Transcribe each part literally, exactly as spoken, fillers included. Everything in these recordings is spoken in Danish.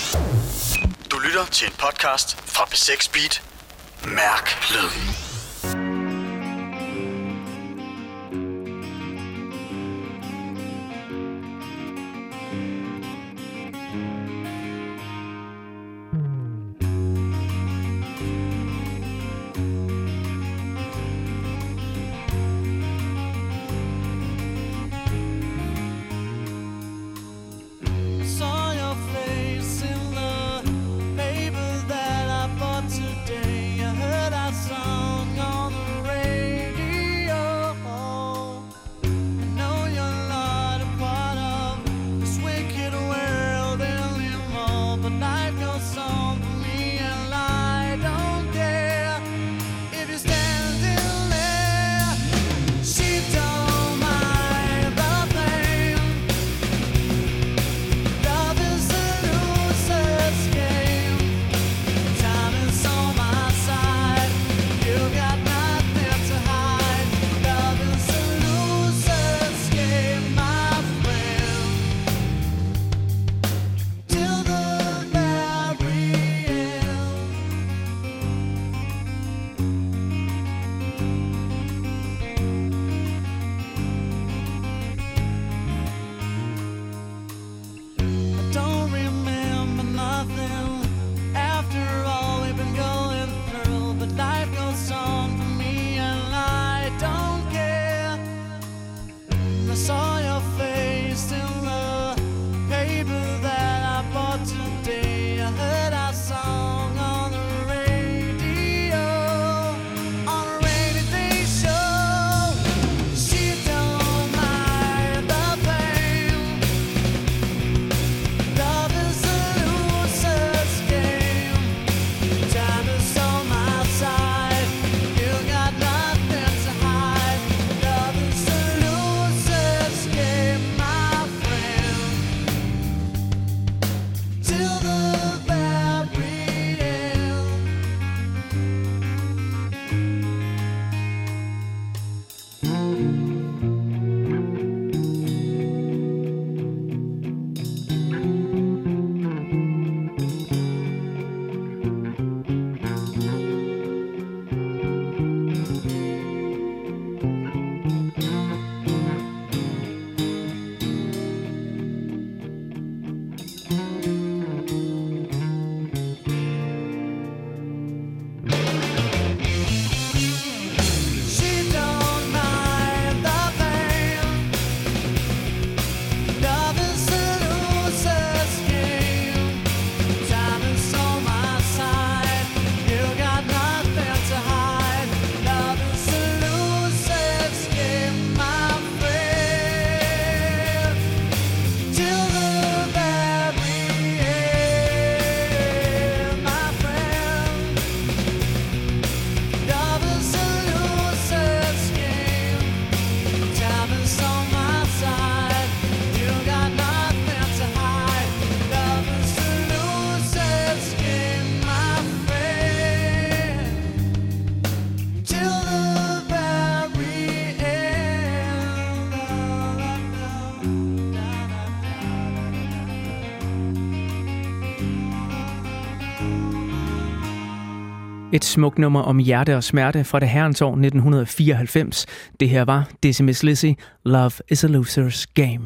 Du lytter til en podcast fra P seks Beat. Mærk lyden. Et smukt nummer om hjerte og smerte fra det herrens år nitten fireoghalvfems. Det her var Dizzy Miss Lizzy, Love is a Loser's Game.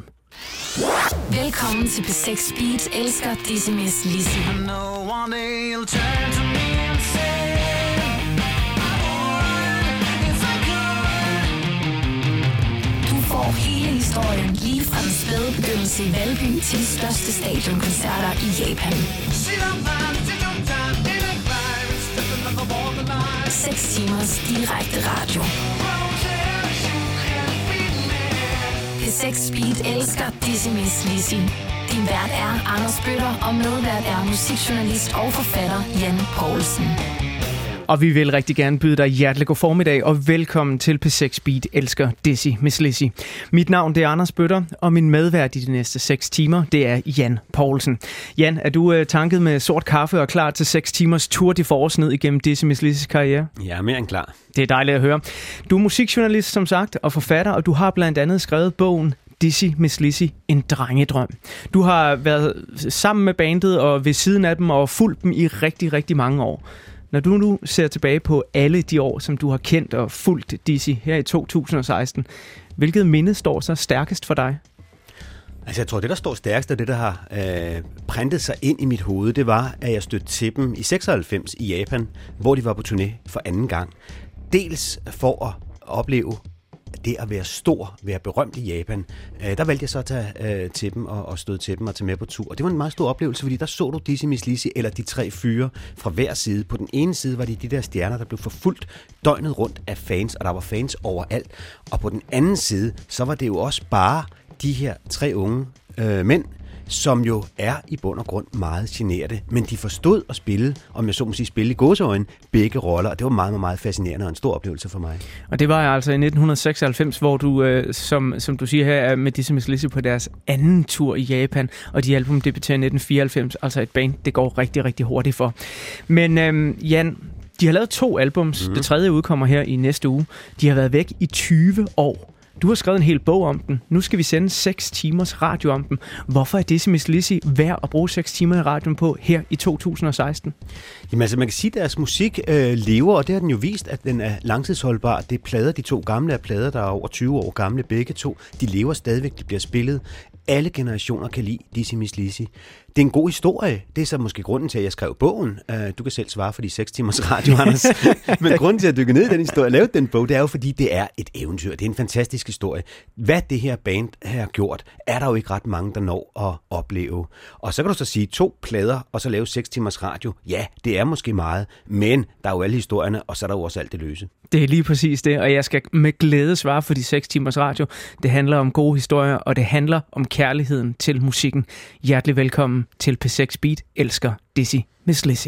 Velkommen til P seks Beat, elsker Dizzy Miss Lizzy. Du får hele historien lige fra den spæde begyndelse i Valby til de største stadionkoncerter i Japan. seks timers direkte radio. P seks Beat elsker Dizzy Miss Lizzy. Din vært er Anders Bøtter, og medvært er musikjournalist og forfatter Jan Poulsen. Og vi vil rigtig gerne byde dig hjertelig god formiddag og velkommen til P seks Beat elsker Dizzy Miss Lizzy. Mit navn det er Anders Bøtter, og min medvært i de næste seks timer det er Jan Poulsen. Jan, er du uh, tanket med sort kaffe og klar til seks timers tour de force ned igennem Dizzy Miss Lizzys karriere? Ja, mere end klar. Det er dejligt at høre. Du er musikjournalist som sagt og forfatter, og du har blandt andet skrevet bogen Dizzy Miss Lizzy en drengedrøm. Du har været sammen med bandet og ved siden af dem og fulgt dem i rigtig, rigtig mange år. Når du nu ser tilbage på alle de år, som du har kendt og fulgt Dizzy her i to tusind og seksten, hvilket minde står så stærkest for dig? Altså jeg tror, det der står stærkest, og det der har øh, printet sig ind i mit hoved, det var, at jeg stødte til dem i seksoghalvfems i Japan, hvor de var på turné for anden gang. Dels for at opleve det at være stor, være berømt i Japan. Øh, der valgte jeg så at tage øh, til dem og, og støde til dem og tage med på tur. Og det var en meget stor oplevelse, fordi der så du Dizzy Miss Lizzy eller de tre fyre fra hver side. På den ene side var de de der stjerner, der blev forfulgt døgnet rundt af fans, og der var fans overalt. Og på den anden side, så var det jo også bare de her tre unge øh, mænd, som jo er i bund og grund meget generede, men de forstod at spille, om jeg så må sige spille i gåseøjne, begge roller, og det var meget, meget, meget fascinerende og en stor oplevelse for mig. Og det var altså i nitten seksoghalvfems, hvor du, øh, som, som du siger her, er med Dizzy Miss Lizzy på deres anden tur i Japan, og de album debuterer i nitten fireoghalvfems, altså et band, det går rigtig, rigtig hurtigt for. Men øh, Jan, de har lavet to albums, mm. det tredje udkommer her i næste uge. De har været væk i tyve år. Du har skrevet en hel bog om den. Nu skal vi sende seks timers radio om den. Hvorfor er Dizzy Miss Lizzy værd at bruge seks timer i radioen på her i to tusind og seksten? Jamen altså, man kan sige, at deres musik øh, lever, og det har den jo vist, at den er langtidsholdbar. Det er plader, de to gamle er plader, der er over tyve år gamle, begge to. De lever stadigvæk, de bliver spillet. Alle generationer kan lide Dizzy Miss Lizzy. Det er en god historie. Det er så måske grunden til, at jeg skrev bogen. Du kan selv svare for de seks timers radio, Anders. Men grunden til at dykke ned i den historie og lave den bog, det er jo, fordi det er et eventyr. Det er en fantastisk historie. Hvad det her band har gjort, er der jo ikke ret mange, der når at opleve. Og så kan du så sige to plader, og så lave seks timers radio. Ja, det er måske meget, men der er jo alle historierne, og så er der jo også alt det løse. Det er lige præcis det, og jeg skal med glæde svare for de seks timers radio. Det handler om gode historier, og det handler om kærligheden til musikken. Hjertelig velkommen til P seks Beat elsker Dizzy Miss Lizzy.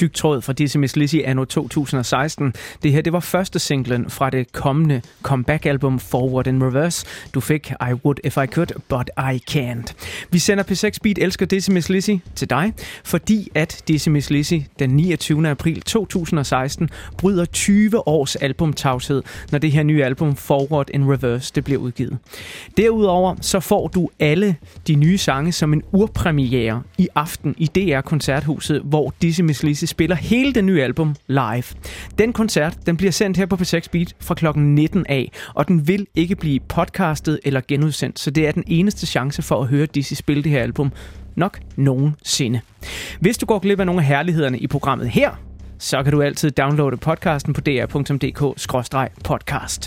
tyk tråd fra Dizzy Miss Lizzy anno to tusind og seksten. Det her, det var første singlen fra det kommende comeback-album Forward in Reverse. Du fik I Would If I Could, But I Can't. Vi sender P seks Beat Elsker Dizzy Miss Lizzy til dig, fordi at Dizzy Miss Lizzy den niogtyvende april to tusind og seksten bryder tyve års albumtavshed, når det her nye album Forward in Reverse det bliver udgivet. Derudover så får du alle de nye sange som en urpremiere i aften i D R-koncerthuset, hvor Dizzy Miss Lizzy spiller hele det nye album live. Den koncert den bliver sendt her på P seks Beat fra klokken nitten af, og den vil ikke blive podcastet eller genudsendt, så det er den eneste chance for at høre Dizzy spille det her album nok nogensinde. Hvis du går glip af nogle af herlighederne i programmet her, så kan du altid downloade podcasten på d r punktum d k skråstreg podcast.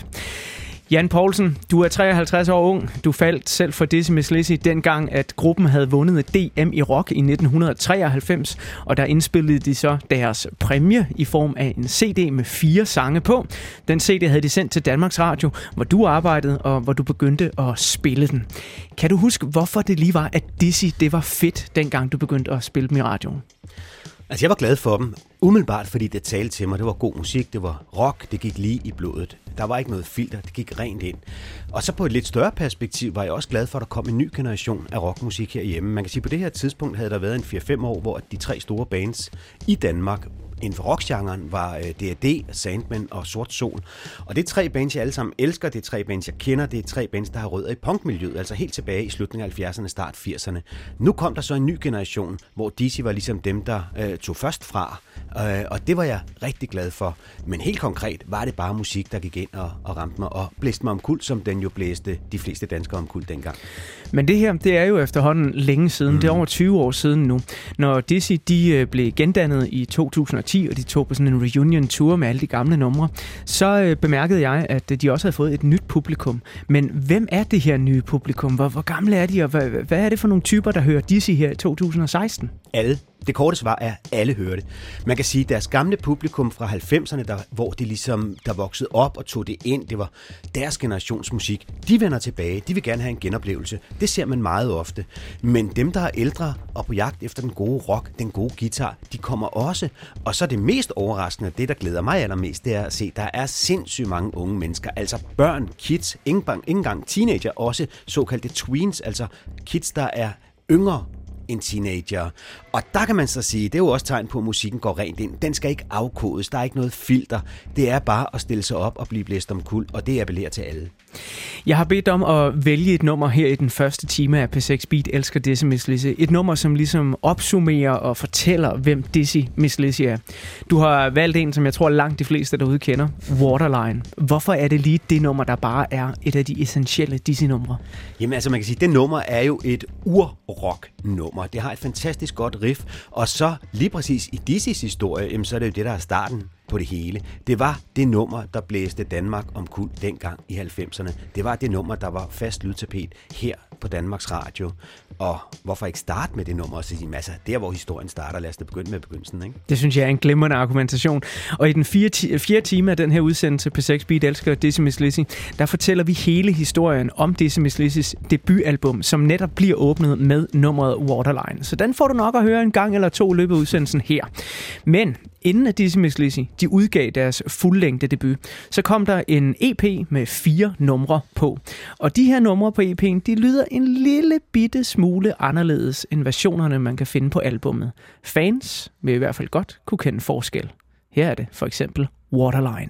Jan Poulsen, du er treoghalvtreds år ung. Du faldt selv for Dizzy Miss Lizzy dengang, at gruppen havde vundet D M i rock i nitten treoghalvfems, og der indspillede de så deres præmie i form af en C D med fire sange på. Den C D havde de sendt til Danmarks Radio, hvor du arbejdede, og hvor du begyndte at spille den. Kan du huske, hvorfor det lige var, at Dizzy det var fedt, dengang du begyndte at spille dem i radioen? Altså, jeg var glad for dem, umiddelbart fordi det talte til mig. Det var god musik, det var rock, det gik lige i blodet. Der var ikke noget filter, det gik rent ind. Og så på et lidt større perspektiv var jeg også glad for, at der kom en ny generation af rockmusik herhjemme. Man kan sige, at på det her tidspunkt havde der været en fire fem år, hvor de tre store bands i Danmark inden for rockgenren var D A D, Sandman og Sort Sol. Og det er tre bands, jeg alle sammen elsker. Det er tre bands, jeg kender. Det er tre bands, der har rødder i punkmiljøet, altså helt tilbage i slutningen af halvfjerdserne, start firserne. Nu kom der så en ny generation, hvor Dizzy var ligesom dem, der øh, tog først fra. Øh, og det var jeg rigtig glad for. Men helt konkret var det bare musik, der gik ind og, og ramte mig og blæste mig omkuld, som den jo blæste de fleste danskere omkuld dengang. Men det her, det er jo efterhånden længe siden. Mm. Det er over tyve år siden nu. Når Dizzy de blev gendannet i to tusind og ti, og de tog på sådan en reunion tour med alle de gamle numre, så øh, bemærkede jeg, at de også havde fået et nyt publikum. Men hvem er det her nye publikum? Hvor, hvor gamle er de, og hvad, hvad er det for nogle typer, der hører Dizzy her i to tusind og seksten? Alle. Det korte svar er, at alle hører det. Man kan sige, at deres gamle publikum fra halvfemserne, der, hvor de ligesom, der voksede op og tog det ind, det var deres generationsmusik, de vender tilbage, de vil gerne have en genoplevelse. Det ser man meget ofte. Men dem, der er ældre og på jagt efter den gode rock, den gode guitar, de kommer også. Og så det mest overraskende, det der glæder mig allermest, det er at se, at der er sindssygt mange unge mennesker, altså børn, kids, ikke engang teenager, også såkaldte tweens, altså kids, der er yngre en teenager. Og der kan man så sige, det er jo også tegn på, at musikken går rent ind. Den skal ikke afkodes, der er ikke noget filter. Det er bare at stille sig op og blive blæst omkuld, og det appellerer til alle. Jeg har bedt om at vælge et nummer her i den første time af P seks Beat Elsker Dizzy Miss Lizzy. Et nummer, som ligesom opsummerer og fortæller, hvem Dizzy Miss Lizzy er. Du har valgt en, som jeg tror langt de fleste derude kender, Waterline. Hvorfor er det lige det nummer, der bare er et af de essentielle Dizzy-numre? Jamen altså, man kan sige, det nummer er jo et ur-rock-nummer. Det har et fantastisk godt riff, og så lige præcis i Dizzys historie, jamen, så er det jo det, der er starten på det hele. Det var det nummer, der blæste Danmark omkuld dengang i halvfemserne. Det var det nummer, der var fast lydtapet her på Danmarks Radio. Og hvorfor ikke starte med det nummer og sige, altså, der hvor historien starter, lad os da begynde med begyndelsen, ikke? Det synes jeg er en glimrende argumentation. Og i den fire, ti- fire time af den her udsendelse P seks Beat Elsker Dizzy Miss Lizzy, der fortæller vi hele historien om Dizzy Miss Lizzys debutalbum, som netop bliver åbnet med nummeret Waterline. Så den får du nok at høre en gang eller to i løbet af udsendelsen her. Men inden at Dizzy Miss Lizzy de udgav deres fuldlængde debut, så kom der en E P med fire numre på. Og de her numre på E P'en, de lyder en lille bitte smule anderledes end versionerne, man kan finde på albummet. Fans vil i hvert fald godt kunne kende forskel. Her er det for eksempel Waterline.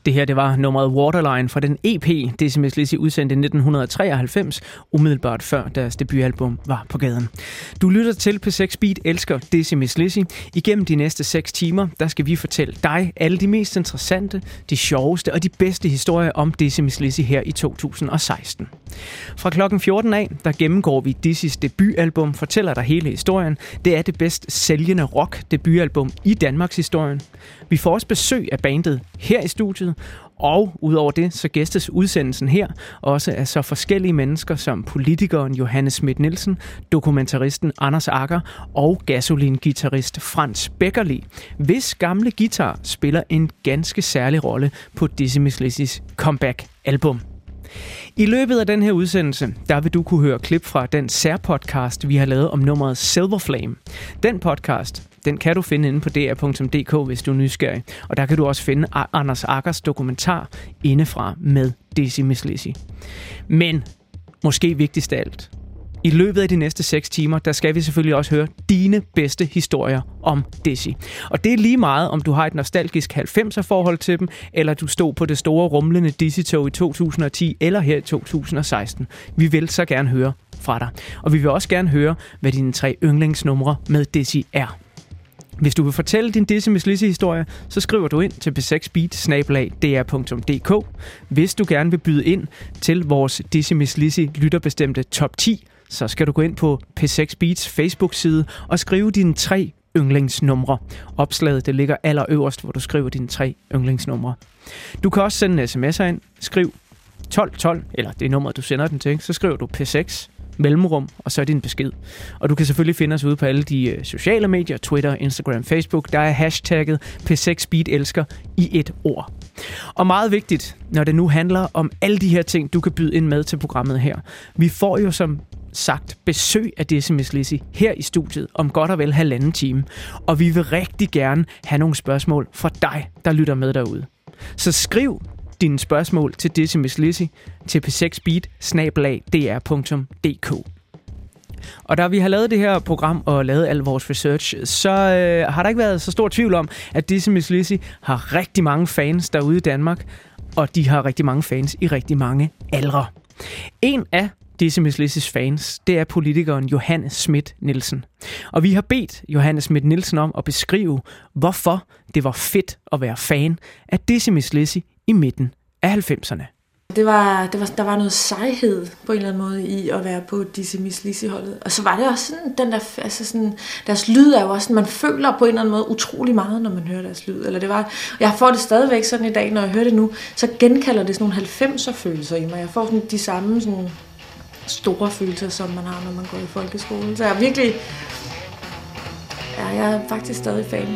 Det her, det var nummeret Waterline fra den E P, Dizzy Mizz Lizzy udsendte i nitten treoghalvfems, umiddelbart før deres debutalbum var på gaden. Du lytter til P seks Beat elsker Dizzy Mizz Lizzy. Igennem de næste seks timer, der skal vi fortælle dig alle de mest interessante, de sjoveste og de bedste historier om Dizzy Mizz Lizzy her i to tusind og seksten. Fra klokken fjorten af, der gennemgår vi Dizzys debutalbum, fortæller dig hele historien. Det er det bedst sælgende rock debutalbum i Danmarks historien. Vi får også besøg af bandet her i studiet, og udover det, så gæstes udsendelsen her også af så forskellige mennesker som politikeren Johanne Schmidt-Nielsen, dokumentaristen Anders Agger og gasolin-guitarist Frans Beckerli, hvis gamle guitar spiller en ganske særlig rolle på Dizzy Mizz Lizzys comeback-album. I løbet af den her udsendelse, der vil du kunne høre klip fra den særpodcast, vi har lavet om nummeret Silver Flame. Den podcast, den kan du finde inde på d r punktum d k, hvis du er nysgerrig. Og der kan du også finde Anders Aggers dokumentar indefra med Dizzy Mizz Lizzy. Men måske vigtigst af alt, i løbet af de næste seks timer, der skal vi selvfølgelig også høre dine bedste historier om Dizzy. Og det er lige meget, om du har et nostalgisk halvfemser-forhold til dem, eller du stod på det store rumlende Dizzy-tog i to tusind og ti, eller her i to tusind og seksten. Vi vil så gerne høre fra dig. Og vi vil også gerne høre, hvad dine tre yndlingsnumre med Dizzy er. Hvis du vil fortælle din Dizzy Mizz Lizzy-historie, så skriver du ind til p seks beat snabel-a d r punktum d k. Hvis du gerne vil byde ind til vores Dizzy Mizz Lizzy lytterbestemte top ti, så skal du gå ind på P seks Beats Facebook-side og skrive dine tre yndlingsnumre. Opslaget det ligger allerøverst, hvor du skriver dine tre yndlingsnumre. Du kan også sende en sms'er ind. Skriv tolv tolv, eller det er nummeret, du sender den til. Så skriver du P seks mellemrum, og så er din besked. Og du kan selvfølgelig finde os ude på alle de sociale medier, Twitter, Instagram, Facebook. Der er hashtagget P seks Beat elsker i et ord. Og meget vigtigt, når det nu handler om alle de her ting, du kan byde ind med til programmet her. Vi får jo som sagt besøg af Dizzy Mizz Lizzy her i studiet om godt og vel halvanden time. Og vi vil rigtig gerne have nogle spørgsmål fra dig, der lytter med derude. Så skriv dine spørgsmål til Dizzy Mizz Lizzy til p seks beat snabel-a d r punktum d k. Og da vi har lavet det her program og lavet al vores research, så øh, har der ikke været så stor tvivl om, at Dizzy Mizz Lizzy har rigtig mange fans derude i Danmark, og de har rigtig mange fans i rigtig mange aldre. En af Dizzy Mizz Lizzys fans, det er politikeren Johanne Schmidt-Nielsen. Og vi har bedt Johanne Schmidt-Nielsen om at beskrive, hvorfor det var fedt at være fan af Dizzy Mizz Lizzy i midten af halvfemserne. Det var, det var, der var noget sejhed på en eller anden måde i at være på Dizzy Mizz Lizzy-holdet. Og så var det også sådan, den der, altså sådan, deres lyd er jo også sådan, man føler på en eller anden måde utrolig meget, når man hører deres lyd. Eller det var, jeg får det stadigvæk sådan i dag, når jeg hører det nu, så genkalder det sådan nogle halvfemser-følelser i mig. Jeg får sådan de samme sådan store følelser, som man har, når man går i folkeskole. Så jeg er virkelig, ja, jeg er faktisk stadig fan.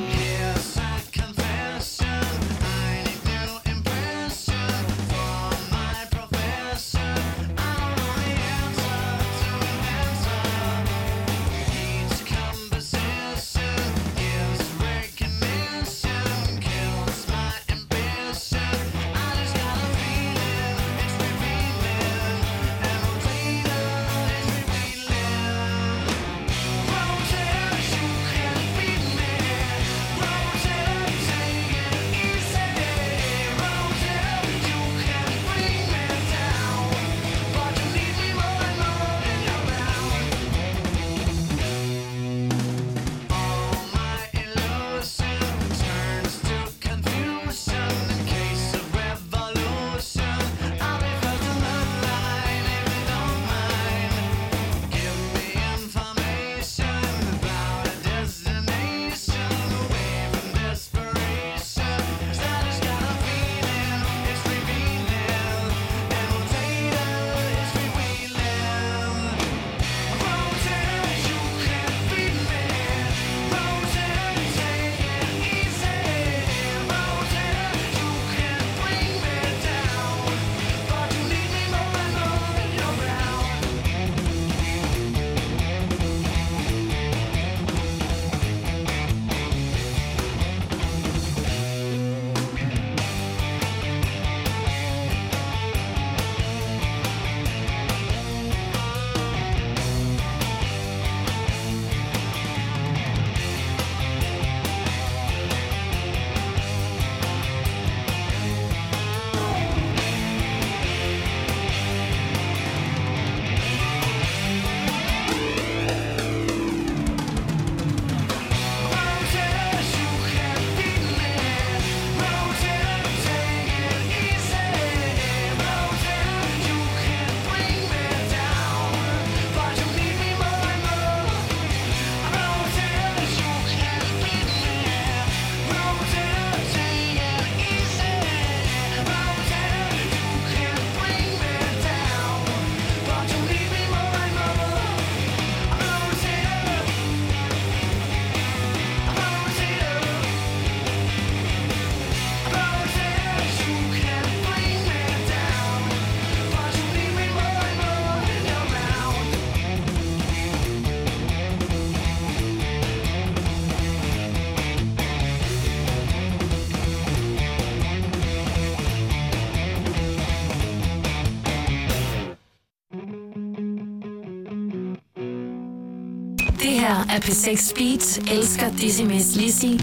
Det her er P seks Beat. Elsker Dizzy Miss Lizzy.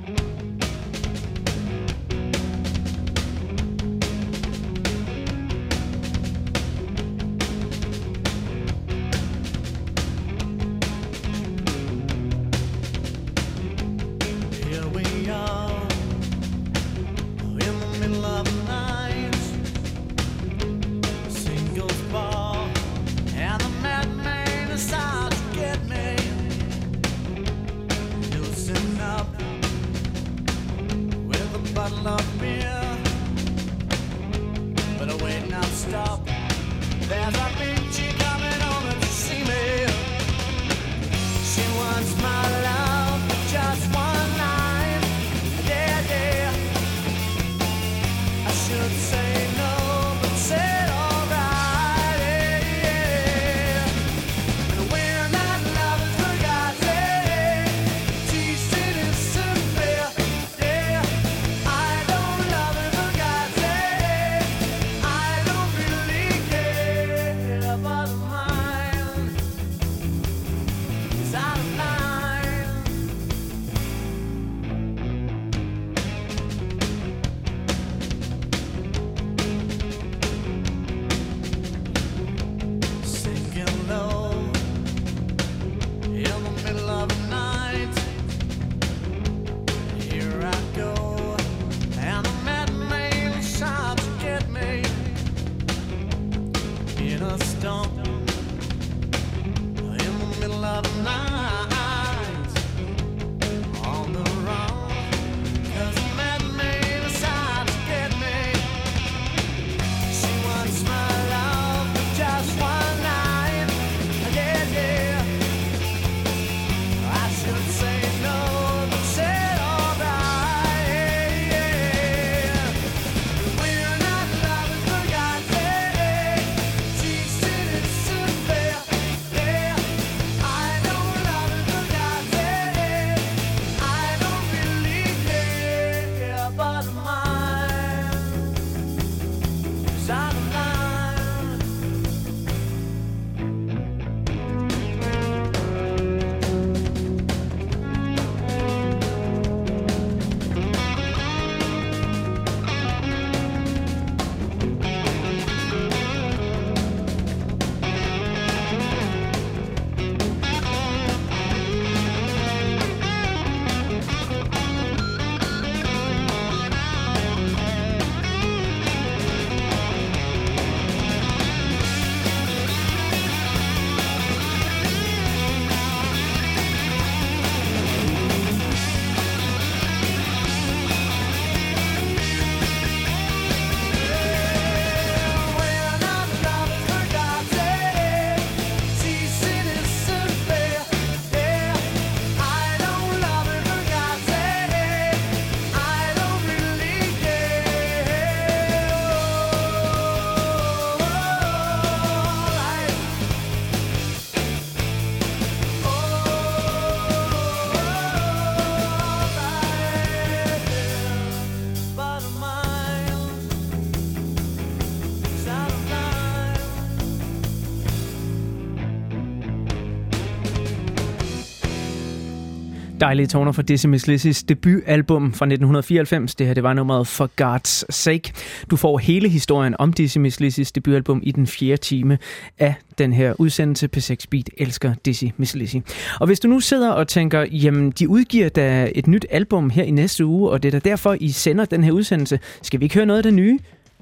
Dejlige toner fra Dizzy Miss Lizzys debutalbum fra nitten fireoghalvfems. Det her, det var nummeret For God's Sake. Du får hele historien om Dizzy Miss Lizzys debutalbum i den fjerde time af den her udsendelse. P seks Beat elsker Dizzy Miss Lizzy. Og hvis du nu sidder og tænker, jamen de udgiver da et nyt album her i næste uge, og det er da derfor, I sender den her udsendelse. Skal vi ikke høre noget af det nye?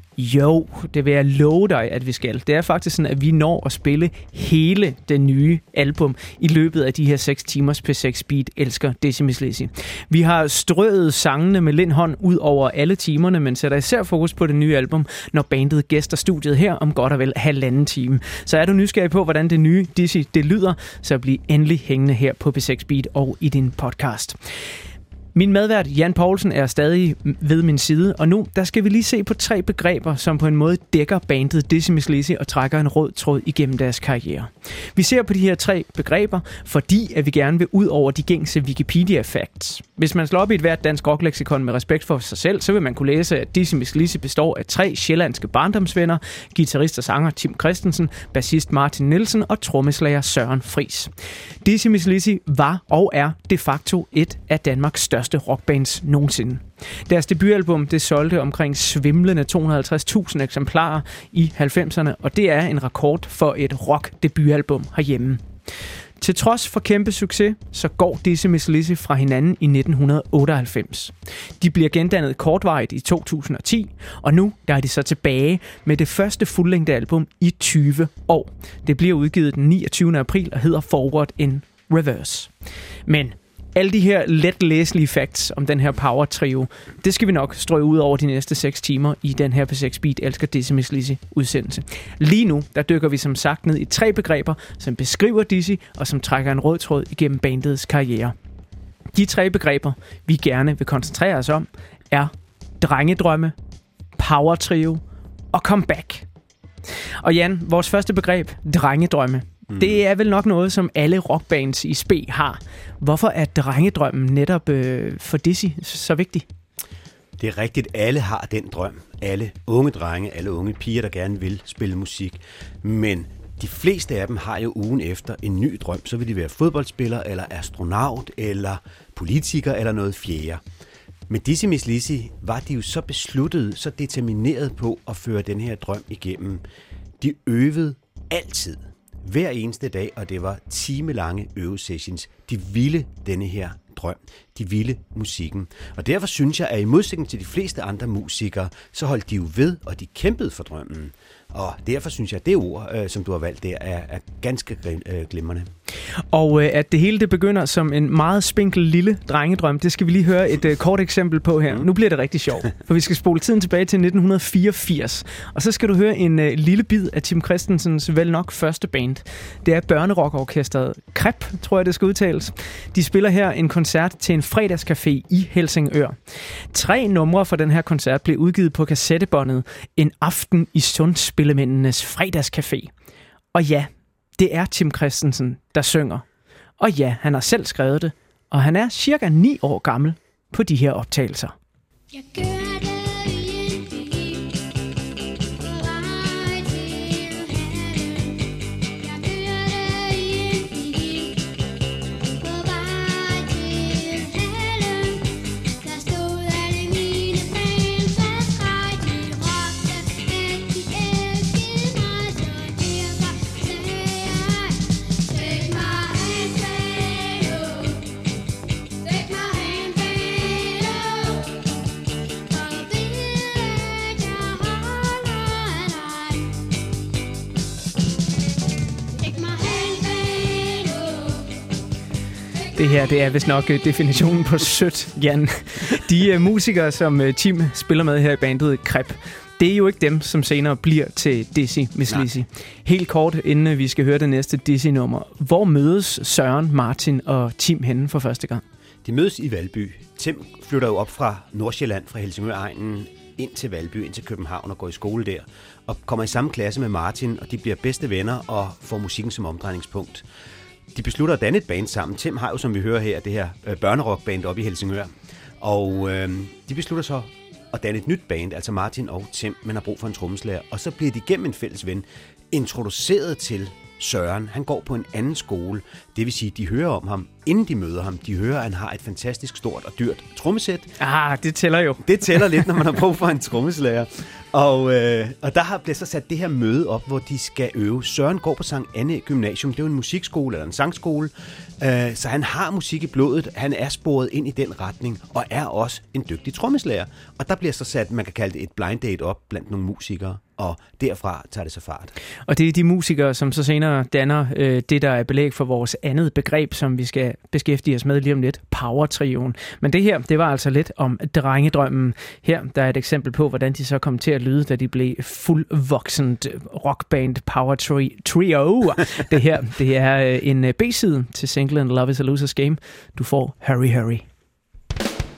Jo, det vil jeg love dig, at vi skal. Det er faktisk sådan, at vi når at spille hele det nye album i løbet af de her seks timers P seks Beat elsker Dizzy Miss Lizzy. Vi har strøget sangene med lindhånd ud over alle timerne, men sætter især fokus på det nye album, når bandet gæster studiet her om godt og vel halvanden time. Så er du nysgerrig på, hvordan det nye Dizzy det lyder, så bliv endelig hængende her på P seks Beat og i din podcast. Min medvært Jan Poulsen er stadig ved min side, og nu der skal vi lige se på tre begreber, som på en måde dækker bandet Dizzy Mizz Lizzy og trækker en rød tråd igennem deres karriere. Vi ser på de her tre begreber, fordi at vi gerne vil ud over de gængse Wikipedia-facts. Hvis man slår op i et hvert dansk rockleksikon med respekt for sig selv, så vil man kunne læse, at Dizzy Mizz Lizzy består af tre sjællandske barndomsvenner, guitarist og sanger Tim Christensen, bassist Martin Nielsen og trommeslager Søren Friis. Dizzy Mizz Lizzy var og er de facto et af Danmarks største rockbands nogensinde. Deres debutalbum det solgte omkring svimlende to hundrede og halvtreds tusind eksemplarer i halvfemserne, og det er en rekord for et rock-debutalbum herhjemme. Til trods for kæmpe succes, så går Dizzy Mizz Lizzy fra hinanden i nitten otteoghalvfems. De bliver gendannet kortvarigt i to tusind og ti, og nu der er de så tilbage med det første fuldlængde album i tyve år. Det bliver udgivet den niogtyvende april og hedder Forward in Reverse. Men alle de her let læselige facts om den her power trio, det skal vi nok strøge ud over de næste seks timer i den her P seks Beat Elsker Dizzy Mizz Lizzy udsendelse. Lige nu, der dykker vi som sagt ned i tre begreber, som beskriver Dizzy og som trækker en rød tråd igennem bandets karriere. De tre begreber, vi gerne vil koncentrere os om, er drengedrømme, power trio og comeback. Og Jan, vores første begreb, drengedrømme. Det er vel nok noget, som alle rockbands i spe har. Hvorfor er drengedrømmen netop øh, for Dizzy så vigtig? Det er rigtigt, alle har den drøm. Alle unge drenge, alle unge piger, der gerne vil spille musik. Men de fleste af dem har jo ugen efter en ny drøm. Så vil de være fodboldspiller, eller astronaut, eller politiker, eller noget fjerde. Med Dizzy Mizz Lizzy var de jo så besluttet, så determineret på at føre den her drøm igennem. De øvede altid. Hver eneste dag, og det var timelange øvesessions. De ville denne her drøm. De ville musikken. Og derfor synes jeg, at i modsætning til de fleste andre musikere, så holdt de jo ved, og de kæmpede for drømmen. Og derfor synes jeg, at det ord, øh, som du har valgt der, er, er ganske øh, glimrende. Og øh, at det hele det begynder som en meget spinkel lille drengedrøm, det skal vi lige høre et øh, kort eksempel på her. Mm. Nu bliver det rigtig sjovt, for vi skal spole tiden tilbage til nitten fireogfirs. Og så skal du høre en øh, lille bid af Tim Christensens vel nok første band. Det er børnerockorkestret Krep, tror jeg det skal udtales. De spiller her en koncert til en fredagscafé i Helsingør. Tre numre fra den her koncert blev udgivet på kassettebåndet En aften i Sundspillemændenes fredagscafé. Og ja, det er Tim Christensen, der synger. Og ja, han har selv skrevet det, og han er cirka ni år gammel på de her optagelser. Jeg gør det. Det her, det er vist nok definitionen på sødt, Jan. De uh, musikere, som uh, Tim spiller med her i bandet Krep, det er jo ikke dem, som senere bliver til Dizzy Mizz Lizzy. Helt kort, inden vi skal høre det næste Dizzy-nummer. Hvor mødes Søren, Martin og Tim henne for første gang? De mødes i Valby. Tim flytter jo op fra Nordsjælland, fra Helsingør-egnen, ind til Valby, ind til København og går i skole der. Og kommer i samme klasse med Martin, og de bliver bedste venner og får musikken som omdrejningspunkt. De beslutter at danne et band sammen. Tim har jo, som vi hører her, det her øh, børnerockband oppe i Helsingør. Og øh, de beslutter så at danne et nyt band, altså Martin og Tim, men har brug for en trommeslager. Og så bliver de gennem en fælles ven introduceret til Søren. Han går på en anden skole. Det vil sige, de hører om ham, inden de møder ham. De hører, at han har et fantastisk stort og dyrt trommesæt. Ah, det tæller jo. Det tæller lidt, når man har brug for en trommeslager. Og, øh, og der har blevet så sat det her møde op, hvor de skal øve. Søren går på Sankt Anne Gymnasium. Det er jo en musikskole eller en sangskole. Øh, så han har musik i blodet. Han er sporet ind i den retning og er også en dygtig trommeslager. Og der bliver så sat, man kan kalde det et blind date op blandt nogle musikere. Og derfra tager det så fart. Og det er de musikere, som så senere danner øh, det, der er belæg for vores andet begreb, som vi skal beskæftige os med lige om lidt, power-trioen. Men det her, det var altså lidt om drengedrømmen. Her der er et eksempel på, hvordan de så kom til at lyde, da de blev fuldvoksent rockband power trio. Det her, det er en B-side til singlen Love is a Loser's Game. Du får Hurry Hurry.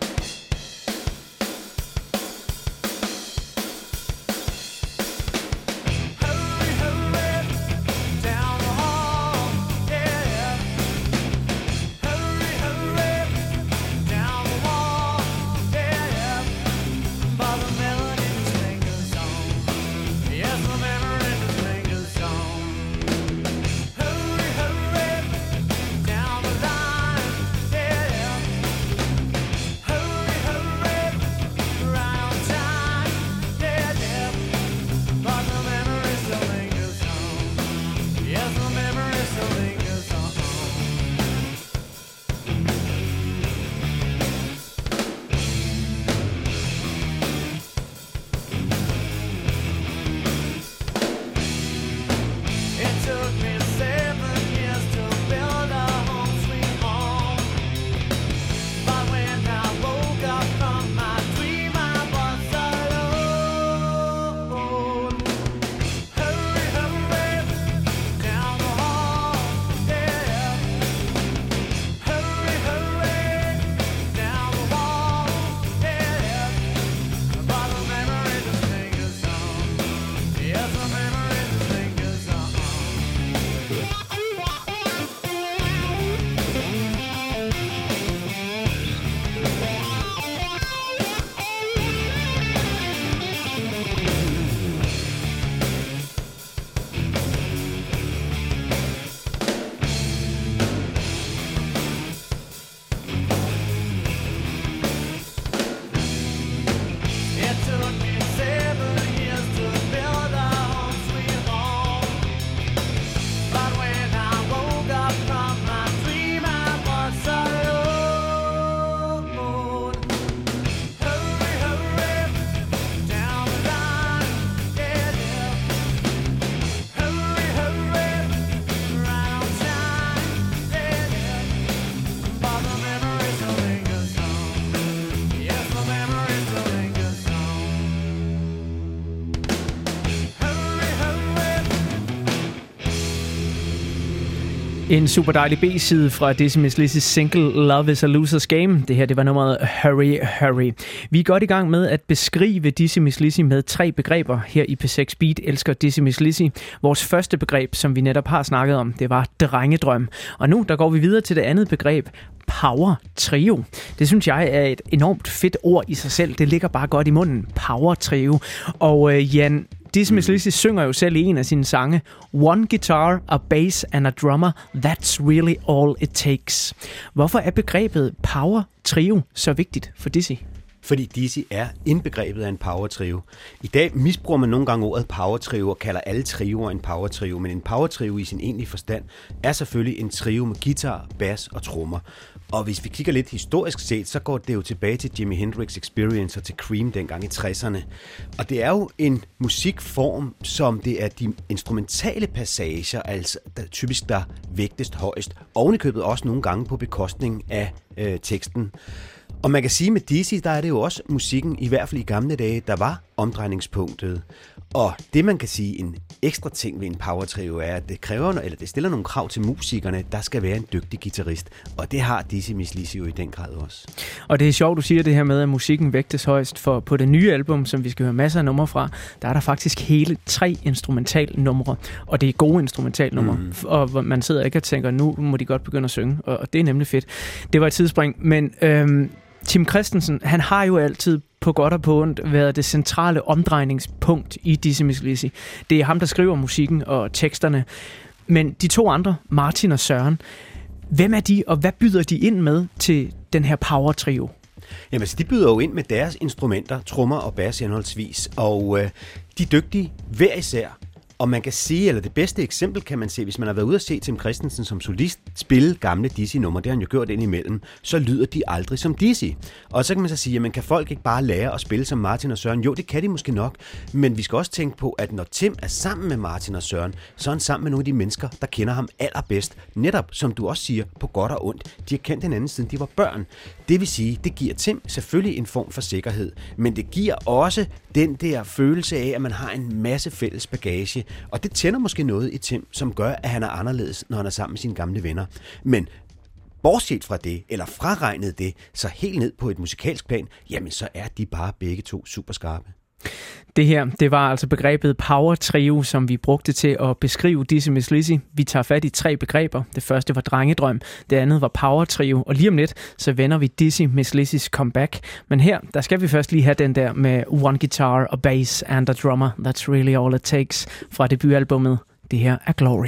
En super dejlig B-side fra Dizzy Miss Lizzys single Love is a Loser's Game. Det her, det var nummeret Hurry, Hurry. Vi er godt i gang med at beskrive Dizzy Miss Lizzy med tre begreber her i P seks Beat elsker Dizzy Miss Lizzy. Vores første begreb, som vi netop har snakket om, det var drengedrøm. Og nu, der går vi videre til det andet begreb, Power Trio. Det synes jeg er et enormt fedt ord i sig selv. Det ligger bare godt i munden. Power Trio. Og øh, Jan, Dizzy Miss Lizzy synger jo selv i en af sine sange, One guitar, a bass and a drummer, that's really all it takes. Hvorfor er begrebet Power Trio så vigtigt for Dizzy? Fordi Dizzy er indbegrebet af en power trio. I dag misbruger man nogle gange ordet power trio og kalder alle trioer en power trio, men en power trio i sin egentlige forstand er selvfølgelig en trio med guitar, bass og trommer. Og hvis vi kigger lidt historisk set, så går det jo tilbage til Jimi Hendrix Experience og til Cream dengang i tresserne. Og det er jo en musikform, som det er de instrumentale passager, altså der, typisk der vægtest højst, ovenikøbet også nogle gange på bekostning af øh, teksten. Og man kan sige, med Dizzy, der er det jo også musikken, i hvert fald i gamle dage, der var omdrejningspunktet. Og det, man kan sige, en ekstra ting ved en power trio, er, at det kræver, eller det stiller nogle krav til musikerne, der skal være en dygtig guitarist. Og det har Dizzy Miss Lizzy jo i den grad også. Og det er sjovt, du siger det her med, at musikken vægtes højst, for på det nye album, som vi skal høre masser af numre fra, der er der faktisk hele tre instrumentalnumre. Og det er gode instrumentalnumre. Mm. Og man sidder ikke og tænker, nu må de godt begynde at synge. Og det er nemlig fedt. Det var et tidsspring, men øhm, Tim Christensen, han har jo altid på godt og på ondt været det centrale omdrejningspunkt i Dizzy Miss Lizzy. Det er ham, der skriver musikken og teksterne. Men de to andre, Martin og Søren, hvem er de, og hvad byder de ind med til den her power trio? Jamen, altså, de byder jo ind med deres instrumenter, trommer og bass henholdsvis, og øh, de er dygtige hver især. Og man kan sige, eller det bedste eksempel kan man se, hvis man har været ude at se Tim Christensen som solist spille gamle Dizzy-numre, det har han jo gjort indimellem, så lyder de aldrig som Dizzy. Og så kan man så sige, jamen kan folk ikke bare lære at spille som Martin og Søren? Jo, det kan de måske nok, men vi skal også tænke på, at når Tim er sammen med Martin og Søren, så er han sammen med nogle af de mennesker, der kender ham allerbedst. Netop, som du også siger, på godt og ondt. De har kendt hinanden siden de var børn. Det vil sige, det giver Tim selvfølgelig en form for sikkerhed, men det giver også den der følelse af, at man har en masse fælles bagage. Og det tænder måske noget i Tim, som gør, at han er anderledes, når han er sammen med sine gamle venner. Men bortset fra det, eller fraregnet det, så helt ned på et musikalsk plan, jamen så er de bare begge to super skarpe. Det her, det var altså begrebet Power Trio, som vi brugte til at beskrive Dizzy Miss Lizzy. Vi tager fat i tre begreber. Det første var drengedrøm, det andet var Power Trio, og lige om lidt, så vender vi Dizzy Miss Lizzys comeback. Men her, der skal vi først lige have den der med One Guitar, a Bass and a Drummer, That's Really All It Takes fra debutalbummet. Det her er Glory.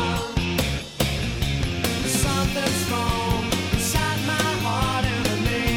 Something's wrong inside my heart and the name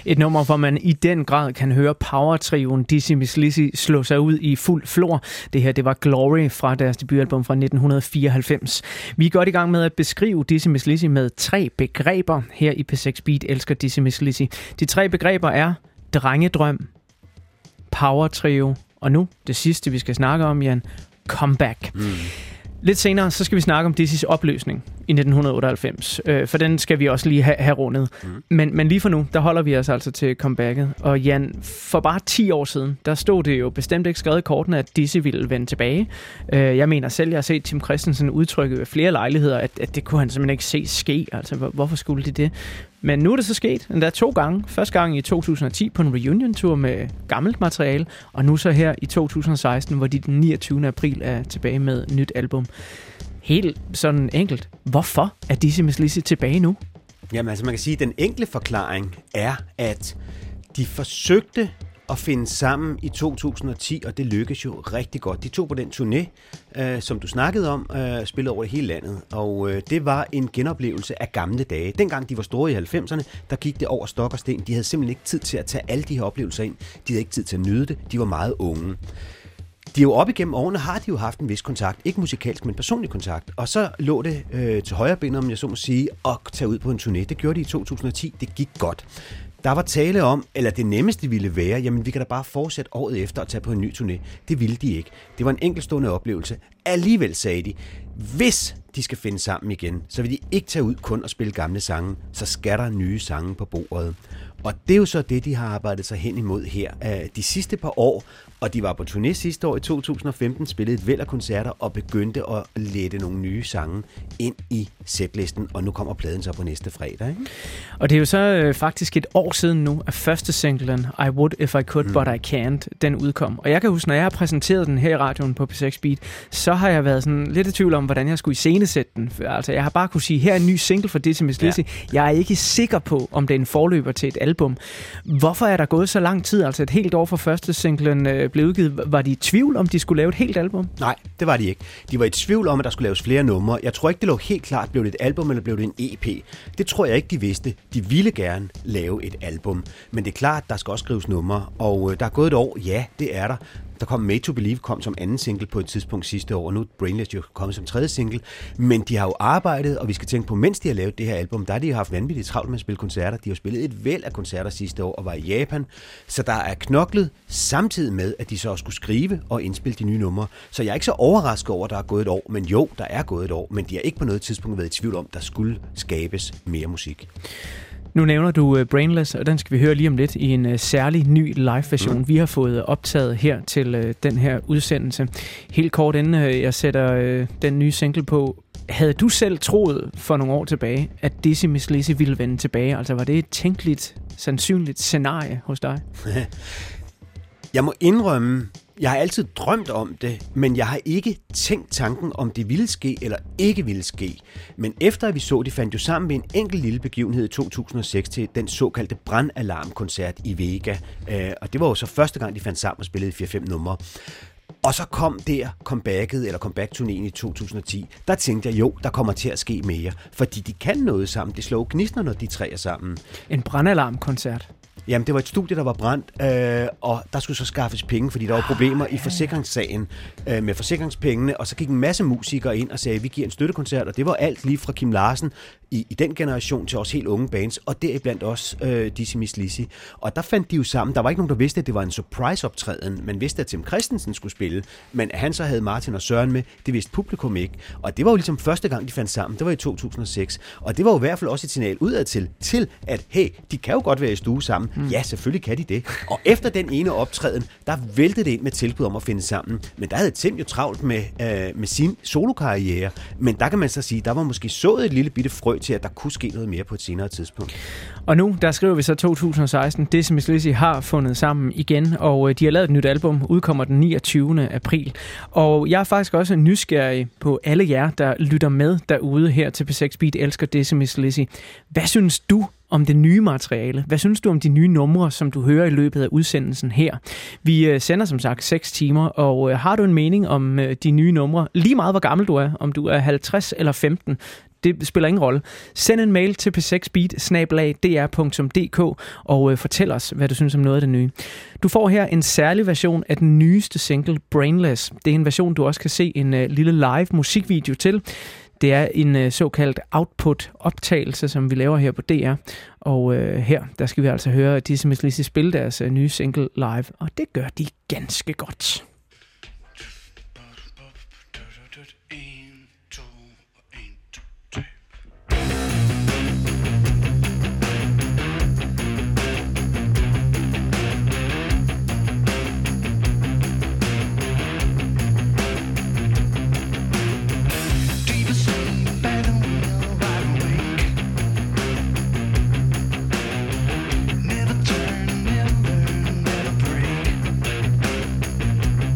Et nummer, hvor man i den grad kan høre power-trioen Dizzy Miss Lizzy slå sig ud i fuld flor. Det her, det var Glory fra deres debutalbum fra nitten fireoghalvfems. Vi er godt i gang med at beskrive Dizzy Miss Lizzy med tre begreber. Her i P seks Beat elsker Dizzy Miss Lizzy. De tre begreber er drengedrøm, power-trio, og nu det sidste, vi skal snakke om, Jan, comeback. Mm. Lidt senere, så skal vi snakke om Dizzys opløsning i nitten otteoghalvfems, øh, for den skal vi også lige have, have rundet. Mm. Men, men lige for nu, der holder vi os altså til comebacket. Og Jan, for bare ti år siden, der stod det jo bestemt ikke skrevet i kortene, at Dizzy ville vende tilbage. Øh, jeg mener selv, jeg har set Tim Christensen udtrykke ved flere lejligheder, at, at det kunne han simpelthen ikke se ske. Altså, hvorfor skulle det det? Men nu er det så sket, endda to gange. Første gang i to tusind og ti på en reunion-tur med gammelt materiale, og nu så her i to tusind og seksten, hvor de den niogtyvende april er tilbage med nyt album. Helt sådan enkelt. Hvorfor er Dizzy Miss Lizzy tilbage nu? Jamen altså, man kan sige, at den enkle forklaring er, at de forsøgte at finde sammen i to tusind og ti, og det lykkedes jo rigtig godt. De tog på den turné, øh, som du snakkede om, øh, spillede over hele landet, og øh, det var en genoplevelse af gamle dage. Dengang de var store i halvfemserne, der gik det over stok og sten. De havde simpelthen ikke tid til at tage alle de her oplevelser ind. De havde ikke tid til at nyde det. De var meget unge. De er jo op igennem årene, har de jo haft en vis kontakt. Ikke musikalsk, men personlig kontakt. Og så lå det øh, til højre ben, om jeg så må sige, at tage ud på en turné. Det gjorde de i to tusind og ti. Det gik godt. Der var tale om, eller det nemmeste ville være, jamen vi kan da bare fortsætte året efter at tage på en ny turné. Det ville de ikke. Det var en enkeltstående oplevelse. Alligevel sagde de, hvis de skal finde sammen igen, så vil de ikke tage ud kun og spille gamle sange, så skal der nye sange på bordet. Og det er jo så det, de har arbejdet sig hen imod her de sidste par år. Og de var på turné sidste år i to tusind og femten, spillede et væld af koncerter og begyndte at lette nogle nye sange ind i setlisten. Og nu kommer pladen så på næste fredag, ikke? Og det er jo så øh, faktisk et år siden nu, at første singlen, I Would If I Could, mm. But I Can't, den udkom. Og jeg kan huske, når jeg har præsenteret den her i radioen på P seks Beat, så har jeg været sådan lidt i tvivl om, hvordan jeg skulle iscenesætte den. Altså, jeg har bare kunne sige, her er en ny single for Dizzy Miss Lizzy. Ja. Jeg er ikke sikker på, om det er en forløber til et album. Hvorfor er der gået så lang tid? Altså et helt år fra første singlen øh, blev udgivet. Var de i tvivl, om de skulle lave et helt album? Nej, det var de ikke. De var i tvivl om, at der skulle laves flere numre. Jeg tror ikke, det lå helt klart, blev det et album, eller blev det en E P. Det tror jeg ikke, de vidste. De ville gerne lave et album. Men det er klart, der skal også skrives numre. Og øh, der er gået et år. Ja, det er der. Der kom Made to Believe kom som anden single på et tidspunkt sidste år, og nu er Brainless jo kommet som tredje single. Men de har jo arbejdet, og vi skal tænke på, mens de har lavet det her album, der har de jo haft vanvittigt travlt med at spille koncerter. De har spillet et væld af koncerter sidste år og var i Japan. Så der er knoklet samtidig med, at de så også skulle skrive og indspille de nye numre. Så jeg er ikke så overrasket over, at der er gået et år. Men jo, der er gået et år, men de har ikke på noget tidspunkt været i tvivl om, at der skulle skabes mere musik. Nu nævner du uh, Brainless, og den skal vi høre lige om lidt i en uh, særlig ny live-version, mm. vi har fået optaget her til uh, den her udsendelse. Helt kort inden uh, jeg sætter uh, den nye single på, havde du selv troet for nogle år tilbage, at Dizzy Miss Lizzy ville vende tilbage? Altså var det et tænkeligt, sandsynligt scenarie hos dig? Jeg må indrømme, jeg har altid drømt om det, men jeg har ikke tænkt tanken, om det ville ske eller ikke ville ske. Men efter at vi så, de fandt jo sammen med en enkelt lille begivenhed i to tusind og seks til den såkaldte brandalarmkoncert i Vega. Og det var jo så første gang, de fandt sammen og spillede fire fem numre. Og så kom der comebacket, eller comeback-turnéen i to tusind og ti. Der tænkte jeg, jo, der kommer til at ske mere. Fordi de kan noget sammen. Det slår gnistner, når de tre er sammen. En brandalarmkoncert? Jamen, det var et studie, der var brændt, øh, og der skulle så skaffes penge, fordi der var problemer i forsikringssagen øh, med forsikringspengene, og så gik en masse musikere ind og sagde, vi giver en støttekoncert, og det var alt lige fra Kim Larsen i, i den generation til også helt unge bands, og deriblandt også øh, Dizzy Miss Lizzy. Og der fandt de jo sammen. Der var ikke nogen, der vidste, at det var en surprise-optræden. Man vidste, at Tim Christensen skulle spille, men at han så havde Martin og Søren med, det vidste publikum ikke. Og det var jo ligesom første gang, de fandt sammen. Det var i to tusind og seks. Og det var jo i hvert fald også et signal udad til, til at hey, de kan jo godt være i stue sammen. Mm. Ja, selvfølgelig kan de det. Og efter den ene optræden, der væltede det ind med tilbud om at finde sammen. Men der havde Tim jo travlt med, øh, med sin solokarriere. Men der kan man så sige, der var måske sået et lille bitte frø til, at der kunne ske noget mere på et senere tidspunkt. Og nu, der skriver vi så to tusind og seksten. Dizzy Miss Lizzy har fundet sammen igen, og de har lavet et nyt album, udkommer den niogtyvende april. Og jeg er faktisk også nysgerrig på alle jer, der lytter med derude her til P seks Beat elsker Dizzy Miss Lizzy. Hvad synes du om det nye materiale? Hvad synes du om de nye numre, som du hører i løbet af udsendelsen her? Vi sender som sagt seks timer, og har du en mening om de nye numre, lige meget hvor gammel du er, om du er halvtreds eller femten, det spiller ingen rolle. Send en mail til p seks beat bindestreg d r punktum d k og øh, fortæl os, hvad du synes om noget af det nye. Du får her en særlig version af den nyeste single, Brainless. Det er en version, du også kan se en øh, lille live musikvideo til. Det er en øh, såkaldt output-optagelse, som vi laver her på D R. Og øh, her, der skal vi altså høre Dizzy Mizz Lizzy spille deres øh, nye single live. Og det gør de ganske godt. Never turn, never, never break.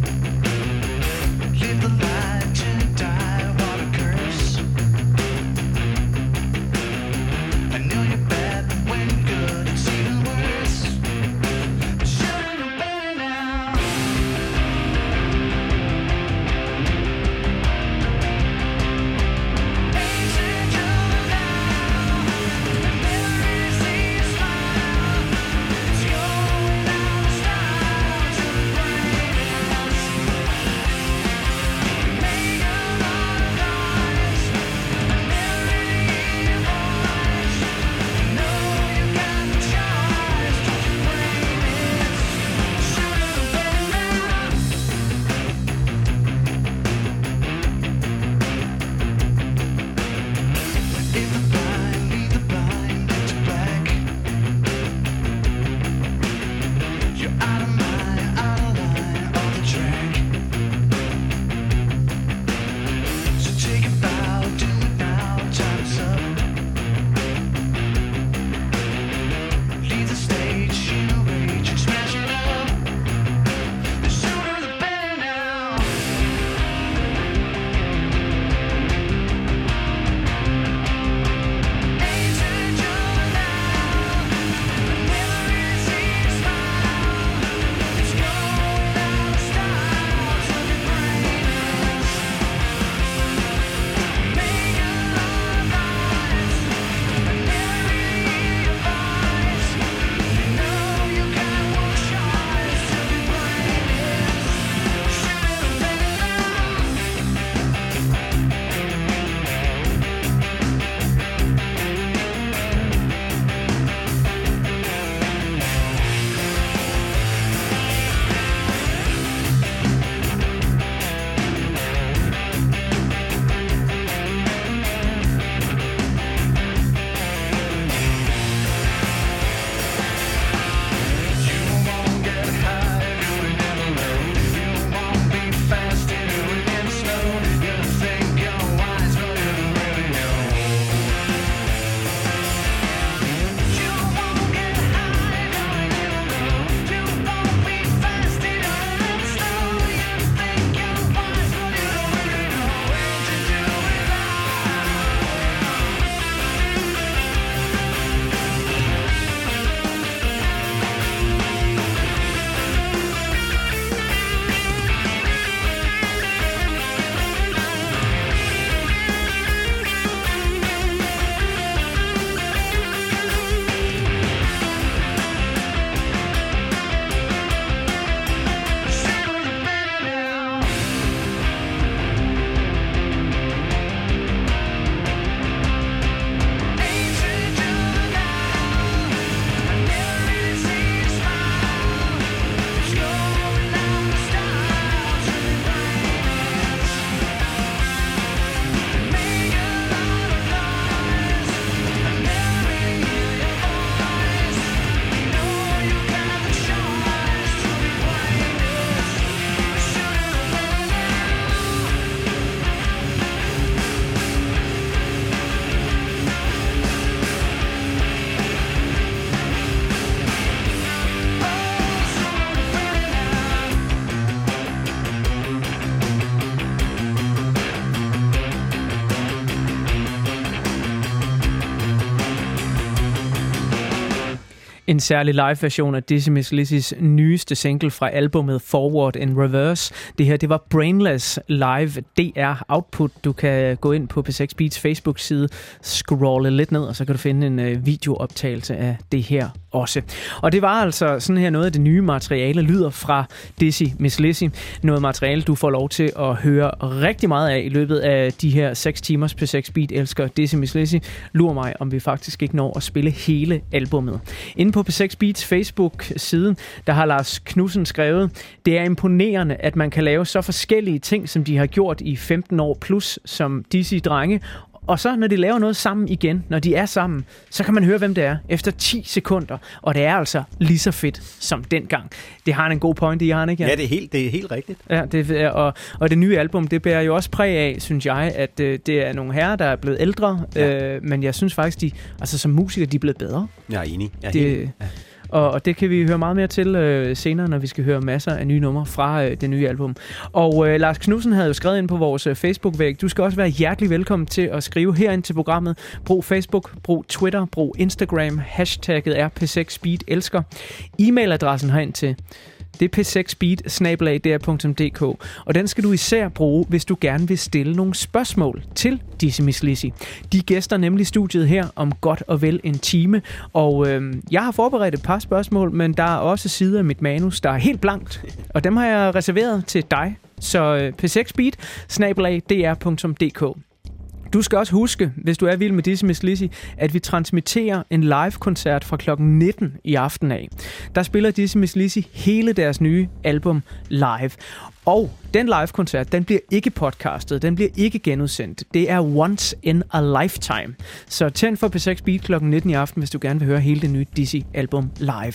En særlig live-version af Dizzy Miss Lizzys nyeste single fra albumet Forward in Reverse. Det her, det var Brainless Live D R Output. Du kan gå ind på P seks Beats Facebook-side, scrolle lidt ned, og så kan du finde en øh, videooptagelse af det her også. Og det var altså sådan her noget af det nye materiale, lyder fra Dizzy Miss Lizzy. Noget materiale, du får lov til at høre rigtig meget af i løbet af de her seks timers P seks Beat elsker Dizzy Miss Lizzy. Lur mig, om vi faktisk ikke når at spille hele albummet. Inde på P seks Beats Facebook-side, der har Lars Knudsen skrevet, det er imponerende, at man kan lave så forskellige ting, som de har gjort i femten år plus som Dizzy-drenge. Og så, når de laver noget sammen igen, når de er sammen, så kan man høre, hvem det er, efter ti sekunder. Og det er altså lige så fedt som dengang. Det har en god point i, har han ikke? Ja, det er helt, det er helt rigtigt. Ja, det er, og, og det nye album, det bærer jo også præg af, synes jeg, at øh, det er nogle herrer, der er blevet ældre. Ja. Øh, men jeg synes faktisk, de, altså som musikere, de er blevet bedre. Jeg er enig. Jeg er det, helt, ja. Og, og det kan vi høre meget mere til øh, senere, når vi skal høre masser af nye numre fra øh, det nye album. Og øh, Lars Knudsen havde jo skrevet ind på vores øh, Facebook-væg. Du skal også være hjertelig velkommen til at skrive herind til programmet. Brug Facebook, brug Twitter, brug Instagram. Hashtagget er P seks Beat elsker. E-mailadressen herind til det er p seks beat snabel-a d r punktum d k, og den skal du især bruge, hvis du gerne vil stille nogle spørgsmål til Dizzy Miss Lizzy. De gæster nemlig studiet her om godt og vel en time, og øh, jeg har forberedt et par spørgsmål, men der er også sider af mit manus, der er helt blankt, og dem har jeg reserveret til dig. Så øh, p seks beat snabel-a d r punktum d k. Du skal også huske, hvis du er vild med Dizzy Miss Lizzy, at vi transmitterer en live-koncert fra klokken nitten i aften af. Der spiller Dizzy Miss Lizzy hele deres nye album live. Og den live-koncert, den bliver ikke podcastet, den bliver ikke genudsendt. Det er once in a lifetime. Så tænd for P seks Beat klokken nitten i aften, hvis du gerne vil høre hele det nye Dizzy-album live.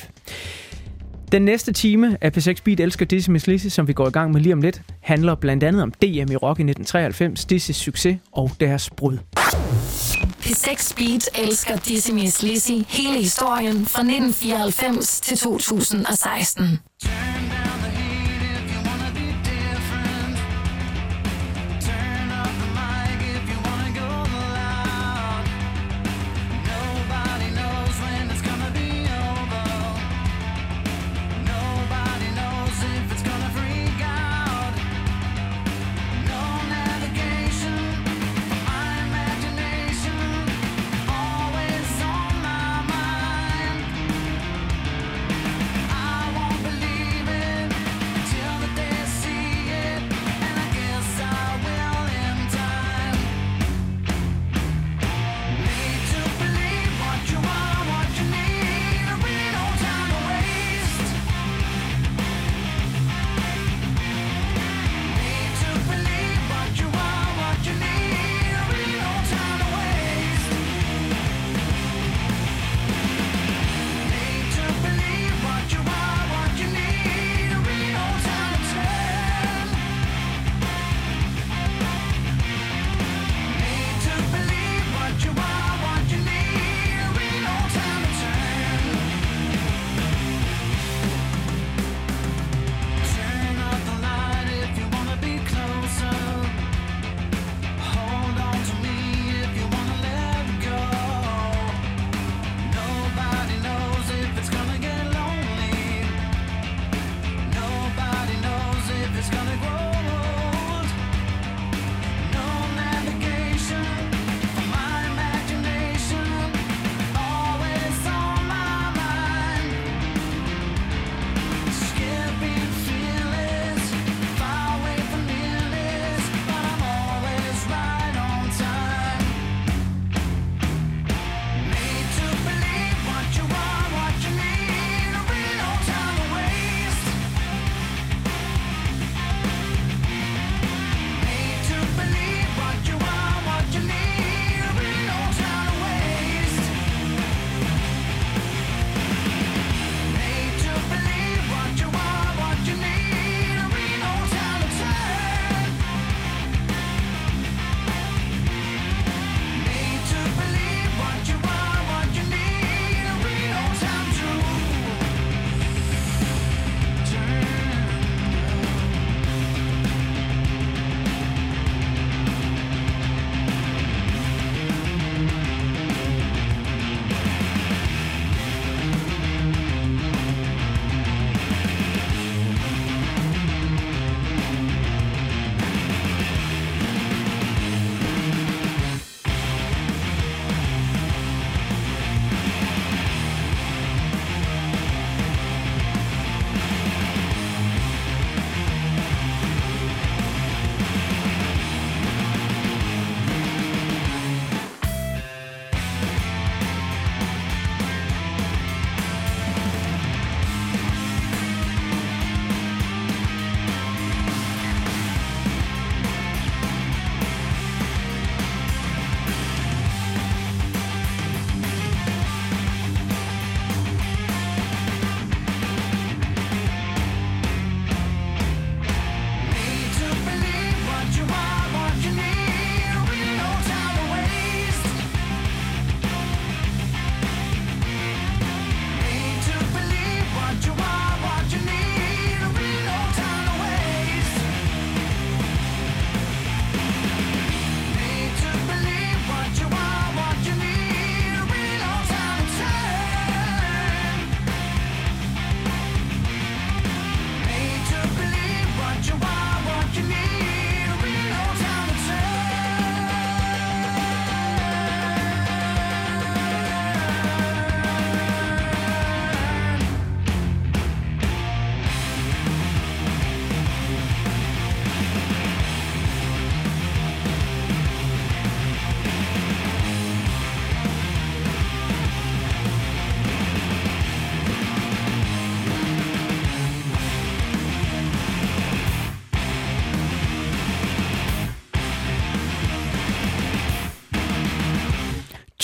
Den næste time af P seks Beat elsker Dizzy Miss Lizzy, som vi går i gang med lige om lidt, handler blandt andet om D M i rock i nitten treoghalvfems, Dizzys succes og deres brud. P seks Beat elsker Dizzy Miss Lizzy, hele historien fra nitten fireoghalvfems til to tusind og seksten. Believe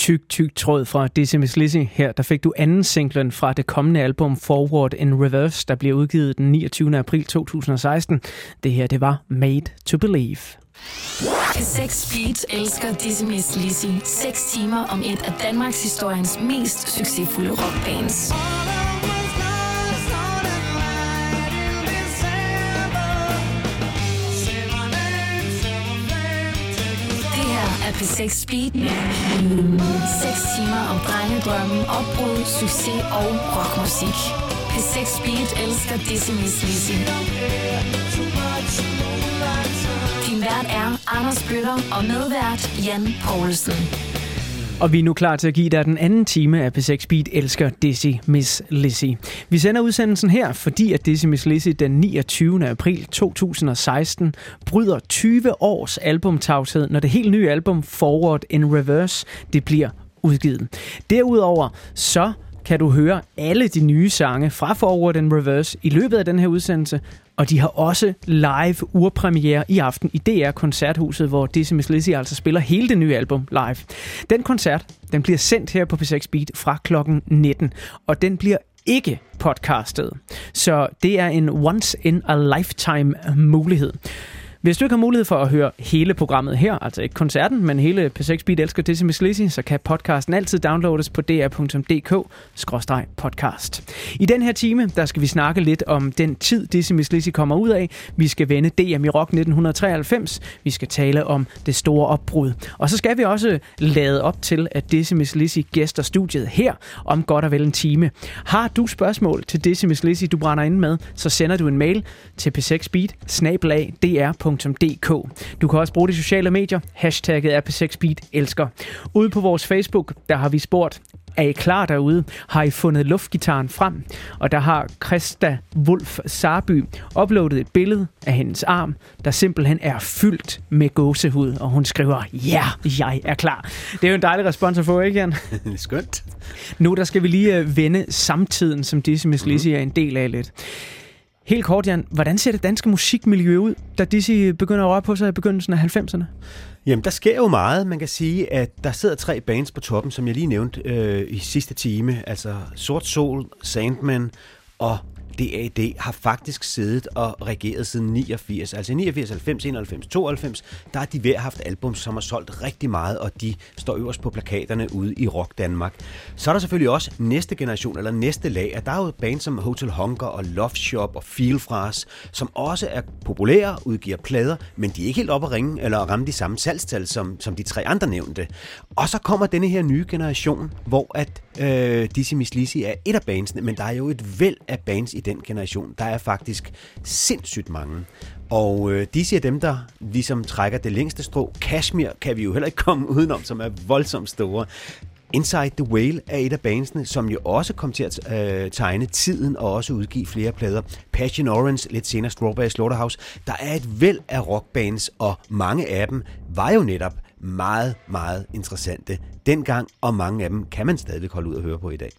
tyk, tyk tråd fra Dizzy Miss Lizzy. Her der fik du anden singlen fra det kommende album Forward in Reverse, der bliver udgivet den niogtyvende april to tusind og seksten. Det her, det var Made to Believe. P seks Beat elsker Dizzy Miss Lizzy. seks timer om et af Danmarks historiens mest succesfulde rockbands. P seks Speed. seks timer om drengedrømme, opbrud, succes og rockmusik. P seks Speed elsker Dizzy Miss Lizzy. Din vært er Anders Bøtter og medvært Jan Poulsen. Og vi er nu klar til at give dig den anden time af P seks Beat elsker Dizzy Miss Lizzy. Vi sender udsendelsen her, fordi at Dizzy Miss Lizzy den niogtyvende april to tusind og seksten bryder tyve års albumtavshed, når det helt nye album Forward in Reverse det bliver udgivet. Derudover så kan du høre alle de nye sange fra Forward in Reverse i løbet af den her udsendelse, og de har også live urpremiere i aften i D R Koncerthuset, hvor Dizzy Miss Lizzy altså spiller hele det nye album live. Den koncert, den bliver sendt her på P seks Beat fra klokken nitten, og den bliver ikke podcastet. Så det er en once in a lifetime mulighed. Hvis du ikke har mulighed for at høre hele programmet her, altså ikke koncerten, men hele P seks Beat elsker Dizzy Miss Lizzy, så kan podcasten altid downloades på d r punktum d k skråstreg podcast. I den her time, der skal vi snakke lidt om den tid, Dizzy Miss Lizzy kommer ud af. Vi skal vende D M i Rock nitten treoghalvfems. Vi skal tale om det store opbrud. Og så skal vi også lade op til, at Dizzy Miss Lizzy gæster studiet her om godt og vel en time. Har du spørgsmål til Dizzy Miss Lizzy, du brænder ind med, så sender du en mail til p seks beat snabel-a d r punktum d k. Du kan også bruge de sociale medier. Hashtagget er P seks Beat elsker. Ude på vores Facebook, der har vi spurgt, er I klar derude? Har I fundet luftgitaren frem? Og der har Christa Wolf Sarby uploadet et billede af hendes arm, der simpelthen er fyldt med gåsehud. Og hun skriver, ja, jeg er klar. Det er jo en dejlig respons at få, ikke Jan? Skønt. Nu der skal vi lige vende samtiden, som Dizzy Miss Lizzy er en del af lidt. Helt kort, Jan, hvordan ser det danske musikmiljø ud, da Dizzy begynder at røre på sig i begyndelsen af halvfemserne? Jamen, der sker jo meget. Man kan sige, at der sidder tre bands på toppen, som jeg lige nævnte øh, i sidste time. Altså Sort Sol, Sandman og D A D har faktisk siddet og regeret siden niogfirs. Altså i niogfirs, halvfems, enoghalvfems, tooghalvfems, der har de hver haft album, som har solgt rigtig meget, og de står øverst på plakaterne ude i Rock Danmark. Så er der selvfølgelig også næste generation, eller næste lag, og der er jo bands som Hotel Hunger og Love Shop og Feel Fras, som også er populære, udgiver plader, men de er ikke helt oppe at ringe, eller at ramme de samme salgstal, som, som de tre andre nævnte. Og så kommer denne her nye generation, hvor at øh, Dizzy Miss Lizzy er et af bandsene, men der er jo et væld af bands i den generation. Der er faktisk sindssygt mange. Og øh, de er dem, der ligesom trækker det længste strå. Kashmir kan vi jo heller ikke komme udenom, som er voldsomt store. Inside the Whale er et af bandsene, som jo også kom til at øh, tegne tiden og også udgive flere plader. Passion Orange, lidt senere Strawberry Slaughterhouse. Der er et væld af rockbands, og mange af dem var jo netop meget, meget interessante dengang, og mange af dem kan man stadig holde ud og høre på i dag.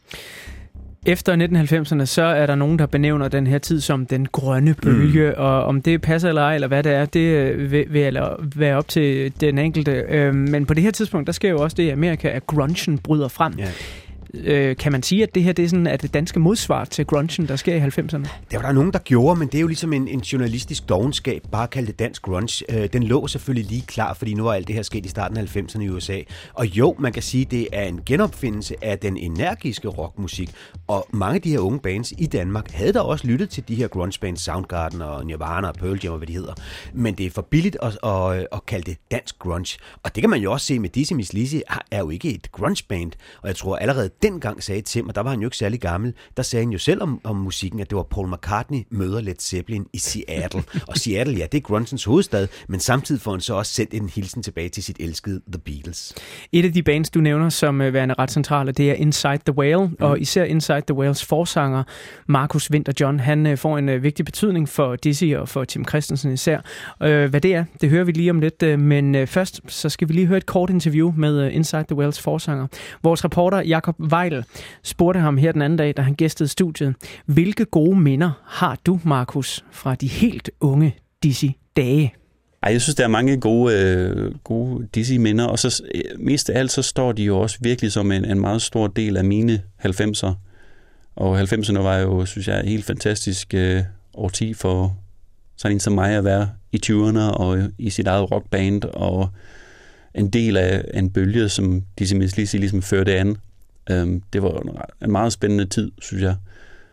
Efter nitten halvfemserne, så er der nogen, der benævner den her tid som den grønne bølge, mm. og om det passer eller ej, eller hvad det er, det vil, vil være op til den enkelte. Men på det her tidspunkt, der sker jo også det i Amerika, at grungen bryder frem. Yeah. Kan man sige, at det her det er sådan, at det danske modsvar til grungen, der sker i halvfemserne? Det var der nogen, der gjorde, men det er jo ligesom en, en journalistisk dovenskab, bare kalde det dansk grunge. Den lå selvfølgelig lige klar, fordi nu var alt det her sket i starten af halvfemserne i U S A. Og jo, man kan sige, det er en genopfindelse af den energiske rockmusik. Og mange af de her unge bands i Danmark havde da også lyttet til de her grunge bands, Soundgarden og Nirvana og Pearl Jam og hvad de hedder. Men det er for billigt at, at, at kalde det dansk grunge. Og det kan man jo også se med Dizzy Miss Lizzy er jo ikke et grunge band. Og jeg tror allerede dengang sagde Tim, og der var han jo ikke særlig gammel, der sagde han jo selv om, om musikken, at det var Paul McCartney møder Led Zeppelin i Seattle. Og Seattle, ja, det er grungens hovedstad, men samtidig får han så også sendt en hilsen tilbage til sit elskede The Beatles. Et af de bands, du nævner som værende ret centrale, det er Inside the Whale, mm. og især Inside the Whales forsanger, Marcus Winter John, han får en vigtig betydning for Dizzy og for Tim Christensen især. Hvad det er, det hører vi lige om lidt, men først så skal vi lige høre et kort interview med Inside the Whales forsanger. Vores reporter Jakob Weil spurgte ham her den anden dag, da han gæstede studiet. Hvilke gode minder har du, Markus, fra de helt unge Dizzy-dage? Ej, jeg synes, der er mange gode, øh, gode Dizzy-minder, og så øh, mest af alt, så står de jo også virkelig som en, en meget stor del af mine halvfemser. Og halvfemserne var jo, synes jeg, et helt fantastisk øh, årti for sådan en som mig at være i tyverne og i sit eget rockband, og en del af en bølge, som Dizzy Miss Lizzy ligesom førte an. Um, det var en, en meget spændende tid, synes jeg.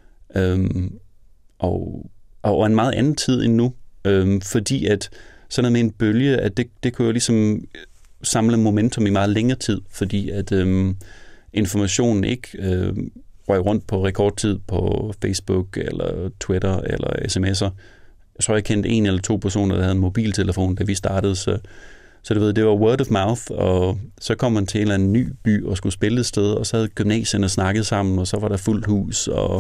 Um, og, og en meget anden tid end nu, um, fordi at sådan noget med en bølge, at det, det kunne jo ligesom samle momentum i meget længere tid, fordi at um, informationen ikke uh, røg rundt på rekordtid på Facebook eller Twitter eller sms'er. Jeg tror, jeg kendte en eller to personer, der havde en mobiltelefon, da vi startede, så, så du ved, det var word of mouth, og så kom man til en eller anden ny by og skulle spille et sted, og så havde gymnasierne snakket sammen, og så var der fuldt hus, og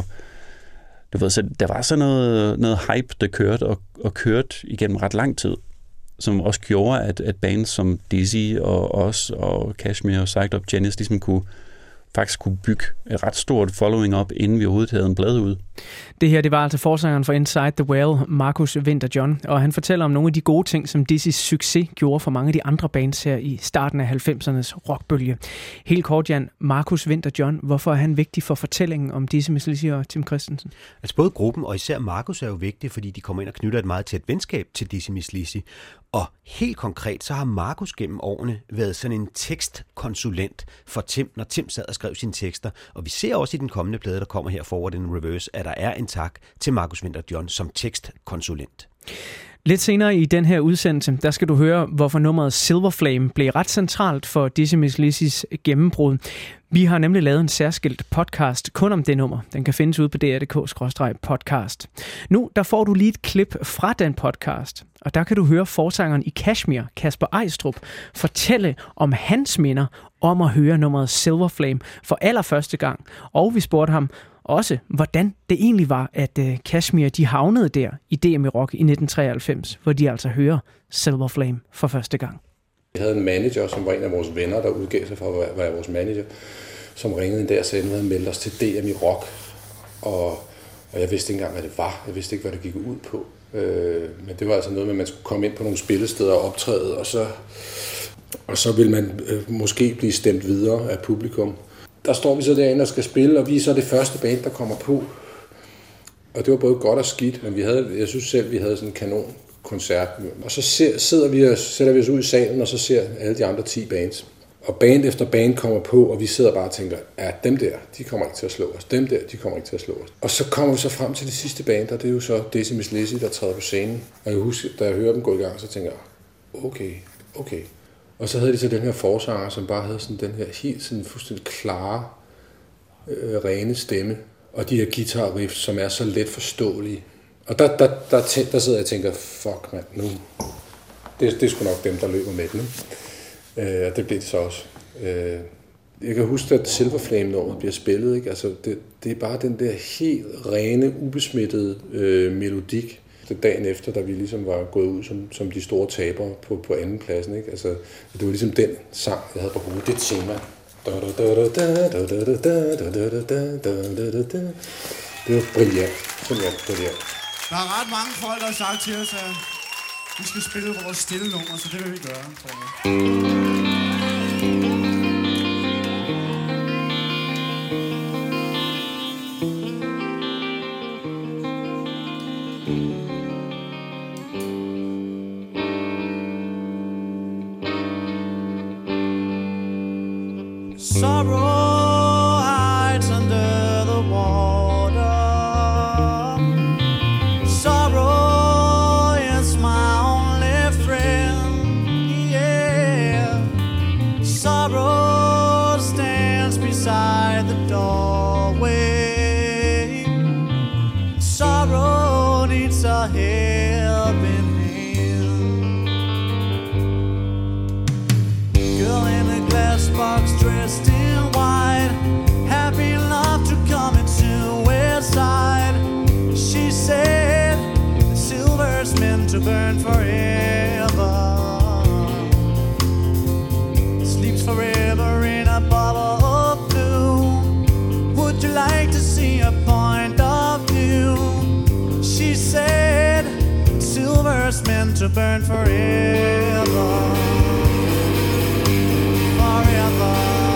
du ved, så der var så noget, noget hype, der kørte og, og kørte igennem ret lang tid, som også gjorde, at, at bands som Dizzy og os og Kashmir og Psyched Up Janice ligesom kunne faktisk kunne bygge et ret stort following op, inden vi overhovedet havde en blad ud. Det her, det var altså forsangeren for Inside the Well, Marcus Winther John, og han fortæller om nogle af de gode ting, som Dizzys succes gjorde for mange af de andre bands her i starten af halvfemsernes rockbølge. Helt kort, Jan, Marcus Winther John, hvorfor er han vigtig for fortællingen om Dizzy Miss Lizzy og Tim Christensen? Altså både gruppen og især Marcus er jo vigtig, fordi de kommer ind og knytter et meget tæt venskab til Dizzy Miss Lizzy. Og helt konkret, så har Marcus gennem årene været sådan en tekstkonsulent for Tim, når Tim sad og skrev sine tekster. Og vi ser også i den kommende plade, der kommer her Forward in Reverse, at der er en tak til Marcus Winther John som tekstkonsulent. Lidt senere i den her udsendelse, der skal du høre, hvorfor nummeret Silver Flame blev ret centralt for Dizzy Miss Lizzys gennembrud. Vi har nemlig lavet en særskilt podcast kun om det nummer. Den kan findes ude på d r punktum d k skråstreg podcast. Nu der får du lige et klip fra den podcast, og der kan du høre forsangeren i Kashmir, Kasper Eistrup, fortælle om hans minder om at høre nummeret Silver Flame for allerførste gang. Og vi spurgte ham også, hvordan det egentlig var, at uh, Kashmir de havnede der i D M i Rock i nitten treoghalvfems, hvor de altså hører Silver Flame for første gang. Vi havde en manager, som var en af vores venner, der udgav sig for at være vores manager, som ringede en dag og sagde, at han havde meldt os til D M i Rock. Og, og jeg vidste ikke engang, hvad det var. Jeg vidste ikke, hvad det gik ud på. Øh, men det var altså noget med, at man skulle komme ind på nogle spillesteder og optræde, og så, og så vil man øh, måske blive stemt videre af publikum. Der står vi så derinde og skal spille, og vi er så det første band, der kommer på. Og det var både godt og skidt, men vi havde, jeg synes selv, vi havde sådan en kanon koncert. Og så ser, sidder vi og sætter vi os ud i salen, og så ser alle de andre ti bands. Og band efter band kommer på, og vi sidder bare og tænker, ja, dem der, de kommer ikke til at slå os. Dem der, de kommer ikke til at slå os. Og så kommer vi så frem til det sidste band, og det er jo så Dizzy Miss Lizzy, der træder på scenen. Og jeg husker, da jeg hører dem gå i gang, så tænker jeg, okay, okay. Og så havde de så den her forsanger, som bare havde sådan den her helt sådan fuldstændig klare, øh, rene stemme. Og de her guitar riffs, som er så let forståelige. Og der, der, der, der, der sidder jeg og tænker, fuck mand, nu. Det, det er sgu nok dem, der løber med den. Øh, og det blev det så også. Øh, jeg kan huske, at Silver Flame-nummeret bliver spillet. Ikke? Altså, det, det er bare den der helt rene, ubesmittede øh, melodik. Dagen efter, da vi ligesom var gået ud som, som de store tabere på, på anden pladsen. Ikke? Altså, det var ligesom den sang, jeg havde på hovedet. Det tema. Det var brilliant. Brilliant, brilliant. Der er ret mange folk, der har sagt til os, at vi skal spille vores stille nummer, så det vil vi gøre, tror jeg. Sorrow hides under the water. Sorrow is my only friend. Yeah. Sorrow stands beside the doorway. Sorrow needs a helping hand. Girl in a glass box dressed in white, happy enough to come into his side. She said the silver's meant to burn forever, sleeps forever in a bottle of blue. Would you like to see a point of view? She said silver's meant to burn forever. Forever.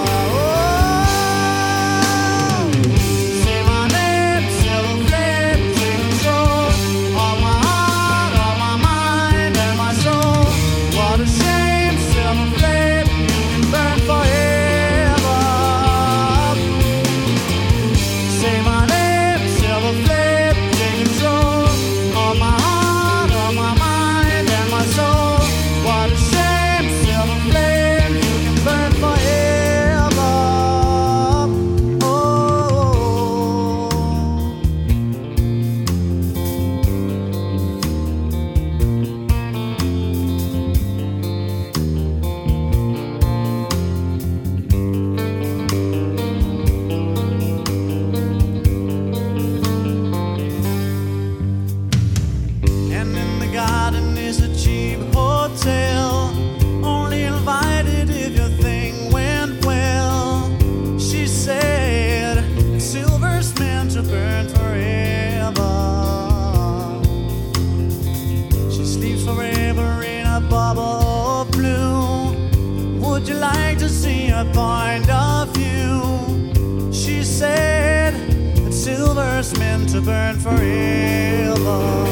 Point of view, she said that silver's meant to burn forever.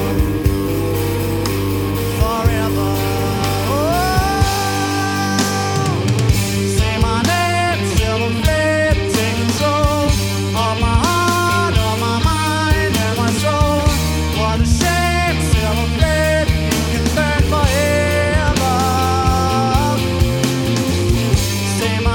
Forever. Oh, say my name, silver flame, take control of my heart, of my mind, and my soul. What a shame, silver flame, you can burn forever. Say my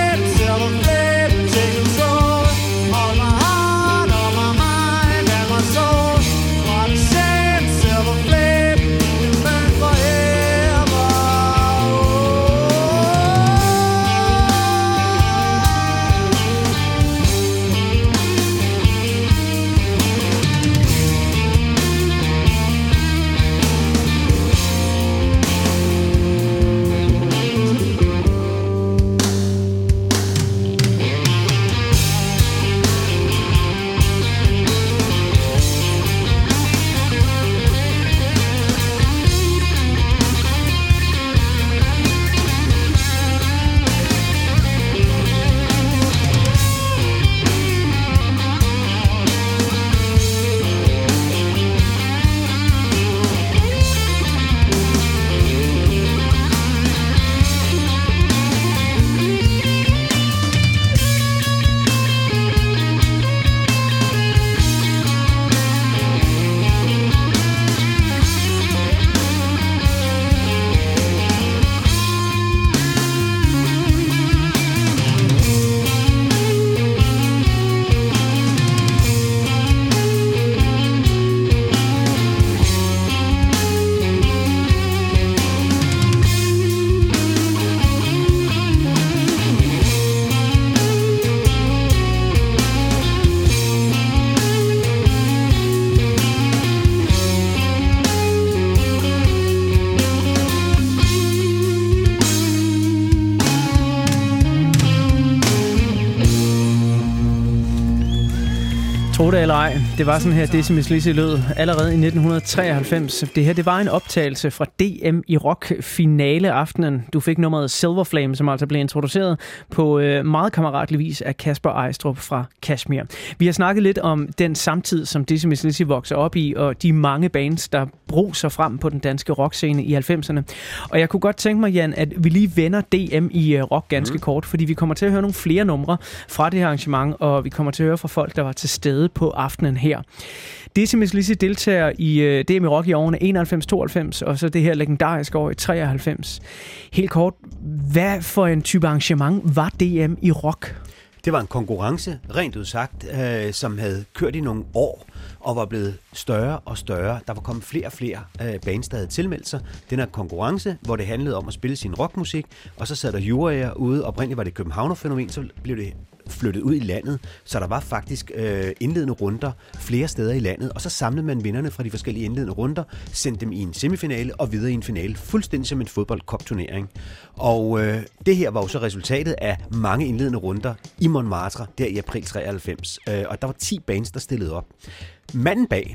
Tro det eller ej, det var sådan her Decimus Lizzy lød allerede i nitten treoghalvfems. Det her, det var en optagelse fra D M i rock finale aftenen. Du fik nummeret Silver Flame, som altså blev introduceret på øh, meget kammeratlig vis af Kasper Ejstrup fra Kashmir. Vi har snakket lidt om den samtid, som Decimus Lizzy vokser op i, og de mange bands, der bruser frem på den danske rockscene i halvfemserne. Og jeg kunne godt tænke mig, Jan, at vi lige vender D M i øh, rock ganske mm. kort, fordi vi kommer til at høre nogle flere numre fra det her arrangement, og vi kommer til at høre fra folk, der var til stede på aftenen her. Decimus Lizzy deltager i øh, D M i rock i årene enoghalvfems tooghalvfems, og så det her legendariske år i treoghalvfems. Helt kort, hvad for en type arrangement var D M i rock? Det var en konkurrence, rent udsagt, øh, som havde kørt i nogle år og var blevet større og større. Der var kommet flere og flere øh, bands, der havde tilmeldt sig. Den her konkurrence, hvor det handlede om at spille sin rockmusik, og så sad der juryer ude. Oprindeligt var det Københavner-fænomen, så blev det flyttet ud i landet, så der var faktisk øh, indledende runder flere steder i landet, og så samlede man vinderne fra de forskellige indledende runder, sendte dem i en semifinale og videre i en finale, fuldstændig som en fodboldcup-turnering. Og øh, det her var jo så resultatet af mange indledende runder i Montmartre, der i april treoghalvfems, øh, og der var ti bands, der stillede op. Manden bag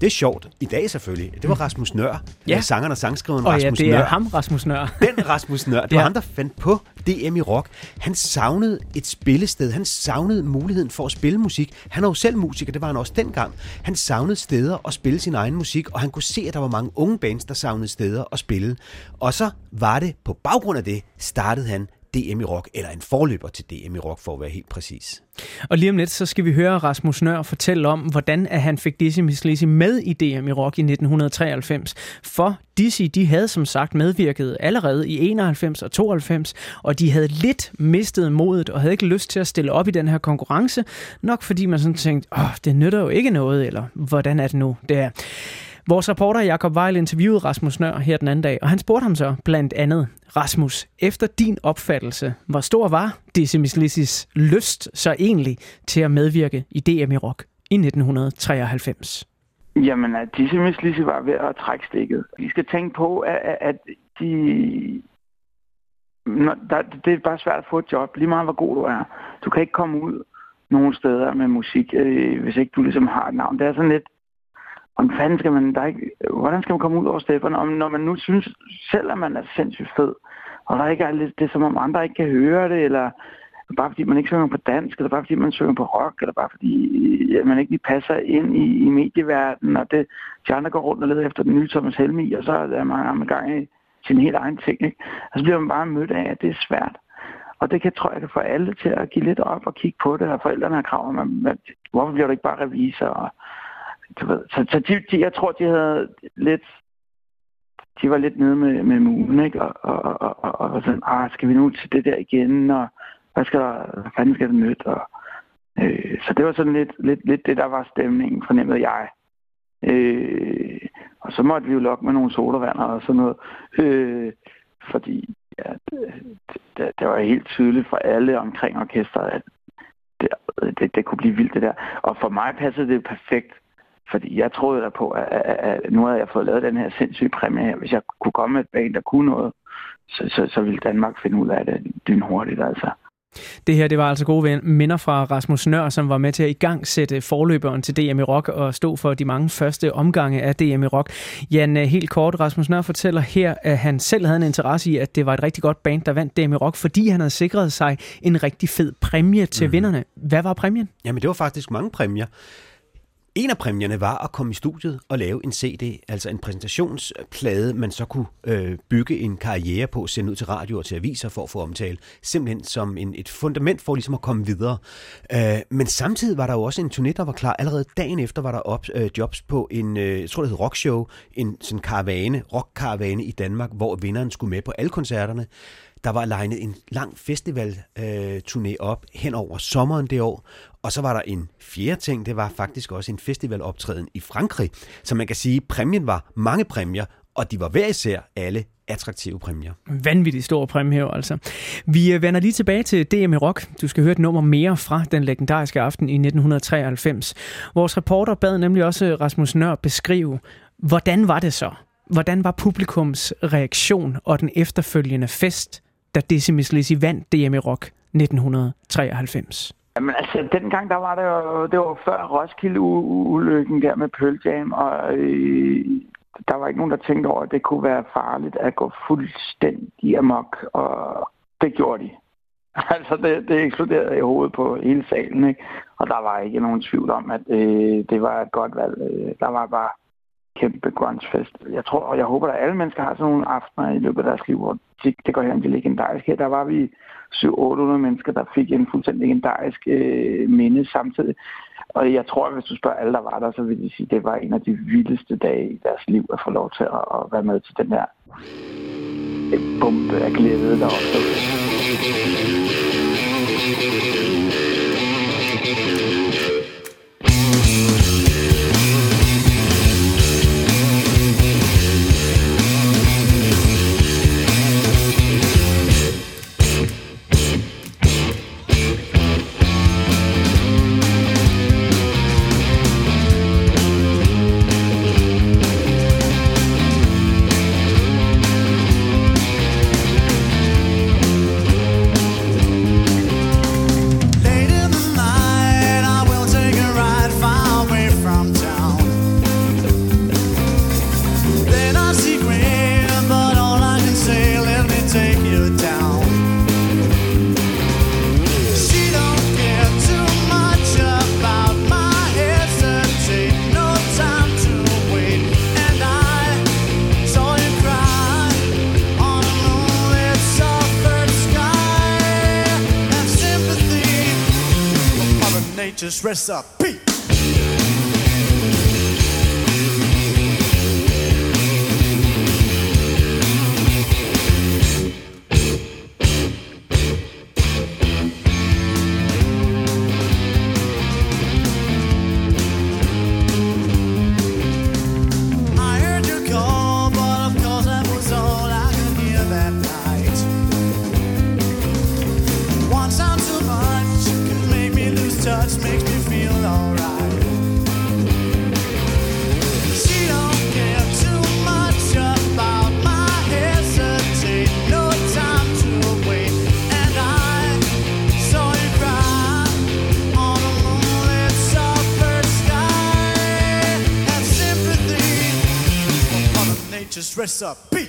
det er sjovt. I dag selvfølgelig. Det var Rasmus Nøhr, ja. sangeren og sangskriveren og Rasmus ja, det er Nøhr. ham, Rasmus Nøhr. Den Rasmus Nøhr. Det var ja. ham, der fandt på D M i rock. Han savnede et spillested. Han savnede muligheden for at spille musik. Han er jo selv musiker, det var han også dengang. Han savnede steder at spille sin egen musik, og han kunne se, at der var mange unge bands, der savnede steder at spille. Og så var det på baggrund af det, startede han D M i rock, eller en forløber til D M i rock, for at være helt præcis. Og lige om lidt, så skal vi høre Rasmus Nøhr fortælle om, hvordan at han fik Dizzy Miss Lizzy med i D M i rock i nitten treoghalvfems. For Dizzy, de havde som sagt medvirket allerede i enoghalvfems og tooghalvfems, og de havde lidt mistet modet og havde ikke lyst til at stille op i den her konkurrence, nok fordi man sådan tænkte, åh, det nytter jo ikke noget, eller hvordan er det nu, det er. Vores reporter Jakob Weil interviewede Rasmus Nøhr her den anden dag, og han spurgte ham så blandt andet, Rasmus, efter din opfattelse, hvor stor var Dizzy Miss Lizzys lyst så egentlig til at medvirke i D M i rock i nitten treoghalvfems? Jamen, at Dizzy Miss Lizzy var ved at trække stikket. Vi skal tænke på, at, at de... Når, der, det er bare svært at få et job, lige meget hvor god du er. Du kan ikke komme ud nogen steder med musik, øh, hvis ikke du ligesom har et navn. Det er sådan lidt, Om fanden skal man, der ikke, hvordan skal man komme ud over stepperne, om når man nu synes selv, at man er sindssygt fed, og der ikke er lidt, det er som om andre ikke kan høre det, eller bare fordi man ikke synger på dansk, eller bare fordi man synger på rock, eller bare fordi ja, man ikke lige passer ind i, i medieverdenen, og det, de andre går rundt og leder efter den nye Thomas Helmig, og så er man i gang i sin helt egen ting, ikke? Og så bliver man bare mødt af, at det er svært. Og det kan, tror jeg, kan få alle til at give lidt op og kigge på det, og forældrene har krav om, at hvorfor bliver du ikke bare revisor, og Så, så de, de, jeg tror, de havde lidt, de var lidt nede med, med mulen, ikke? Og, og, og, og, og sådan, ah, skal vi nu til det der igen, og hvad skal der, hvad fanden skal det nytte? Og, øh, så det var sådan lidt, lidt, lidt det, der var stemningen, fornemmede jeg. Øh, og så måtte vi jo lokke med nogle sodavanner og sådan noget, øh, fordi ja, det, det, det var helt tydeligt for alle omkring orkestret, at det, det, det kunne blive vildt det der. Og for mig passede det perfekt. Fordi jeg troede der på, at, at, at nu havde jeg fået lavet den her sindssyge præmie her. Hvis jeg kunne komme med et band, der kunne noget, så, så, så ville Danmark finde ud af det lynhurtigt, altså. Det her, det var altså gode minder fra Rasmus Nøhr, som var med til at i gang sætte forløberen til D M i rock og stå for de mange første omgange af D M i rock. Jan, helt kort, Rasmus Nøhr fortæller her, at han selv havde en interesse i, at det var et rigtig godt band, der vandt D M i rock, fordi han havde sikret sig en rigtig fed præmie til mm. vinderne. Hvad var præmien? Jamen, det var faktisk mange præmier. En af præmierne var at komme i studiet og lave en C D, altså en præsentationsplade, man så kunne øh, bygge en karriere på, sende ud til radio og til aviser for at få omtale. Simpelthen som en, et fundament for ligesom at komme videre. Øh, men samtidig var der jo også en turné, der var klar. Allerede dagen efter var der op, øh, jobs på en, øh, jeg tror det hed rockshow, en sådan karavane, rockkaravane i Danmark, hvor vinderen skulle med på alle koncerterne. Der var legnet en lang festival-turné øh, op hen over sommeren det år. Og så var der en fjerde ting, det var faktisk også en festivaloptræden i Frankrig. Så man kan sige, at præmien var mange præmier, og de var hver især alle attraktive præmier. Vanvittigt store præmier, altså. Vi vender lige tilbage til D M i rock. Du skal høre et nummer mere fra den legendariske aften i nitten treoghalvfems. Vores reporter bad nemlig også Rasmus Nøhr beskrive, hvordan var det så? Hvordan var publikums reaktion og den efterfølgende fest, da Dizzy Miss Lizzy vandt D M i rock nitten treoghalvfems? Jamen altså, dengang der var det jo, det var før Roskilde-ulykken der med Pearl Jam, og øh, der var ikke nogen, der tænkte over, at det kunne være farligt at gå fuldstændig amok, og det gjorde de. Altså, det, det eksploderede i hovedet på hele salen, ikke? Og der var ikke nogen tvivl om, at øh, det var et godt valg. Der var bare kæmpe grunge-fest. Jeg tror, og jeg håber, at alle mennesker har sådan nogle aftener i løbet af deres liv, hvor det, det går hen til legendarisk. Her der var vi syv til otte hundrede mennesker, der fik en fuldstændig legendarisk øh, minde samtidig. Og jeg tror, at hvis du spørger alle, der var der, så vil de sige, at det var en af de vildeste dage i deres liv at få lov til at, at være med til den der bombe af glæde, der opstod. Nature's recipe. Nature's recipe.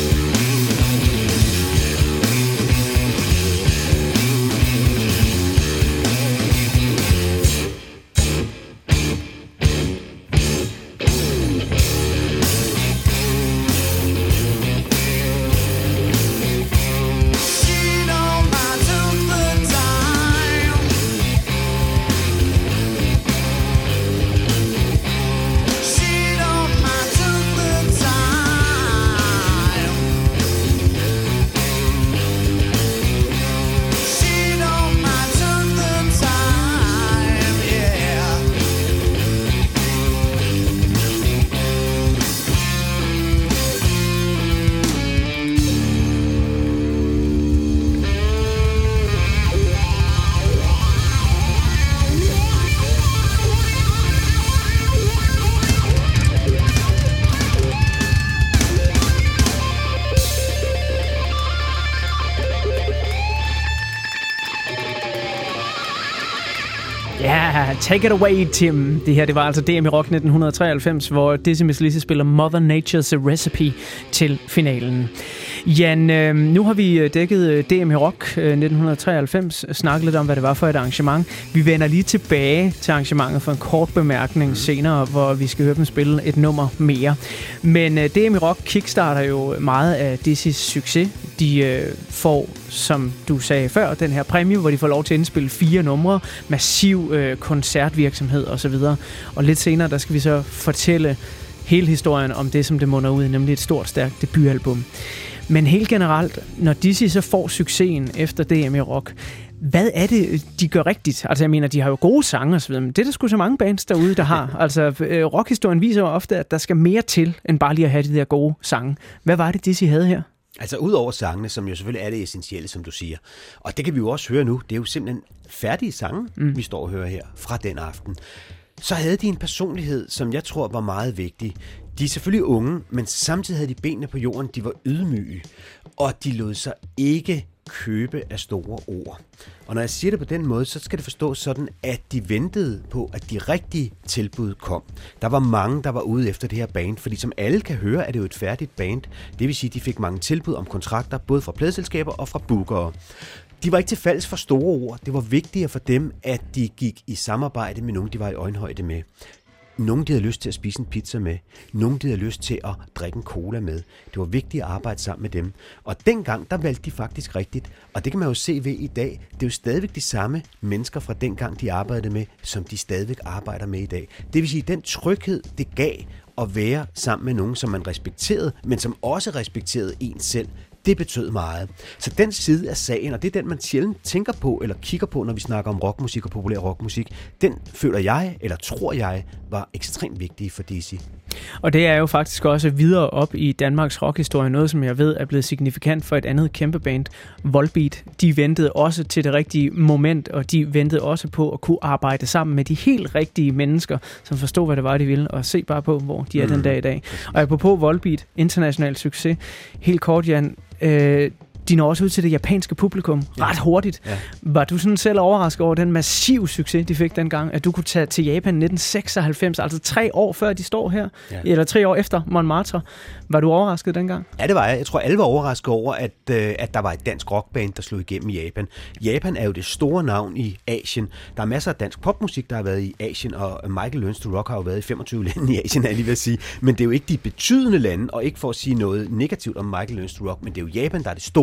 Ja, take it away, Tim. Det her, det var altså D M i Rock nitten treoghalvfems, hvor Dizzy Miss Lizzy spiller Mother Nature's Recipe til finalen. Jan, øh, nu har vi dækket D M i Rock øh, nitten treoghalvfems, snakket lidt om, hvad det var for et arrangement. Vi vender lige tilbage til arrangementet for en kort bemærkning senere, hvor vi skal høre dem spille et nummer mere. Men øh, D M i Rock kickstarter jo meget af Dizzys succes. De øh, får, som du sagde før, den her præmie, hvor de får lov til at indspille fire numre, massiv øh, koncertvirksomhed osv. Og lidt senere, der skal vi så fortælle hele historien om det, som det munder ud i, nemlig et stort, stærkt debutalbum. Men helt generelt, når Dizzy så får succesen efter D M i Rock, hvad er det, de gør rigtigt? Altså, jeg mener, de har jo gode sange og så videre, men det er der sgu så mange bands derude, der har. Altså, øh, rockhistorien viser jo ofte, at der skal mere til, end bare lige at have de der gode sange. Hvad var det, Dizzy havde her? Altså ud over sangene, som jo selvfølgelig er det essentielle, som du siger. Og det kan vi jo også høre nu. Det er jo simpelthen færdige sange, mm. vi står og hører her fra den aften. Så havde de en personlighed, som jeg tror var meget vigtig. De er selvfølgelig unge, men samtidig havde de benene på jorden. De var ydmyge, og de lod sig ikke købe af store ord. Og når jeg siger det på den måde, så skal det forstås sådan, at de ventede på, at de rigtige tilbud kom. Der var mange, der var ude efter det her band, fordi som alle kan høre, er det jo et færdigt band. Det vil sige, at de fik mange tilbud om kontrakter, både fra pladeselskaber og fra bookere. De var ikke til falds for store ord. Det var vigtigere for dem, at de gik i samarbejde med nogen, de var i øjenhøjde med. Nogen, de havde lyst til at spise en pizza med. Nogen, de havde lyst til at drikke en cola med. Det var vigtigt at arbejde sammen med dem. Og dengang, der valgte de faktisk rigtigt. Og det kan man jo se ved i dag. Det er jo stadigvæk de samme mennesker fra dengang, de arbejdede med, som de stadigvæk arbejder med i dag. Det vil sige, den tryghed, det gav at være sammen med nogen, som man respekterede, men som også respekterede en selv. Det betød meget. Så den side af sagen, og det er den, man sjældent tænker på eller kigger på, når vi snakker om rockmusik og populær rockmusik, den føler jeg, eller tror jeg, var ekstremt vigtig for Dizzy. Og det er jo faktisk også videre op i Danmarks rockhistorie, noget som jeg ved er blevet signifikant for et andet kæmpe band, Volbeat. De ventede også til det rigtige moment, og de ventede også på at kunne arbejde sammen med de helt rigtige mennesker, som forstod, hvad det var, de ville, og se bare på, hvor de er mm. den dag i dag. Og apropos Volbeat, international succes, helt kort, Jan, øh, de når også ud til det japanske publikum ret hurtigt. Ja. Var du sådan selv overrasket over den massive succes, de fik dengang, at du kunne tage til Japan nitten seksoghalvfems, altså tre år før de står her, ja. eller tre år efter Montmartre. Var du overrasket dengang? Ja, det var jeg. Jeg tror, alle var overrasket over, at, øh, at der var et dansk rockband, der slog igennem i Japan. Japan er jo det store navn i Asien. Der er masser af dansk popmusik, der har været i Asien, og Michael Learns to Rock har jo været i femogtyve lande i Asien, er lige ved at sige. Men det er jo ikke de betydende lande, og ikke for at sige noget negativt om Michael Learns to Rock, men det er jo Japan, der er det store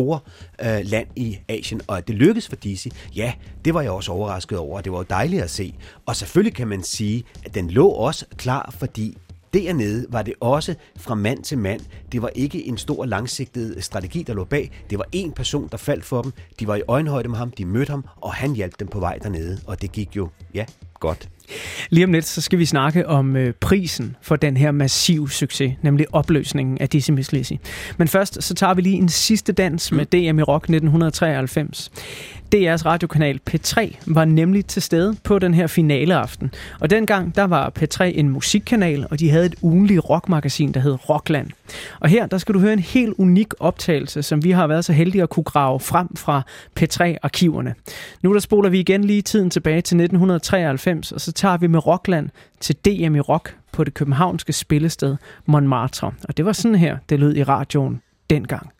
store øh, land i Asien, og at det lykkedes for Dizzy, ja, det var jeg også overrasket over, og det var jo dejligt at se. Og selvfølgelig kan man sige, at den lå også klar, fordi dernede var det også fra mand til mand. Det var ikke en stor langsigtet strategi, der lå bag. Det var én person, der faldt for dem. De var i øjenhøjde med ham, de mødte ham, og han hjalp dem på vej dernede. Og det gik jo, ja, godt. Lige om lidt, så skal vi snakke om øh, prisen for den her massive succes, nemlig opløsningen af Dizzy Miss Lizzy. Men først, så tager vi lige en sidste dans med D M i Rock nitten treoghalvfems. D R's radiokanal P tre var nemlig til stede på den her finaleaften. Og dengang, der var P tre en musikkanal, og de havde et ugenligt rockmagasin, der hed Rockland. Og her, der skal du høre en helt unik optagelse, som vi har været så heldige at kunne grave frem fra P tre-arkiverne. Nu der spoler vi igen lige tiden tilbage til nitten treoghalvfems, og så tager vi med Rockland til D M i Rock på det københavnske spillested Montmartre. Og det var sådan her, det lød i radioen dengang.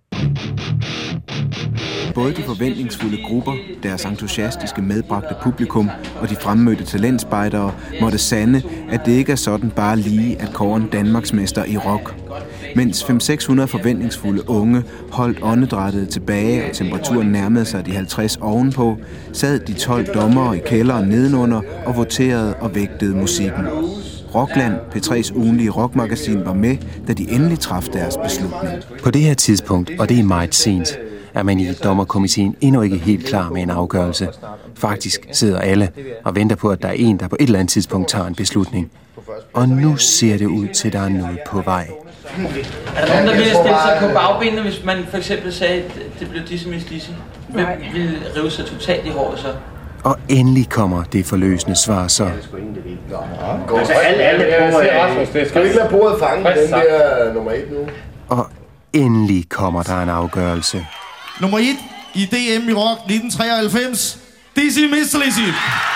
Både de forventningsfulde grupper, deres entusiastiske medbragte publikum og de fremmødte talentspejdere måtte sande, at det ikke er sådan bare lige at kåre en Danmarksmester i rock. Mens fem til seks hundrede forventningsfulde unge holdt åndedrættet tilbage og temperaturen nærmede sig de halvtreds ovenpå, sad de tolv dommere i kælderen nedenunder og voterede og vægtede musikken. Rockland, P tre's ugenlige rockmagasin, var med, da de endelig traf deres beslutning. På det her tidspunkt, og det er meget sent, er man i dommerkomiteen endnu ikke helt klar med en afgørelse. Faktisk sidder alle og venter på, at der er en, der på et eller andet tidspunkt tager en beslutning. Og nu ser det ud til, at der er noget på vej. Er der nogen, der ville stille sig på bagbenene, hvis man for eksempel sagde, at det blev Dizzy Miss Lizzy? Hvem ville rive sig totalt i håret så? Og endelig kommer det forløsende svar så. Altså alle, alle prøver, skal vi ikke lade bordet fange den der nummer et nu? Og endelig kommer der en afgørelse. Nummer et i D M i Rock nitten treoghalvfems, Dizzy Miss Lizzy.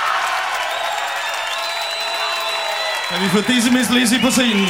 Kan vi få Dizzy Miss Lizzy på scenen?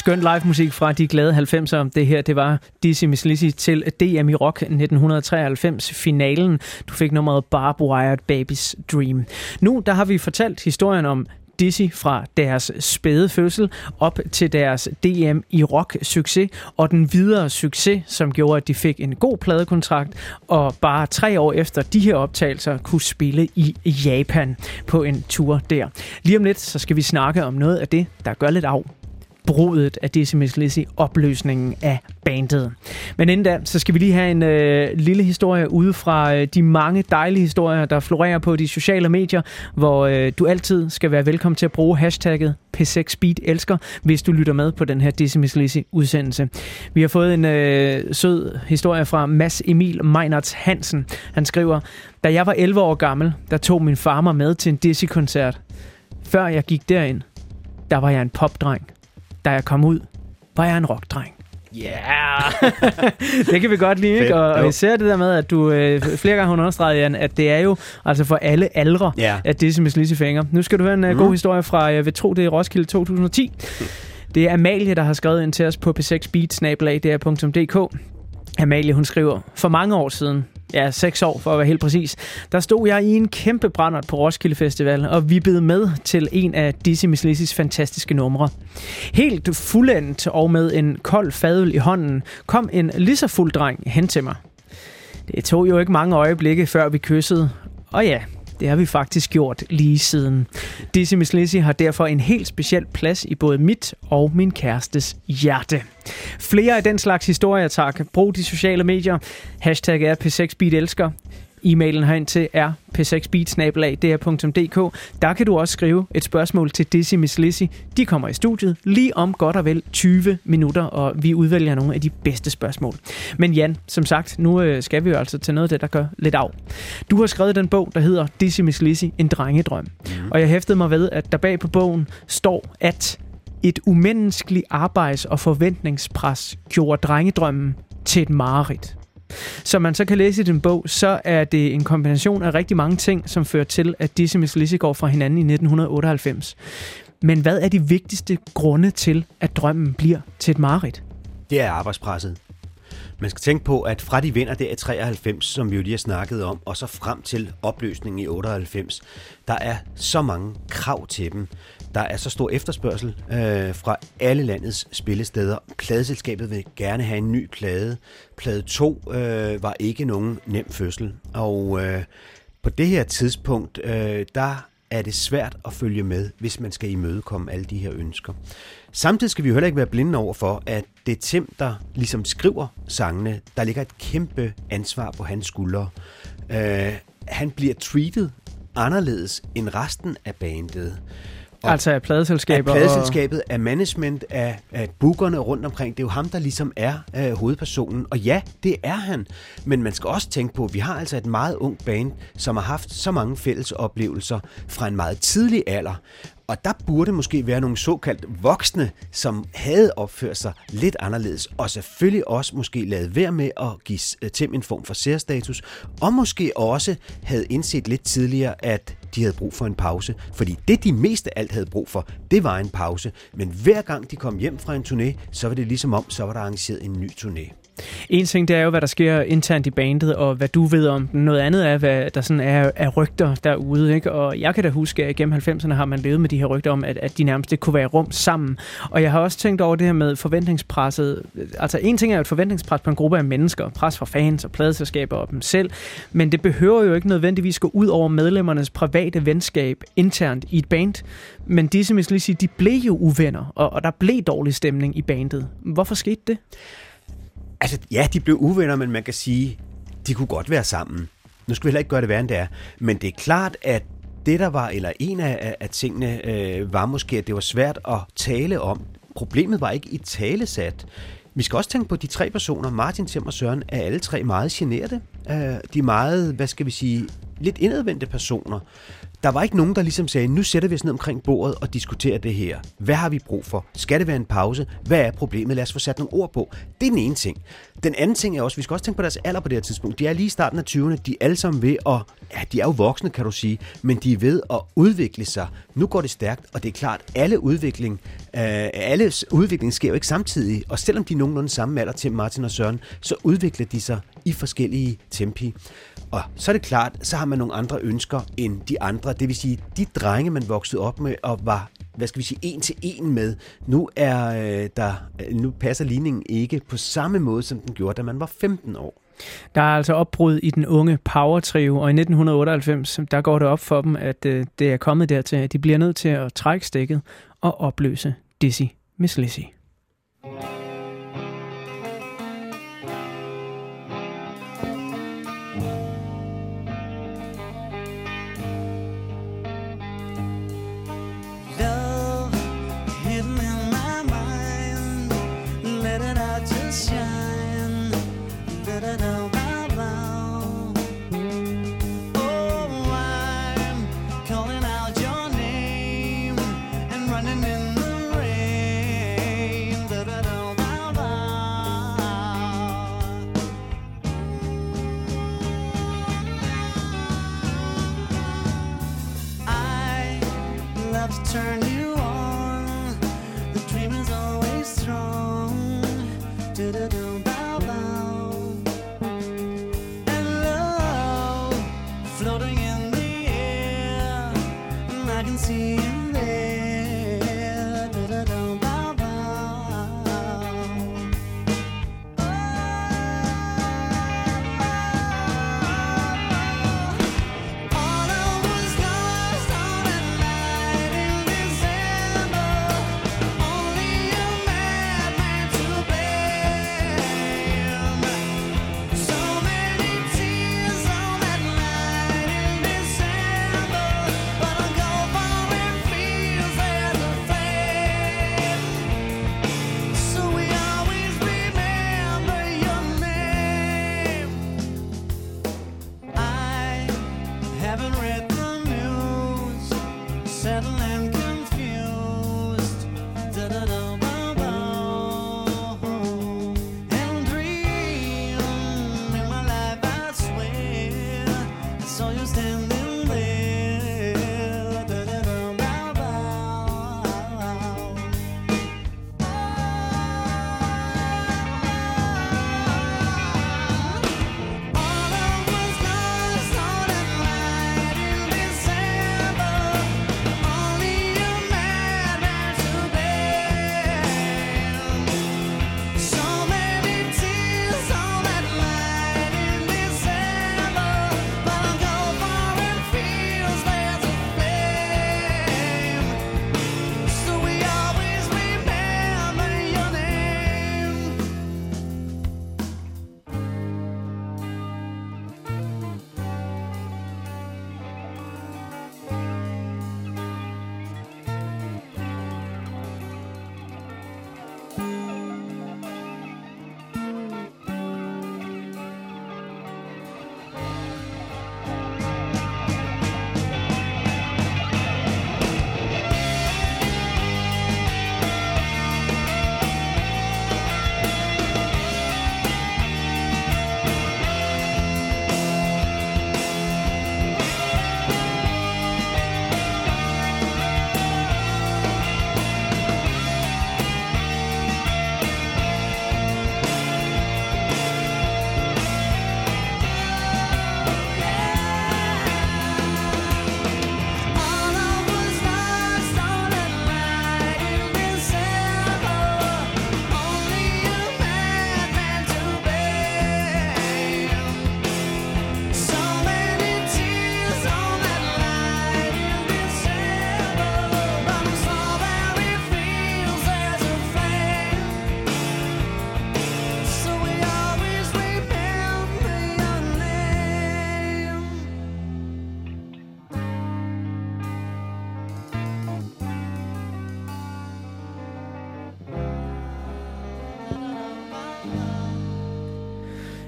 Skøn live musik fra de glade halvfemser. Det her, det var Dizzy Miss Lizzy til D M i Rock nitten treoghalvfems finalen. Du fik nummeret Barb Wired Baby's Dream. Nu der har vi fortalt historien om Dizzy fra deres spæde fødsel op til deres D M i Rock succes og den videre succes, som gjorde, at de fik en god pladekontrakt og bare tre år efter de her optagelser kunne spille i Japan på en tur der. Lige om lidt, så skal vi snakke om noget af det, der gør lidt af brudet af Dizzy Miss Lizzy, opløsningen af bandet. Men inden da, så skal vi lige have en øh, lille historie ude fra øh, de mange dejlige historier, der florerer på de sociale medier, hvor øh, du altid skal være velkommen til at bruge hashtagget P seks Beat elsker, hvis du lytter med på den her Dizzy Miss Lizzy udsendelse. Vi har fået en øh, sød historie fra Mads Emil Meinerts Hansen. Han skriver: Da jeg var elleve år gammel, der tog min far mig med til en Dizzy-koncert. Før jeg gik derind, der var jeg en popdreng. Da jeg kom ud, var jeg en rockdreng. Ja! Yeah. Det kan vi godt lide, ikke? Og, og især det der med, at du øh, flere gange har understreget, Jan, at det er jo altså for alle aldre, yeah. at Dizzy Miss Lizzy fænger. Nu skal du høre en mm. god historie fra, jeg vil tro, det er Roskilde to tusind og ti. Det er Amalie, der har skrevet ind til os på p seks beat snabel-a d r punktum d k. Amalie, hun skriver: For mange år siden, ja, seks år for at være helt præcis, der stod jeg i en kæmpe brændert på Roskilde Festival og vippede med til en af Dizzy Miss Lizzys fantastiske numre. Helt fuldendt og med en kold fadøl i hånden kom en lige så fuld dreng hen til mig. Det tog jo ikke mange øjeblikke, før vi kyssede, og ja, det har vi faktisk gjort lige siden. Dizzy Miss Lizzy har derfor en helt speciel plads i både mit og min kærestes hjerte. Flere af den slags historier, tak. Brug de sociale medier. Hashtag er P seks Beat elsker. E-mailen herind til er p seks beat snabel-a d r punktum d k. Der kan du også skrive et spørgsmål til Dizzy Miss Lizzy. De kommer i studiet lige om godt og vel tyve minutter, og vi udvælger nogle af de bedste spørgsmål. Men Jan, som sagt, nu skal vi jo altså til noget af det, der gør lidt af. Du har skrevet den bog, der hedder Dizzy Miss Lizzy, en drengedrøm. Mm. Og jeg hæftede mig ved, at der bag på bogen står, at et umenneskeligt arbejds- og forventningspres gjorde drengedrømmen til et mareridt. Som man så kan læse i den bog, så er det en kombination af rigtig mange ting, som fører til, at Dizzy Miss Lizzy går fra hinanden i nitten otteoghalvfems. Men hvad er de vigtigste grunde til, at drømmen bliver til et mareridt? Det er arbejdspresset. Man skal tænke på, at fra de vinder der i treoghalvfems, som vi jo lige har snakket om, og så frem til opløsningen i otteoghalvfems, der er så mange krav til dem. Der er så stor efterspørgsel øh, fra alle landets spillesteder. Pladeselskabet vil gerne have en ny plade. Plade to øh, var ikke nogen nem fødsel. Og øh, på det her tidspunkt, øh, der er det svært at følge med, hvis man skal imødekomme alle de her ønsker. Samtidig skal vi jo heller ikke være blinde over for, at det er Tim, der ligesom skriver sangene. Der ligger et kæmpe ansvar på hans skuldre. Øh, han bliver treated anderledes end resten af bandet. Og altså af pladeselskaber? Af pladeselskabet, og af management, af, af bookerne rundt omkring. Det er jo ham, der ligesom er øh, hovedpersonen. Og ja, det er han. Men man skal også tænke på, at vi har altså et meget ungt band, som har haft så mange fælles oplevelser fra en meget tidlig alder. Og der burde måske være nogle såkaldt voksne, som havde opført sig lidt anderledes, og selvfølgelig også måske lavet være med at give Tim en form for særstatus, og måske også havde indset lidt tidligere, at de havde brug for en pause. Fordi det, de mest af alt havde brug for, det var en pause. Men hver gang de kom hjem fra en turné, så var det ligesom om, så var der arrangeret en ny turné. En ting, det er jo, hvad der sker internt i bandet, og hvad du ved om den. Noget andet er, hvad der sådan er, er rygter derude, ikke? Og jeg kan da huske, at igennem halvfemserne har man levet med de her rygter om, at, at de nærmest ikke kunne være rum sammen. Og jeg har også tænkt over det her med forventningspresset. Altså en ting er jo et forventningspres på en gruppe af mennesker, pres fra fans og pladeselskaber og dem selv, men det behøver jo ikke nødvendigvis gå ud over medlemmernes private venskab internt i et band. Men Dizzy Miss Lizzy, de blev jo uvenner, og, og der blev dårlig stemning i bandet. Hvorfor skete det? Altså, ja, de blev uvenner, men man kan sige, de kunne godt være sammen. Nu skal vi heller ikke gøre det værre, end det er. Men det er klart, at det der var, eller en af, af tingene, øh, var måske, at det var svært at tale om. Problemet var ikke i talesat. Vi skal også tænke på de tre personer, Martin, Tim og Søren, er alle tre meget generede. Øh, de er meget, hvad skal vi sige, lidt indadvendte personer. der var ikke nogen, der ligesom sagde, nu sætter vi os ned omkring bordet og diskuterer det her. Hvad har vi brug for? Skal det være en pause? Hvad er problemet? Lad os få sat nogle ord på. Det er den ene ting. Den anden ting er også, vi skal også tænke på deres alder på det her tidspunkt. De er lige i starten af tyverne. De er alle sammen ved at, ja, de er jo voksne, kan du sige, men de er ved at udvikle sig. Nu går det stærkt, og det er klart, alle udvikling, øh, alle udvikling sker jo ikke samtidig. Og selvom de er nogenlunde samme alder til Martin og Søren, så udvikler de sig i forskellige tempi. Og så er det klart, så har man nogle andre ønsker end de andre. Det vil sige, de drenge, man voksede op med og var, hvad skal vi sige, en til en med, nu, er, øh, der, nu passer ligningen ikke på samme måde, som den gjorde, da man var femten år. Der er altså opbrud i den unge Power Trio, og i nitten otteoghalvfems, der går det op for dem, at øh, det er kommet dertil, at de bliver nødt til at trække stikket og opløse Dizzy Miss Lizzy. Turn you on. The dream is always strong. Do-do-do, bow, bow. And love floating in the air. And I can see you there. Do-do-do, bow, bow. All I was lost on a night in December. Only a madman to bear.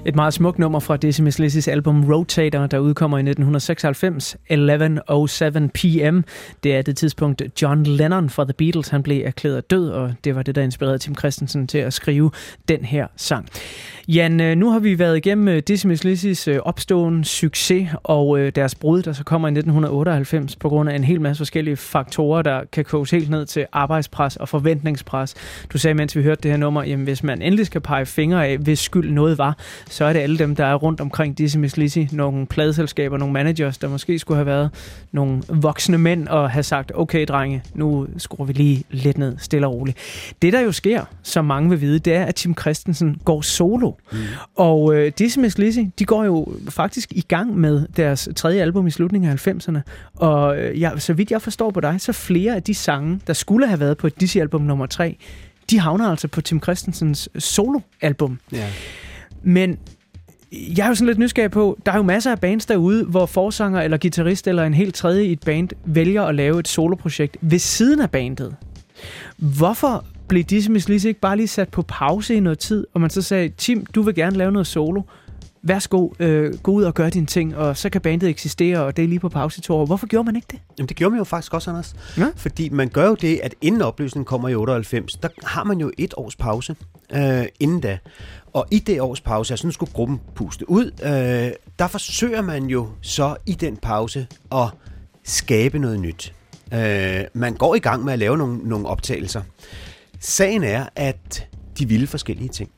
Et meget smukt nummer fra Dizzy Miss Lizzys album Rotator, der udkommer i nitten seksoghalvfems, elleve oh seven p m. Det er det tidspunkt, John Lennon fra The Beatles han blev erklæret død, og det var det, der inspirerede Tim Christensen til at skrive den her sang. Jan, nu har vi været igennem Dizzy Miss Lizzys opståen, succes og deres brud, der så kommer i nitten otteoghalvfems på grund af en hel masse forskellige faktorer, der kan koges helt ned til arbejdspres og forventningspres. Du sagde, mens vi hørte det her nummer, jamen hvis man endelig skal pege fingre af, hvis skyld noget var, så er det alle dem, der er rundt omkring Dizzy Miss Lizzy, nogle pladeselskaber, nogle managers, der måske skulle have været nogle voksne mænd og have sagt, okay drenge, nu skruer vi lige lidt ned, stille og roligt. Det der jo sker, som mange vil vide, det er, at Tim Christensen går solo. Mm. Og øh, Dizzy Miss Lizzy, de går jo faktisk i gang med deres tredje album i slutningen af halvfemserne. Og øh, ja, så vidt jeg forstår på dig, så flere af de sange, der skulle have været på et Dizzy-album nummer tre, de havner altså på Tim Christensens soloalbum. Yeah. Men jeg er jo sådan lidt nysgerrig på, der er jo masser af bands derude, hvor forsanger eller guitarist eller en helt tredje i et band vælger at lave et soloprojekt ved siden af bandet. Hvorfor blev Dizzy Miss Lizzy ikke bare lige sat på pause i noget tid, og man så sagde, Tim, du vil gerne lave noget solo. Værsgo, øh, gå ud og gør dine ting, og så kan bandet eksistere, og det er lige på pause i to år. Hvorfor gjorde man ikke det? Jamen, det gjorde man jo faktisk også, Anders. Ja? Fordi man gør jo det, at inden opløsningen kommer i otteoghalvfems, der har man jo et års pause øh, inden da. Og i det års pause, altså nu skulle gruppen puste ud, øh, der forsøger man jo så i den pause at skabe noget nyt. Øh, man går i gang med at lave nogle, nogle optagelser. Sagen er, at de ville forskellige ting.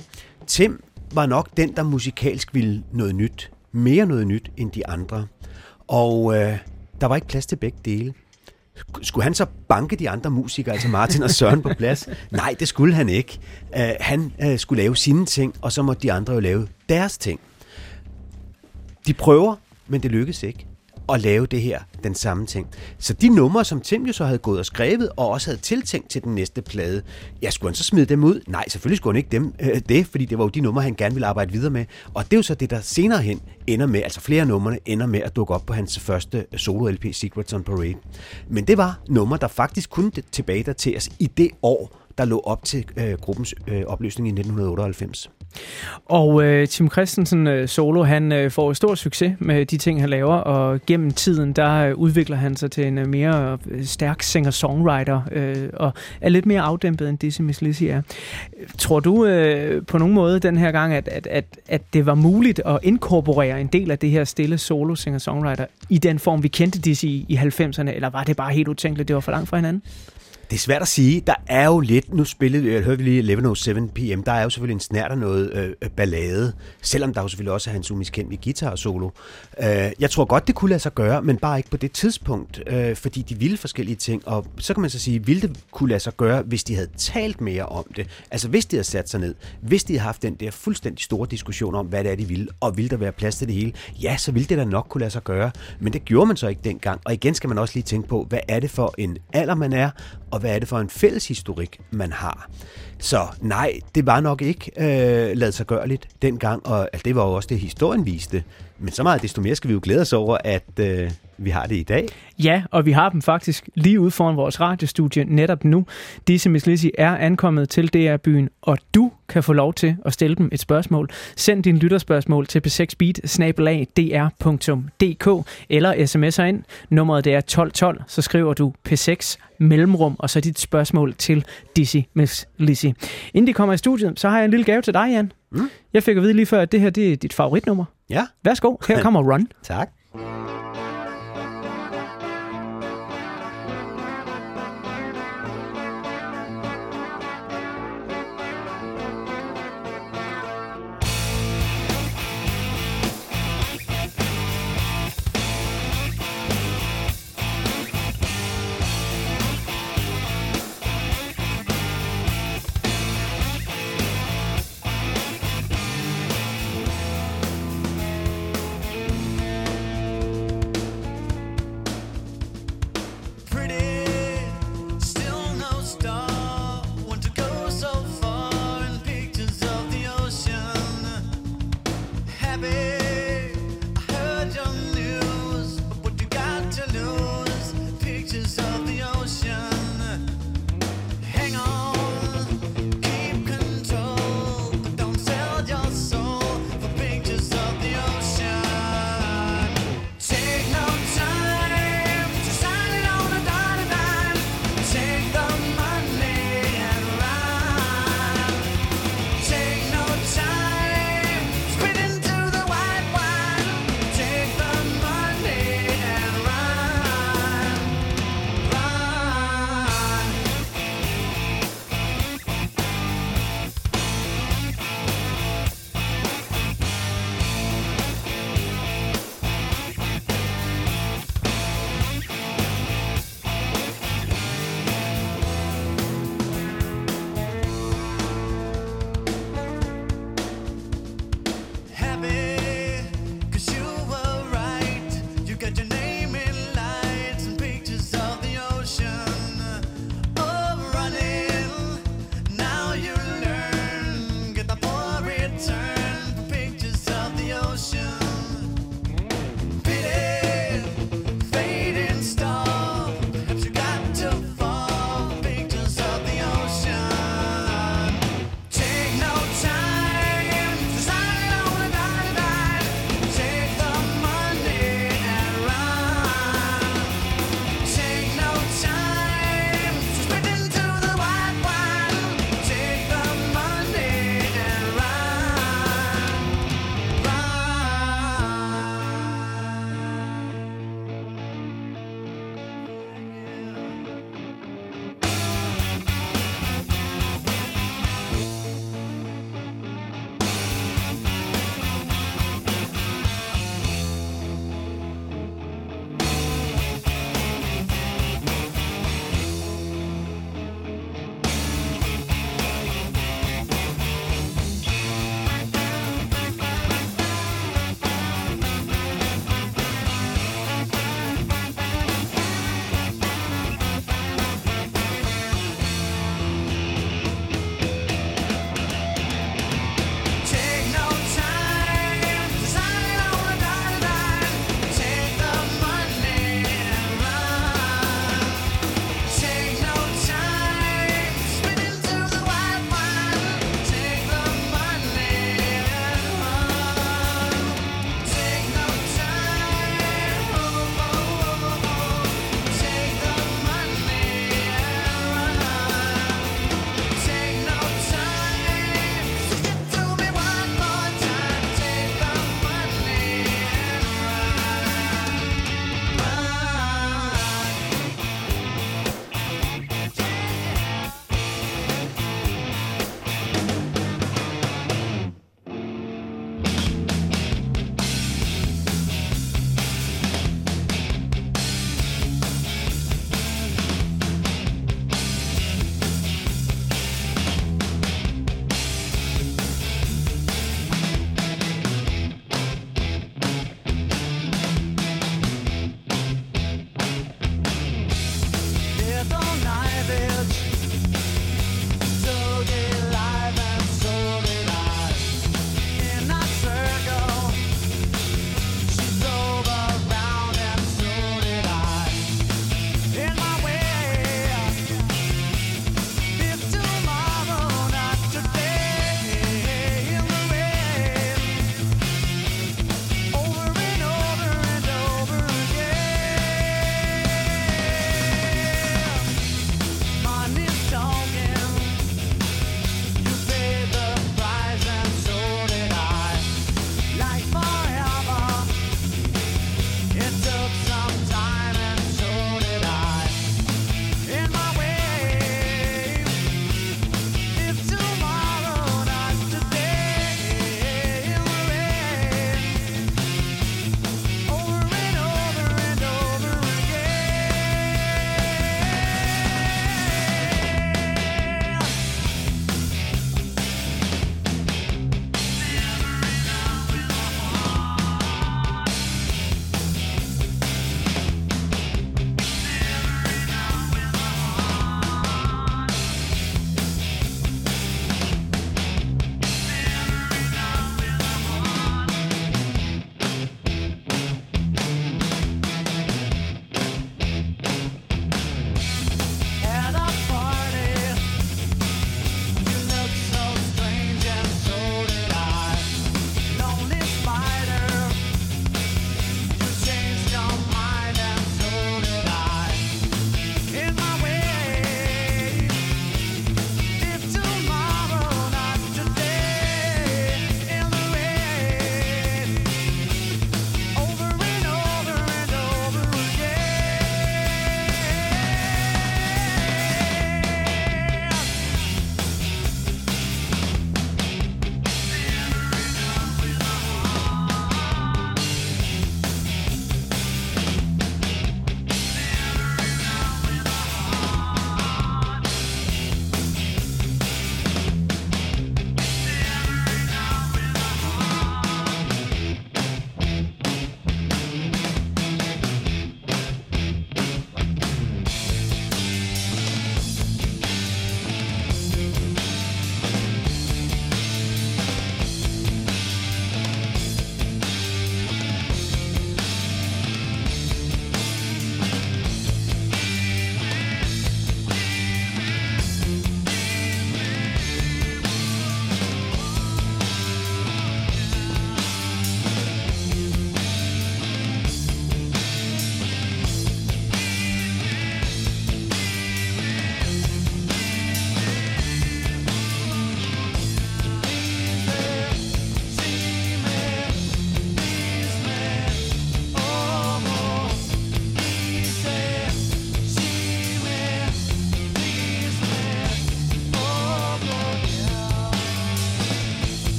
Tim var nok den, der musikalsk ville noget nyt. Mere noget nyt end de andre. Og øh, der var ikke plads til begge dele. Skulle han så banke de andre musikere, altså Martin og Søren, på plads? Nej, det skulle han ikke. Uh, han uh, skulle lave sine ting, og så måtte de andre jo lave deres ting. De prøver, men det lykkedes ikke at lave det her, den samme ting. Så de numre, som Tim jo så havde gået og skrevet, og også havde tiltænkt til den næste plade, ja, skulle han så smide dem ud? Nej, selvfølgelig skulle han ikke dem øh, det, fordi det var jo de numre, han gerne ville arbejde videre med. Og det er jo så det, der senere hen ender med, altså flere numrene ender med at dukke op på hans første solo-L P, Secrets on Parade. Men det var numre, der faktisk kunne tilbage dateres i det år, der lå op til øh, gruppens øh, opløsning i nitten otteoghalvfems. Og øh, Tim Christensen øh, solo, han øh, får stor succes med de ting, han laver, og gennem tiden, der øh, udvikler han sig til en øh, mere øh, stærk singer-songwriter, øh, og er lidt mere afdæmpet, end Dizzy Miss Lizzy er. Tror du øh, på nogen måde den her gang, at, at, at, at det var muligt at inkorporere en del af det her stille solo singer-songwriter i den form, vi kendte Dizzy i, i halvfemserne, eller var det bare helt utænkeligt, det var for langt fra hinanden? Det er svært at sige. Der er jo lidt, nu spillede, jeg hørte vi lige elleve oh seven p m, der er jo selvfølgelig en snært af noget øh, ballade, selvom der jo selvfølgelig også er hans umiskendelige guitar-solo. Øh, jeg tror godt, det kunne lade sig gøre, men bare ikke på det tidspunkt, øh, fordi de ville forskellige ting, og så kan man så sige, ville det kunne lade sig gøre, hvis de havde talt mere om det, altså hvis de havde sat sig ned, hvis de havde haft den der fuldstændig store diskussion om, hvad det er, de ville, og ville der være plads til det hele, ja, så ville det da nok kunne lade sig gøre, men det gjorde man så ikke dengang, og igen skal man også lige tænke på, hvad er det for en alder, man er, og hvad er det for en fælles historik, man har. Så nej, det var nok ikke øh, ladet sig gørligt dengang, og altså, det var jo også det, historien viste. Men så meget desto mere skal vi jo glæde os over, at øh, vi har det i dag. Ja, og vi har dem faktisk lige ude foran vores radiostudie netop nu. Dizzy Miss Lizzy er ankommet til D R-byen, og du kan få lov til at stille dem et spørgsmål. Send din lytterspørgsmål til p seks beat snabel-a d r punktum d k eller sms'er ind. Nummeret det er tolv tolv, så skriver du P seks mellemrum, og så dit spørgsmål til Dizzy Miss Lizzy. Inden de kommer i studiet, så har jeg en lille gave til dig, Jan. Mm. Jeg fik at vide lige før, at det her det er dit favoritnummer. Ja. Værsgo, her kommer Run. Tak.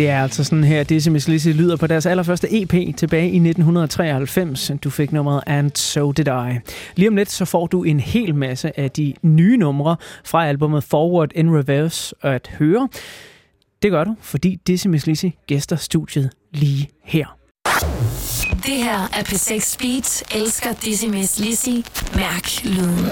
Det er altså sådan her, Dizzy Miss Lizzy lyder på deres allerførste E P tilbage i nitten treoghalvfems. Du fik nummeret And So Did I. Lige om lidt så får du en hel masse af de nye numre fra albumet Forward in Reverse at høre. Det gør du, fordi Dizzy Miss Lizzy gæster studiet lige her. Det her er P seks Beat. Elsker Dizzy Miss Lizzy. Mærk lyden.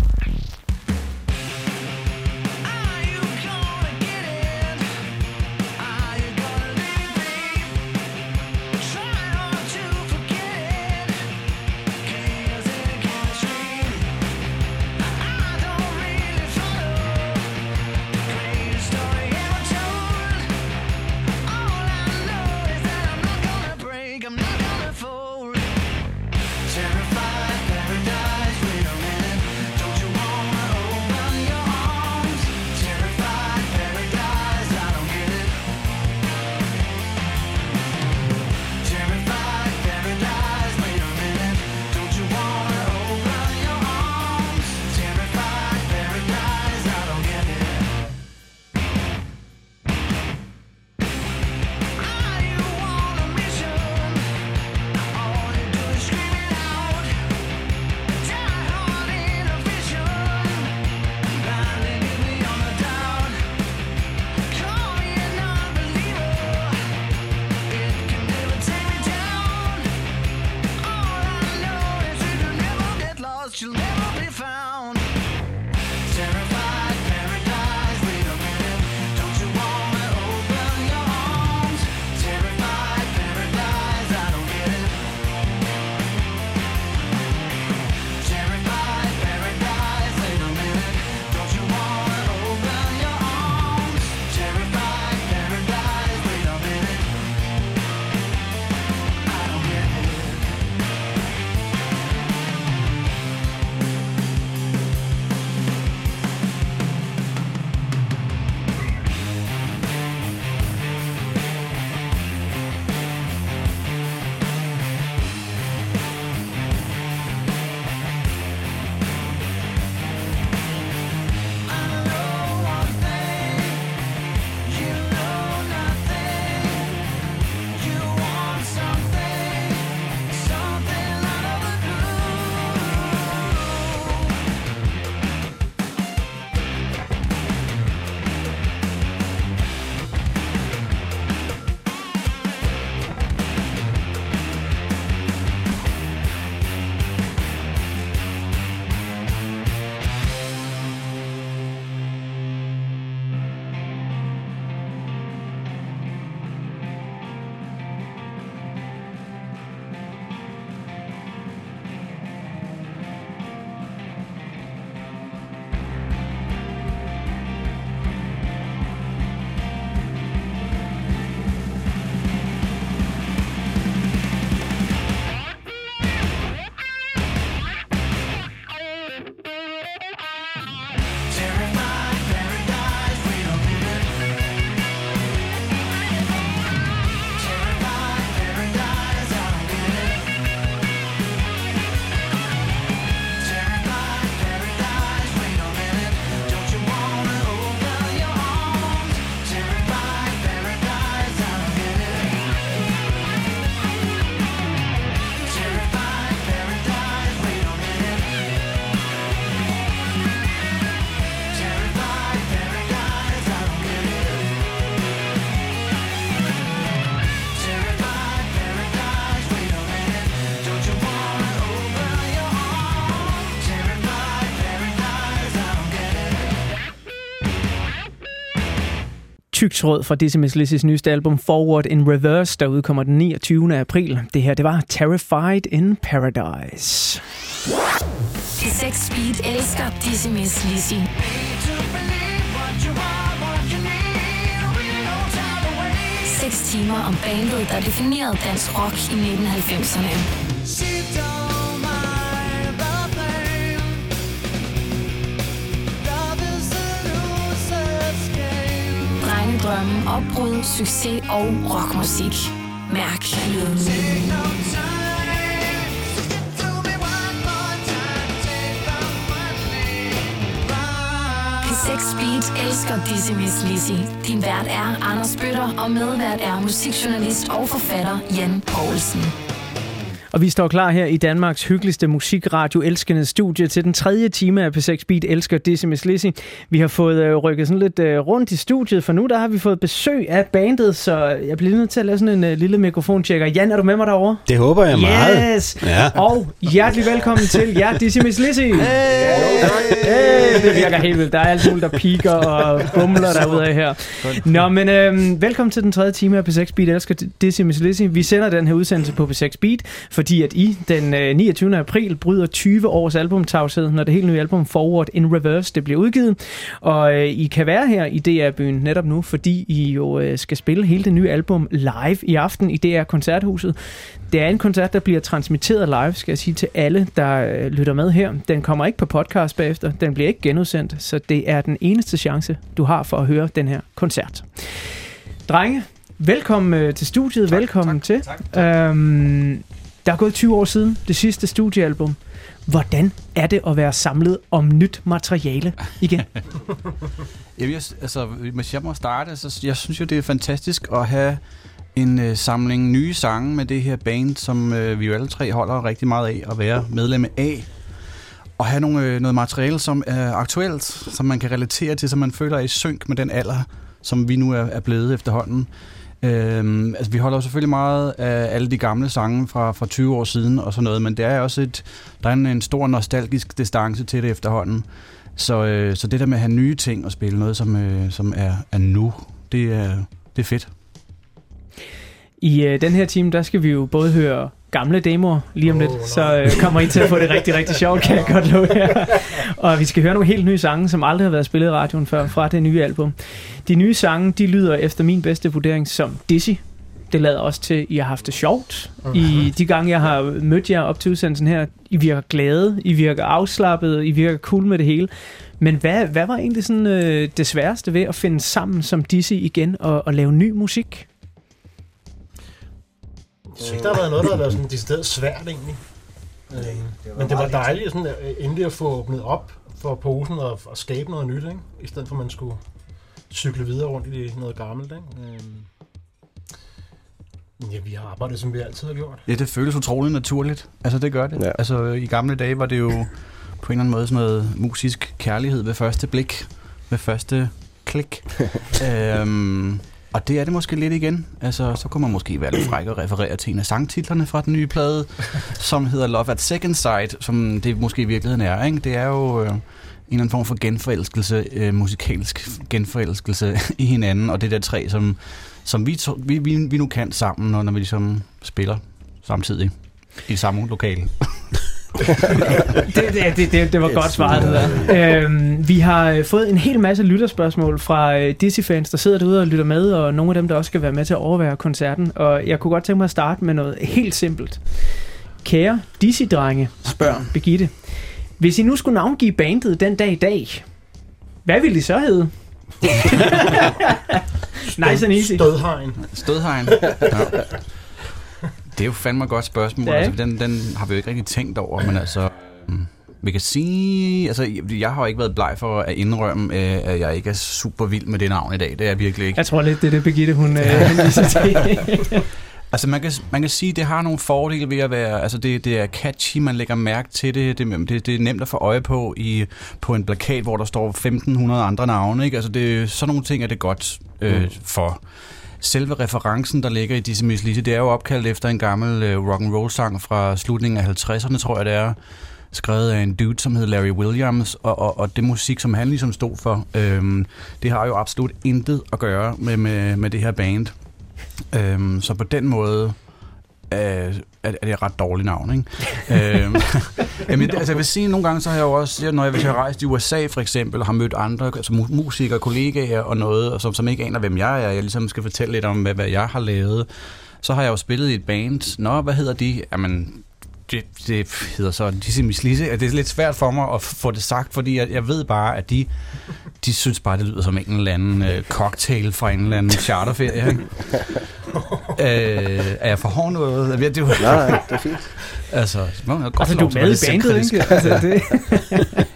tyk tråd fra Dizzy Miss Lizzys nyeste album Forward in Reverse, der udkommer den niogtyvende april. Det her, det var Terrified in Paradise. P seks Speed elsker Dizzy Miss Lizzy. Seks timer om bandet, der definerede dansk rock i nitten halvfemserne. Drengedrømme, opbrud, succes og rockmusik. Mærk lyden. P seks Beat elsker Dizzy Miss Lizzy. Din vært er Anders Bøtter, og medvært er musikjournalist og forfatter Jan Poulsen. Og vi står klar her i Danmarks hyggeligste musikradio elskende studie til den tredje time af P seks Beat elsker Dizzy Miss Lizzy. Vi har fået øh, rykket sådan lidt øh, rundt i studiet, for nu der har vi fået besøg af bandet, så jeg bliver nødt til at lave sådan en øh, lille mikrofontjekker. Jan, er du med mig derovre? Det håber jeg meget. Yes! Ja. Og hjertelig velkommen til jer, Dizzy Miss Lizzy. Hey! Hey! Det virker helt vildt. Der er alt muligt, der piker og bumler derude af her. Nå, men øh, velkommen til den tredje time af P seks Beat elsker Dizzy Miss Lizzy. Vi sender den her udsendelse på P seks Beat, fordi at I den øh, niogtyvende april bryder tyve års albumtavshed, når det helt nye album Forward in Reverse det bliver udgivet. Og øh, I kan være her i D R-byen netop nu, fordi I jo øh, skal spille hele det nye album live i aften i D R-koncerthuset. Det er en koncert, der bliver transmitteret live, skal jeg sige til alle, der øh, lytter med her. Den kommer ikke på podcast bagefter, den bliver ikke genudsendt, så det er den eneste chance, du har for at høre den her koncert. Drenge, velkommen øh, til studiet, tak, velkommen tak, til. Tak, tak. Øhm, Der er gået tyve år siden det sidste studiealbum. Hvordan er det at være samlet om nyt materiale igen? Jamen, jeg, altså, hvis jeg må starte, så jeg synes jo, det er fantastisk at have en øh, samling nye sange med det her band, som øh, vi jo alle tre holder rigtig meget af at være medlem af. Og have nogle, øh, noget materiale, som er aktuelt, som man kan relatere til, som man føler er i synk med den alder, som vi nu er, er blevet efterhånden. Øhm, altså vi holder jo selvfølgelig meget af alle de gamle sange fra, fra tyve år siden og sådan noget, men det er også et, der er en, en stor nostalgisk distance til det efterhånden. Så, øh, så det der med at have nye ting og spille noget, som, øh, som er, er nu, det er, det er fedt. I øh, den her time, der skal vi jo både høre gamle demoer lige om oh, lidt, no. så øh, kommer I til at få det rigtig, rigtig sjovt, kan jeg godt love jer. Og vi skal høre nogle helt nye sange, som aldrig har været spillet i radioen før, fra det nye album. De nye sange, de lyder efter min bedste vurdering som Dizzy. Det lader også til, at I har haft det sjovt. I de gange, jeg har mødt jer op til udsendelsen her, I virker glade, I virker afslappede, I virker cool med det hele. Men hvad, hvad var egentlig sådan, øh, det sværeste ved at finde sammen som Dizzy igen og, og lave ny musik? Jeg synes, der har været noget, der har været sådan decideret svært egentlig. Nej, det men det var dejligt sådan, endelig at få åbnet op for posen og, og skabe noget nyt, ikke? I stedet for at man skulle cykle videre rundt i noget gammelt. Ikke? Ja, vi har arbejdet, som vi altid har gjort. Ja, det føles utroligt naturligt. Altså, det gør det. Ja. Altså, i gamle dage var det jo på en eller anden måde sådan noget musisk kærlighed ved første blik, ved første klik. øhm, Og det er det måske lidt igen. Altså, så kunne man måske være lidt fræk og referere til en af sangtitlerne fra den nye plade, som hedder Love at Second Sight, som det måske i virkeligheden er. Ikke? Det er jo øh, en eller anden form for genforelskelse, øh, musikalsk genforelskelse i hinanden, og det der tre, som, som vi, to, vi, vi, vi nu kan sammen, når, når vi ligesom spiller samtidig i samme lokale. det, det, det, det var godt svaret, det der. Øhm, vi har fået en hel masse lytterspørgsmål fra Dizzy-fans, der sidder derude og lytter med, og nogle af dem, der også skal være med til at overvære koncerten. Og jeg kunne godt tænke mig at starte med noget helt simpelt. Kære Dizzy-drenge, spørger Birgitte. Hvis I nu skulle navngive bandet den dag i dag, hvad ville I så hedde? Nice and easy. Stødhegn. Stødhegn. Ja. Det er jo fandme et godt spørgsmål. Ja, altså, den, den har vi jo ikke rigtig tænkt over, men altså, vi kan sige, altså, jeg har jo ikke været bleg for at indrømme, at jeg ikke er super vild med det navn i dag. Det er jeg virkelig ikke. Jeg tror lidt, det er det, Birgitte, hun henviser til. Altså, man kan, man kan sige, at det har nogle fordele ved at være, altså, det, det er catchy, man lægger mærke til det, det, det, det er nemt at få øje på i, på en plakat, hvor der står femten hundrede andre navne, ikke? Altså, det, sådan nogle ting er det godt øh, mm. for. Selve referencen, der ligger i Dizzy Miss Lizzy, det er jo opkaldt efter en gammel øh, rock'n'roll-sang fra slutningen af halvtredserne, tror jeg det er, skrevet af en dude, som hedder Larry Williams, og, og, og det musik, som han ligesom stod for, øhm, det har jo absolut intet at gøre med, med, med det her band. Øhm, så på den måde øh, er, er det et ret dårligt navn, ikke? øhm, jamen, altså, jeg vil sige, nogle gange så har jeg jo også, når jeg, hvis jeg har rejst i U S A for eksempel, og har mødt andre altså, musikere, kollegaer og noget, og som, som ikke aner, hvem jeg er, jeg ligesom skal fortælle lidt om, hvad, hvad jeg har lavet, så har jeg jo spillet i et band. Nå, hvad hedder de? Jamen, det, det hedder så Dizzy Miss Lizzy. Det er lidt svært for mig at få det sagt, fordi jeg, jeg ved bare, at de, de synes bare, det lyder som en eller anden øh, cocktail fra en eller anden charterferie. Ikke? øh, er jeg for hård noget? Det er jo, nej, det er fint. Altså, altså du er med i bandet, ikke? Altså, det.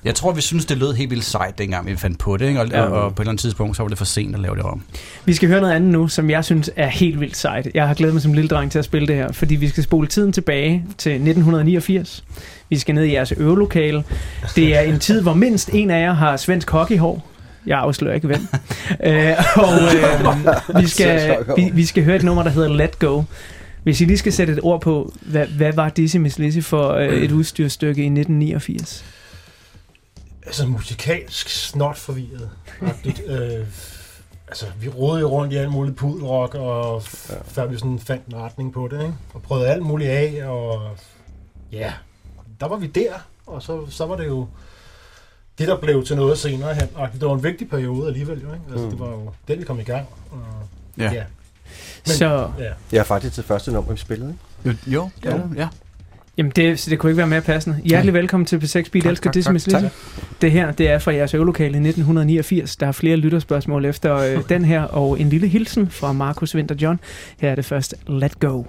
Jeg tror, vi synes, det lød helt vildt sejt, dengang vi fandt på det, ikke? Og, ja. og, og på et eller andet tidspunkt, så var det for sent at lave det om. Vi skal høre noget andet nu, som jeg synes er helt vildt sejt. Jeg har glædet mig som lille dreng til at spille det her, fordi vi skal spole tiden tilbage til nitten niogfirs. Vi skal ned i jeres øvelokale. Det er en tid, hvor mindst en af jer har svensk hockeyhår. Jeg afslører ikke hvem. øh, og øh, vi, skal, vi, vi skal høre et nummer, der hedder Let Go. Hvis I lige skal sætte et ord på, hvad, hvad var Dizzy Miss Lizzy for øh, et udstyrstykke i nitten niogfirs? Altså musikalsk snot forvirret. øh, altså vi rodede jo rundt i alt muligt pudelrock, og f- før vi sådan fandt en retning på det, ikke? Og prøvede alt muligt af, og ja, der var vi der, og så, så var det jo det, der blev til noget senere hen. Og det var en vigtig periode alligevel, jo, ikke? Altså, mm. det var jo den, vi kom i gang. Og, ja. ja. Men, så... Ja. Jeg er faktisk til første nummer, vi spillede, ikke? Jo, jo, jo, ja. Jamen, det, det kunne ikke være mere passende. Hjertelig velkommen til P seks Beat. Elsker Dizzy Miss Lizzy. Det her, det er fra jeres øvelokale i nitten niogfirs. Der er flere lytterspørgsmål efter øh, den her, og en lille hilsen fra Markus Winter John. Her er det først Let Go.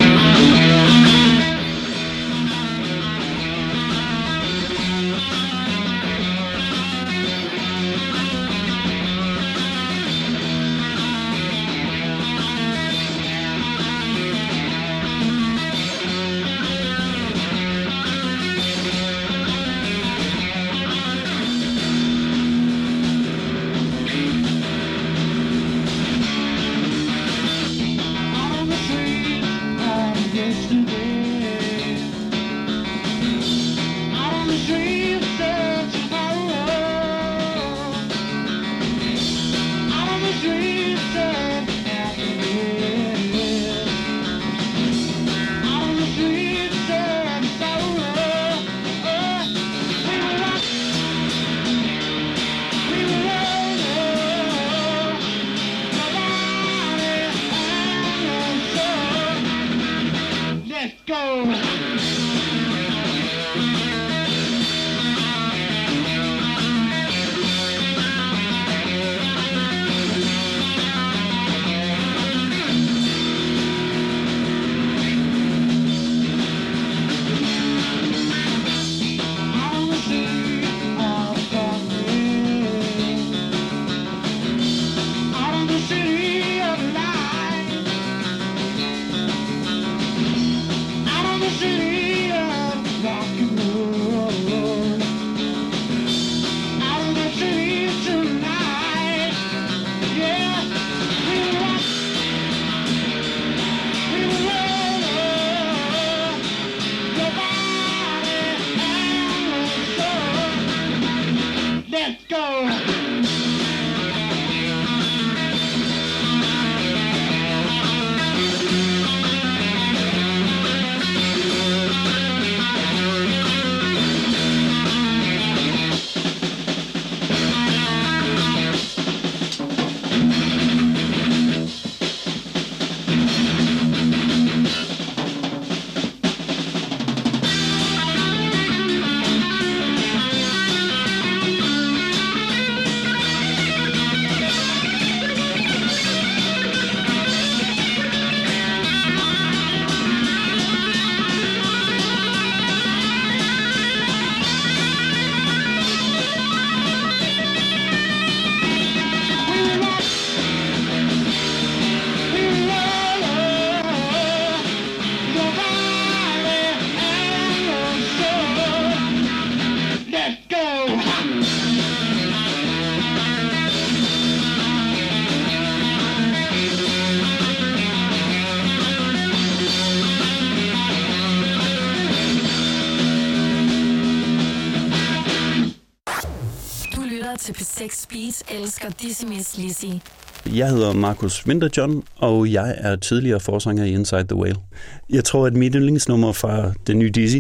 Til P seks Beat elsker Dizzy Miss Lizzy. Jeg hedder Markus Winter John, og jeg er tidligere forsanger i Inside the Whale. Jeg tror, at mit yndlingsnummer fra den nye Dizzy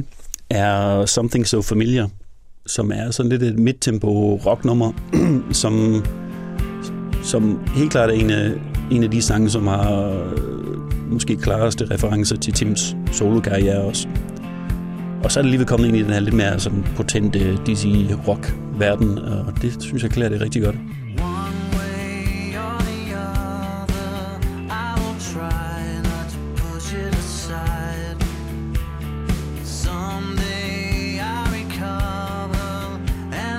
er Something So Familiar, som er sådan lidt et midtempo rocknummer, som, som helt klart er en af, en af de sange, som har måske klareste referencer til Tims solokarriere også. Og så er det lige kommet ind i den her lidt mere sådan potente Dizzy rock-verden, og det synes jeg klæder det rigtig godt. Someday I recover and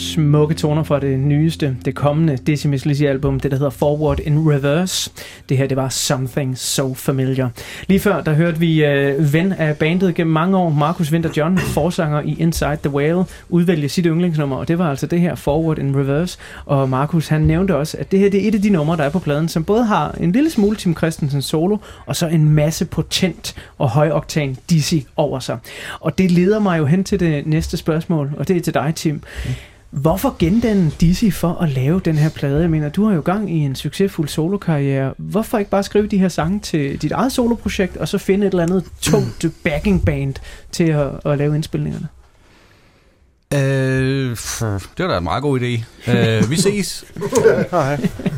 smukke toner fra det nyeste, det kommende Dizzy Mizz Lizzy album, det der hedder Forward in Reverse. Det her, det var Something So Familiar. Lige før, der hørte vi øh, ven af bandet gennem mange år, Marcus Winter John, forsanger i Inside the Whale, udvælge sit yndlingsnummer, og det var altså det her Forward in Reverse. Og Marcus, han nævnte også, at det her, det er et af de numre, der er på pladen, som både har en lille smule Tim Christensen solo, og så en masse potent og højoktan Dizzy over sig. Og det leder mig jo hen til det næste spørgsmål, og det er til dig, Tim. Hvorfor gendanne Dizzy for at lave den her plade? Jeg mener, du har jo gang i en succesfuld solokarriere. Hvorfor ikke bare skrive de her sange til dit eget soloprojekt, og så finde et eller andet tungt backing band til at, at lave indspilningerne? Øh, det var da en meget god idé. Øh, vi ses. nej,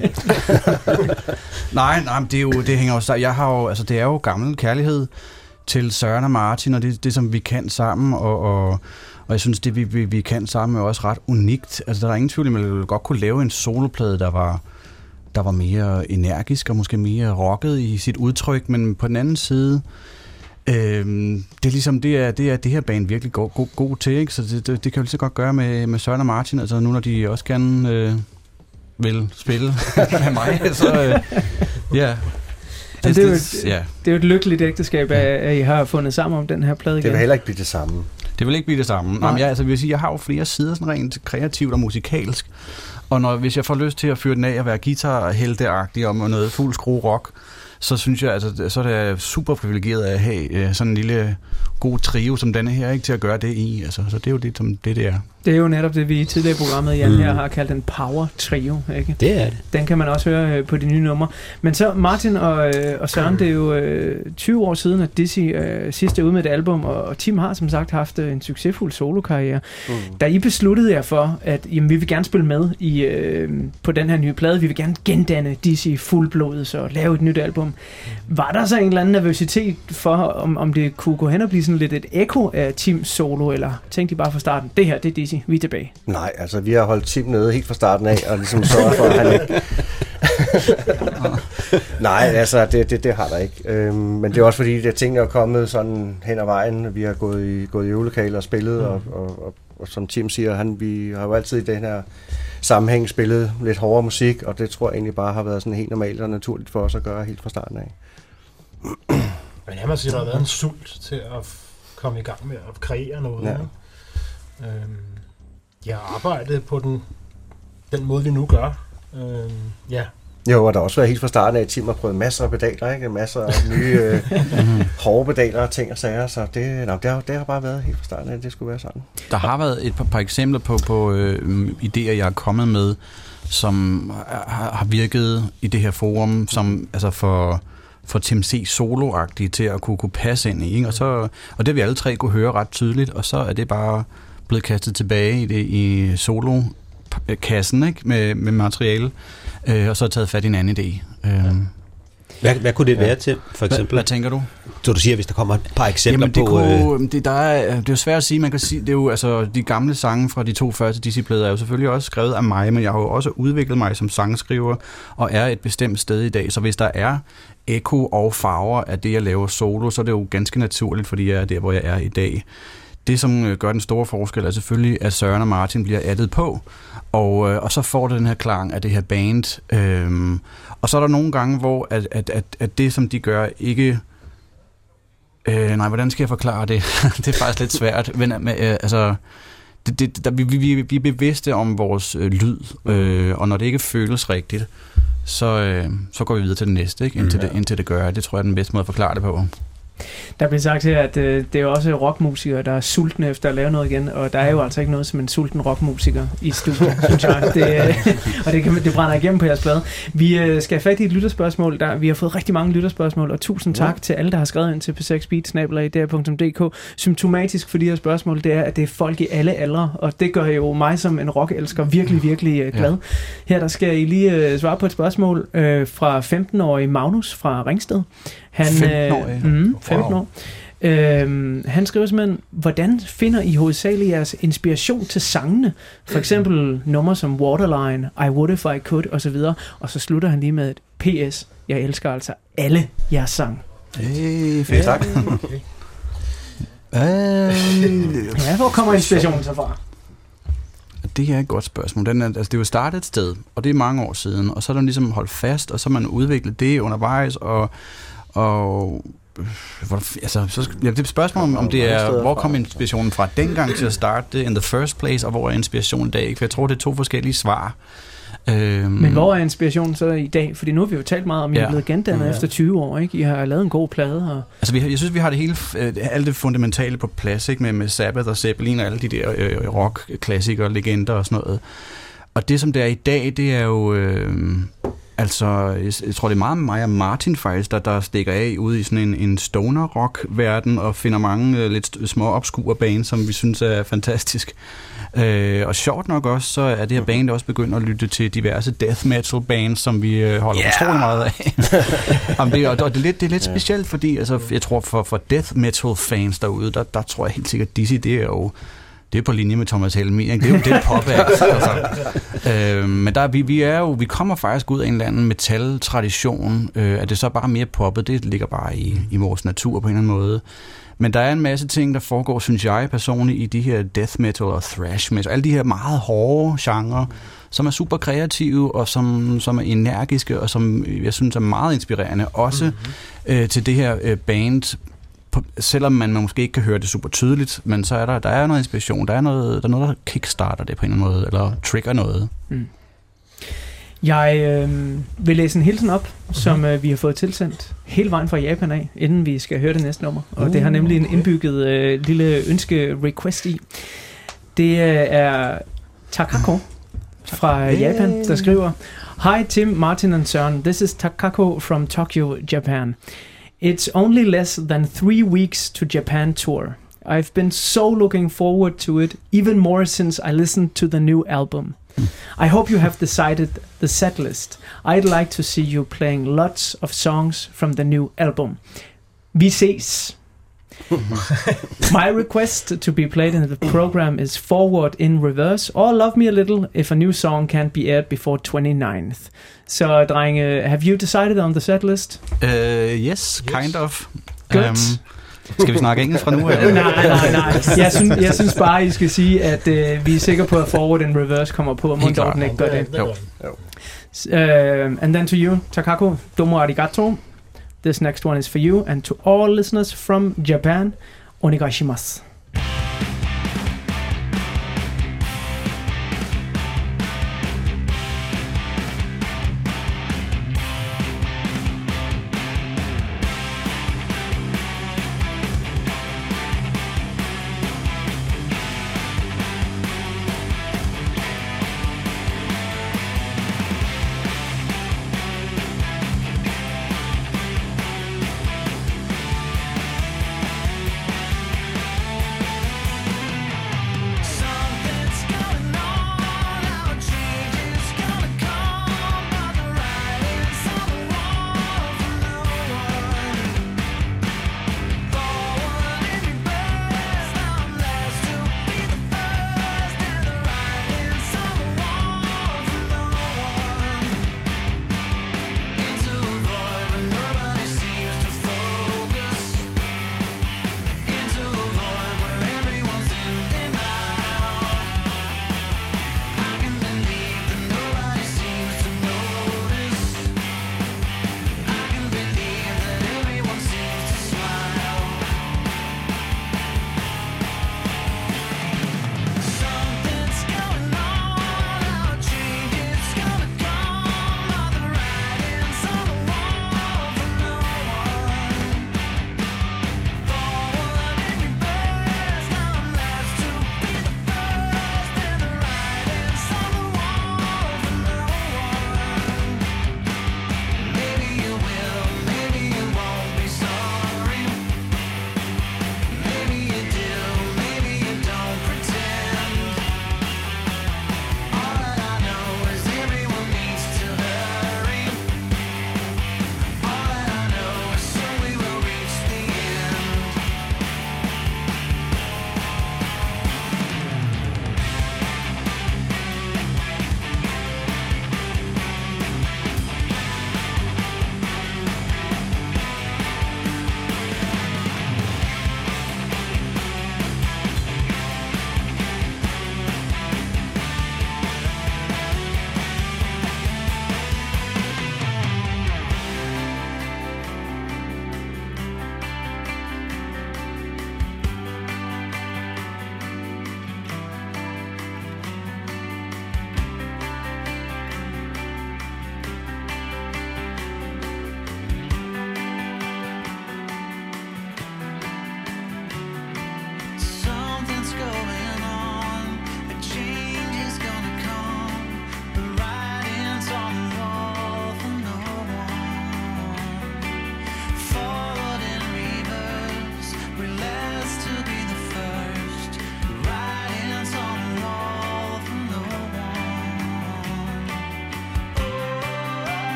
nej, men det er jo, det hænger jo sammen. Jeg har jo, altså det er jo gammel kærlighed til Søren og Martin, og det, det som vi kan sammen, og, og, og jeg synes, det vi, vi, vi kan sammen er også ret unikt. Altså der er ingen tvivl, at man godt kunne lave en soloplade, der var, der var mere energisk, og måske mere rocket i sit udtryk, men på den anden side, Øhm, det er ligesom, det er, det er det her band virkelig god, god, god til, ikke? Så det, det, det kan jo lige så godt gøre med, med Søren og Martin, altså nu når de også gerne øh, vil spille med mig, så øh, ja. Det, det, er et, ja. det er jo et lykkeligt ægteskab, at, at I har fundet sammen om den her plade igen. Det vil heller ikke blive det samme. Det vil ikke blive det samme. Nej. Jamen, jeg, altså, vil sige, jeg har jo flere sider sådan rent kreativt og musikalsk, og når, hvis jeg får lyst til at fyre den af og være guitarhelteagtig og noget fuld skrue rock, så synes jeg, altså, så er det super privilegeret at have øh, sådan en lille god trio som denne her, ikke, til at gøre det i. Altså, så det er jo det, som det, det er. Det er jo netop det, vi i tidligere i programmet, Jan, mm. her har kaldt en power trio, ikke? Det er det. Den kan man også høre øh, på de nye numre. Men så Martin og, øh, og Søren, det er jo øh, tyve år siden, at Dizzy øh, sidst er ude med et album, og, og Tim har som sagt haft øh, en succesfuld solokarriere. Mm. Da I besluttede jer for, at jamen, vi vil gerne spille med i, øh, på den her nye plade, vi vil gerne gendanne Dizzy fuldblodet og lave et nyt album. Mm. Var der så en eller anden nervøsitet for, om, om det kunne gå hen og blive sådan lidt et ekko af Tims solo, eller tænkte I bare fra starten, det her, det er Dizzy, vi er tilbage? Nej, altså vi har holdt Tim nede helt fra starten af, og ligesom sørget for, at han ikke... Nej, altså det, det, det har der ikke. Øhm, men det er også fordi, at tingene er kommet sådan hen ad vejen. Vi har gået i, gået i øvelokale og spillet, mm. og, og, og, og som Tim siger, han, vi har jo altid i den her sammenhæng spillet lidt hårdere musik, og det tror jeg egentlig bare har været sådan helt normalt og naturligt for os at gøre helt fra starten af. Men jeg må sige, der har været en sult til at komme i gang med at kreere noget. Ja. Øhm, jeg har arbejdet på den, den måde, vi nu gør. Øhm, ja. Jo, og der har også været helt fra starten af, at Tim har prøvet masser af pedaler, ikke? Masser af nye øh, hårde pedaler og ting og sager, så det, no, det, har, det har bare været helt fra starten af, at det skulle være sådan. Der har været et par, par eksempler på, på øh, idéer, jeg er kommet med, som har, har virket i det her forum, som altså for... for Tim C. solo-agtige til at kunne, kunne passe ind i, ikke? Og, så, og det vi alle tre kunne høre ret tydeligt, og så er det bare blevet kastet tilbage i, det, i solo-kassen, ikke? Med, med materiale, øh, og så taget fat i en anden idé. Øh. Hvad, hvad kunne det være ja. til, for eksempel? Hvad, hvad tænker du? Så du siger, hvis der kommer et par eksempler Jamen, det på... Kunne, øh... det, der er, det er jo svært at sige. Man kan sige, det er jo, altså, de gamle sange fra de to første Dizzy-plader er jo selvfølgelig også skrevet af mig, men jeg har jo også udviklet mig som sangskriver, og er et bestemt sted i dag. Så hvis der er ekko og farver af det, jeg laver solo, så er det jo ganske naturligt, fordi jeg er der, hvor jeg er i dag. Det, som gør den store forskel, er selvfølgelig, at Søren og Martin bliver addet på, og, øh, og så får det den her klang af det her band. Øhm, og så er der nogle gange, hvor at, at, at, at det, som de gør, ikke... Øh, nej, hvordan skal jeg forklare det? Det er faktisk lidt svært. Men, øh, altså, det, det, der, vi, vi, vi er bevidste om vores øh, lyd, øh, og når det ikke føles rigtigt, så, øh, så går vi videre til det næste, ikke? Indtil, mm, ja. det, indtil det gør. Det tror jeg er den bedste måde at forklare det på. Der bliver sagt her, at øh, det er også rockmusikere, der er sultne efter at lave noget igen, og der er jo altså ikke noget som en sulten rockmusiker i studiet, synes jeg. Det, øh, og det, kan, det brænder igennem på jeres plade. Vi øh, skal have fat i et lytterspørgsmål. Der, vi har fået rigtig mange lytterspørgsmål, og tusind tak ja. til alle, der har skrevet ind til p seks beat snabel-a d r punktum d k. Symptomatisk for de her spørgsmål, det er, at det er folk i alle aldre, og det gør jo mig som en rockelsker virkelig, virkelig øh, glad. Ja. Her der skal I lige øh, svare på et spørgsmål øh, fra femten-årige Magnus fra Ringsted. Han, femten-årig? Øh, mm, femten wow. år. Øhm, han skriver simpelthen, hvordan finder I hovedsageligt jeres inspiration til sangene? For eksempel numre som Waterline, I Would If I Could osv. Og så slutter han lige med et P S. Jeg elsker altså alle jeres sang. Hey, fedt, tak. Okay. Ja, hvor kommer inspirationen så fra? det er et godt spørgsmål. Den er, altså, det er jo startet et sted, og det er mange år siden, og så er der ligesom holdt fast, og så har man udviklet det undervejs, og, og hvor, altså, så, ja, det er et spørgsmål om, om det er, hvor kom inspirationen fra dengang til at starte det in the first place, og hvor er inspirationen i dag? For jeg tror, det er to forskellige svar. Øhm, Men hvor er inspirationen så i dag? Fordi nu har vi jo talt meget om, at I ja. er blevet gendannet ja. efter tyve år, ikke? I har lavet en god plade. Og altså, vi har, jeg synes, vi har det hele, øh, alt det fundamentale på plads, ikke? Med, med Sabbath og Zeppelin og alle de der øh, rock-klassikere, legender og sådan noget. Og det, som det er i dag, det er jo... Øh, altså, jeg, jeg tror, det er meget mig og Martin faktisk, der, der stikker af ude i sådan en, en stoner-rock-verden og finder mange øh, lidt små obskure bands, som vi synes er fantastisk. Øh, og sjovt nok også, så er det her band også begyndt at lytte til diverse death metal bands, som vi øh, holder yeah. utrolig meget af. Jamen, det, og, og det er lidt, det er lidt specielt, fordi altså, jeg tror, for, for death metal fans derude, der, der tror jeg helt sikkert, Dizzy, det er jo det er på linje med Thomas Helmig, ikke? Det er jo det pop af. Altså. Øh, men der, vi, vi, er jo, vi kommer faktisk ud af en eller anden metal-tradition. Øh, at det så er bare mere poppet, det ligger bare i, i vores natur på en eller anden måde. Men der er en masse ting, der foregår, synes jeg personligt, i de her death metal og thrash metal. Alle de her meget hårde genrer, som er super kreative, og som, som er energiske, og som jeg synes er meget inspirerende. Også mm-hmm. øh, til det her øh, band, på, selvom man måske ikke kan høre det super tydeligt, men så er der, der er noget inspiration. Der er noget, der er noget, der kickstarter det på en eller anden måde, eller trigger noget. Mm. Jeg øh, vil læse en hilsen op, mm-hmm. som øh, vi har fået tilsendt hele vejen fra Japan af, inden vi skal høre det næste nummer. Og uh, det har nemlig en indbygget øh, lille ønske-request i. Det øh, er Takako fra Japan, der skriver: Hi Tim, Martin and Søren. This is Takako from Tokyo, Japan. It's only less than three weeks to Japan tour. I've been so looking forward to it, even more since I listened to the new album. I hope you have decided the set list. I'd like to see you playing lots of songs from the new album. Vi ses. My request to be played in the program is Forward in Reverse or Love Me a Little if a new song can't be aired before twenty-ninth. Så drenge, have you decided on the set list? Uh, yes, kind yes. of. Good. Um, Skal vi snakke engelsk fra nu? Eller? nej, nej, nej. Jeg synes, jeg synes bare, I skal sige, at uh, vi er sikre på, at Forward in Reverse kommer på, og Mundorten ikke gør det. Jo. Uh, and then to you, Takako, domo arigato. This next one is for you, and to all listeners from Japan, onegaishimasu.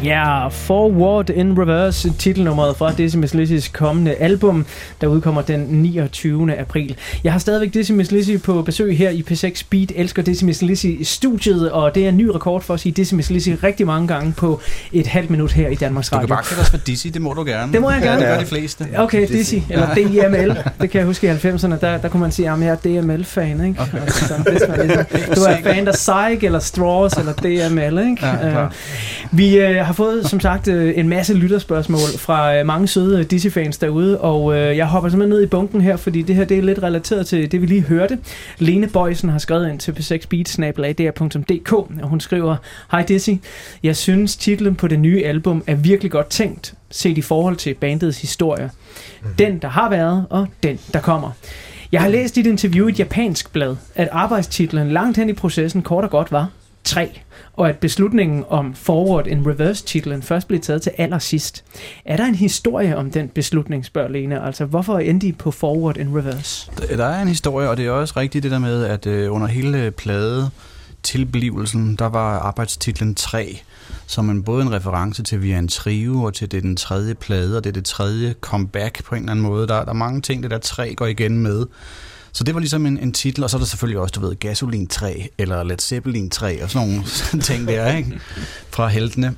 Ja, yeah, Forward in Reverse, titelnummeret fra Dizzy Miss Lizzys kommende album, der udkommer den niogtyvende april. Jeg har stadigvæk Dizzy Miss Lizzy på besøg her i P seks Beat. Elsker Dizzy Miss Lizzy i studiet, og det er en ny rekord for at sige Dizzy Miss Lizzy rigtig mange gange på et halvt minut her i Danmarks Radio. Du kan bare kalde os for Dizzy, det må du gerne. Det må jeg gerne. Ja, det gør de fleste. Okay, Dizzy, eller D I M L. Det kan jeg huske i halvfemserne, der, der kunne man sige, at jeg er D M L-fan, ikke? Okay. Altså, sådan, hvis man ligesom, du er fan af Psych, eller Straws, eller D M L, ikke? Ja, uh, vi uh, har fået, som sagt, uh, en masse lytterspørgsmål fra uh, mange søde Dizzy-fans derude, og uh, jeg hopper simpelthen ned i bunken her, fordi det her det er lidt relateret til det, vi lige hørte. Lene Bøjsen har skrevet ind til p seks beat snabel-a d r punktum d k, og hun skriver: Hej Dizzy, jeg synes titlen på det nye album er virkelig godt tænkt, set i forhold til bandets historie. Mm-hmm. Den, der har været, og den, der kommer. Jeg har læst i et interview i et japansk blad, at arbejdstitlen langt hen i processen kort og godt var tre, og at beslutningen om Forward in Reverse-titlen først blev taget til allersidst. Er der en historie om den beslutning, spørger Lene? Altså, hvorfor endte I på Forward in Reverse? Der er en historie, og det er også rigtigt det der med, at øh, under hele plade tilblivelsen, der var arbejdstitlen tre, som en, både en reference til vi er en trio, og til det er den tredje plade, og det er det tredje comeback på en eller anden måde. Der, der er mange ting, det der tre går igen med. Så det var ligesom en, en titel, og så er der selvfølgelig også, du ved, Gasolin tre, eller Led Zeppelin tre, og sådan nogle ting der, ikke? Fra heltene.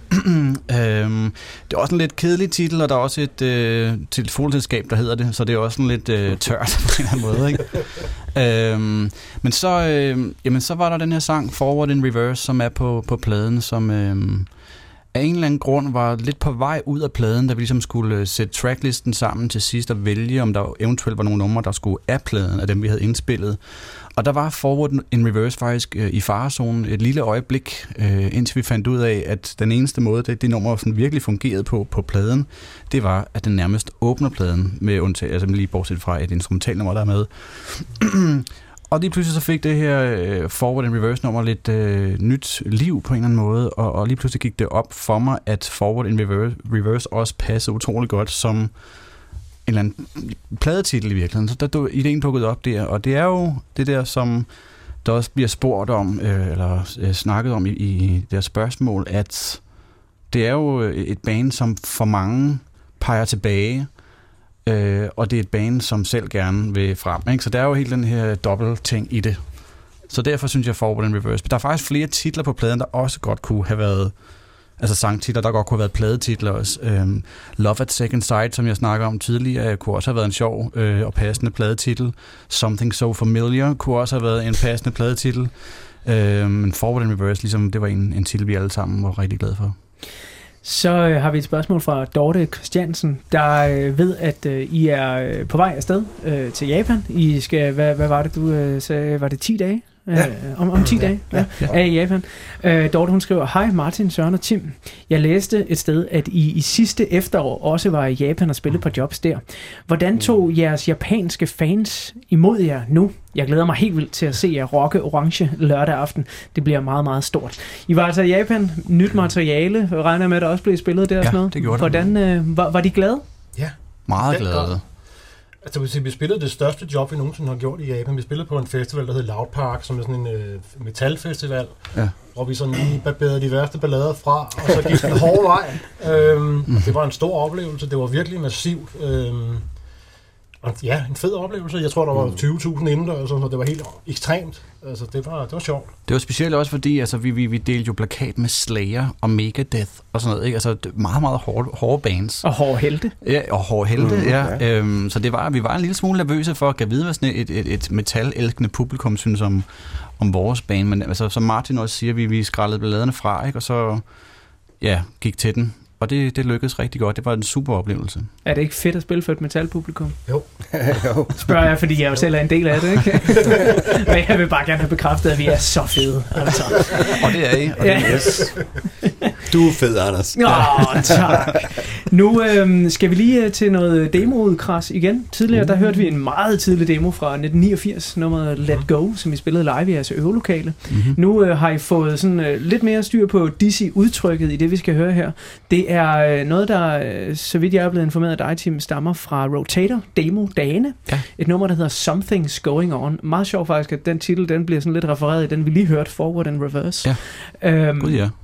øhm, det er også en lidt kedelig titel, og der er også et øh, telefonselskab, der hedder det, så det er også sådan lidt øh, tørt på en eller anden måde, ikke? øhm, men så, øh, jamen, så var der den her sang, Forward in Reverse, som er på, på pladen, som øh, af en eller anden grund var lidt på vej ud af pladen, da vi ligesom skulle sætte tracklisten sammen til sidst og vælge, om der eventuelt var nogle numre, der skulle af pladen, af dem vi havde indspillet. Og der var Forward in Reverse faktisk øh, i farezonen et lille øjeblik, øh, indtil vi fandt ud af, at den eneste måde, det, det nummer sådan virkelig fungerede på på pladen, det var, at den nærmest åbner pladen, med undtag, altså lige bortset fra et instrumentalnummer, der er med. Og lige pludselig så fik det her øh, Forward and Reverse nummer lidt øh, nyt liv på en eller anden måde, og, og lige pludselig gik det op for mig, at Forward and Reverse, Reverse også passede utrolig godt som en eller anden pladetitel i virkeligheden. Så der, der ideen dukkede op der, og det er jo det der, som der også bliver spurgt om, øh, eller øh, snakket om i, i deres spørgsmål, at det er jo et band, som for mange peger tilbage, Øh, og det er et band, som selv gerne vil frem. Ikke? Så der er jo helt den her dobbelt ting i det. Så derfor synes jeg Forward and Reverse. Der er faktisk flere titler på pladen, der også godt kunne have været, altså sangtitler, der godt kunne have været pladetitler også. Øhm, Love at Second Sight, som jeg snakker om tidligere, kunne også have været en sjov øh, og passende pladetitel. Something So Familiar kunne også have været en passende pladetitel. Øh, men Forward and Reverse, ligesom, det var en, en titel, vi alle sammen var rigtig glade for. Så øh, har vi et spørgsmål fra Dorte Christiansen, der øh, ved, at øh, I er øh, på vej afsted øh, til Japan. I skal, hvad, hvad var det, du øh, sagde? Var det ti dage? Ja. Øh, om, om ti ja. dage ja. Ja. er i Japan. Øh, Dorte, hun skriver: Hej Martin, Søren og Tim. Jeg læste et sted, at I i sidste efterår også var i Japan og spillede på jobs der. Hvordan tog jeres japanske fans imod jer nu? Jeg glæder mig helt vildt til at se jer rocke orange lørdag aften. Det bliver meget, meget stort. I var altså i Japan, nyt materiale, og regner med, at der også blev spillet der ja, og sådan noget. Det gjorde Hvordan, øh, var, var de glade? Ja. Meget glade. Altså, vi spillede det største job, vi nogensinde har gjort i Japan. Vi spillede på en festival, der hed Loud Park, som er sådan en øh, metalfestival, ja. Hvor vi sådan lige barberede de værste ballader fra, og så gik den hårde vej. Øhm, mm. Det var en stor oplevelse. Det var virkelig massivt. Øhm, og ja, en fed oplevelse. Jeg tror, der var tyve tusind indendørs, så det var helt ekstremt. Altså, det var, det var sjovt. Det var specielt også fordi, altså, vi, vi, vi delte jo plakat med Slayer og Megadeth og sådan noget, ikke? Altså, meget, meget hårde, hårde bands. Og hårde helte. Ja, og hårde helte, mm, ja. ja. Øhm, så det var, vi var en lille smule nervøse for at kan vide, hvad sådan et, et, et metal-elskende publikum synes om, om vores band. Men altså, som Martin også siger, vi, vi skrællede balladerne fra, ikke? Og så ja, gik til den. Og det, det lykkedes rigtig godt. Det var en super oplevelse. Er det ikke fedt at spille for et metalpublikum? Jo. jo. Spørger jeg, fordi jeg jo selv er en del af det, ikke? Men jeg vil bare gerne have bekræftet, at vi er så fede. Altså. Og det er I. Og det er yes. Du er fed, Anders. Åh, oh, tak. Nu øhm, skal vi lige til noget demo-udkras igen. Tidligere, der hørte vi en meget tidlig demo fra nitten niogfirs, nummeret Let Go, som vi spillede live i jeres øvelokale. Mm-hmm. Nu øh, har I fået sådan, øh, lidt mere styr på Dizzy-udtrykket i det, vi skal høre her. Det er øh, noget, der, øh, så vidt jeg er blevet informeret af dig, Tim, stammer fra Rotator, demo-dagene. Ja. Et nummer, der hedder Something's Going On. Meget sjovt faktisk, at den titel, den bliver sådan lidt refereret i den, vi lige hørte, Forward and Reverse. Ja, øhm, god ja.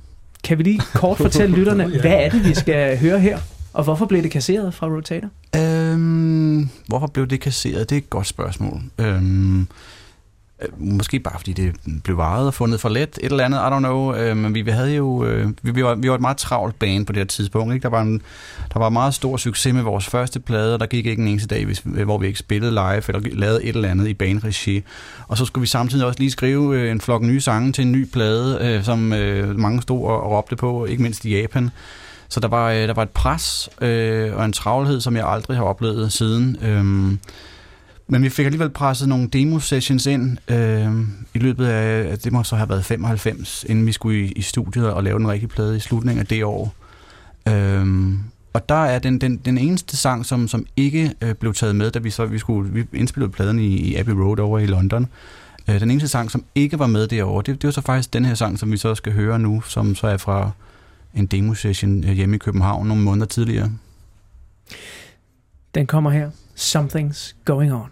kan vi lige kort fortælle lytterne, ja. hvad er det, vi skal høre her? Og hvorfor blev det kasseret fra Rotator? Øhm, hvorfor blev det kasseret? Det er et godt spørgsmål. Øhm, måske bare fordi det blev varet og fundet for let, et eller andet, I don't know. Øh, men vi havde jo, øh, vi, vi, var, vi var et meget travlt band på det her tidspunkt. Ikke? Der var en, der var meget stor succes med vores første plade, og der gik ikke en eneste dag, hvis, hvor vi ikke spillede live eller lavede et eller andet i bandregi. Og så skulle vi samtidig også lige skrive øh, en flok nye sange til en ny plade, øh, som øh, mange stod og, og råbte på, ikke mindst i Japan. Så der var, øh, der var et pres øh, og en travlhed, som jeg aldrig har oplevet siden. Øh, Men vi fik alligevel presset nogle demo-sessions ind øh, i løbet af, det må så have været femoghalvfems, inden vi skulle i, i studiet og lave den rigtige plade i slutningen af det år. Øh, og der er den, den, den eneste sang, som, som ikke øh, blev taget med, da vi så vi skulle vi indspillede pladen i, i Abbey Road over i London. Øh, den eneste sang, som ikke var med derovre, det, det var så faktisk den her sang, som vi så skal høre nu, som så er fra en demo-session hjemme i København nogle måneder tidligere. Den kommer her. Something's Going On.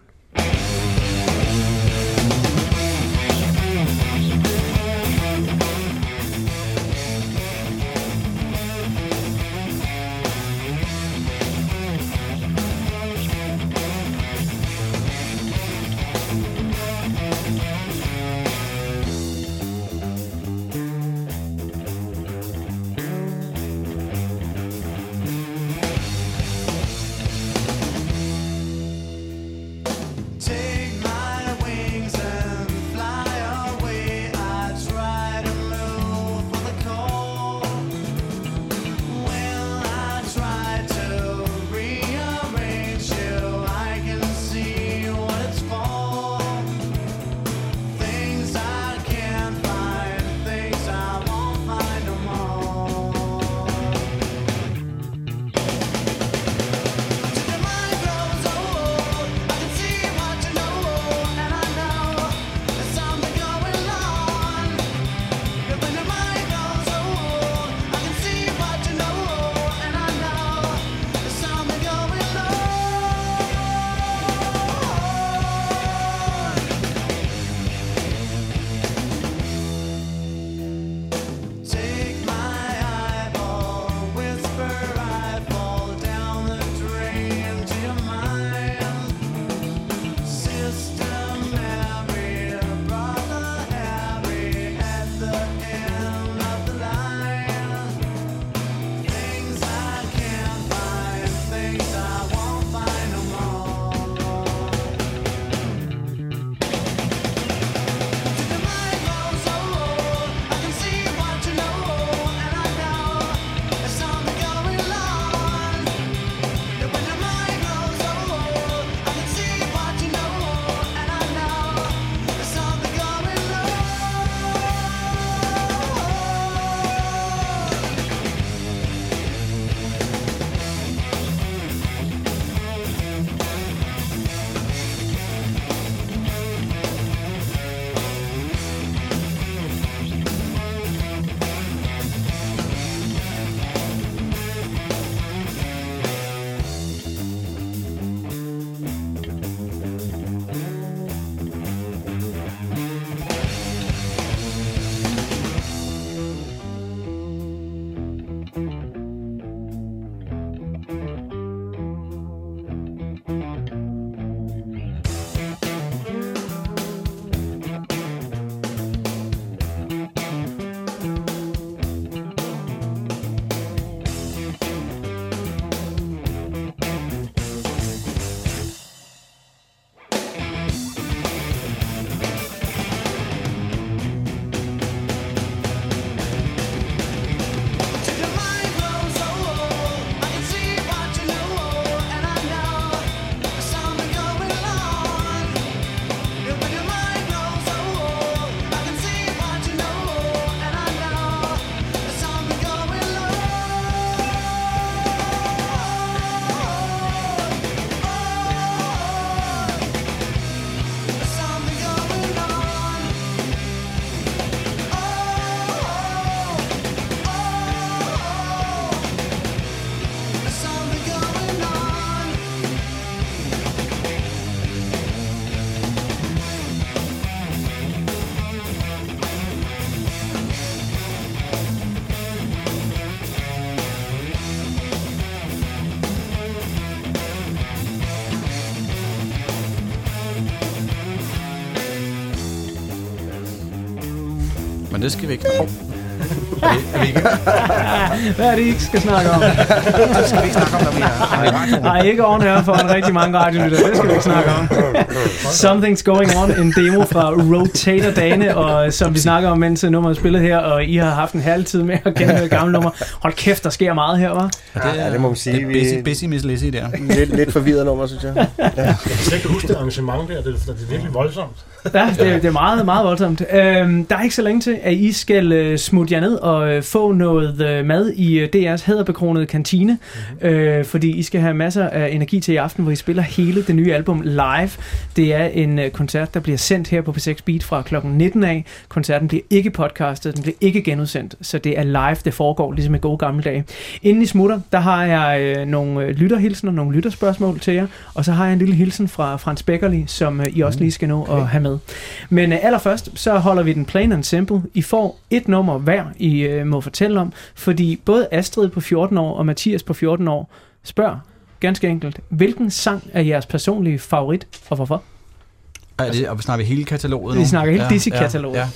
det skal vi ikke. Oh. Er vi, er vi ikke? Hvad er det, I ikke skal snakke om? Det skal vi ikke snakke om, der bliver. Nej, ikke on her for en rigtig mange radiolytter. Det skal vi ikke snakke om. Something's going on. En demo fra Rotator-dagene, og som vi snakker om, mens nummeret er spillet her, og I har haft en halv tid med at genhøre gamle nummer. Hold kæft, der sker meget her, hva'? Ja, det, ja, det må man sige. Det er busy, busy Miss Lizzy der. Lidt, lidt forvirret nummer, synes jeg. Ja. Jeg kan slet ikke huske det arrangement der, det, det er virkelig voldsomt. Ja, det, det er meget, meget voldsomt. Øhm, der er ikke så længe til, at I skal uh, smutte jer ned og uh, få noget uh, mad i uh, D R's hæderbekronede kantine, mm-hmm. øh, fordi I skal have masser af energi til i aften, hvor I spiller hele det nye album live. Det er en uh, koncert, der bliver sendt her på P seks Beat fra klokken nitten af. Koncerten bliver ikke podcastet, den bliver ikke genudsendt, så det er live, det foregår, ligesom i gode gamle dage. Inden I smutter, der har jeg uh, nogle lytterhilsener, nogle lytterspørgsmål til jer, og så har jeg en lille hilsen fra Frans Beckerli, som uh, I også lige skal nå okay. at have med. Men uh, allerførst, så holder vi den plain and simple. I får et nummer hver, I uh, må fortælle om, fordi både Astrid på fjorten år og Mathias på fjorten år spørger ganske enkelt, hvilken sang er jeres personlige favorit, og hvorfor? Er det, og vi snakker hele kataloget nu? Vi snakker hele ja, Dizzy-kataloget. Ja, ja.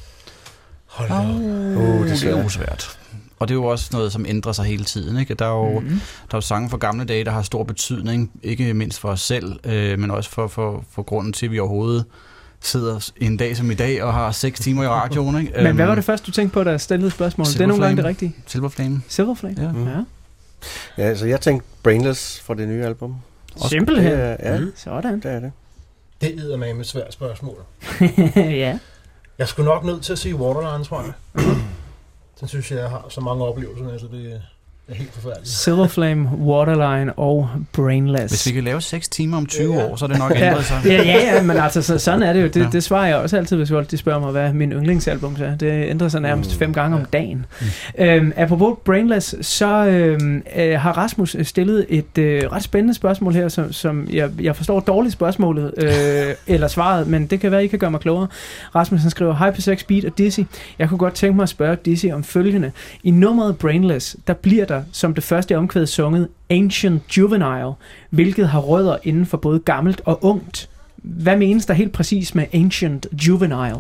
Hold da. Oh, oh, det, det er jo svært. Og det er jo også noget, som ændrer sig hele tiden. Ikke? Der, er jo, mm-hmm. der er jo sange fra gamle dage, der har stor betydning, ikke mindst for os selv, øh, men også for, for, for grunden til, at vi overhovedet sidder en dag som i dag og har seks timer i radioen. Ikke? Men hvad var det første, du tænkte på, der stillede spørgsmål? Det er nogle gange det rigtige. Silver Flame. Silver Flame, ja. Mm. ja. Ja, altså jeg tænkte Brainless fra det nye album. Simpelthen. Ja, ja. Mm. Sådan. Det er det. Det er med et svært spørgsmål. Ja. Jeg skulle nok nødt til at sige Waterline, tror jeg. Den synes jeg, jeg har så mange oplevelser med, så det er helt forfærdeligt. Silver Flame, Waterline og Brainless. Hvis vi kan lave seks timer om tyve ja. år, så er det nok ændret sig. Ja, ja, ja, men altså så, sådan er det jo. Det, ja. det svarer jeg også altid, hvis folk de spørger mig, hvad min yndlingsalbum er. Det ændrer sig nærmest mm. fem gange om dagen. Mm. Øhm, apropos Brainless, så øhm, øh, har Rasmus stillet et øh, ret spændende spørgsmål her, som, som jeg, jeg forstår dårligt spørgsmålet, øh, eller svaret, men det kan være, I kan gøre mig klogere. Rasmus han skriver, hej P seks Beat og Dizzy. Jeg kunne godt tænke mig at spørge Dizzy om følgende. I nummeret Brainless, der bliver der som det første omkvæd sunget Ancient Juvenile, hvilket har rødder inden for både gammelt og ungt. Hvad menes der helt præcis med Ancient Juvenile?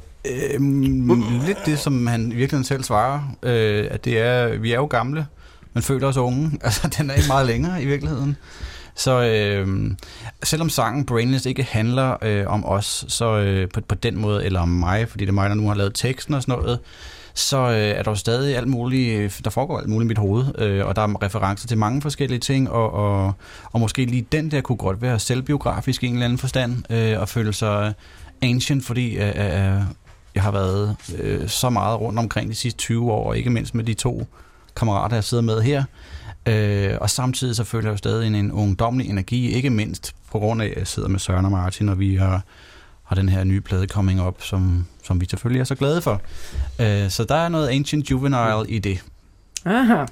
Øhm, lidt det, som han i virkeligheden selv svarer, øh, at det er, vi er jo gamle, men føler os unge. Altså, den er ikke meget længere i virkeligheden. Så øh, selvom sangen Brainless ikke handler øh, om os, så øh, på, på den måde, eller om mig, fordi det er mig, der nu har lavet teksten og sådan noget, så øh, er der jo stadig alt muligt, der foregår alt muligt i mit hoved, øh, og der er referencer til mange forskellige ting, og, og, og måske lige den der kunne godt være selvbiografisk i en eller anden forstand, øh, og føle sig ancient, fordi øh, øh, jeg har været øh, så meget rundt omkring de sidste tyve år, og ikke mindst med de to kammerater, jeg sidder med her, øh, og samtidig så føler jeg jo stadig en, en ungdomlig energi, ikke mindst på grund af, at jeg sidder med Søren og Martin, og vi har har den her nye plade coming up, som, som vi selvfølgelig er så glade for. Uh, så der er noget Ancient Juvenile i det. Aha.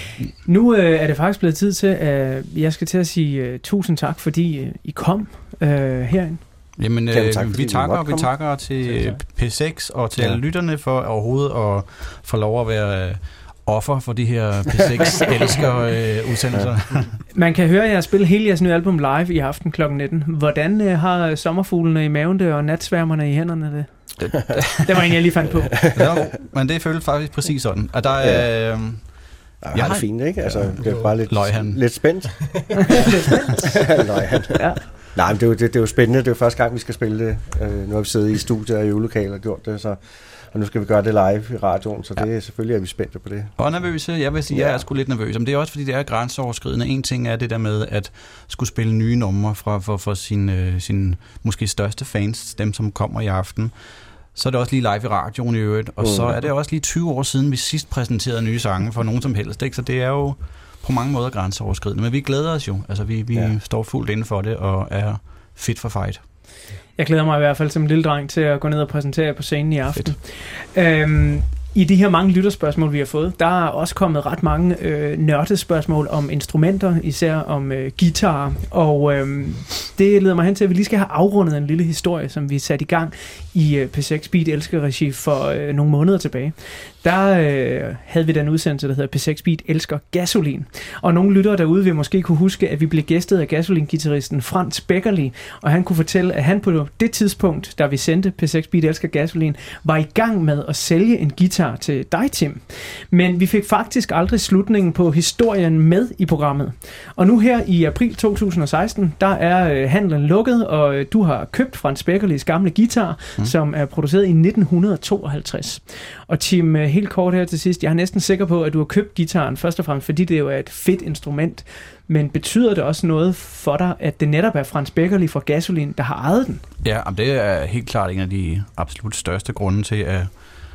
Nu øh, er det faktisk blevet tid til, at jeg skal til at sige uh, tusind tak, fordi uh, I kom uh, herind. Jamen, øh, tak, vi takker, og vi takker til P seks og til ja. alle lytterne for overhovedet at få lov at være uh, offer for de her P seks elsker øh, udsendelser. Ja. Man kan høre jer spille hele jeres nye album live i aften klokken nitten. Hvordan øh, har sommerfuglene i maven det, og natsværmerne i hænderne det? Det, det var en, jeg lige fandt på. Ja, men det føles faktisk præcis sådan. At der er... Øh, Ja, jeg har det fint, ikke? Altså, det er bare lidt, Løghan. lidt spændt. lidt spændt? Løghan. Ja. Nej, men det er, jo, det, det er jo spændende. Det er jo første gang, vi skal spille det. Uh, nu har vi siddet i studiet og i øvelokaler og gjort det, så... Og nu skal vi gøre det live i radioen, så det ja. er selvfølgelig, at vi er spændte på det. Og nervøse, jeg vil sige, ja. jeg er sgu lidt nervøs. Men det er også, fordi det er grænseoverskridende. En ting er det der med at skulle spille nye numre fra, for, for sine sin måske største fans, dem som kommer i aften. Så er det også lige live i radioen i øvrigt. Og mm. så er det også lige tyve år siden, vi sidst præsenterede nye sange for nogen som helst. Ikke? Så det er jo på mange måder grænseoverskridende. Men vi glæder os jo. Altså, vi, vi ja. står fuldt inden for det og er fit for fight. Jeg glæder mig i hvert fald som en lille dreng til at gå ned og præsentere jer på scenen i aften. Øhm, I de her mange lytterspørgsmål, vi har fået, der er også kommet ret mange øh, nørdespørgsmål om instrumenter, især om øh, guitar. Og øh, det leder mig hen til, at vi lige skal have afrundet en lille historie, som vi satte i gang i øh, P seks Beat Elsker-regi for øh, nogle måneder tilbage. Der øh, havde vi den udsendelse, der hedder P seks Beat Elsker Gasolin. Og nogle lyttere derude vil måske kunne huske, at vi blev gæstet af Gasolin-gitarristen Frans Beckerli, og han kunne fortælle, at han på det tidspunkt, da vi sendte P seks Beat Elsker Gasolin, var i gang med at sælge en guitar til dig, Tim. Men vi fik faktisk aldrig slutningen på historien med i programmet. Og nu her i april to tusind og seksten, der er øh, handlen lukket, og øh, du har købt Frans Beckerlis gamle guitar, mm. som er produceret i nitten tooghalvtreds. Og Tim, øh, helt kort her til sidst, jeg er næsten sikker på, at du har købt guitaren først og fremmest, fordi det jo er et fedt instrument. Men betyder det også noget for dig, at det netop er Frans Beckerli fra Gasolin, der har ejet den? Ja, det er helt klart en af de absolut største grunde til, at,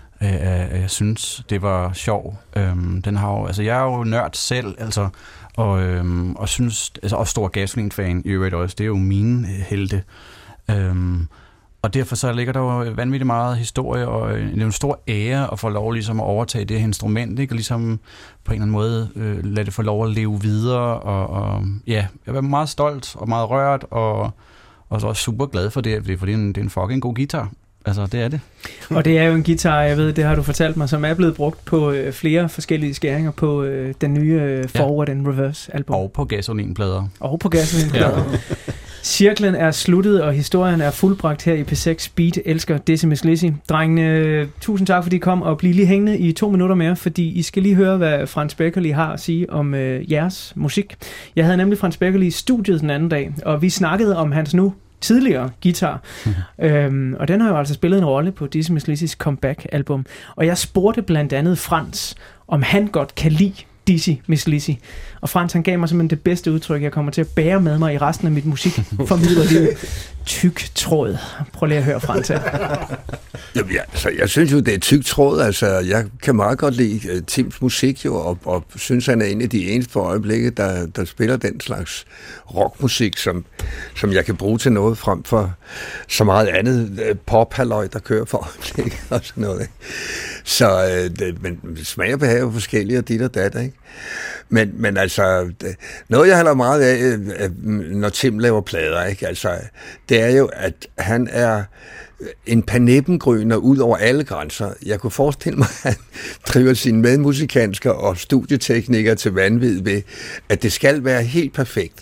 at jeg synes, det var sjov. Øhm, den har jo, altså, jeg er jo nørd selv, altså, og, øhm, og synes, altså, også stor Gasolin-fan i øvrigt også. Det er jo mine helte. Øhm, Og derfor så ligger der jo vanvittigt meget historie, og det er en stor ære at få lov ligesom at overtage det her instrument, ikke? Og ligesom på en eller anden måde øh, lade det få lov at leve videre, og, og ja, jeg er meget stolt og meget rørt, og, og så også super glad for det, fordi det er en, det er en fucking god guitar. Altså, det er det. Og det er jo en guitar, jeg ved, det har du fortalt mig, som er blevet brugt på øh, flere forskellige skæringer på øh, den nye øh, Forward ja. and Reverse album. Og på Gasolin-plader. Og på Gasolin-plader. Ja. Cirklen er sluttet, og historien er fuldbragt her i P seks Beat Elsker Dizzy Miss Lizzy. Drengene, tusind tak, fordi I kom, og bliv lige hængende i to minutter mere, fordi I skal lige høre, hvad Frans Beckerli har at sige om øh, jeres musik. Jeg havde nemlig Frans Beckerli i studiet den anden dag, og vi snakkede om hans nu tidligere guitar. Mm-hmm. Øhm, og den har jo altså spillet en rolle på Dizzy Miss Lizzys comeback-album. Og jeg spurgte blandt andet Frans, om han godt kan lide Dizzy Miss Lizzy. Og Frans, han gav mig simpelthen det bedste udtryk, jeg kommer til at bære med mig i resten af mit musikformidlerliv. Tyk tråd. Prøv lige at høre, Frans her. Jamen, ja, altså, jeg synes jo, det er tyk tråd. Altså, jeg kan meget godt lide uh, Tims musik jo, og, og synes, han er en af de eneste for øjeblikket, der, der spiller den slags rockmusik, som, som jeg kan bruge til noget, frem for så meget andet uh, pop-halløj, der kører for øjeblikket og sådan noget. Ikke? Så uh, det, men smag og behag er jo forskellige, og dit og dat, ikke? Men, men altså, det, noget jeg holder meget af, når Tim laver plader, ikke? Altså, det er jo, at han er en panepengryner ud over alle grænser. Jeg kunne forestille mig, at han driver sine medmusikansker og studieteknikere til vanvid ved, at det skal være helt perfekt.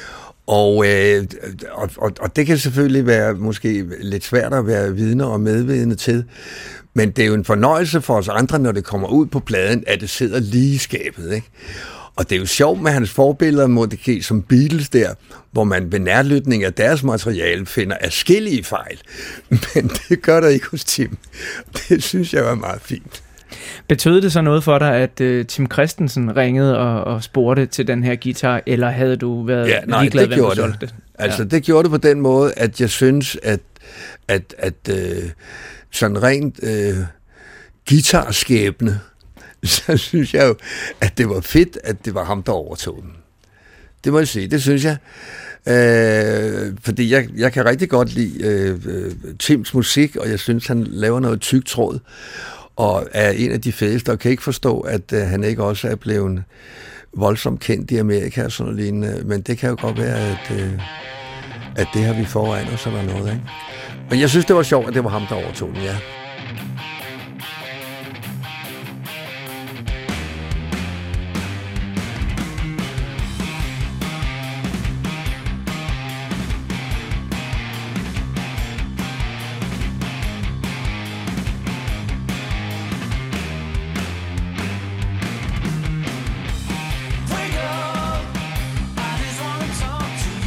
Og, øh, og, og, og det kan selvfølgelig være måske lidt svært at være vidner og medvidende til, men det er jo en fornøjelse for os andre, når det kommer ud på pladen, at det sidder lige i skabet, ikke? Og det er jo sjovt med hans forbilleder, måske som Beatles der, hvor man ved nærlytning af deres materiale finder adskillige fejl. Men det gør der ikke hos Tim. Det synes jeg var meget fint. Betød det så noget for dig, at uh, Tim Christensen ringede og, og spurgte til den her guitar, eller havde du været ja, nej, ligeglad, hvem du solgte det? Altså, ja. det gjorde det på den måde, at jeg synes, at, at, at øh, sådan rent øh, guitarskæbne, så synes jeg jo, at det var fedt, at det var ham, der overtog den. Det må jeg sige, det synes jeg. Øh, fordi jeg, jeg kan rigtig godt lide øh, Tims musik, og jeg synes, han laver noget tyk tråd, og er en af de fedeste, og kan ikke forstå, at øh, han ikke også er blevet voldsomt kendt i Amerika og sådan lignende. Men det kan jo godt være, at, øh, at det har vi foran os eller noget, ikke? Men jeg synes, det var sjovt, at det var ham, der overtog den, ja.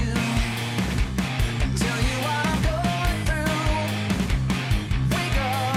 Tell you what I'm going through. Wake up.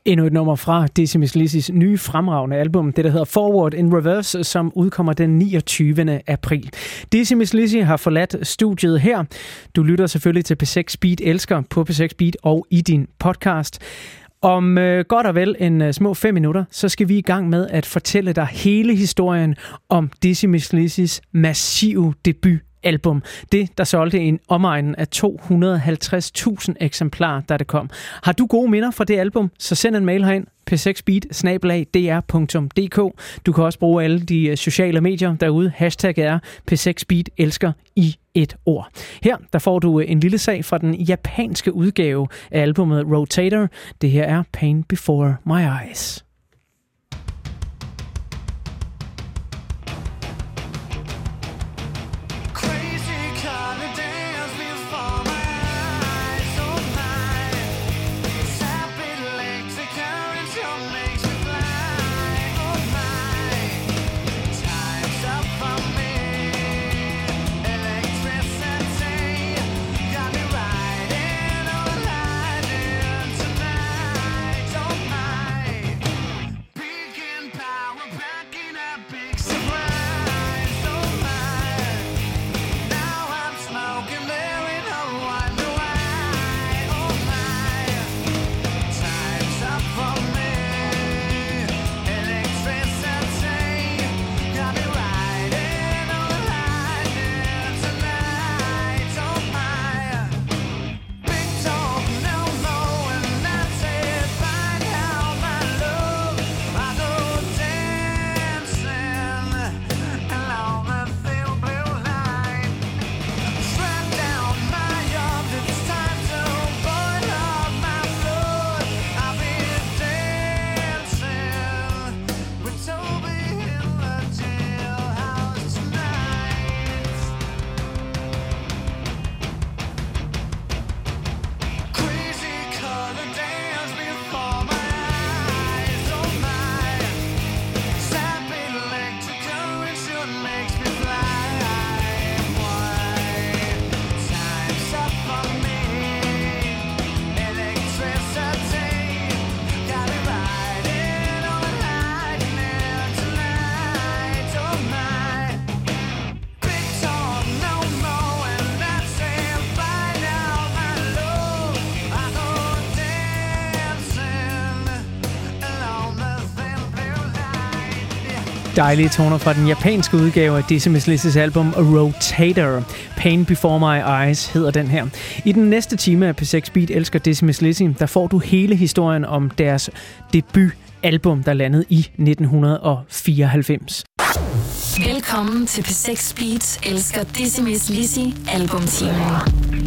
Endnu et nummer fra Dizzy Miss Lizzys nye fremragende album, det der hedder Forward in Reverse, som udkommer den niogtyvende april. Dizzy Miss Lizzy har forladt studiet her. Du lytter selvfølgelig til P seks Beat Elsker på P seks Beat og i din podcast. Om øh, godt og vel en øh, små fem minutter, så skal vi i gang med at fortælle dig hele historien om Dizzy Miss Lizzys massive debut. Album. Det, der solgte en omegnen af to hundrede og halvtreds tusind eksemplarer, da det kom. Har du gode minder fra det album, så send en mail herind, p seks beat snabel-a d r punktum d k. Du kan også bruge alle de sociale medier derude. Hashtag er P seks Beat elsker i et ord. Her der får du en lille sag fra den japanske udgave af albumet Rotator. Det her er Pain Before My Eyes. Dejlige toner fra den japanske udgave af Dizzy Miss Lizzys album Rotator. Pain Before My Eyes hedder den her. I den næste time af P seks Beat elsker Dizzy Miss Lizzy, der får du hele historien om deres debutalbum, der landede i nitten fireoghalvfems. Velkommen til P seks Beat elsker Dizzy Miss Lizzy albumtimen.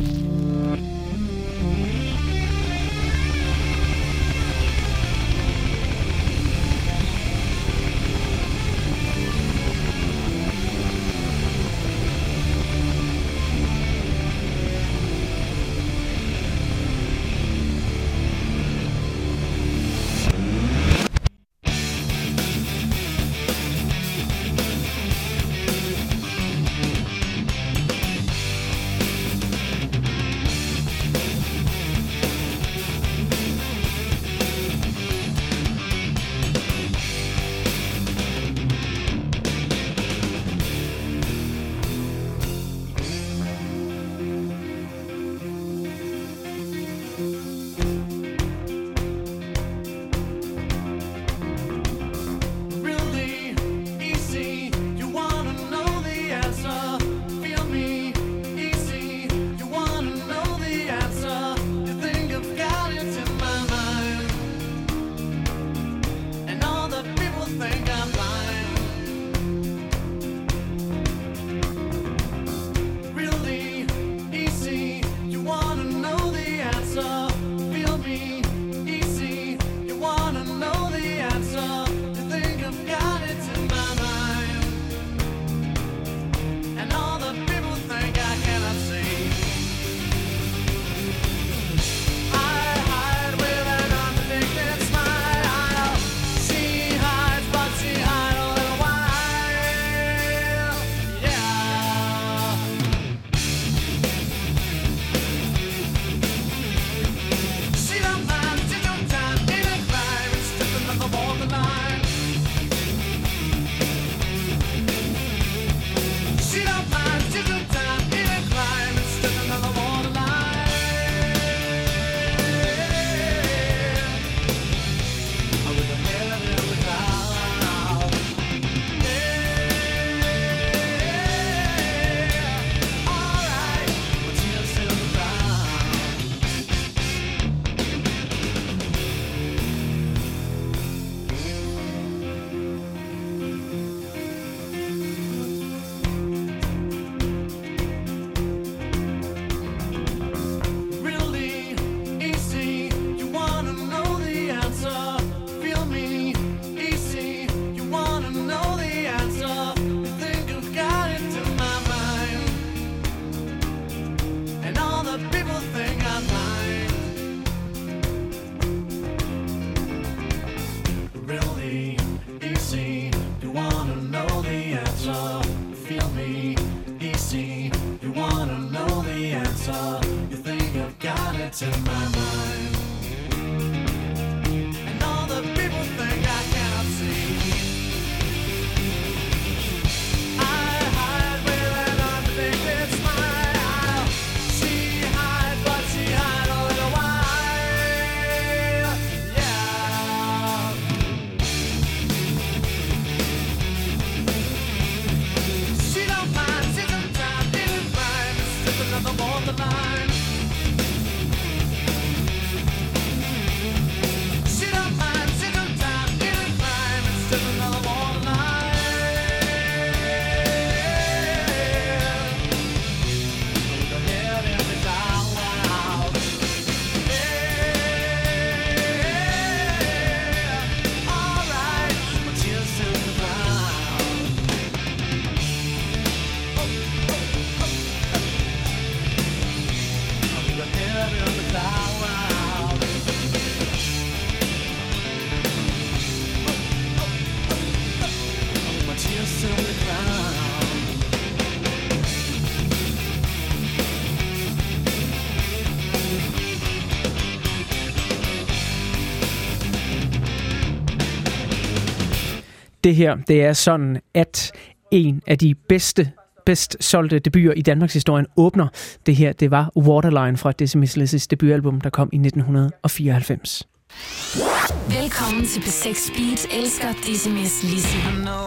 Det her, det er sådan, at en af de bedste, bedst solgte debuter i Danmarks historien åbner. Det her, det var Waterline fra Dizzy Miss Lizzys debutalbum, der kom i nitten fireoghalvfems. Velkommen til P seks Beat, elsker Dizzy Miss Lizzy.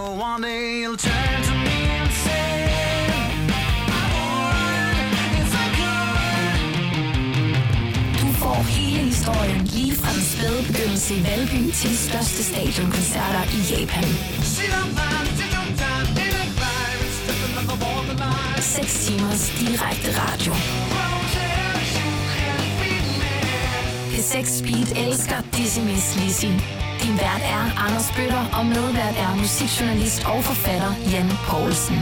Får hele historien lige fra den spæde begyndelse i Valby til de største stadionkoncerter i Japan. seks timers direkte radio. P seks Speed elsker Dizzy Miss Lizzy. Din vært er Anders Bøtter, og medvært er musikjournalist og forfatter Jan Poulsen.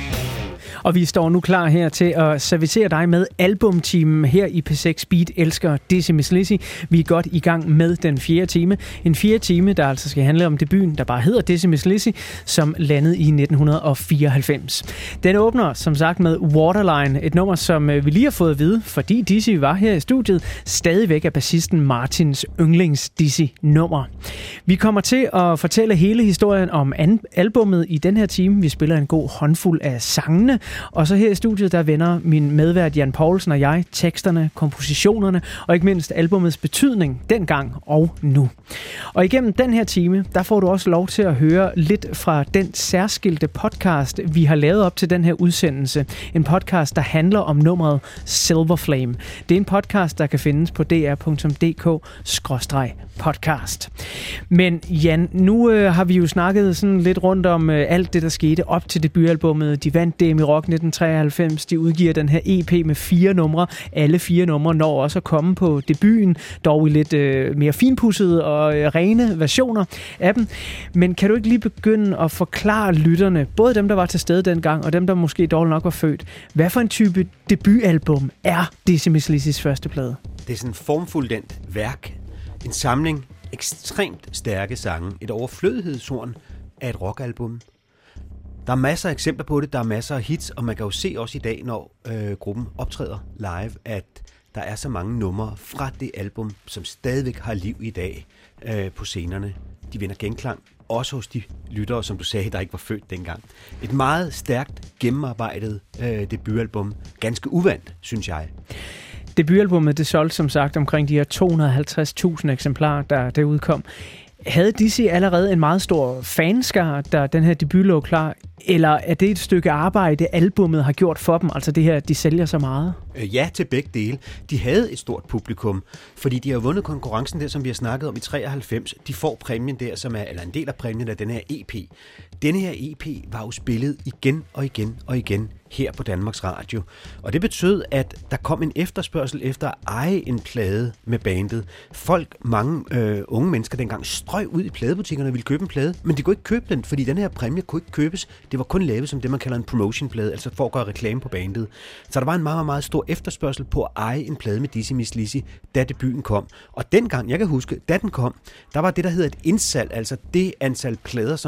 Og vi står nu klar her til at servicere dig med albumteamen her i P seks Beat elsker Dizzy Miss Lizzy. Vi er godt i gang med den fjerde time. En fjerde time, der altså skal handle om debuten, der bare hedder Dizzy Miss Lizzy, som landede i nitten fireoghalvfems. Den åbner som sagt med Waterline, et nummer, som vi lige har fået at vide, fordi Dizzy var her i studiet, stadigvæk er bassisten Martins yndlings Dizzy-nummer. Vi kommer til at fortælle hele historien om albummet i den her time. Vi spiller en god håndfuld af sangene. Og så her i studiet, der vender min medvært Jan Poulsen og jeg teksterne, kompositionerne og ikke mindst albumets betydning dengang og nu. Og igennem den her time, der får du også lov til at høre lidt fra den særskilte podcast, vi har lavet op til den her udsendelse. En podcast, der handler om nummeret Silver Flame. Det er en podcast, der kan findes på d r punktum d k skråstreg podcast. Men Jan, nu øh, har vi jo snakket sådan lidt rundt om øh, alt det, der skete op til debutalbummet. De vandt D M i Rock nitten treoghalvfems. De udgiver den her E P med fire numre. Alle fire numre når også at komme på debuten, dog i lidt øh, mere finpudsede og øh, rene versioner af dem. Men kan du ikke lige begynde at forklare lytterne, både dem, der var til stede dengang, og dem, der måske dårligt nok var født, hvad for en type debutalbum er Dizzy Miss Lizzys første plade? Det er sådan en formfuldendt værk. En samling ekstremt stærke sange. Et overflødighedshorn af et rockalbum. Der er masser af eksempler på det, der er masser af hits, og man kan jo se også i dag, når øh, gruppen optræder live, at der er så mange numre fra det album, som stadigvæk har liv i dag øh, på scenerne. De vinder genklang, også hos de lyttere, som du sagde, der ikke var født dengang. Et meget stærkt, gennemarbejdet øh, debutalbum. Ganske uvandt, synes jeg. Debutalbummet, det solgte som sagt omkring de her to hundrede og halvtreds tusind eksemplarer, der, der udkom. Havde Dizzy allerede en meget stor fanskare, da den her debut lå klar? Eller er det et stykke arbejde, albummet har gjort for dem? Altså det her, de sælger så meget? Ja, til begge dele. De havde et stort publikum, fordi de har vundet konkurrencen der, som vi har snakket om i treoghalvfems. De får præmien der, som er, eller en del af præmien af den her E P. Denne her E P var jo spillet igen og igen og igen her på Danmarks Radio. Og det betød, at der kom en efterspørgsel efter at eje en plade med bandet. Folk, mange øh, unge mennesker dengang, strøg ud i pladebutikkerne og ville købe en plade, men de kunne ikke købe den, fordi den her præmie kunne ikke købes. Det var kun lavet som det, man kalder en promotionplade, altså for at gøre reklame på bandet. Så der var en meget, meget stor efterspørgsel på at eje en plade med Dizzy Miss Lizzy, da debuten kom. Og dengang, jeg kan huske, da den kom, der var det, der hedder et indsalg, altså det antal plader, som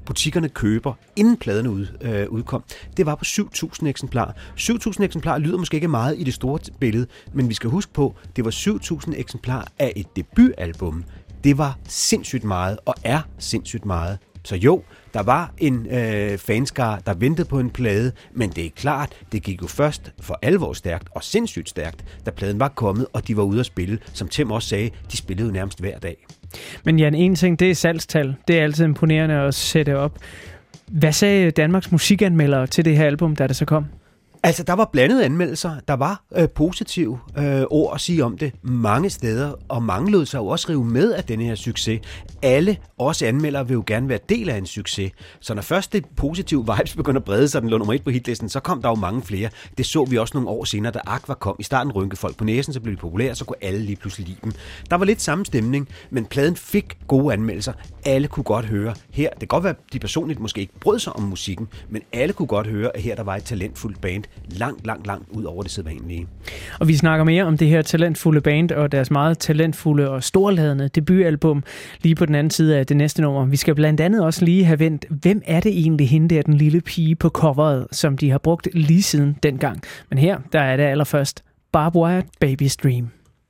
butikkerne køber, inden pladerne ud, øh, udkom, det var på syv tusind eksemplarer. syv tusind eksemplarer lyder måske ikke meget i det store billede, men vi skal huske på, det var syv tusind eksemplarer af et debutalbum. Det var sindssygt meget, og er sindssygt meget. Så jo, der var en øh, fanskare, der ventede på en plade, men det er klart, det gik jo først for alvor stærkt og sindssygt stærkt, da pladen var kommet, og de var ude at spille. Som Tim også sagde, de spillede jo nærmest hver dag. Men Jan, en ting, det er salgstal. Det er altid imponerende at sætte op. Hvad sagde Danmarks musikanmeldere til det her album, da det så kom? Altså, der var blandede anmeldelser. Der var øh, positive øh, ord at sige om det mange steder, og mange lod sig jo også rive med af denne her succes. Alle, også anmeldere, vil jo gerne være del af en succes. Så når først det positive vibes begynder at brede sig, den lå nummer et på hitlisten, så kom der jo mange flere. Det så vi også nogle år senere, da Aqua kom. I starten rynkede folk på næsen, så blev de populære, så kunne alle lige pludselig lide dem. Der var lidt samme stemning, men pladen fik gode anmeldelser. Alle kunne godt høre her. Det kan godt være, at de personligt måske ikke brød sig om musikken, men alle kunne godt høre, at her der var et talentfuldt band, langt, langt, langt ud over det sædvanlige. Og vi snakker mere om det her talentfulde band og deres meget talentfulde og storladende debutalbum lige på den anden side af det næste nummer. Vi skal blandt andet også lige have vendt, hvem er det egentlig hende der, den lille pige på coveret, som de har brugt lige siden dengang. Men her, der er det allerførst Barbed Wire Baby's Dream.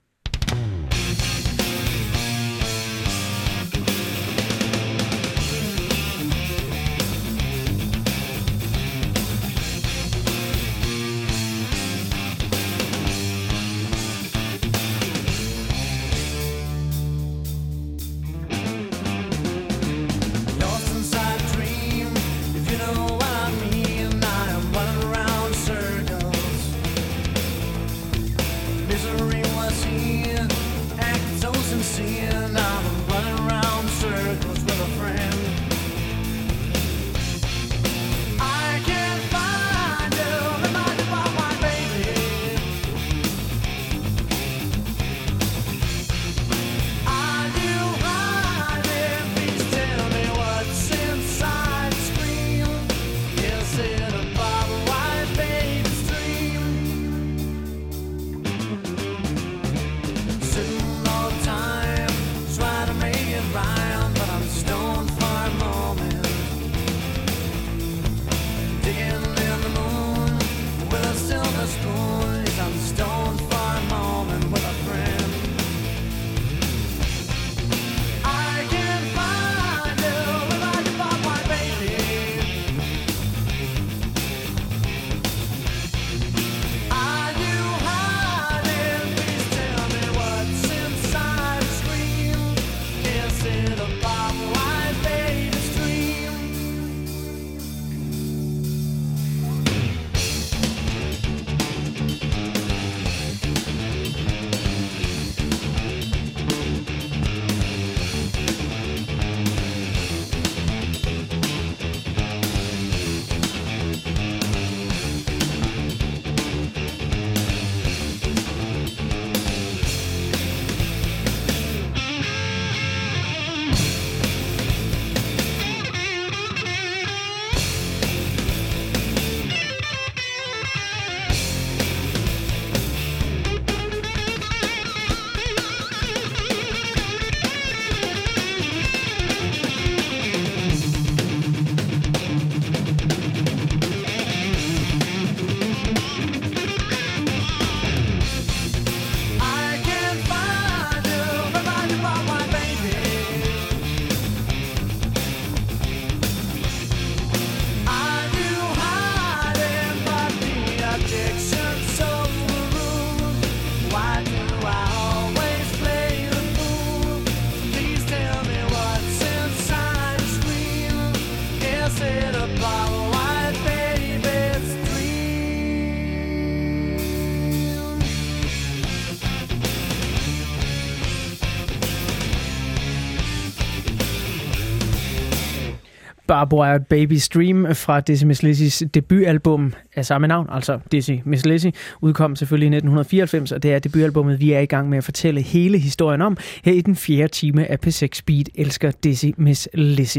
Barbed Wire Baby's Dream fra Dizzy Miss Lizzys debutalbum af samme navn, altså Dizzy Miss Lizzy, udkom selvfølgelig i nitten fireoghalvfems, og det er debutalbummet, vi er i gang med at fortælle hele historien om her i den fjerde time af P seks Beat elsker Dizzy Miss Lizzy.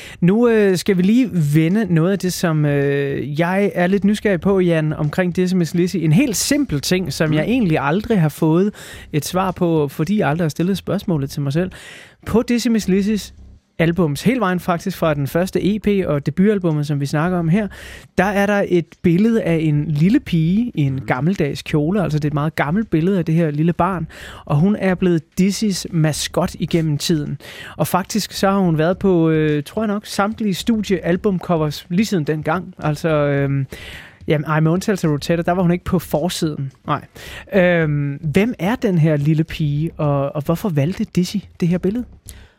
Nu øh, skal vi lige vende noget af det, som øh, jeg er lidt nysgerrig på, Jan, omkring Dizzy Miss Lizzy. En helt simpel ting, som jeg egentlig aldrig har fået et svar på, fordi jeg aldrig har stillet spørgsmålet til mig selv. På Dizzy Miss Lizzys albums, hele vejen faktisk fra den første E P og debutalbummet, som vi snakker om her, der er der et billede af en lille pige i en gammeldags kjole, altså det er et meget gammelt billede af det her lille barn, og hun er blevet Dizzy's maskot igennem tiden. Og faktisk så har hun været på, øh, tror jeg nok, samtlige studiealbumcovers lige siden dengang. Altså, øh, jamen, ej, med undtagelse af Rotetta, der var hun ikke på forsiden. Nej. Øh, hvem er den her lille pige, og, og hvorfor valgte Dizzy det her billede?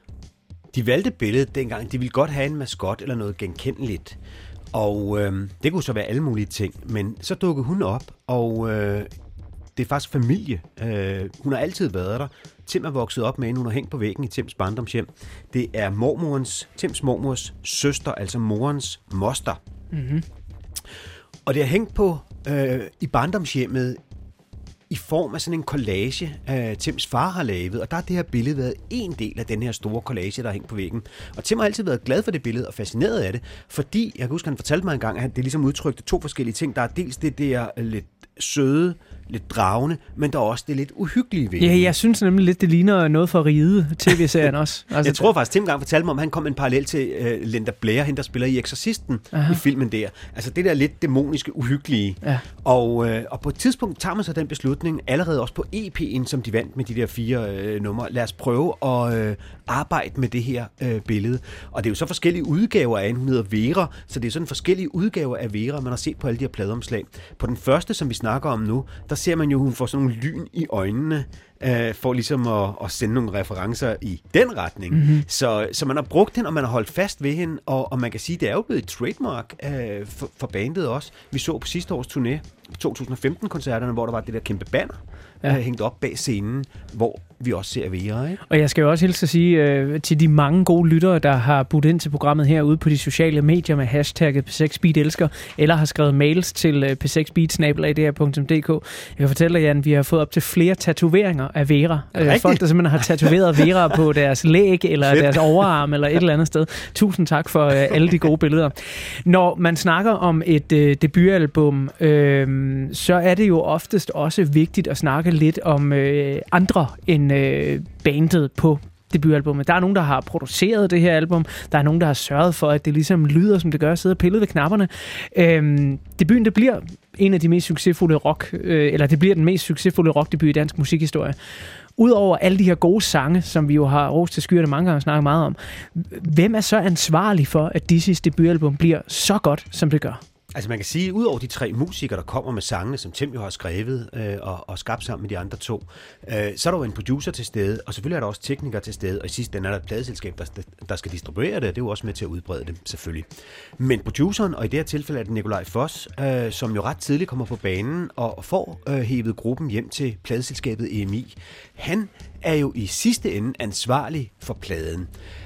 De valgte billedet dengang. De ville godt have en maskot eller noget genkendeligt. Og øh, det kunne så være alle mulige ting. Men så dukkede hun op, og øh, det er faktisk familie. Øh, hun har altid været der. Tim er vokset op med hende. Hun har hængt på væggen i Tims barndomshjem. Det er mormorens, Tims mormors søster, altså morens moster. Mm-hmm. Og det har hængt på øh, i barndomshjemmet i form af sådan en collage, øh, Tims far har lavet, og der har det her billede været en del af den her store collage, der har hængt på væggen. Og Tim har altid været glad for det billede og fascineret af det, fordi, jeg kan huske, han fortalte mig engang, at det ligesom udtrykte to forskellige ting. Der er dels det der lidt søde, lidt dragende, men der er også det lidt uhyggelige ved. Ja, jeg synes nemlig lidt, det ligner noget for Ride, tv-serien også. Altså, jeg tror faktisk, Tim engang fortalte mig, om han kom en parallel til uh, Linda Blair, hende der spiller i Exorcisten Aha. i filmen der. Altså det der lidt dæmoniske, uhyggelige. Ja. Og, uh, og på et tidspunkt tager man så den beslutning, allerede også på E P'en, som de vandt med de der fire uh, numre. Lad os prøve at uh, arbejde med det her uh, billede. Og det er jo så forskellige udgaver af hende. Hun hedder Vera, så det er sådan forskellige udgaver af Vera, man har set på alle de her pladeomslag. På den første, som vi snakker om nu, der ser man jo, hun får sådan nogle lyn i øjnene, øh, for ligesom at, at sende nogle referencer i den retning. Mm-hmm. Så, så man har brugt hende, og man har holdt fast ved hende, og, og man kan sige, det er jo blevet et trademark øh, for, for bandet også. Vi så på sidste års turné, to tusind og femten-koncerterne, hvor der var det der kæmpe banner, ja. øh, hængt op bag scenen, hvor vi også ser Vera, ikke? Og jeg skal jo også hilse at sige øh, til de mange gode lyttere, der har budt ind til programmet herude på de sociale medier med hashtagget P seks Beat elsker, eller har skrevet mails til øh, p seks beat snabel-a d r punktum d k. Jeg kan fortælle dig, Jan, vi har fået op til flere tatoveringer af Vera. Øh, folk, der simpelthen har tatoveret Vera på deres læg, eller Fedt. Deres overarm, eller et eller andet sted. Tusind tak for øh, alle de gode billeder. Når man snakker om et øh, debutalbum, øh, så er det jo oftest også vigtigt at snakke lidt om øh, andre end øh, bandet på debutalbummet. Der er nogen, der har produceret det her album. Der er nogen, der har sørget for, at det ligesom lyder, som det gør, at sidde og pille ved knapperne. Øhm, debuten, det bliver en af de mest succesfulde rock, øh, eller det bliver den mest succesfulde rockdebut i dansk musikhistorie. Udover alle de her gode sange, som vi jo har rost til skyerne mange gange og snakket meget om, hvem er så ansvarlig for, at Dizzy's debutalbum bliver så godt, som det gør? Altså man kan sige, at ud over de tre musikere, der kommer med sangene, som Tim jo har skrevet øh, og, og skabt sammen med de andre to, øh, så er der jo en producer til stede, og selvfølgelig er der også teknikere til stede, og i sidste ende er der et pladeselskab, der, der skal distribuere det, og det er jo også med til at udbrede det, selvfølgelig. Men produceren, og i det her tilfælde er det Nikolaj Foss, øh, som jo ret tidligt kommer på banen og får øh, hævet gruppen hjem til pladeselskabet E M I. Han er jo i sidste ende ansvarlig for pladen.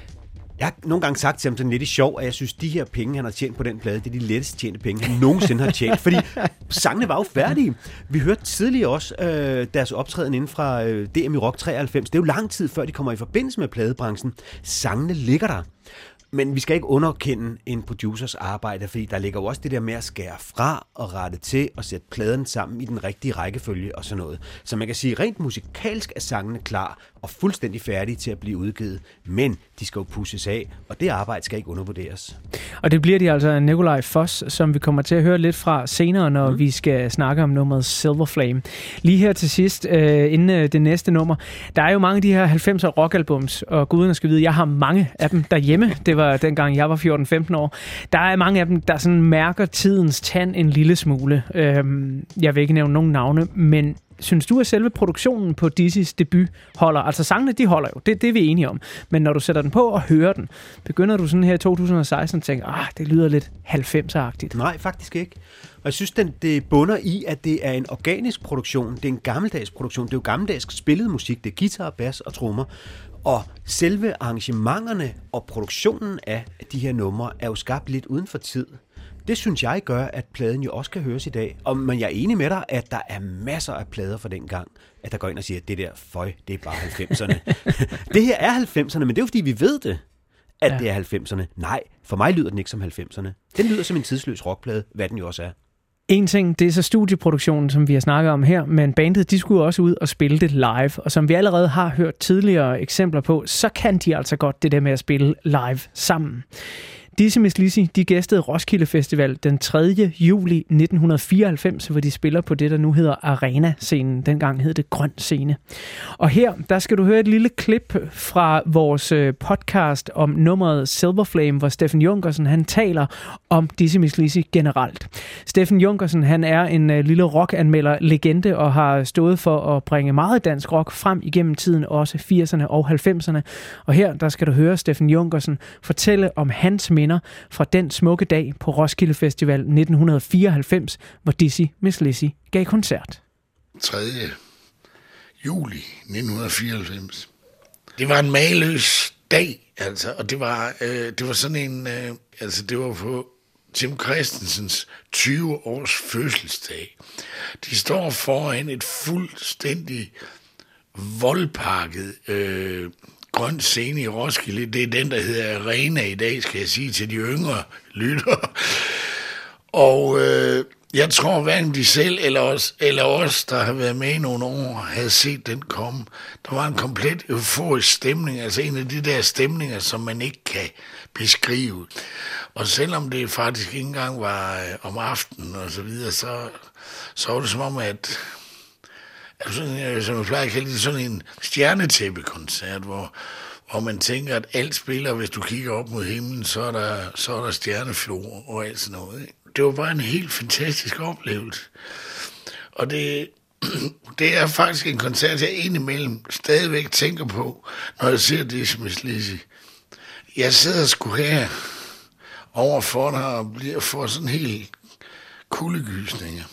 Jeg har nogle gange sagt til ham sådan lidt i sjov, at jeg synes, de her penge, han har tjent på den plade, det er de lettest tjente penge, han nogensinde har tjent. Fordi sangene var jo færdige. Vi hørte tidligere også øh, deres optræden inden fra øh, D M i Rock treoghalvfems. Det er jo lang tid før, de kommer i forbindelse med pladebranchen. Sangene ligger der. Men vi skal ikke underkende en producers arbejde, fordi der ligger jo også det der med at skære fra og rette til og sætte pladen sammen i den rigtige rækkefølge og sådan noget. Så man kan sige, rent musikalsk er sangene klar og fuldstændig færdige til at blive udgivet, men de skal jo pushes af, og det arbejde skal ikke undervurderes. Og det bliver de altså Nikolaj Foss, som vi kommer til at høre lidt fra senere, når mm. vi skal snakke om nummeret Silver Flame. Lige her til sidst, øh, inden øh, det næste nummer, der er jo mange af de her halvfemser rockalbums, og guderne skal vide, jeg har mange af dem derhjemme. Det var dengang jeg var fjorten femten år. Der er mange af dem, der sådan mærker tidens tand en lille smule. Øhm, jeg vil ikke nævne nogen navne, men synes du, at selve produktionen på Dizzy's debut holder? Altså sangene, de holder jo. Det, det er vi enige om. Men når du sætter den på og hører den, begynder du sådan her i to tusind og seksten at tænke, ah, det lyder lidt halvfemser-agtigt. Nej, faktisk ikke. Og jeg synes, den, det bunder i, at det er en organisk produktion. Det er en gammeldags produktion. Det er jo gammeldags spillet musik. Det er guitar, bas og trommer. Og selve arrangementerne og produktionen af de her numre er jo skabt lidt uden for tid. Det synes jeg gør, at pladen jo også kan høres i dag. Og, men jeg er enig med dig, at der er masser af plader fra den gang, at der går ind og siger, at det der, føj, det er bare halvfemserne. Det her er halvfemserne, men det er jo fordi, vi ved det, at ja. det er halvfemserne. Nej, for mig lyder den ikke som halvfemserne. Den lyder som en tidsløs rockplade, hvad den jo også er. En ting, det er så studieproduktionen, som vi har snakket om her, men bandet, de skulle også ud og spille det live. Og som vi allerede har hørt tidligere eksempler på, så kan de altså godt det der med at spille live sammen. Dizzy Mizz Lizzy, de gæstede Roskilde Festival den tredje juli nitten fireoghalvfems, hvor de spiller på det, der nu hedder Arena-scenen. Dengang hed det Grøn Scene. Og her, der skal du høre et lille klip fra vores podcast om nummeret Silver Flame, hvor Steffen Junkersen, han taler om Dizzy Mizz Lizzy generelt. Steffen Junkersen, han er en lille rockanmelder legende og har stået for at bringe meget dansk rock frem igennem tiden, også firserne og halvfemserne. Og her, der skal du høre Steffen Junkersen fortælle om hans minder fra den smukke dag på Roskilde Festival nitten fireoghalvfems, hvor Dizzy Mizz Lizzy gav koncert. tredje juli nitten fireoghalvfems. Det var en mageløs dag, altså, og det var, øh, det var sådan en, øh, altså det var på Tim Christensens tyve års fødselsdag. De står foran et fuldstændig voldpakket øh, Grøn Scene i Roskilde. Det er den, der hedder Arena i dag, skal jeg sige til de yngre lyttere. Og øh, jeg tror, hverken de selv eller os, eller os, der har været med i nogle år, havde set den komme. Der var en komplet euforisk stemning, altså en af de der stemninger, som man ikke kan beskrive. Og selvom det faktisk ikke engang var øh, om aftenen og så videre, så, så var det som om, at Sådan, som jeg plejer at kalde det, sådan en stjernetæppekoncert, hvor, hvor man tænker, at alt spiller, hvis du kigger op mod himlen, så er der, så er der stjerneflor og alt sådan noget. Ikke? Det var bare en helt fantastisk oplevelse. Og det, det er faktisk en koncert, jeg indimellem stadigvæk tænker på, når jeg ser Dizzy Mizz Lizzy. Jeg sidder sgu her overfor dig og bliver får sådan helt kuldegysninger.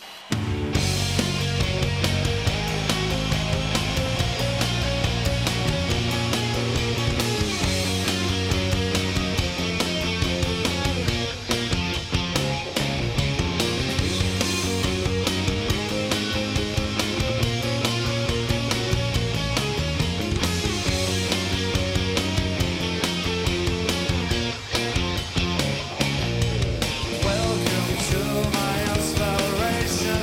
Welcome to my inspiration.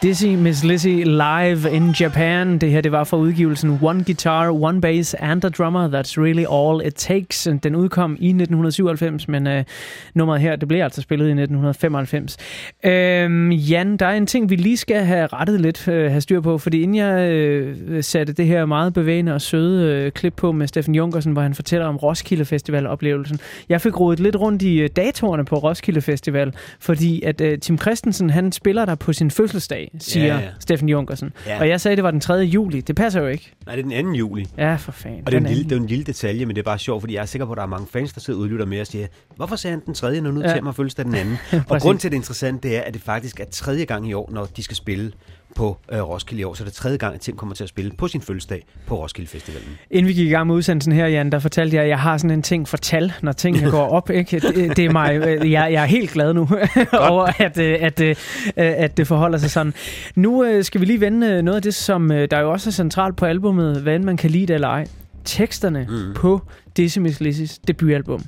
Dizzy Miss Lizzy live in Japan. Det her, det var fra udgivelsen One Guitar, One Bass and a Drummer. That's really all it takes. Den udkom i nitten syvoghalvfems, men øh, nummeret her, det blev altså spillet i nitten femoghalvfems. Øhm, Jan, der er en ting, vi lige skal have rettet lidt, øh, have styr på, fordi inden jeg øh, satte det her meget bevægende og søde øh, klip på med Steffen Junkersen, hvor han fortæller om Roskilde Festival-oplevelsen. Jeg fik rodet lidt rundt i øh, datorerne på Roskilde Festival, fordi at øh, Tim Christensen, han spiller der på sin fødselsdag, siger ja, ja. Steffen Junkersen. Ja. Og jeg sagde, det var den tredje juli. Det passer jo ikke. Nej, det er den anden juli. Ja, for fanden. Og det er, en lille, det er en lille detalje, men det er bare sjovt, fordi jeg er sikker på, at der er mange fans, der sidder og udlytter med og siger, hvorfor sagde han den tredje, når nu ja. til mig fødselsdag den anden? Og grund til det interessante, det er, at det faktisk er tredje gang i år, når de skal spille på øh, Roskilde i år. Så det er tredje gang, at Tim kommer til at spille på sin fødselsdag på Roskilde Festivalen. Inden vi gik i gang med udsendelsen her, Jan, der fortalte jeg, at jeg har sådan en ting for tal, når tingene går op. Ikke? Det, det er mig. Jeg, jeg er helt glad nu over, at, at, at, at det forholder sig sådan. Nu skal vi lige vende noget af det, som der jo også er centralt på albummet, hvad end man kan lide det eller ej. Teksterne mm. på Dizzy Miss Lizzys debutalbum.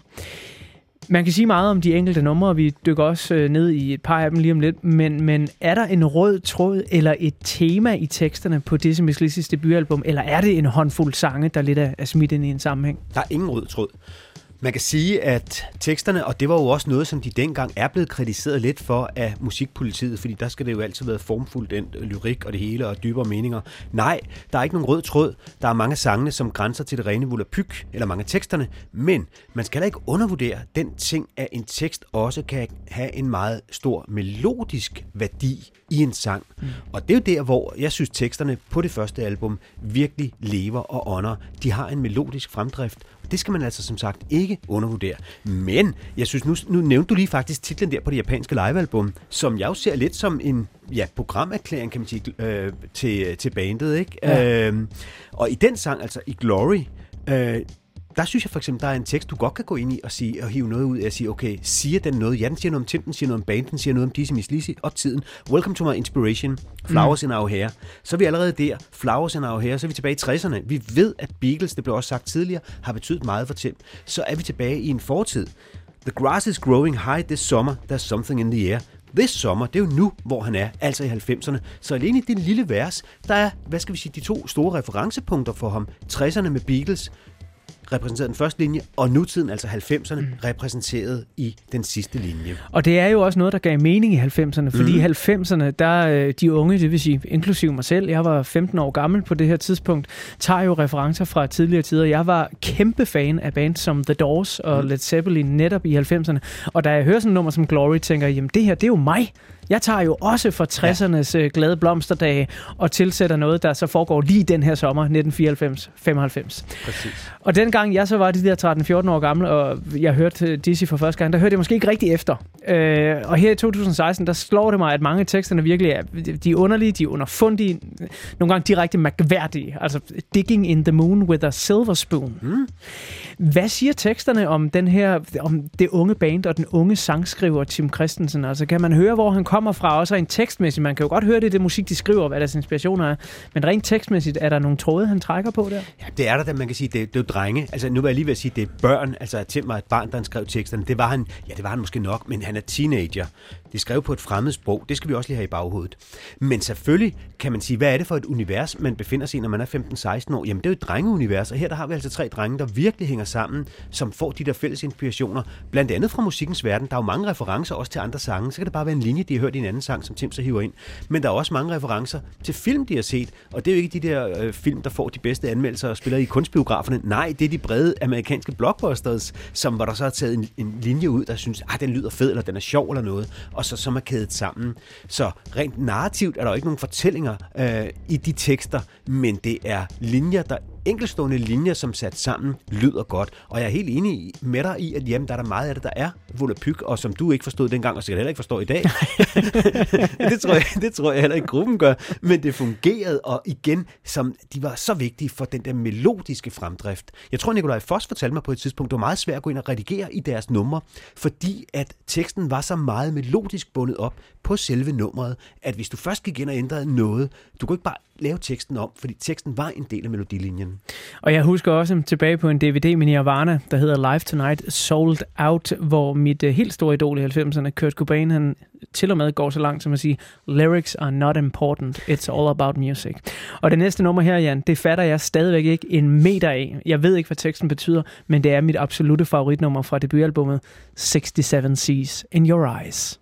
Man kan sige meget om de enkelte numre, og vi dykker også øh, ned i et par af dem lige om lidt, men, men er der en rød tråd eller et tema i teksterne på Dizzy Miss Lizzys debutalbum, eller er det en håndfuld sange, der lidt er, er smidt ind i en sammenhæng? Der er ingen rød tråd. Man kan sige, at teksterne, og det var jo også noget, som de dengang er blevet kritiseret lidt for af musikpolitiet, fordi der skal det jo altid være formfuldt den lyrik og det hele og dybere meninger. Nej, der er ikke nogen rød tråd. Der er mange sangene, som grænser til det rene volapyk, eller mange af teksterne, men man skal heller ikke undervurdere den ting, at en tekst også kan have en meget stor melodisk værdi i en sang. Mm. Og det er jo der, hvor jeg synes, teksterne på det første album virkelig lever og ånder. De har en melodisk fremdrift. Det skal man altså som sagt ikke undervurdere. Men jeg synes, nu, nu nævnte du lige faktisk titlen der på det japanske livealbum, som jeg jo ser lidt som en ja, programerklæring, kan man sige, øh, til, til bandet. Ikke? Ja. Øh, og i den sang, altså i Glory, øh, der synes jeg for eksempel, der er en tekst, du godt kan gå ind i og, sige, og hive noget ud af og sige, okay, siger den noget? Ja, den siger noget om Tim, den siger noget om band, den siger noget om Dizzy Miss Lizzy og tiden. Welcome to my inspiration. Flowers mm. in our hair. Så er vi allerede der. Flowers in our hair. Så er vi tilbage i tresserne. Vi ved, at Beatles, det blev også sagt tidligere, har betydet meget for Tim. Så er vi tilbage i en fortid. The grass is growing high this summer. There's something in the air. This summer, det er jo nu, hvor han er, altså i halvfemserne. Så alene i det lille vers, der er, hvad skal vi sige, de to store referencepunkter for ham. tresserne med Beatles, repræsenteret den første linje, og nutiden, altså halvfemserne, mm. repræsenteret i den sidste linje. Og det er jo også noget, der gav mening i halvfemserne, fordi mm. i halvfemserne, der de unge, det vil sige inklusive mig selv, jeg var femten år gammel på det her tidspunkt, tager jo referencer fra tidligere tider. Jeg var kæmpe fan af bands som The Doors og mm. Led Zeppelin netop i halvfemserne, og da jeg hører sådan et nummer som Glory, tænker jeg, jamen det her, det er jo mig. Jeg tager jo også fra tressernes ja. glade blomsterdage og tilsætter noget, der så foregår lige den her sommer, nitten fireoghalvfems til femoghalvfems. Præcis. Og dengang jeg så var de der tretten fjorten år gammel, og jeg hørte Dizzy for første gang, der hørte jeg måske ikke rigtig efter. Øh, og her i to tusind seksten, der slår det mig, at mange af teksterne virkelig er, de er underlige, de er underfundige, nogle gange direkte mærkværdige. Altså, digging in the moon with a silver spoon. Mm. Hvad siger teksterne om den her, om det unge band og den unge sangskriver Tim Christensen? Altså, kan man høre, hvor han kommer fra, også rent tekstmæssigt? Man kan jo godt høre det, det musik, de skriver, hvad deres inspirationer er. Men rent tekstmæssigt, er der nogle tråde, han trækker på der? Ja, det er der, da man kan sige, det, det er jo drenge. Altså, nu vil jeg lige ved at sige, det er børn. Altså, Tim var et barn, der han skrev teksterne. Det var han, ja, det var han måske nok, men han er teenager. Det skrev på et fremmed sprog. Det skal vi også lige have i baghovedet. Men selvfølgelig kan man sige, hvad er det for et univers, man befinder sig i, når man er femten seksten år? Jamen, det er jo et drengeunivers, og her der har vi altså tre drenge, der virkelig hænger sammen, som får de der fælles inspirationer, blandt andet fra musikkens verden. Der er jo mange referencer også til andre sange. Så kan det bare være en linje, de har hørt i en anden sang, som Tim så hiver ind. Men der er også mange referencer til film, de har set, og det er jo ikke de der øh, film, der får de bedste anmeldelser og spiller i kunstbiograferne. Nej, det er de brede amerikanske blockbusters, som hvor der så har taget en, en linje ud, der synes, ah, den lyder fed, eller den er sjov, eller noget, og så som er kædet sammen. Så rent narrativt er der jo ikke nogen fortællinger øh, i de tekster, men det er linjer, der enkeltstående linjer, som sat sammen, lyder godt. Og jeg er helt enig med dig i, at jamen, der er der meget af det, der er volapyk, og som du ikke forstod dengang, og sikkert heller ikke forstår i dag. det, tror jeg, det tror jeg heller ikke gruppen gør. Men det fungerede, og igen, som de var så vigtige for den der melodiske fremdrift. Jeg tror, Nikolaj Foss fortalte mig på et tidspunkt, det var meget svært at gå ind og redigere i deres numre, fordi at teksten var så meget melodisk bundet op på selve nummeret, at hvis du først gik ind og ændrede noget, du kunne ikke bare lave teksten om, fordi teksten var en del af melodilinjen. Og jeg husker også tilbage på en D V D med Nirvana, der hedder Live Tonight Sold Out, hvor mit uh, helt store idol i halvfemserne, Kurt Cobain, han til og med går så langt som at sige, lyrics are not important, it's all about music. Og det næste nummer her, Jan, det fatter jeg stadigvæk ikke en meter af. Jeg ved ikke, hvad teksten betyder, men det er mit absolutte favoritnummer fra debutalbummet sixty-seven Seas in Your Eyes.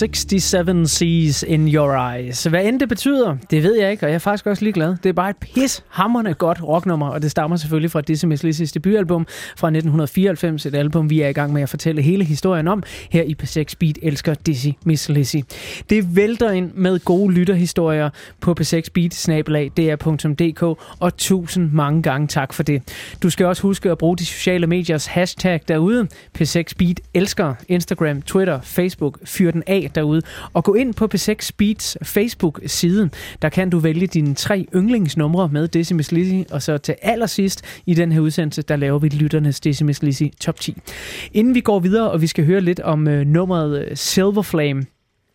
sixty-seven Seas in Your Eyes. Hvad end det betyder, det ved jeg ikke, og jeg er faktisk også ligeglad. Det er bare et pishamrende godt rocknummer, og det stammer selvfølgelig fra Dizzy Miss Lizzys debutalbum fra nitten fireoghalvfems, et album, vi er i gang med at fortælle hele historien om her i P seks Beat elsker Dizzy Miss Lizzy. Det vælter ind med gode lytterhistorier på p seks beat snabel-a d r punktum d k, og tusind mange gange tak for det. Du skal også huske at bruge de sociale mediers hashtag derude. P seks Beat elsker Instagram, Twitter, Facebook. Fyr den af derude. Og gå ind på P seks Beats Facebook-side. Der kan du vælge dine tre yndlingsnumre med Dizzy Miss Lizzy. Og så til allersidst i den her udsendelse, der laver vi lytternes Dizzy Miss Lizzy top ti. Inden vi går videre, og vi skal høre lidt om øh, nummeret øh, Silver Flame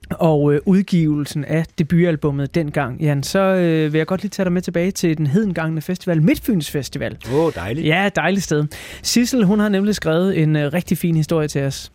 og øh, udgivelsen af debutalbummet dengang, Jan, så øh, vil jeg godt lige tage dig med tilbage til den hedengangne festival, Midtfyns Festival. Åh, oh, dejligt. Ja, dejligt sted. Sissel, hun har nemlig skrevet en øh, rigtig fin historie til os.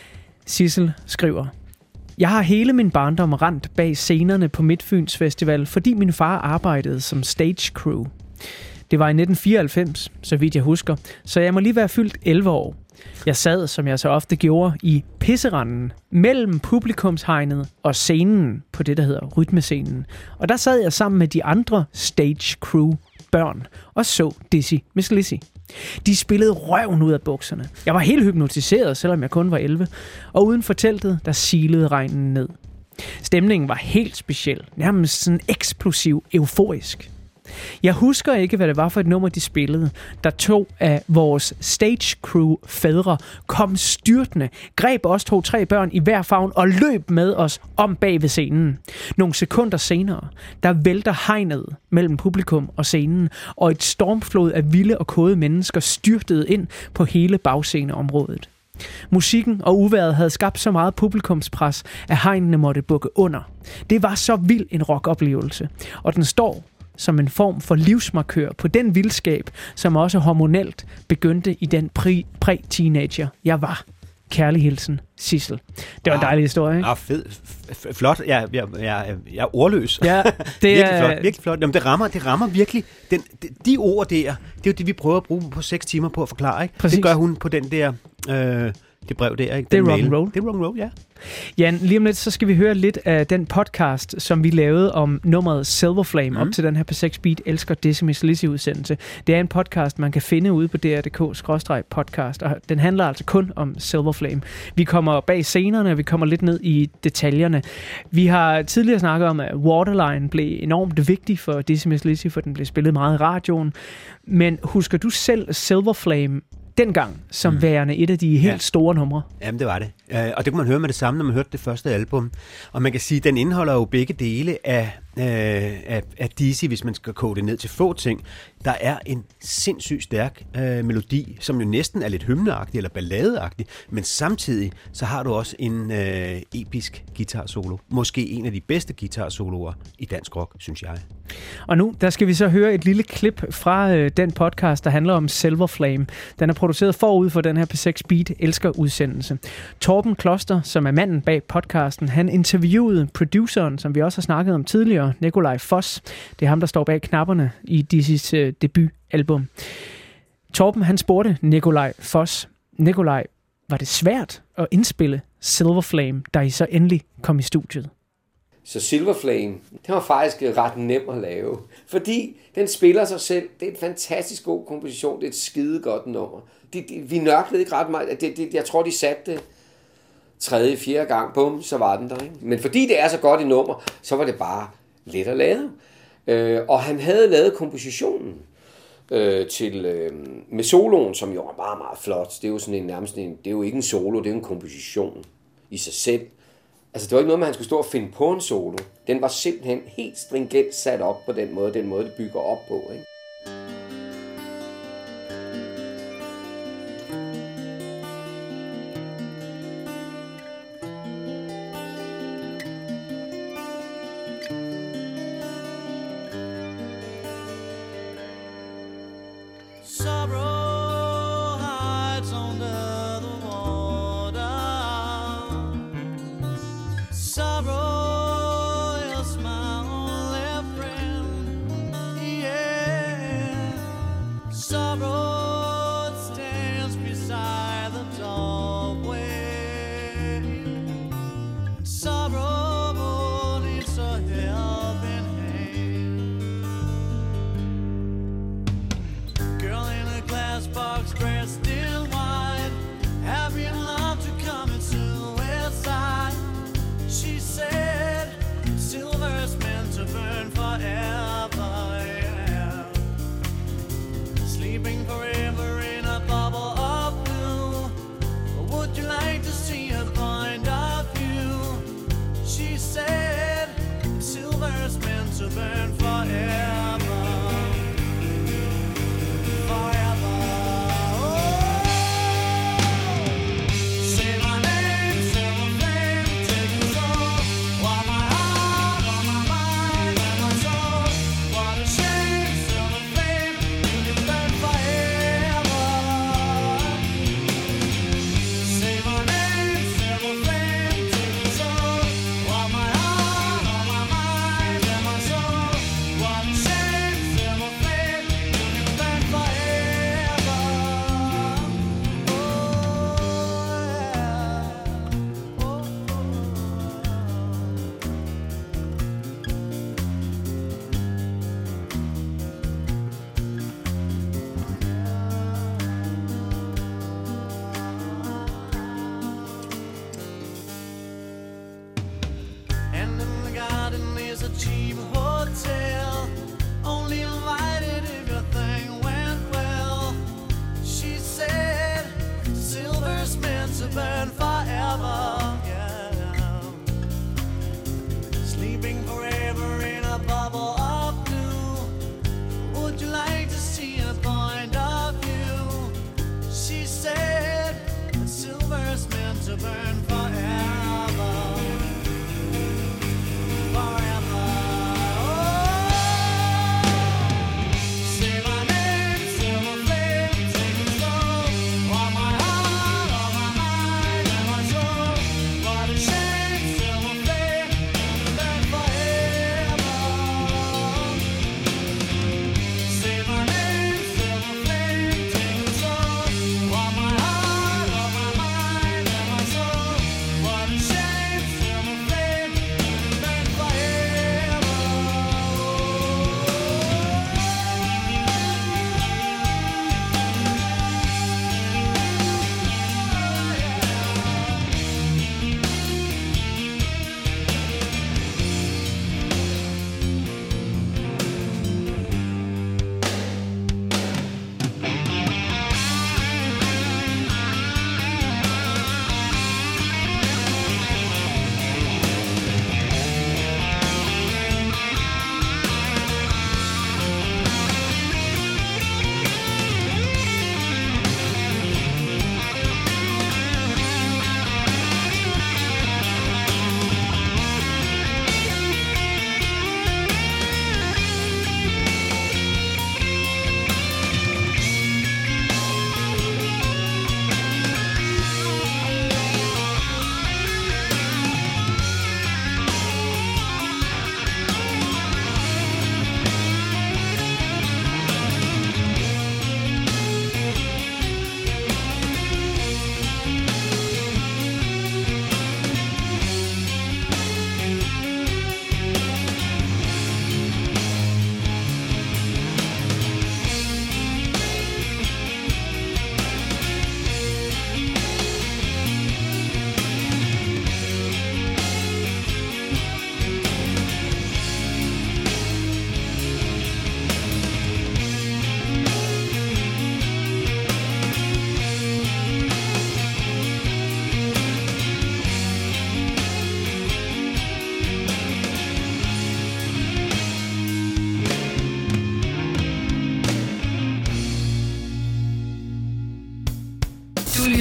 Sissel skriver: Jeg har hele min barndom rendt bag scenerne på Midtfyns Festival, fordi min far arbejdede som stage crew. Det var i nitten fireoghalvfems, så vidt jeg husker, så jeg må lige være fyldt elleve år. Jeg sad, som jeg så ofte gjorde, i pisseranden mellem publikumshegnet og scenen på det, der hedder rytmescenen. Og der sad jeg sammen med de andre stage crew børn og så Dizzy Miss Lizzy. De spillede røven ud af bukserne. Jeg var helt hypnotiseret, selvom jeg kun var elleve. Og uden for teltet, der silede regnen ned. Stemningen var helt speciel, nærmest sådan eksplosiv, euforisk. Jeg husker ikke, hvad det var for et nummer, de spillede, da to af vores stage crew fædre kom styrtende, greb os to-tre børn i hver favn og løb med os om bag ved scenen. Nogle sekunder senere, der vælter hegnet mellem publikum og scenen, og et stormflod af vilde og kåde mennesker styrtede ind på hele bagsceneområdet. Musikken og uvejret havde skabt så meget publikumspres, at hegnene måtte bukke under. Det var så vild en rockoplevelse, og den står som en form for livsmarkør på den vildskab, som også hormonelt begyndte i den præ- præ-teenager, jeg var. Kærlig hilsen, Sissel. Det var en dejlig historie, ikke? Ah, fed. F- flot. Jeg, jeg, jeg, jeg er ordløs. Ja, det virkelig er flot. Virkelig flot. Jamen, det rammer, det rammer virkelig. Den, de, de ord der, det er jo det, vi prøver at bruge på seks timer på at forklare, ikke? Præcis. Det gør hun på den der, øh, det brev der, ikke? Det er Den rock and roll. Det er rock and roll, ja. Jan, lige om lidt, så skal vi høre lidt af den podcast, som vi lavede om nummeret Silver Flame, mm. op til den her P seks Beat elsker Dizzy Miss Lizzy udsendelse. Det er en podcast, man kan finde ude på d r punktum d k skråstreg podcast, og den handler altså kun om Silver Flame. Vi kommer bag scenerne, og vi kommer lidt ned i detaljerne. Vi har tidligere snakket om, at Waterline blev enormt vigtig for Dizzy Miss Lizzy, for den blev spillet meget i radioen. Men husker du selv Silver Flame dengang som mm. værende et af de helt ja. store numre? Jamen, det var det. Uh, og det kunne man høre med det samme, når man hørte det første album. Og man kan sige, at den indeholder jo begge dele af, uh, af, af Dizzy, hvis man skal koge det ned til få ting. Der er en sindssygt stærk uh, melodi, som jo næsten er lidt hymneagtig eller balladeagtig, men samtidig så har du også en uh, episk guitar-solo. Måske en af de bedste guitar-soloer i dansk rock, synes jeg. Og nu, der skal vi så høre et lille klip fra øh, den podcast, der handler om Silver Flame. Den er produceret forud for den her P seks Beat elsker udsendelse. Torben Kloster, som er manden bag podcasten, han interviewede produceren, som vi også har snakket om tidligere, Nikolaj Foss. Det er ham, der står bag knapperne i Dizzys øh, debutalbum. Torben, han spurgte Nikolaj Foss: Nikolaj, var det svært at indspille Silver Flame, da I så endelig kom i studiet? Så Silver Flame, det var faktisk ret nem at lave, fordi den spiller sig selv. Det er en fantastisk god komposition, det er et skide godt nummer. De, de, vi nørklede ikke ret meget, det, det, jeg tror de satte det tredje, fjerde gang, bum, så var den der, ikke? Men fordi det er så godt et nummer, så var det bare let at lave. Øh, og han havde lavet kompositionen øh, til, øh, med soloen, som jo var meget, meget flot. Det er jo sådan en, nærmest en, det er jo ikke en solo, det er en komposition i sig selv. Altså, det var ikke noget med, at han skulle stå og finde på en solo. Den var simpelthen helt stringent sat op på den måde, den måde, det bygger op på, ikke? Sorrow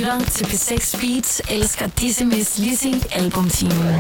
lytter til P seks Beats, elsker Dizzy Miss Lizzy albumtimen.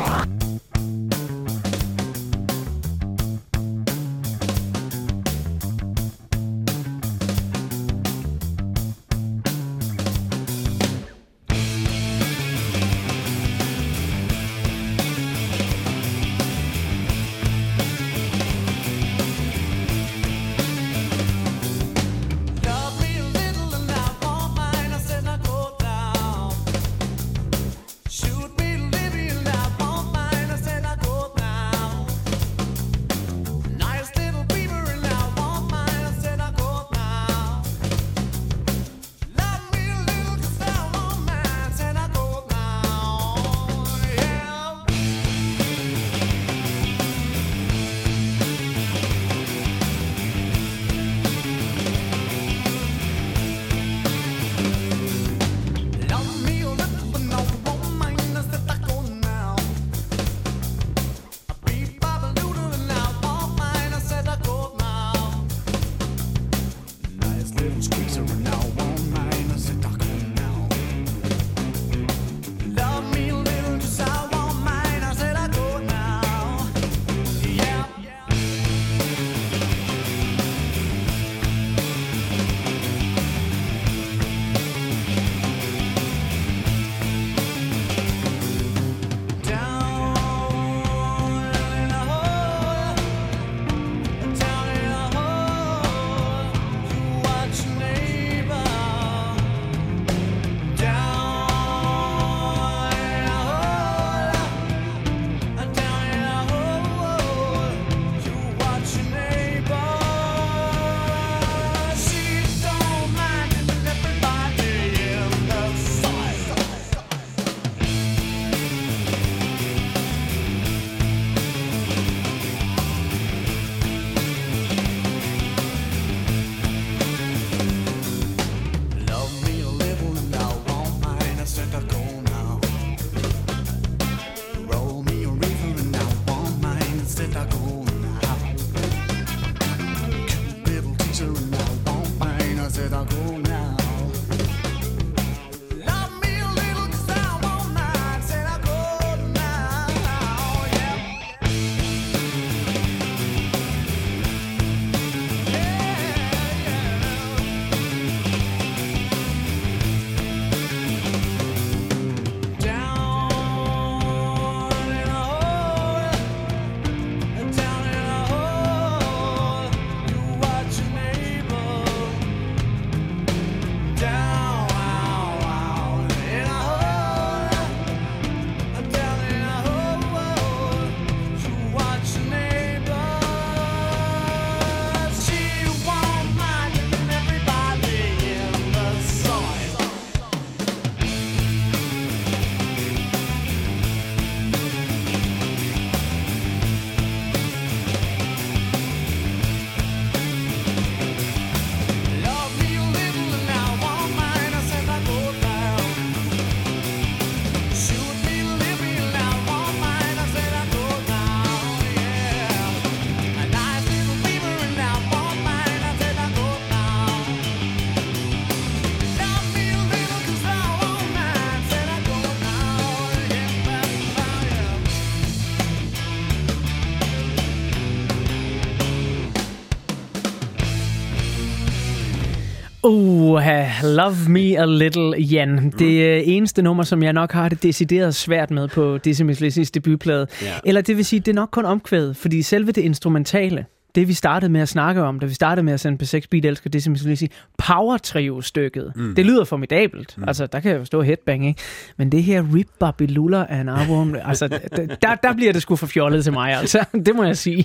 Uh, Love Me a Little, Jan. Det eneste nummer, som jeg nok har det decideret svært med på Dizzy Miss Lizzys debutplade. Yeah. Eller det vil sige, det er nok kun omkvædet, fordi selve det instrumentale, det vi startede med at snakke om, da vi startede med at sende P seks Beat elsker Dizzy Miss Lizzy, Power Trio-stykket. Mm. Det lyder formidabelt. Mm. Altså, der kan jeg jo stå headbang, ikke? Men det her Rip Bobby Lulla af en album, altså, der, der bliver det sgu for fjollet til mig, altså. Det må jeg sige.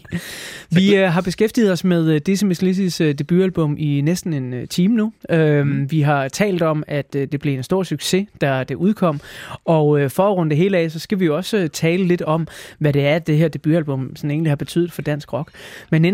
Vi uh, har beskæftiget os med uh, Dizzy Miss Lizzys uh, debutalbum i næsten en uh, time nu. Uh, mm. Vi har talt om, at uh, det blev en stor succes, da det udkom. Og uh, for at runde det hele af, så skal vi jo også uh, tale lidt om, hvad det er, det her debutalbum sådan egentlig har betydet for dansk rock. Men inden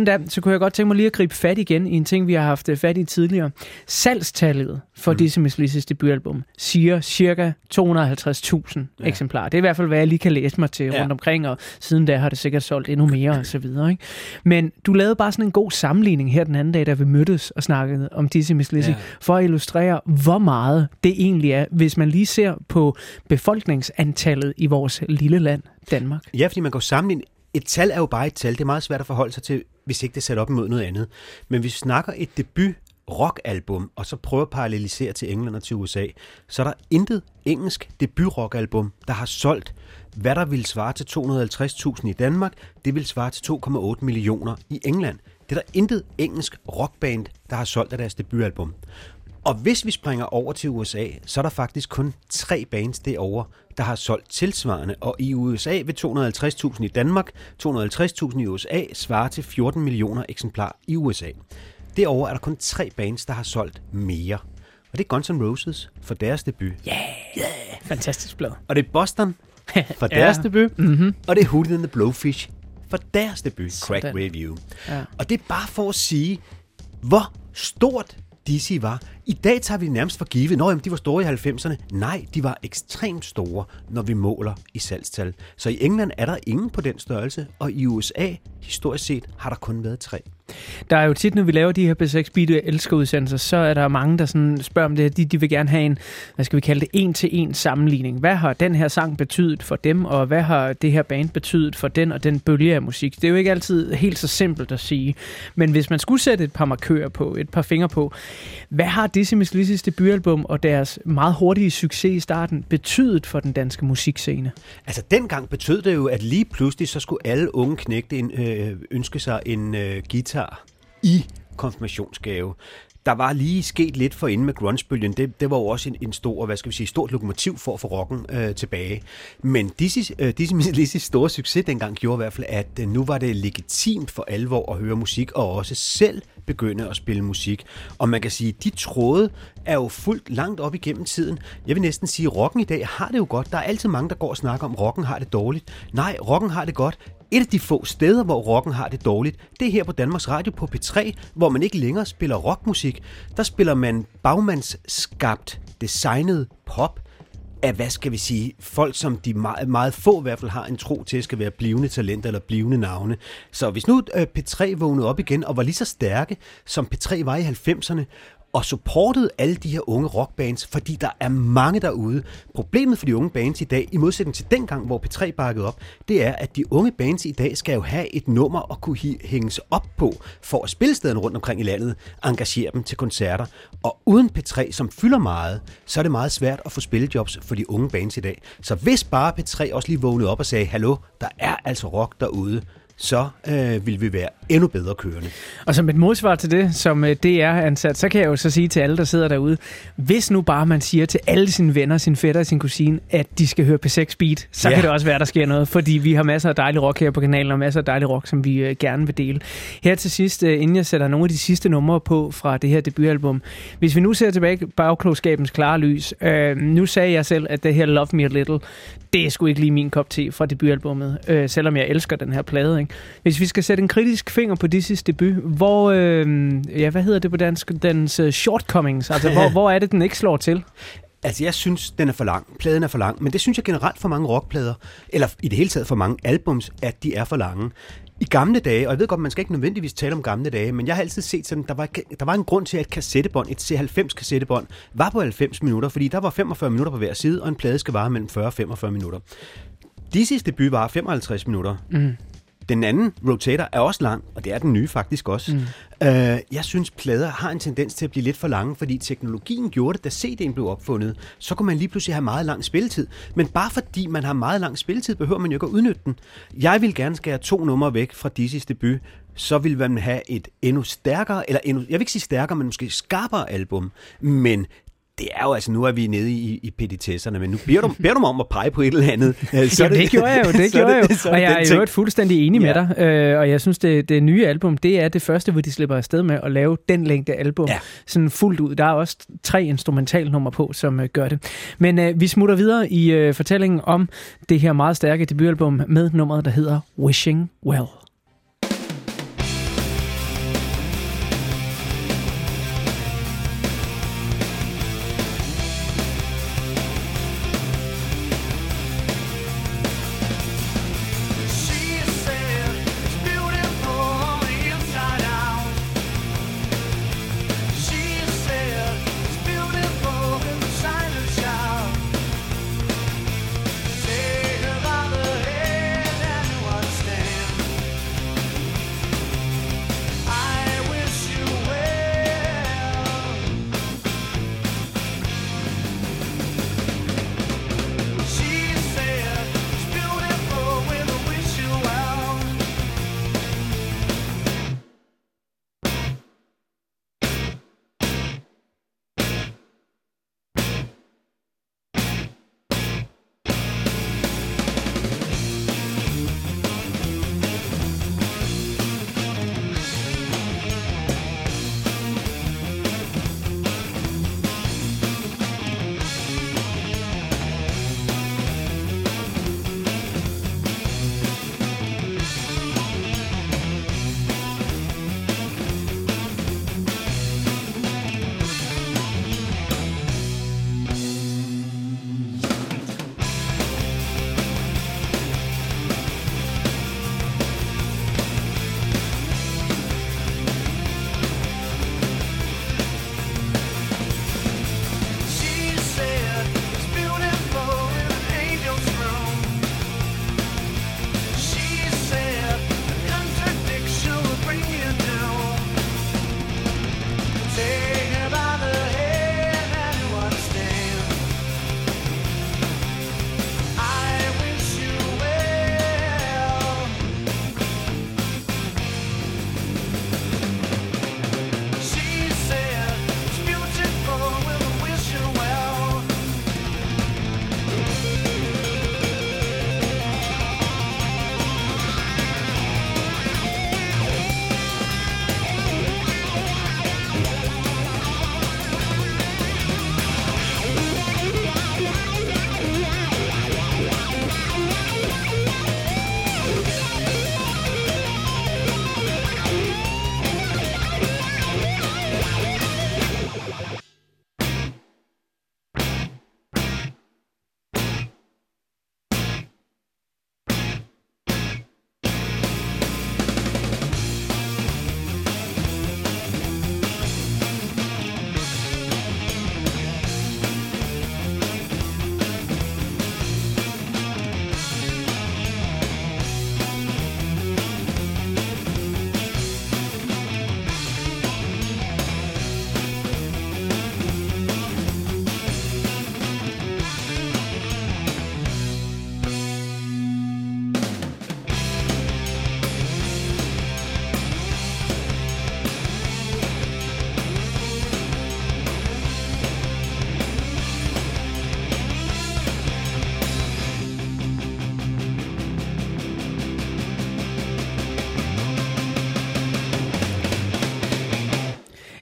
da, så kunne jeg godt tænke mig lige at gribe fat igen i en ting, vi har haft fat i tidligere. Salgstallet for mm. Dizzy Mizz Lizzys debutalbum siger cirka to hundrede og halvtreds tusind ja. eksemplarer. Det er i hvert fald, hvad jeg lige kan læse mig til ja. rundt omkring, og siden da har det sikkert solgt endnu mere og så videre. Ikke? Men du lavede bare sådan en god sammenligning her den anden dag, da vi mødtes og snakkede om Dizzy Mizz Lizzy, ja. for at illustrere, hvor meget det egentlig er, hvis man lige ser på befolkningsantallet i vores lille land, Danmark. Ja, fordi man kan jo sammenligne. Et tal er jo bare et tal. Det er meget svært at forholde sig til, hvis ikke det er sat op imod noget andet. Men hvis vi snakker et debut rockalbum, og så prøver at parallelisere til England og til U S A, så er der intet engelsk debut rockalbum, der har solgt, hvad der vil svare til to hundrede og halvtreds tusind i Danmark, det vil svare til to komma otte millioner i England. Det er der intet engelsk rockband, der har solgt af deres debutalbum. Og hvis vi springer over til U S A, så er der faktisk kun tre bands derovre, der har solgt tilsvarende. Og i U S A vil to hundrede og halvtreds tusind i Danmark, to hundrede og halvtreds tusind i U S A, svarer til fjorten millioner eksemplarer i U S A. Derovre er der kun tre bands, der har solgt mere. Og det er Guns N' Roses for deres debut. Ja, yeah, yeah. Fantastisk blad. Og det er Boston for deres ja. debut. Mm-hmm. Og det er Hootie and the Blowfish for deres debut, Crack Sådan. Review. Ja. Og det er bare for at sige, hvor stort Dizzy var. I dag tager vi det nærmest for givet. Nå, jamen, de var store i halvfemserne. Nej, de var ekstremt store, når vi måler i salgstal. Så i England er der ingen på den størrelse, og i U S A, historisk set, har der kun været tre. Der er jo tit, når vi laver de her B seks Beat elsker udsendelser, så er der mange, der sådan spørger om det. De, de vil gerne have en, hvad skal vi kalde det, en-til-en sammenligning. Hvad har den her sang betydet for dem, og hvad har det her band betydet for den og den bølge af musik? Det er jo ikke altid helt så simpelt at sige. Men hvis man skulle sætte et par markører på, et par fingre på, hvad har Dizzy Mizz Lizzys debutalbum og deres meget hurtige succes i starten betydet for den danske musikscene? Altså dengang betød det jo, at lige pludselig så skulle alle unge knægte en, øh, ønske sig en øh, guitar i konfirmationsgave. Der var lige sket lidt for inden med grungebølgen. Det, det var jo også en, en stor, hvad skal vi sige, stort lokomotiv for at få rocken øh, tilbage. Men Dizzy øh, Mizz Lizzys store succes dengang gjorde i hvert fald, at øh, nu var det legitimt for alvor at høre musik, og også selv begynde at spille musik. Og man kan sige, de tråde er jo fuldt langt op igennem tiden. Jeg vil næsten sige, at rocken i dag har det jo godt. Der er altid mange, der går og snakker om, at rocken har det dårligt. Nej, rocken har det godt. Et af de få steder, hvor rocken har det dårligt, det er her på Danmarks Radio på P tre, hvor man ikke længere spiller rockmusik. Der spiller man bagmandsskabt, designet pop af, hvad skal vi sige, folk, som de meget, meget få i hvert fald har en tro til, skal være blivende talenter eller blivende navne. Så hvis nu P tre vågnede op igen og var lige så stærke, som P tre var i halvfemserne, og supportede alle de her unge rockbands, fordi der er mange derude. Problemet for de unge bands i dag, i modsætning til dengang, hvor P tre bakkede op, det er, at de unge bands i dag skal jo have et nummer at kunne hænges op på, for at spillestederne rundt omkring i landet engagere dem til koncerter. Og uden P tre, som fylder meget, så er det meget svært at få spillejobs for de unge bands i dag. Så hvis bare P tre også lige vågnede op og sagde, hallo, der er altså rock derude, så øh, vil vi være endnu bedre kørende. Og som et modsvar til det, som D R-ansat, så kan jeg jo så sige til alle, der sidder derude, hvis nu bare man siger til alle sine venner, sine fætter og sin kusine, at de skal høre P seks Beat, så ja. kan det også være, der sker noget, fordi vi har masser af dejlig rock her på kanalen, og masser af dejlig rock, som vi øh, gerne vil dele. Her til sidst, øh, inden jeg sætter nogle af de sidste numre på fra det her debutalbum, hvis vi nu ser tilbage bagklogskabens klare lys, øh, nu sagde jeg selv, at det her Love Me A Little, det er sgu ikke lige min kop te fra debutalbummet, øh, selvom jeg elsker den her plade, ikke? Hvis vi skal sætte en kritisk finger på Dizzys debut, hvor, øh, ja, hvad hedder det på dansk, dens uh, shortcomings, altså hvor, hvor er det, den ikke slår til? Altså, jeg synes, den er for lang. Pladen er for lang, men det synes jeg generelt for mange rockplader, eller i det hele taget for mange albums, at de er for lange. I gamle dage, og jeg ved godt, man skal ikke nødvendigvis tale om gamle dage, men jeg har altid set sådan, der var, der var en grund til, at et kassettebånd, et C halvfems kassettebånd, var på halvfems minutter, fordi der var femogfyrre minutter på hver side, og en plade skal vare mellem fyrre og femogfyrre minutter. Dizzys debut var femoghalvtreds minutter. Mm. Den anden, Rotator, er også lang, og det er den nye faktisk også. Mm. Uh, jeg synes, plader har en tendens til at blive lidt for lange, fordi teknologien gjorde det, da C D'en blev opfundet. Så kunne man lige pludselig have meget lang spilletid. Men bare fordi man har meget lang spilletid, behøver man jo ikke at udnytte den. Jeg vil gerne skære to numre væk fra Dizzys debut, så vil man have et endnu stærkere, eller endnu, jeg vil ikke sige stærkere, men måske skarpere album. Men det er jo altså, nu er vi nede i, i petitesserne, men nu beder du, beder du mig om at pege på et eller andet. Så ja, det, det gjorde jeg jo, det gjorde jeg jo. Og jeg er jo fuldstændig enig ja. med dig, øh, og jeg synes, det, det nye album, det er det første, hvor de slipper afsted med at lave den længde album, ja. sådan fuldt ud. Der er også tre instrumentalnumre på, som øh, gør det. Men øh, vi smutter videre i øh, fortællingen om det her meget stærke debutalbum med nummeret, der hedder Wishing Well.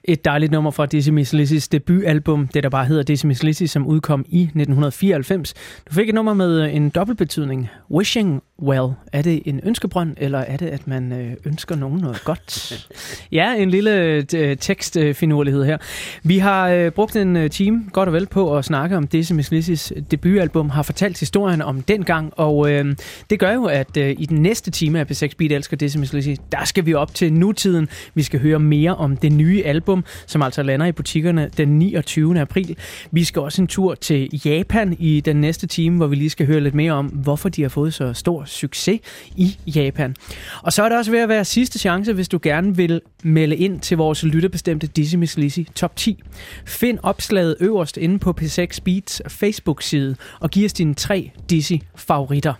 Et dejligt nummer fra Dizzy Miss Lizzys debutalbum, det der bare hedder Dizzy Miss Lizzy, som udkom i nitten fireoghalvfems. Du fik et nummer med en dobbeltbetydning. Wishing well. Er det en ønskebrønd, eller er det, at man ønsker nogen noget godt? Ja, en lille tekstfinurlighed her. Vi har brugt en time godt og vel på at snakke om Dizzy Miss Lizzys debutalbum, har fortalt historien om dengang, og øh, det gør jo, at øh, i den næste time af P seks Beat elsker Dizzy Miss Lizzy, der skal vi op til nutiden. Vi skal høre mere om det nye album, som altså lander i butikkerne den niogtyvende april. Vi skal også en tur til Japan i den næste time, hvor vi lige skal høre lidt mere om, hvorfor de har fået så stor succes i Japan. Og så er det også ved at være sidste chance, hvis du gerne vil melde ind til vores lytterbestemte Dizzy Miss Lizzy top ti. Find opslaget øverst inde på P seks Beats Facebook-side og giv os dine tre Dizzy-favoritter.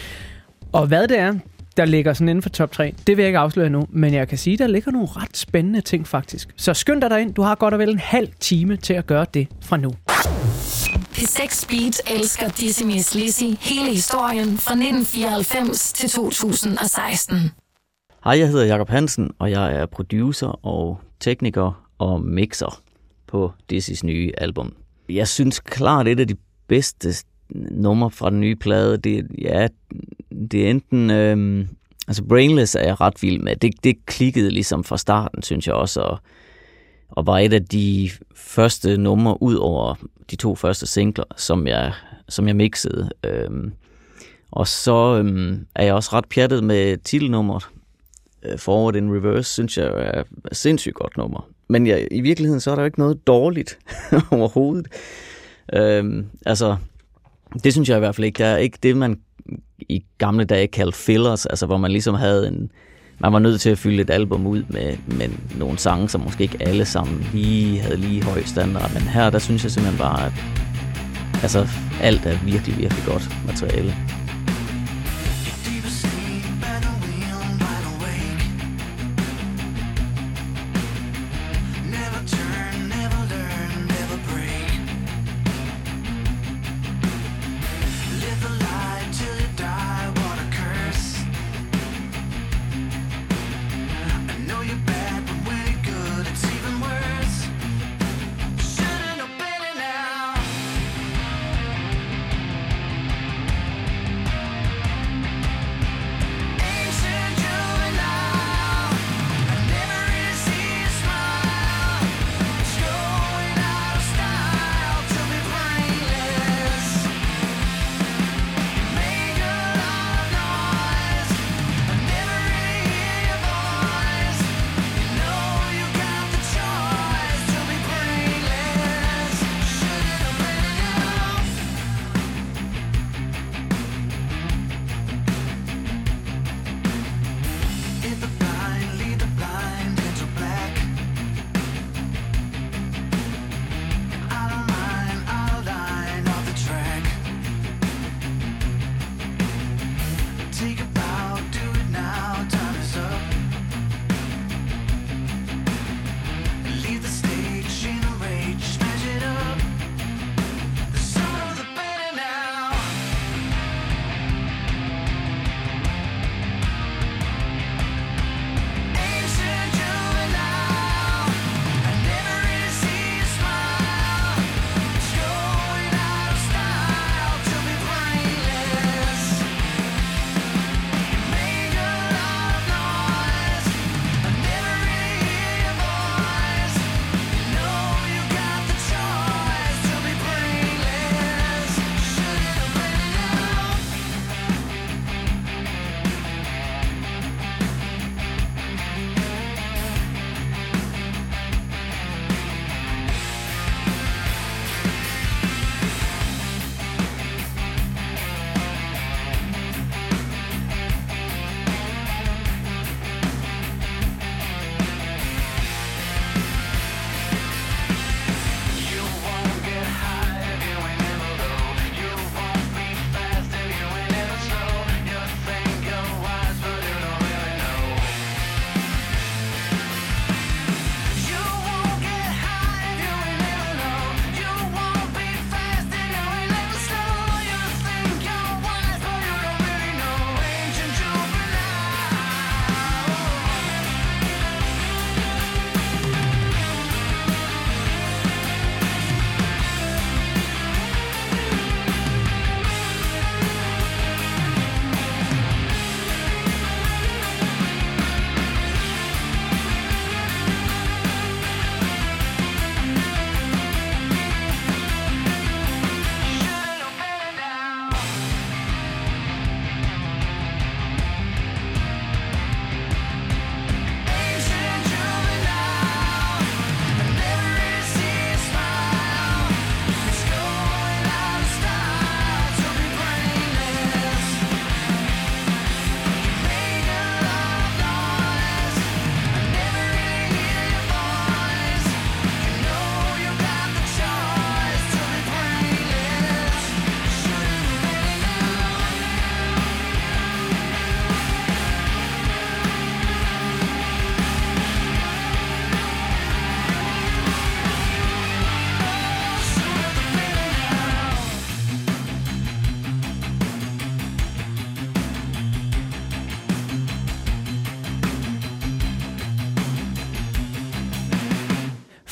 Og hvad det er, der ligger sådan inden for top tre, det vil jeg ikke afsløre nu, men jeg kan sige, der ligger nogle ret spændende ting faktisk. Så skynd dig derind, du har godt og vel en halv time til at gøre det fra nu. P seks Beat elsker Dizzy Miss Lizzy, hele historien fra nitten fireoghalvfems til to tusind og seksten. Hej, jeg hedder Jakob Hansen, og jeg er producer og tekniker og mixer på Dizzys nye album. Jeg synes klart, et af de bedste nummer fra den nye plade, det, ja, det er enten... Øhm, altså Brainless er jeg ret vild med. Det, det klikkede ligesom fra starten, synes jeg også, og, og var et af de første numre ud over de to første singler, som jeg, som jeg mixede. Øhm, og så øhm, er jeg også ret pjattet med titelnummeret. Forward in Reverse, synes jeg er et sindssygt godt nummer. Men ja, i virkeligheden, så er der jo ikke noget dårligt overhovedet. Øhm, altså, det synes jeg i hvert fald ikke. Der er ikke det, man i gamle dage kaldte fillers, altså hvor man ligesom havde en... Man var nødt til at fylde et album ud med, med nogle sange, som måske ikke alle sammen lige havde lige høj standard. Men her, der synes jeg simpelthen bare, at altså, alt er virkelig, virkelig godt materiale.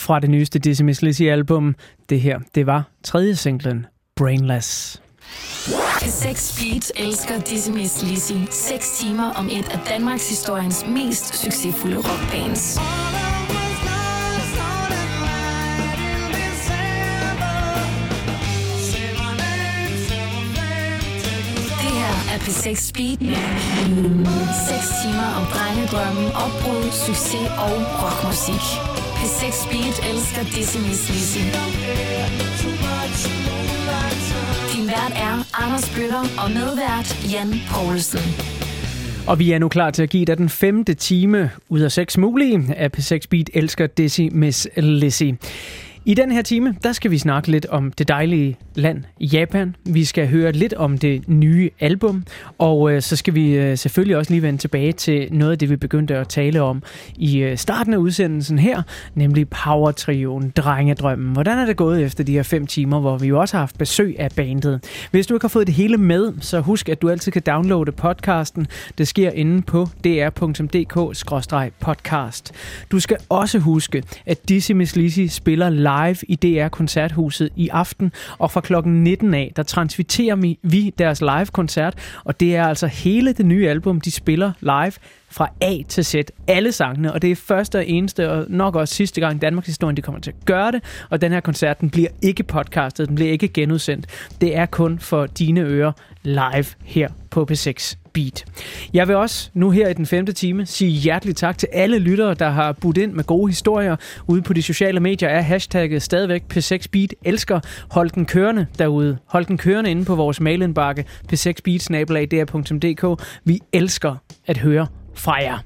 fra det nyeste Dizzy Miss Lizzy-album. Det her, det var tredje singlen, Brainless. P seks Beat elsker Dizzy Miss Lizzy. Seks timer om et af Danmarks historiens mest succesfulde rockbands. Det her er P seks Beat. Seks timer om drengedrømme, opbrud, succes og rockmusik. P seks Beat elsker Dizzy Miss Lizzy. Din vært er Anders Bøtter og medvært Jan Poulsen. Og vi er nu klar til at give dig den femte time ud af seks mulige af P seks Beat elsker Dizzy Miss Lizzy. I den her time, der skal vi snakke lidt om det dejlige land Japan. Vi skal høre lidt om det nye album, og øh, så skal vi øh, selvfølgelig også lige vende tilbage til noget af det, vi begyndte at tale om i øh, starten af udsendelsen her, nemlig Power-trioen Drengedrømmen. Hvordan er det gået efter de her fem timer, hvor vi jo også har haft besøg af bandet? Hvis du ikke har fået det hele med, så husk, at du altid kan downloade podcasten. Det sker inde på d r punktum d k skråstreg podcast. Du skal også huske, at Dizzy Miss Lizzy spiller live live i D R Koncerthuset i aften, og fra klokken nitten af, der transmitterer vi deres live-koncert, og det er altså hele det nye album, de spiller live fra A til Z, alle sangene, og det er første og eneste, og nok også sidste gang i Danmarks historie, de kommer til at gøre det, og den her koncert, den bliver ikke podcastet, den bliver ikke genudsendt. Det er kun for dine ører live her på P seks Beat. Jeg vil også nu her i den femte time sige hjerteligt tak til alle lyttere, der har budt ind med gode historier. Ude på de sociale medier er hashtagget stadigvæk P seks Beat elsker. Hold den kørende derude. Hold den kørende inde på vores mailindbakke p seks beat snabel-a d r punktum d k. Vi elsker at høre fra jer.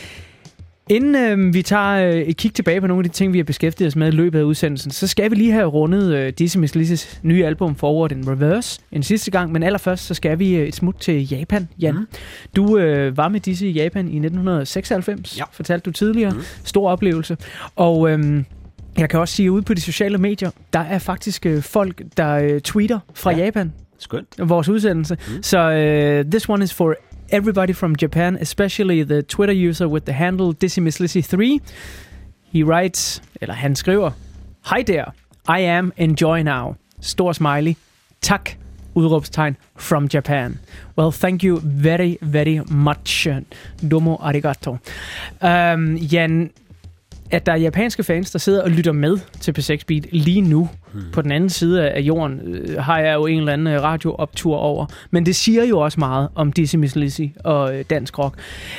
Inden øh, vi tager øh, et kig tilbage på nogle af de ting, vi har beskæftiget os med i løbet af udsendelsen, så skal vi lige have rundet øh, Dizzy Miss Lizzys nye album Forward in Reverse en sidste gang. Men allerførst, så skal vi øh, et smut til Japan, Jan. Mm. Du øh, var med Dizzy i Japan i nitten seksoghalvfems, ja. Fortalte du tidligere. Mm. Stor oplevelse. Og øh, jeg kan også sige, at ude på de sociale medier, der er faktisk øh, folk, der øh, tweeter fra ja. Japan. Skønt. Vores udsendelse. Mm. Så øh, this one is for everybody from Japan, especially the Twitter user with the handle Dizzy Miss Lizzy three. He writes, eller han skriver, Hi there, I am enjoy now. Stor smiley. Tak, udråbstegn, from Japan. Well, thank you very, very much. Domo arigato. Um, Jan, at der er japanske fans, der sidder og lytter med til P seks Beat lige nu, hmm. på den anden side af jorden, øh, har jeg jo en eller anden radiooptur over. Men det siger jo også meget om Dizzy Miss Lizzy og øh, dansk rock.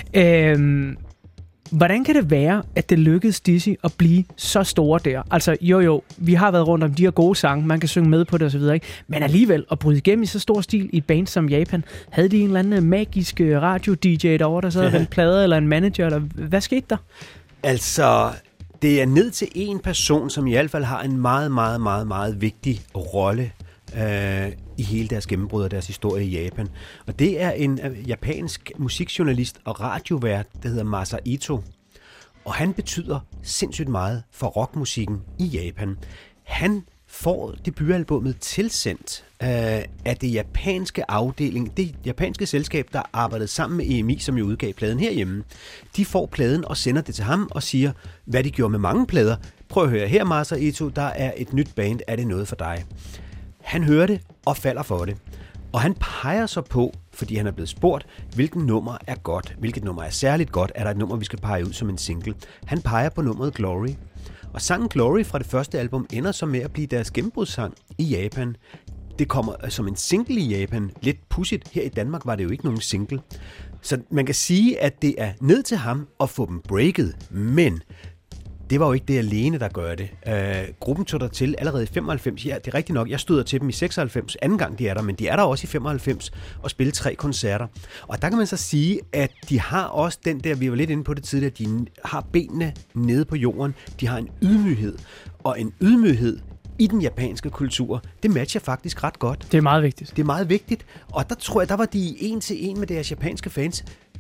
Øhm, hvordan kan det være, at det lykkedes Dizzy at blive så store der? Altså, jo jo, vi har været rundt om de her gode sange, man kan synge med på det osv., ikke? Men alligevel at bryde igennem i så stor stil i et band som Japan, havde de en eller anden magisk radio-D J derovre, der sad og vendte plader, eller en manager, eller hvad skete der? Altså, det er ned til en person, som i hvert fald har en meget, meget, meget, meget vigtig rolle øh, i hele deres gennembrud og deres historie i Japan. Og det er en uh, japansk musikjournalist og radiovært, der hedder Masa Ito. Og han betyder sindssygt meget for rockmusikken i Japan. Han får debutalbummet tilsendt øh, af det japanske afdeling, det japanske selskab, der arbejdede sammen med E M I, som jo udgav pladen herhjemme. De får pladen og sender det til ham og siger, hvad de gjorde med mange plader. Prøv at høre her, Masa Ito, der er et nyt band, er det noget for dig? Han hører det og falder for det. Og han peger så på, fordi han er blevet spurgt, hvilket nummer er godt, hvilket nummer er særligt godt, er der et nummer, vi skal pege ud som en single. Han peger på nummeret Glory. Og sangen Glory fra det første album ender så med at blive deres gennembrudssang i Japan. Det kommer som en single i Japan. Lidt pudsigt. Her i Danmark var det jo ikke nogen single. Så man kan sige, at det er ned til ham at få dem breaket. Men det var jo ikke det alene, der gør det. Uh, gruppen tog der til allerede i femoghalvfems. Ja, det er rigtigt nok. Jeg støder til dem i seksoghalvfems. Anden gang de er der, men de er der også i femoghalvfems og spiller tre koncerter. Og der kan man så sige, at de har også den der, vi var lidt inde på det tidligere, de har benene nede på jorden. De har en ydmyghed. Og en ydmyghed i den japanske kultur, det matcher faktisk ret godt. Det er meget vigtigt. Det er meget vigtigt. Og der tror jeg, der var de en til en med deres japanske fans.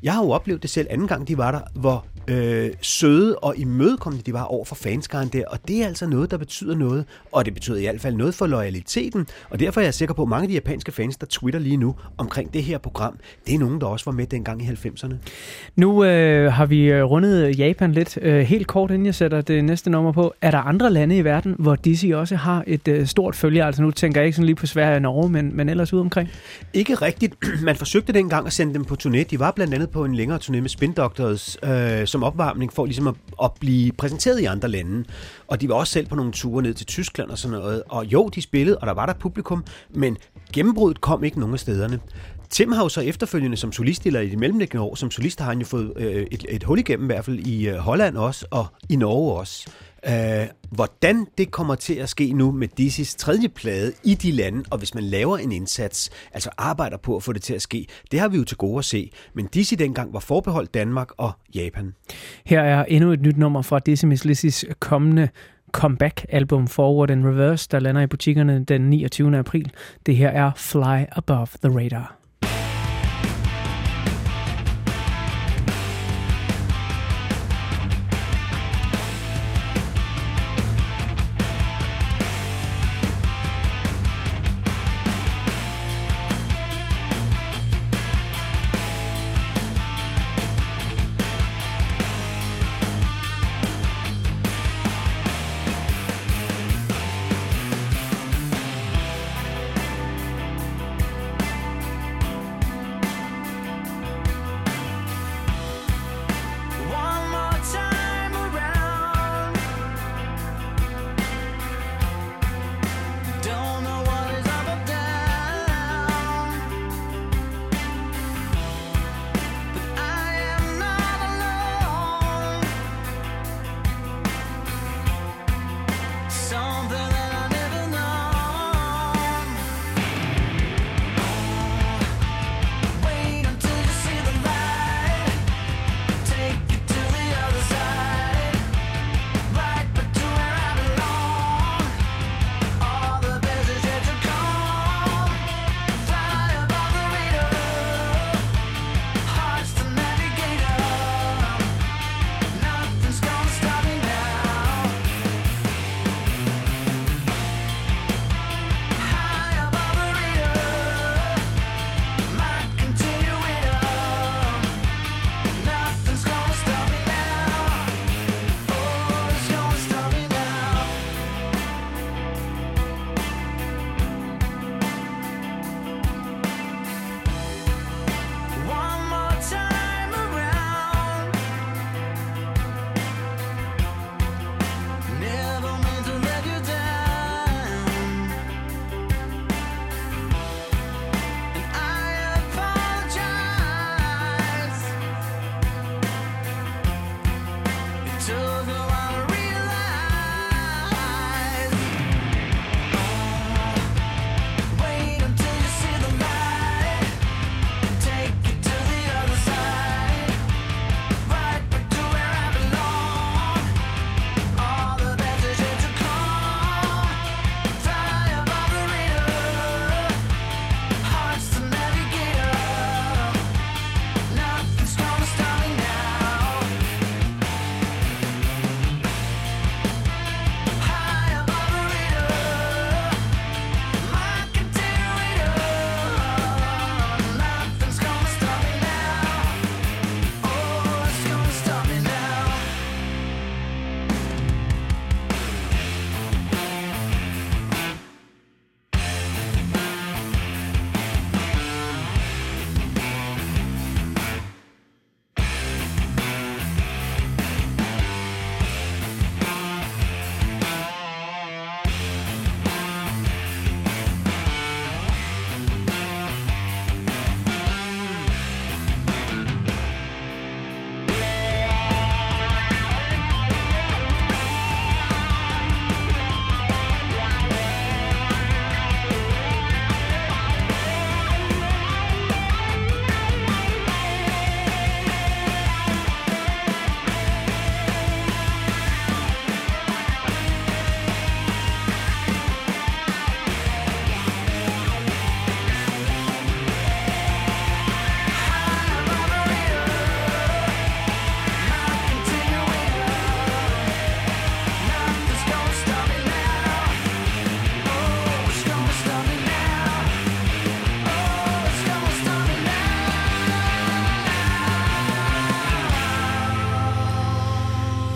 Jeg har jo oplevet det selv anden gang, de var der, hvor øh, søde og imødekommende de var over for fanskaren der, og det er altså noget, der betyder noget, og det betyder i hvert fald noget for loyaliteten, og derfor er jeg sikker på, at mange af de japanske fans, der twitter lige nu omkring det her program, det er nogen, der også var med dengang i halvfemserne. Nu øh, har vi rundet Japan lidt. Øh, helt kort, inden jeg sætter det næste nummer på. Er der andre lande i verden, hvor Dizzy også har et øh, stort følge? Altså nu tænker jeg ikke sådan lige på Sverige og Norge, men, men ellers ude omkring? Ikke rigtigt. Man forsøgte dengang at sende dem på turné. De var blandt andet på en længere turné med Spin Doctors øh, som opvarmning for ligesom at, at blive præsenteret i andre lande. Og de var også selv på nogle ture ned til Tyskland og sådan noget. Og jo, de spillede, og der var der publikum, men gennembruddet kom ikke nogen af stederne. Tim har jo så efterfølgende som solist, eller i de mellemliggende år, som solist har han jo fået øh, et, et hul igennem, i hvert fald i øh, Holland også, og i Norge også. Øh, hvordan det kommer til at ske nu med Dizzys tredje plade i de lande, og hvis man laver en indsats, altså arbejder på at få det til at ske, det har vi jo til gode at se. Men Dizzy dengang var forbeholdt Danmark og Japan. Her er endnu et nyt nummer fra Dizzy Miss Lizzys kommende comeback-album Forward and Reverse, der lander i butikkerne den niogtyvende april. Det her er Fly Above the Radar.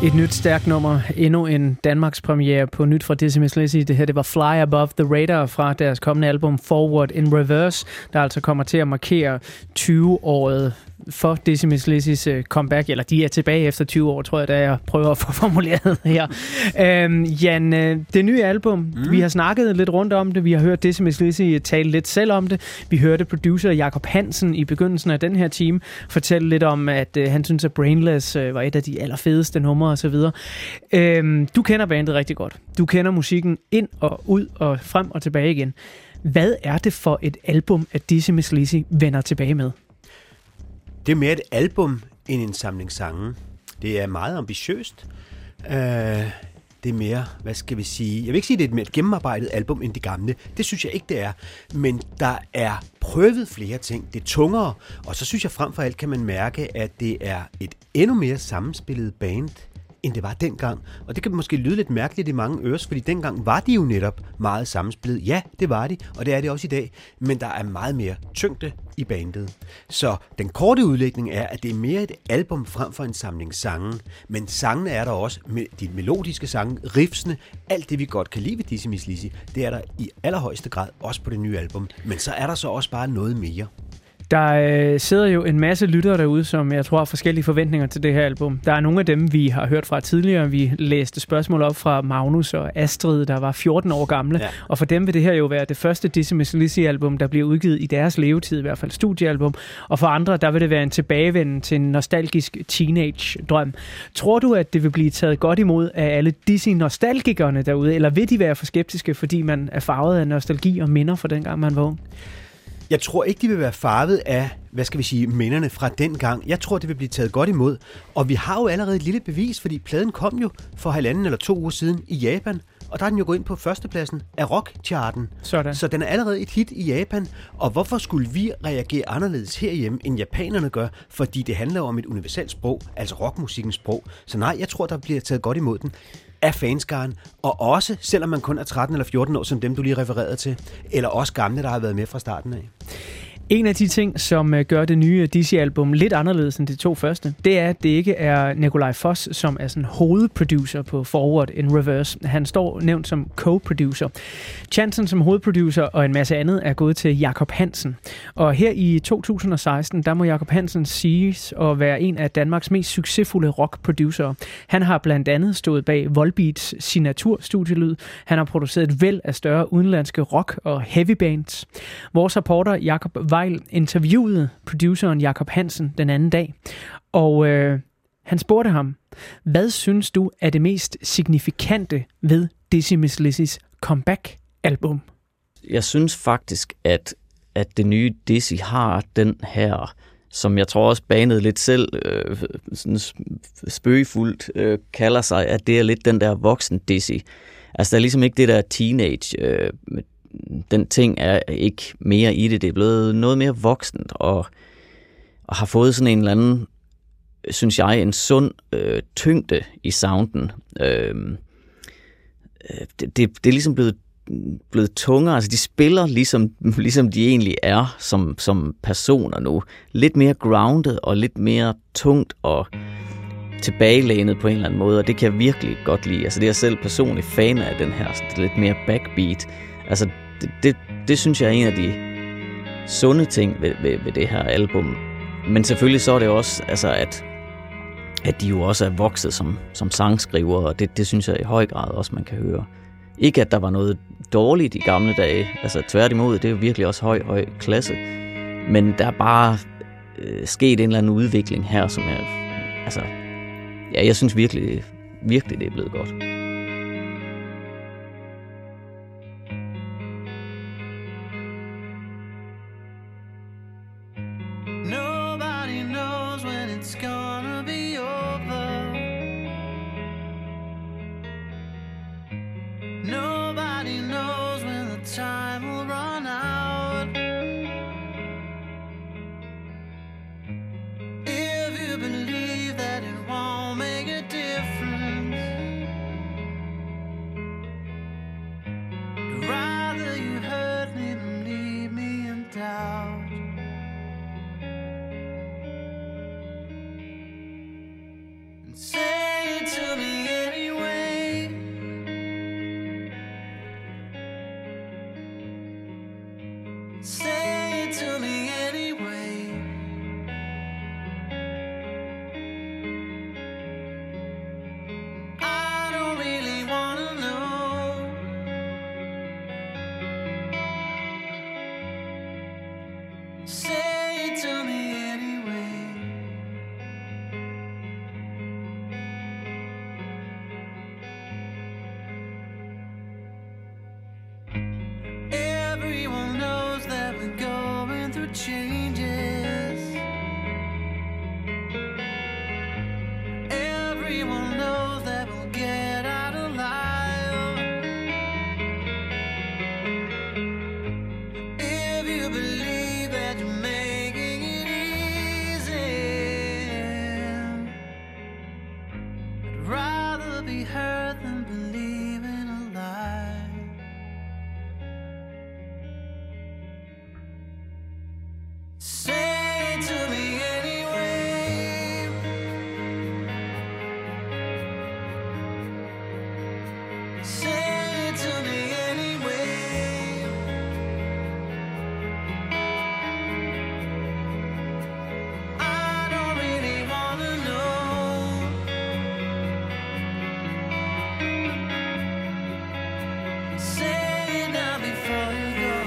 Et nyt stærkt nummer, endnu en Danmarks premiere på nyt fra Dizzy Mizz Lizzy. Det her, det var Fly Above the Radar fra deres kommende album Forward in Reverse, der altså kommer til at markere tyve-året for Dizzy Mizz Lizzys comeback, eller de er tilbage efter tyve år, tror jeg, da jeg prøver at få formuleret her. Øhm, Jan, det nye album, mm. vi har snakket lidt rundt om det, vi har hørt Dizzy Mizz Lizzy tale lidt selv om det, vi hørte producer Jacob Hansen i begyndelsen af den her time fortælle lidt om, at øh, han synes, at Brainless øh, var et af de allerfedeste numre og så videre. Øhm, du kender bandet rigtig godt. Du kender musikken ind og ud og frem og tilbage igen. Hvad er det for et album, at Dizzy Mizz Lizzy vender tilbage med? Det er mere et album end en samling sange. Det er meget ambitiøst. Uh, det er mere, hvad skal vi sige... Jeg vil ikke sige, at det er et mere gennemarbejdet album end det gamle. Det synes jeg ikke, det er. Men der er prøvet flere ting. Det er tungere. Og så synes jeg frem for alt, kan man mærke, at det er et endnu mere sammenspillet band, end det var dengang. Og det kan måske lyde lidt mærkeligt i mange øres, fordi dengang var de jo netop meget sammenspillet. Ja, det var de, og det er det også i dag. Men der er meget mere tyngde i bandet. Så den korte udlægning er, at det er mere et album frem for en samling sange. Men sangene er der også, med de melodiske sange, riffsene, alt det vi godt kan lide ved Dizzy Mizz Lizzy, det er der i allerhøjeste grad også på det nye album. Men så er der så også bare noget mere. Der øh, sidder jo en masse lyttere derude, som jeg tror har forskellige forventninger til det her album. Der er nogle af dem, vi har hørt fra tidligere. Vi læste spørgsmål op fra Magnus og Astrid, der var fjorten år gamle. Ja. Og for dem vil det her jo være det første Dizzy Mizz Lizzy-album, der bliver udgivet i deres levetid, i hvert fald studiealbum. Og for andre, der vil det være en tilbagevenden til en nostalgisk teenage-drøm. Tror du, at det vil blive taget godt imod af alle Dizzy-nostalgikerne derude, eller vil de være for skeptiske, fordi man er farvet af nostalgi og minder fra dengang, man var ung? Jeg tror ikke, de vil være farvet af, hvad skal vi sige, minderne fra den gang. Jeg tror, det vil blive taget godt imod. Og vi har jo allerede et lille bevis, fordi pladen kom jo for halvanden eller to uger siden i Japan. Og der er den jo gået ind på førstepladsen af rockcharten. Sådan. Så den er allerede et hit i Japan. Og hvorfor skulle vi reagere anderledes herhjemme, end japanerne gør? Fordi det handler om et universelt sprog, altså rockmusikkens sprog. Så nej, jeg tror, der bliver taget godt imod den af fanskaren, og også, selvom man kun er tretten eller fjorten år, som dem, du lige refererede til, eller også gamle, der har været med fra starten af. En af de ting, som gør det nye Dizzy-album lidt anderledes end de to første, det er, at det ikke er Nikolaj Foss, som er sådan hovedproducer på Forward in Reverse. Han står nævnt som co-producer. Chancen som hovedproducer og en masse andet er gået til Jacob Hansen. Og her i to tusind og seksten, der må Jacob Hansen siges at være en af Danmarks mest succesfulde rockproducere. Han har blandt andet stået bag Volbeats signaturstudielyd. Han har produceret et væld af større udenlandske rock- og heavy bands. Vores reporter Jacob Weil interviewede produceren Jacob Hansen den anden dag, og øh, han spurgte ham, hvad synes du er det mest signifikante ved Dizzy Mizz Lizzys comeback-album? Jeg synes faktisk, at, at det nye Dizzy har den her, som jeg tror også bandet lidt selv øh, sådan spøgefuldt øh, kalder sig, at det er lidt den der voksen Dizzy. Altså der er ligesom ikke det der teenage øh, den ting er ikke mere i det. Det er blevet noget mere voksent, og, og har fået sådan en eller anden, synes jeg, en sund øh, tyngde i sounden. Øh, det, det, det er ligesom blevet, blevet tungere. Altså, de spiller ligesom, ligesom de egentlig er som, som personer nu. Lidt mere grounded og lidt mere tungt og tilbagelænet på en eller anden måde, og det kan jeg virkelig godt lide. Altså, det er jeg selv personligt fan af, den her lidt mere backbeat. Altså, det, det, det synes jeg er en af de sunde ting ved, ved, ved det her album. Men selvfølgelig så er det også, altså, at, at de jo også er vokset som, som sangskriver, og det, det synes jeg i høj grad også, man kan høre. Ikke at der var noget dårligt i gamle dage, altså tværtimod, det er jo virkelig også høj, høj klasse. Men der er bare øh, sket en eller anden udvikling her, som er, altså, ja, jeg synes virkelig, virkelig det er blevet godt. Say to me Say it to me anyway. I don't really wanna know. Say it to me anyway. Everyone knows that we're going through changes. Everyone knows that we'll get out alive. If you believe that you're making it easy, I'd rather be hurt than believing a lie. Say it to me anyway. Say it to me anyway. I don't really wanna know. Say it now before you go.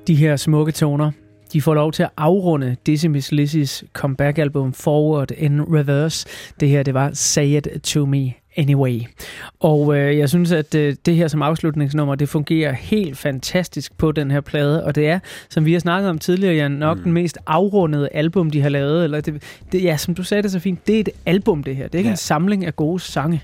De her smukke toner, de får lov til at afrunde Dizzy Miss Lizzys comeback-album Forward in Reverse. Det her, det var Say It To Me Anyway. Og øh, jeg synes, at øh, det her som afslutningsnummer, det fungerer helt fantastisk på den her plade, og det er, som vi har snakket om tidligere, Jan, nok mm. den mest afrundede album, de har lavet. Eller det, det, ja, som du sagde det så fint, det er et album, det her. Det er ikke ja. en samling af gode sange.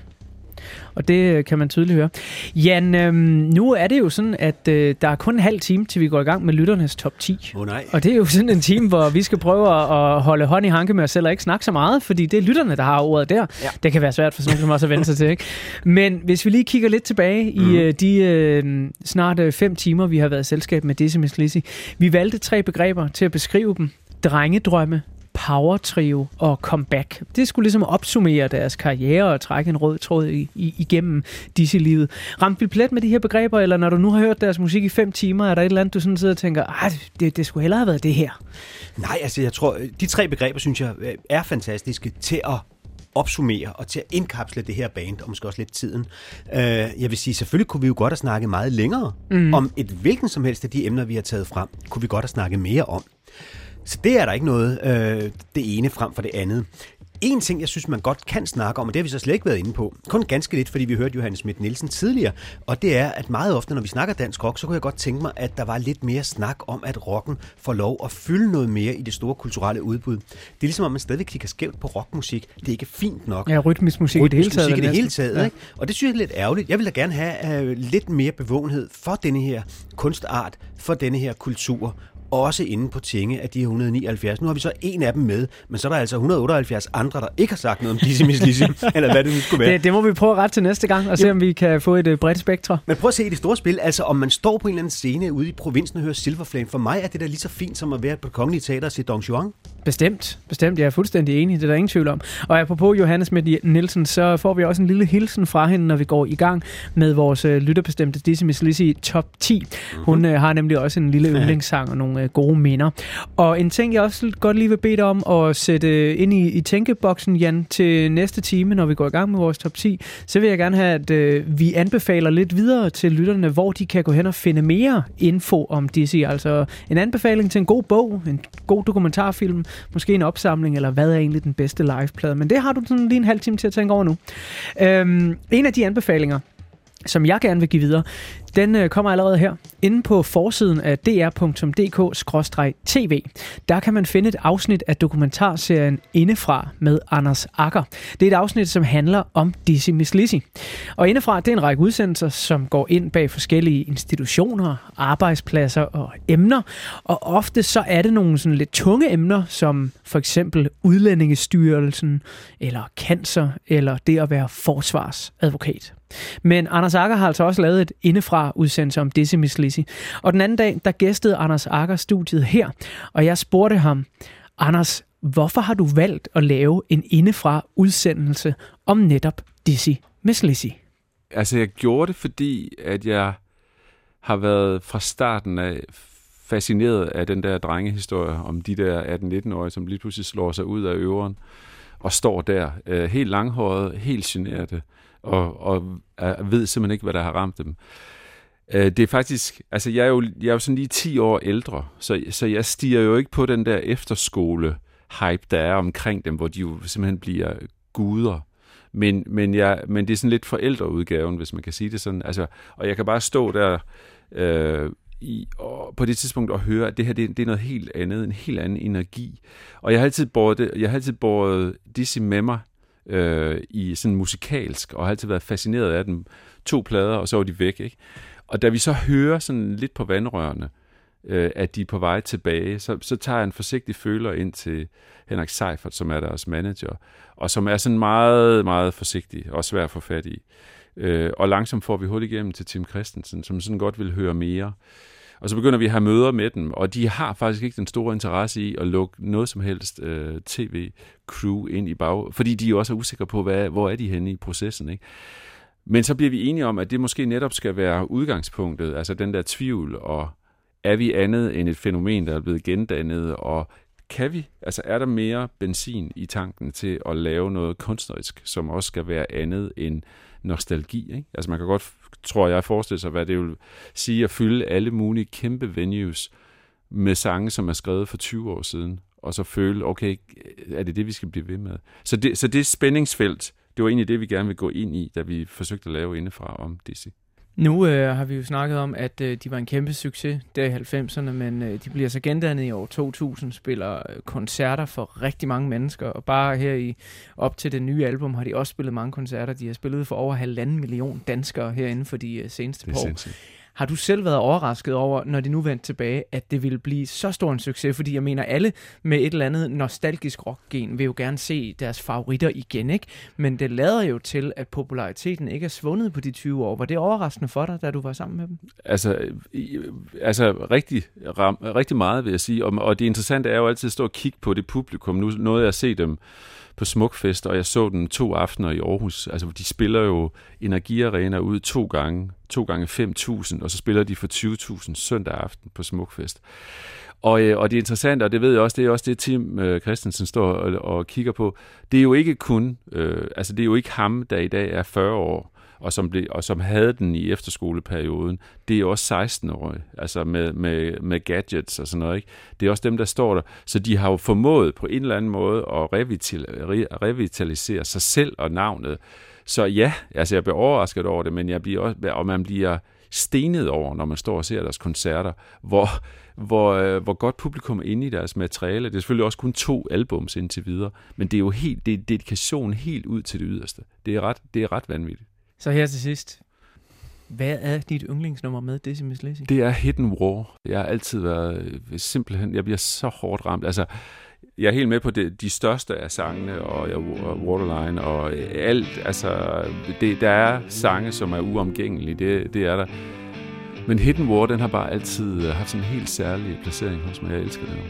Og det kan man tydeligt høre. Jan, øhm, nu er det jo sådan, at øh, der er kun en halv time, til vi går i gang med lytternes top ti. Oh, nej. Og det er jo sådan en time, hvor vi skal prøve at holde hånd i hanke med os selv og ikke snakke så meget, fordi det er lytterne, der har ordet der. Ja. Det kan være svært for sådan nogen som også at vende sig til, ikke? Men hvis vi lige kigger lidt tilbage mm. i øh, de øh, snart øh, fem timer, vi har været i selskab med Dizzy Miss Lizzy. Vi valgte tre begreber til at beskrive dem. Drengedrømme, power trio og comeback. Det skulle ligesom opsummere deres karriere og trække en rød tråd i, i, igennem Dizzy-livet. Ramte vi plet med de her begreber, eller når du nu har hørt deres musik i fem timer, er der et eller andet, du sådan sidder og tænker, ah, det, det skulle hellere have været det her? Nej, altså jeg tror, de tre begreber, synes jeg, er fantastiske til at opsummere og til at indkapsle det her band, og måske også lidt tiden. Uh, jeg vil sige, selvfølgelig kunne vi jo godt have snakket meget længere mm. om et hvilken som helst af de emner, vi har taget frem, kunne vi godt have snakket mere om. Så det er der ikke noget, øh, det ene frem for det andet. En ting, jeg synes, man godt kan snakke om, og det har vi så slet ikke været inde på, kun ganske lidt, fordi vi hørte Johannes Schmidt-Nielsen tidligere, og det er, at meget ofte, når vi snakker dansk rock, så kunne jeg godt tænke mig, at der var lidt mere snak om, at rocken får lov at fylde noget mere i det store kulturelle udbud. Det er ligesom, om man stadig kigger skævt på rockmusik. Det er ikke fint nok. Ja, rytmisk musik i det hele taget. Rytmisk musik i det hele taget, ja. Ikke? Og det synes jeg er lidt ærgerligt. Jeg vil da gerne have uh, lidt mere bevågenhed for denne her kunstart, for denne her kultur, også inde på tinge af de et hundrede nioghalvfjerds. Nu har vi så en af dem med, men så er der altså et hundrede otteoghalvfjerds andre, der ikke har sagt noget om Dizzy Miss Lizzy, eller hvad det nu skulle være. Det, det må vi prøve ret til næste gang, og se, om vi kan få et uh, bredt spektrum. Men prøv at se i det store spil, altså om man står på en eller anden scene ude i provinsen og hører Silver Flame, for mig er det da lige så fint som at være på Det Kongelige Teater og se Don Juan. Bestemt, bestemt. Jeg er fuldstændig enig, det er der ingen tvivl om. Og apropos Johannes Schmidt-Nielsen, så får vi også en lille hilsen fra hende, når vi går i gang med vores uh, lytterbestemte Dizzy Miss Lizzy top ti. Mm-hmm. Hun uh, har nemlig også en lille yndlingssang og nogle uh, gode minder. Og en ting, jeg også godt lige vil bede dig om at sætte ind i, i tænkeboksen, Jan, til næste time, når vi går i gang med vores top ti, så vil jeg gerne have, at uh, vi anbefaler lidt videre til lytterne, hvor de kan gå hen og finde mere info om Dizzy. Altså en anbefaling til en god bog, en god dokumentarfilm, måske en opsamling, eller hvad er egentlig den bedste liveplade. Men det har du sådan lige en halv time til at tænke over nu. Øhm, en af de anbefalinger, som jeg gerne vil give videre, den øh, kommer allerede her. Inde på forsiden af d r punktum d k skråstreg t v, der kan man finde et afsnit af dokumentarserien Indefra med Anders Agger. Det er et afsnit, som handler om Dizzy Miss Lizzy. Og Indefra, det er en række udsendelser, som går ind bag forskellige institutioner, arbejdspladser og emner. Og ofte så er det nogle sådan lidt tunge emner, som for eksempel Udlændingestyrelsen, eller cancer, eller det at være forsvarsadvokat. Men Anders Agger har altså også lavet et indefra-udsendelse om Dizzy Miss Lizzy. Og den anden dag, der gæstede Anders Agger studiet her, og jeg spurgte ham, Anders, hvorfor har du valgt at lave en indefra-udsendelse om netop Dizzy Miss Lizzy? Altså, jeg gjorde det, fordi at jeg har været fra starten af fascineret af den der drengehistorie om de der atten-nitten-årige, som lige pludselig slår sig ud af øveren og står der øh, helt langhåret, helt generte, og, og øh, ved simpelthen ikke, hvad der har ramt dem. Øh, det er faktisk, altså jeg er jo, jeg er jo sådan lige ti år ældre, så, så jeg stiger jo ikke på den der efterskole-hype, der er omkring dem, hvor de jo simpelthen bliver guder. Men, men, jeg, men det er sådan lidt forældreudgaven, hvis man kan sige det sådan. Altså, og jeg kan bare stå der øh, i, og på det tidspunkt og høre, at det her det, det er noget helt andet, en helt anden energi. Og jeg har altid båret, det, jeg har altid båret Dizzy med mig øh, i sådan musikalsk, og har altid været fascineret af dem. To plader, og så var de væk, ikke? Og da vi så hører sådan lidt på vandrørene, øh, at de er på vej tilbage, så, så tager jeg en forsigtig føler ind til Henrik Seifert, som er deres manager, og som er sådan meget, meget forsigtig og svær at få fat i. Øh, og langsomt får vi hul igennem til Tim Christensen, som sådan godt vil høre mere. Og så begynder vi at have møder med dem, og de har faktisk ikke den store interesse i at lukke noget som helst øh, tv-crew ind i bag, fordi de jo også er usikre på, hvad, hvor er de henne i processen, ikke? Men så bliver vi enige om, at det måske netop skal være udgangspunktet, altså den der tvivl, og er vi andet end et fænomen, der er blevet gendannet, og kan vi, altså er der mere benzin i tanken til at lave noget kunstnerisk, som også skal være andet end nostalgi, ikke? Altså man kan godt, tror jeg, forestille sig, hvad det vil sige at fylde alle mulige kæmpe venues med sange, som er skrevet for tyve år siden, og så føle, okay, er det det, vi skal blive ved med? Så det, så det spændingsfelt, det var egentlig det, vi gerne vil gå ind i, da vi forsøgte at lave indefra om Dizzy. Nu øh, har vi jo snakket om, at øh, de var en kæmpe succes der i halvfemserne, men øh, de bliver så gendannet i år to tusind, spiller øh, koncerter for rigtig mange mennesker, og bare her i op til det nye album har de også spillet mange koncerter. De har spillet for over halvanden million danskere herinde for de øh, seneste par år. Har du selv været overrasket over, når de nu vendte tilbage, at det ville blive så stor en succes? Fordi jeg mener, alle med et eller andet nostalgisk rockgen vil jo gerne se deres favoritter igen, ikke? Men det lader jo til, at populariteten ikke er svundet på de tyve år. Var det overraskende for dig, da du var sammen med dem? Altså, altså rigtig, ram, rigtig meget, vil jeg sige. Og, og det interessante er jo altid at stå og kigge på det publikum. Nu nåede jeg at se dem på Smukfest, og jeg så dem to aftener i Aarhus. Altså, de spiller jo Energiarena ud to gange, to gange fem tusind, og så spiller de for tyve tusind søndag aften på Smukfest. Og, og det er interessant, og det ved jeg også, det er også det, Tim øh, Christensen står og, og kigger på. Det er jo ikke kun, øh, altså det er jo ikke ham, der i dag er fyrre år, og som, blev, og som havde den i efterskoleperioden. Det er jo også seksten-årige, altså med, med, med gadgets og sådan noget, ikke? Det er også dem, der står der. Så de har jo formået på en eller anden måde at revital, re, revitalisere sig selv og navnet. Så ja, altså jeg bliver overrasket over det, men jeg bliver også, og man bliver stenet over, når man står og ser deres koncerter, hvor, hvor, hvor godt publikum er inde i deres materiale. Det er selvfølgelig også kun to albums indtil videre, men det er jo helt, det er dedikation helt ud til det yderste. Det er ret, det er ret vanvittigt. Så her til sidst, hvad er dit yndlingsnummer med Dizzy Mizz Lizzy? Det er Hidden War. Jeg har altid været simpelthen, jeg bliver så hårdt ramt. Altså, jeg er helt med på det, de største af sangene, og, og Waterline, og alt. Altså, det, der er sange, som er uomgængelige, det, det er der. Men Hidden War, den har bare altid haft sådan en helt særlig placering hos mig. Jeg elsker den.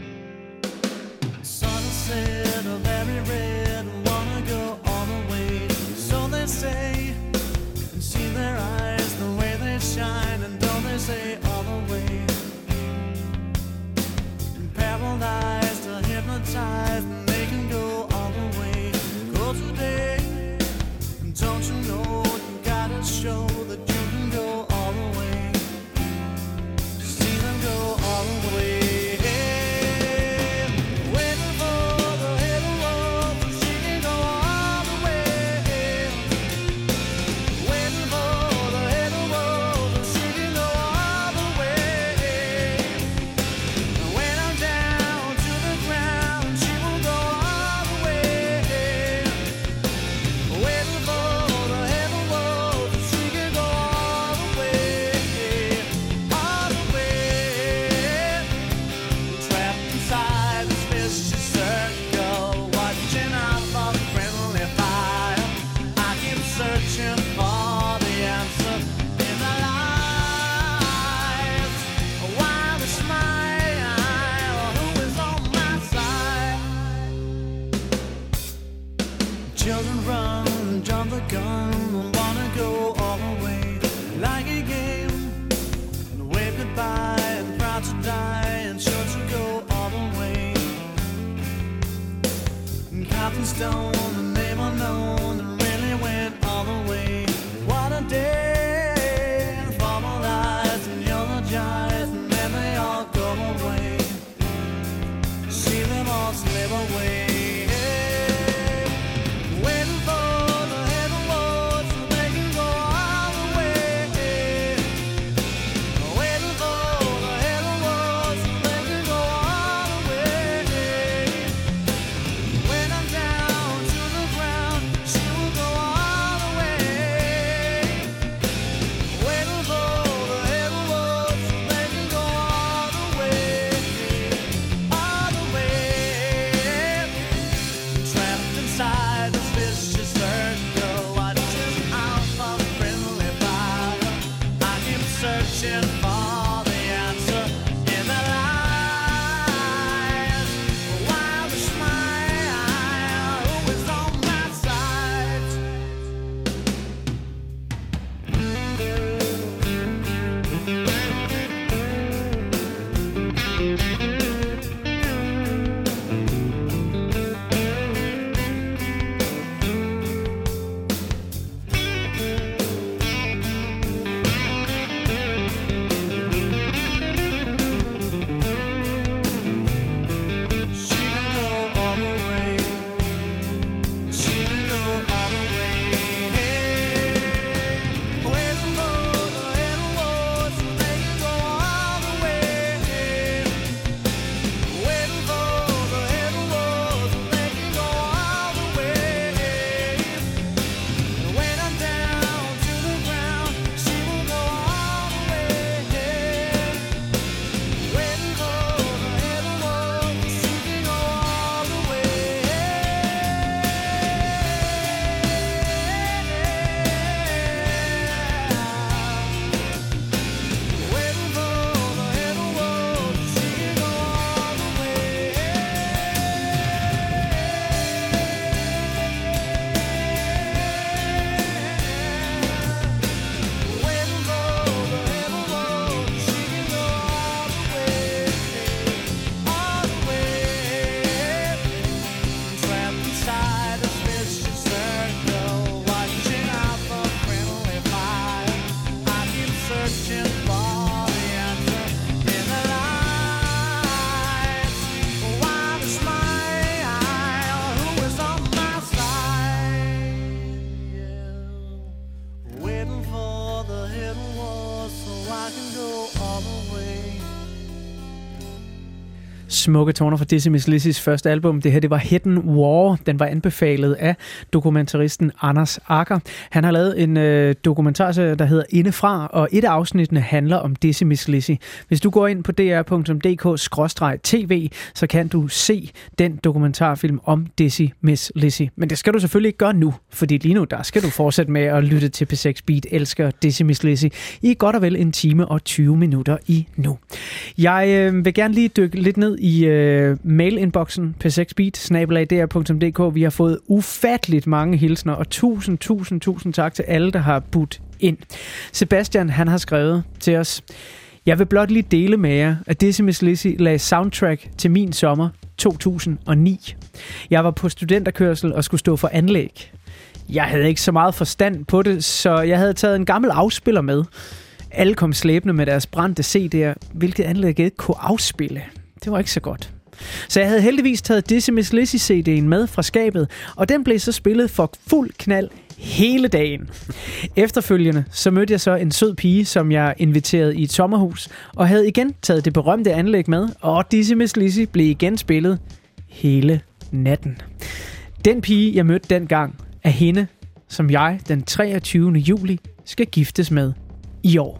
smukke toner fra Dizzy Miss Lizzys første album. Det her, det var Hidden War. Den var anbefalet af dokumentaristen Anders Agger. Han har lavet en øh, dokumentarserie, der hedder Indefra, og et af afsnittene handler om Dizzy Miss Lizzy. Hvis du går ind på d r punktum d k skråstreg t v, så kan du se den dokumentarfilm om Dizzy Miss Lizzy. Men det skal du selvfølgelig ikke gøre nu, fordi lige nu, der skal du fortsætte med at lytte til P seks Beat elsker Dizzy Miss Lizzy i godt og vel en time og tyve minutter i nu. Jeg øh, vil gerne lige dykke lidt ned i øh, mail-inboxen p seks beat snabel-a d r punktum d k. Vi har fået ufatteligt mange hilsner, og tusind, tusind, tusind tak til alle, der har budt ind. Sebastian, han har skrevet til os: Jeg vil blot lige dele med jer, at Dizzy Miss Lizzy lagde soundtrack til min sommer to tusind og ni. Jeg var på studenterkørsel og skulle stå for anlæg. Jeg havde ikke så meget forstand på det, så jeg havde taget en gammel afspiller med. Alle kom slæbende med deres brændte C D'er, hvilket anlæg ikke kunne afspille. Det var ikke så godt. Så jeg havde heldigvis taget Dizzy Miss Lizzy C D'en med fra skabet, og den blev så spillet for fuld knald hele dagen. Efterfølgende så mødte jeg så en sød pige, som jeg inviterede i et sommerhus, og havde igen taget det berømte anlæg med, og Dizzy Miss Lizzy blev igen spillet hele natten. Den pige, jeg mødte dengang, er hende, som jeg den treogtyvende juli skal giftes med i år.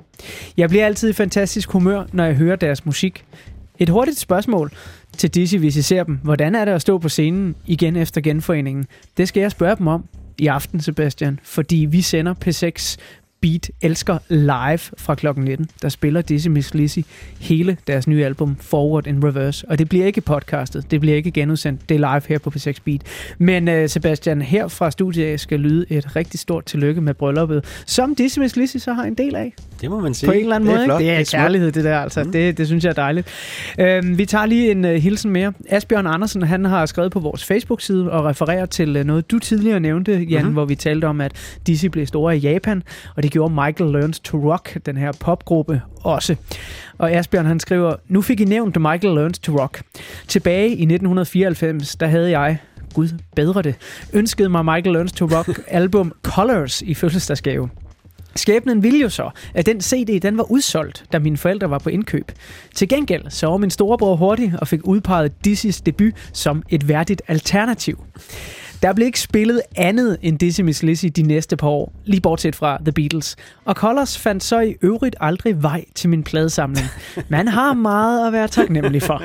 Jeg bliver altid i fantastisk humør, når jeg hører deres musik. Et hurtigt spørgsmål til Dizzy, hvis I ser dem. Hvordan er det at stå på scenen igen efter genforeningen? Det skal jeg spørge dem om i aften, Sebastian, fordi vi sender P seks Beat elsker live fra klokken nitten. Der spiller Dizzy Miss Lizzy hele deres nye album Forward in Reverse, og det bliver ikke podcastet, det bliver ikke genudsendt, det er live her på P seks Beat. Men uh, Sebastian, her fra studiet skal lyde et rigtig stort tillykke med brylluppet, som Dizzy Miss Lizzy så har en del af. Det må man sige. På en eller anden det måde, flot. Det er, det er kærlighed, det der altså. Mm. Det, det synes jeg er dejligt. Uh, vi tager lige en uh, hilsen mere. Asbjørn Andersen, han har skrevet på vores Facebook-side og refererer til uh, noget, du tidligere nævnte, Jan, mm-hmm. hvor vi talte om, at Dizzy blev store i Japan, og det gjorde Michael Learns to Rock, den her popgruppe, også. Og Asbjørn, han skriver: Nu fik I nævnt Michael Learns to Rock. Tilbage i nitten fireoghalvfems, der havde jeg, Gud bedre det, ønskede mig Michael Learns to Rock album Colors i fødselsdagsgave. Skæbnen ville jo så, at den C D, den var udsolgt, da mine forældre var på indkøb. Til gengæld så var min storebror hurtig og fik udpeget Dizzys debut som et værdigt alternativ. Der blev ikke spillet andet end Dizzy Miss Lizzy de næste par år, lige bortset fra The Beatles. Og Colors fandt så i øvrigt aldrig vej til min pladesamling. Man har meget at være taknemmelig for.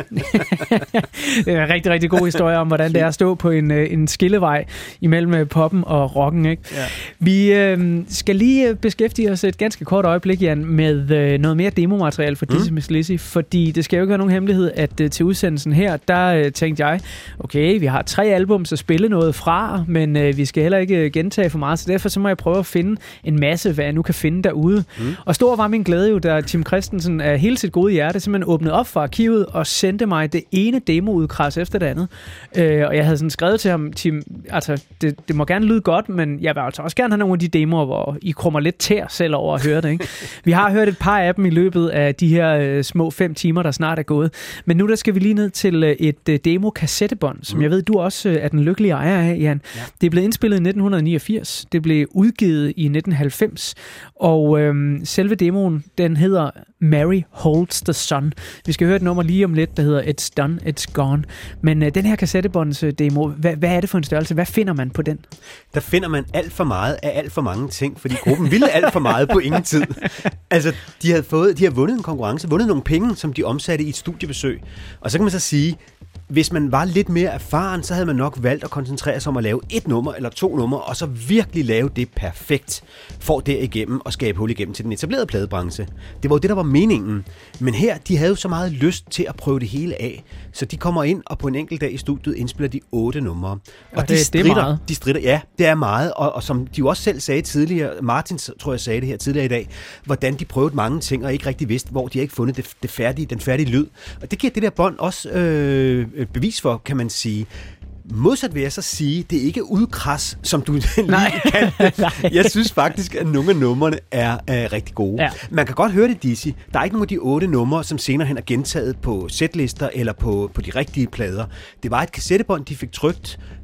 Det er en rigtig, rigtig god historie om, hvordan det er at stå på en, en skillevej imellem poppen og rocken. Ikke? Ja. Vi øh, skal lige beskæftige os et ganske kort øjeblik, Jan, med øh, noget mere demomateriale for Dizzy mm. Miss Lizzy, fordi det skal jo ikke være nogen hemmelighed, at øh, til udsendelsen her, der øh, tænkte jeg, okay, vi har tre album, så spille noget fra, men øh, vi skal heller ikke gentage for meget, så derfor så må jeg prøve at finde en masse, hvad jeg nu kan finde derude. Mm. Og stor var min glæde jo, da Tim Christensen af hele sit gode hjerte simpelthen åbnede op for arkivet og sendte mig det ene demoudkras efter det andet. Øh, og jeg havde sådan skrevet til ham, Tim, altså det, det må gerne lyde godt, men jeg vil altså også gerne have nogle af de demoer, hvor I krummer lidt tær selv over at høre det. Ikke? Vi har hørt et par af dem i løbet af de her øh, små fem timer, der snart er gået. Men nu der skal vi lige ned til øh, et øh, demo-kassettebånd, som mm. jeg ved, du også øh, er den lykkelige ejer af, Jan. Ja. Det blev indspillet i nitten niogfirs, det blev udgivet i nitten halvfems, og øhm, selve demoen, den hedder Mary Holds the Sun. Vi skal høre et nummer lige om lidt, der hedder It's Done, It's Gone. Men øh, den her kassettebåndsdemo, hvad, hvad er det for en størrelse? Hvad finder man på den? Der finder man alt for meget af alt for mange ting, fordi gruppen ville alt for meget på ingen tid. Altså, de havde, fået, de havde vundet en konkurrence, vundet nogle penge, som de omsatte i et studiebesøg. Og så kan man så sige, hvis man var lidt mere erfaren, så havde man nok valgt at koncentrere sig om at lave et nummer eller to numre, og så virkelig lave det perfekt, for derigennem og skabe hul igennem til den etablerede pladebranche. Det var jo det, der var meningen. Men her, de havde jo så meget lyst til at prøve det hele af, så de kommer ind, og på en enkelt dag i studiet indspiller de otte numre. Og, og de, det, stritter, det er meget. de stritter, ja, det er meget, og, og som de jo også selv sagde tidligere, Martin tror jeg sagde det her tidligere i dag, hvordan de prøvede mange ting, og ikke rigtig vidste, hvor de har ikke fundet det, det færdige, den færdige lyd. Og det giver det der bånd også øh, bevis for, kan man sige. Modsat vil jeg så sige, det er ikke udkras, som du lige kan. Jeg synes faktisk, at nogle af numrene er, er rigtig gode. Ja. Man kan godt høre det, Dizzy. Der er ikke nogen af de otte numre, som senere hen er gentaget på setlister eller på, på de rigtige plader. Det var et kassettebånd, de fik trykt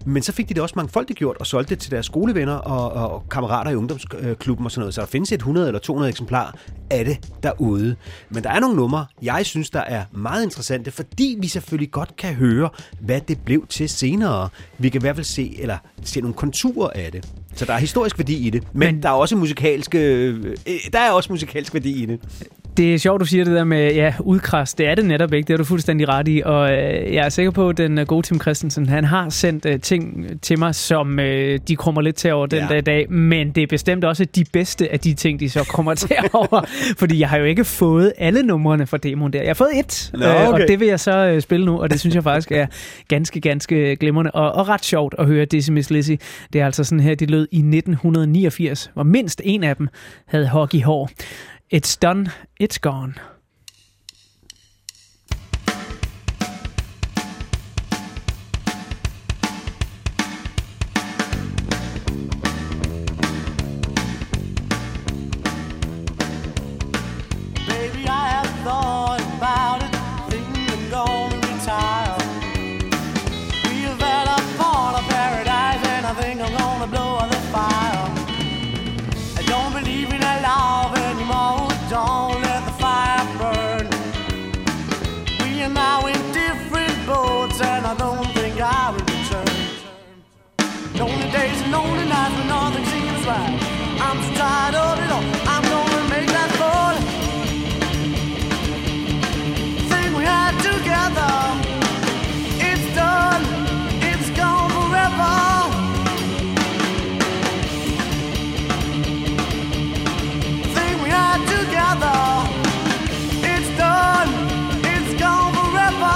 Men så fik de det også mangfoldigt gjort og solgte det til deres skolevenner og, og kammerater i ungdomsklubben og sådan noget. Så der findes et hundrede eller to hundrede eksemplarer af det derude. Men der er nogle numre, jeg synes, der er meget interessante, fordi vi selvfølgelig godt kan høre, hvad det blev til senere. Vi kan i hvert fald se, eller se nogle konturer af det. Så der er historisk værdi i det, men, men der er også musikalsk, øh, der er også musikalsk værdi i det. Det er sjovt, du siger det der med ja, udkrast. Det er det netop ikke. Det er du fuldstændig ret i. Og øh, jeg er sikker på, at den gode Tim Christensen, han har sendt øh, ting til mig, som øh, de kommer lidt til over den ja. der dag. Men det er bestemt også de bedste af de ting, de så kommer til over. Fordi jeg har jo ikke fået alle numrene fra demoen der. Jeg har fået et, Nå, okay. øh, og det vil jeg så øh, spille nu. Og det synes jeg faktisk er ganske, ganske glimrende. Og, og ret sjovt at høre Dizzy Miss Lizzy. Det er altså sådan her, de lød i nitten niogfirs, hvor mindst en af dem havde hockeyhår. It's done, it's gone. Baby, I have thought about it, thinking I'm gonna retire. We have had a part of paradise, and I think I'm gonna blow out the fire. I don't believe in a love anymore. Don't let the fire burn. We are now in different boats, and I don't think I will return. Lonely days and lonely nights when nothing seems right. I'm so tired of it all. I'm gonna make that fall. Thing we had together, it's done. It's gone forever. Together, it's done, it's gone forever.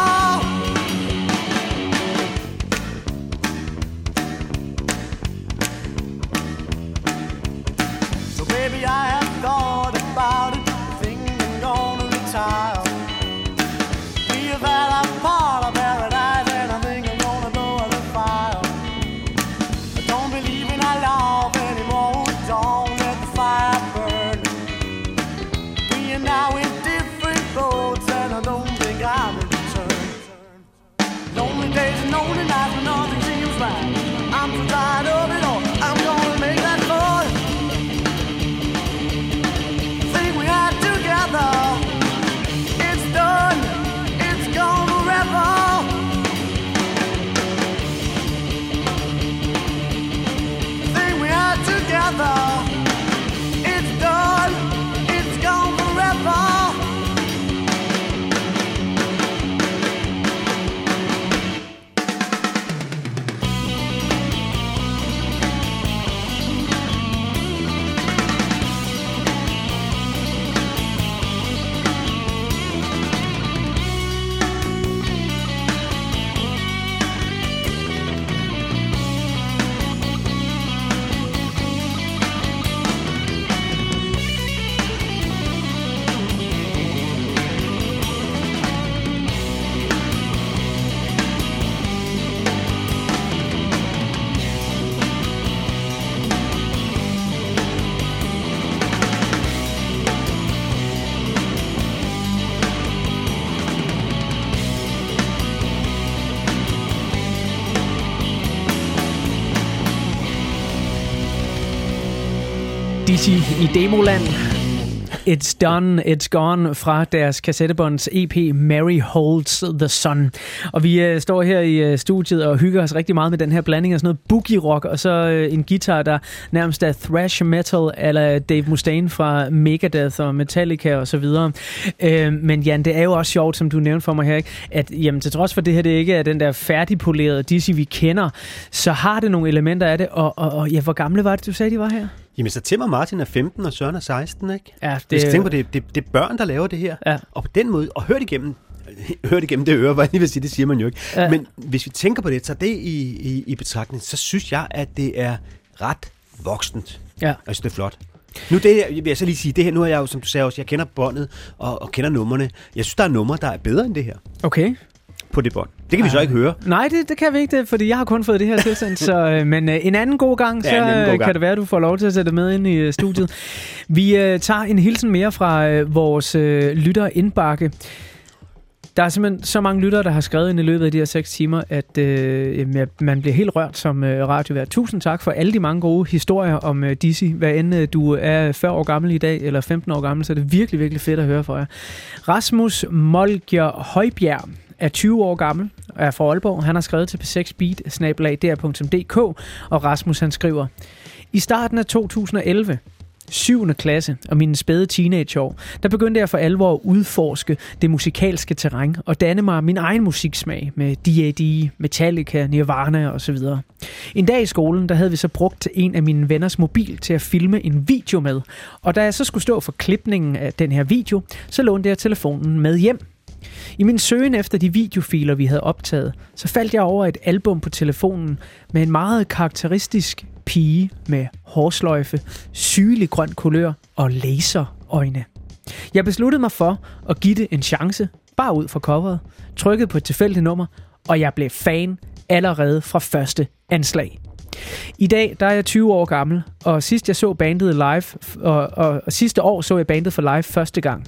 So baby, I have thought about it, thinking I'm gonna retire. We have had a part of paradise, and I think I'm gonna blow out the fire. I don't believe in our love anymore, don't let the fire burn. Now in different boats, and I don't think I will return. Lonely days and lonely nights when nothing seems right. I'm so tired of it all. I'm gonna make that fall. Thing we had together, it's done. It's gone forever. Thing we had together, it's done. It's gone forever. Dizzy i Demoland. It's Done, It's Gone fra deres kassettebånds E P Mary Holds the Sun. Og vi øh, står her i øh, studiet og hygger os rigtig meget med den her blanding af sådan noget boogie rock og så øh, en guitar, der nærmest er thrash metal eller Dave Mustaine fra Megadeth og Metallica og så videre. Øh, men Jan, det er jo også sjovt, som du nævnte for mig her, ikke? At jamen, til trods for det her, det ikke er den der færdigpolerede Dizzy, vi kender, så har det nogle elementer af det. Og, og, og ja, hvor gamle var det, du sagde, de var her? Jamen, så Tim og Martin er femten, og Søren er seksten, ikke? Ja, det... Hvis jeg tænker på, det, det, det er børn, der laver det her. Ja. Og på den måde, og hør det igennem, hør det igennem det øre, hvad jeg vil sige, det siger man jo ikke. Ja. Men hvis vi tænker på det, så det i, i, i betragtning, så synes jeg, at det er ret voksent. Ja. Altså, det er flot. Nu det her, vil jeg så lige sige, det her, nu er jeg jo, som du sagde også, jeg kender båndet og, og kender numrene. Jeg synes, der er numre, der er bedre end det her. Okay. På det bånd. Det kan vi så ikke høre. Nej, det, det kan vi ikke, det, fordi jeg har kun fået det her tilsendt. så, øh, men øh, en anden god gang, så ja, god gang. Kan det være, at du får lov til at sætte med ind i øh, studiet. Vi øh, tager en hilsen mere fra øh, vores øh, lytter indbakke. Der er simpelthen så mange lyttere, der har skrevet ind i løbet af de her seks timer, at øh, man bliver helt rørt som øh, radiovært. Tusind tak for alle de mange gode historier om øh, Dizzy. Hvad end øh, du er fyrre år gammel i dag, eller femten år gammel, så er det virkelig, virkelig fedt at høre fra jer. Rasmus Molger Højbjerg er tyve år gammel og er fra Aalborg. Han har skrevet til p seks beat snabel-a d r punktum d k, og Rasmus han skriver: I starten af to tusind og elleve, syvende klasse og mine spæde teenageår, der begyndte jeg for alvor at udforske det musikalske terræn og danne mig min egen musiksmag med D A D, Metallica, Nirvana osv. En dag i skolen, der havde vi så brugt en af mine venners mobil til at filme en video med, og da jeg så skulle stå for klipningen af den her video, så lånte jeg telefonen med hjem. I min søgen efter de videofiler, vi havde optaget, så faldt jeg over et album på telefonen med en meget karakteristisk pige med hårsløjfe, sygelig grøn kulør og laserøjne. Jeg besluttede mig for at give det en chance, bare ud fra coveret, trykkede på et tilfældigt nummer, og jeg blev fan allerede fra første anslag. I dag der er jeg tyve år gammel, og sidst jeg så bandet live, og, og, og sidste år så jeg bandet for live første gang.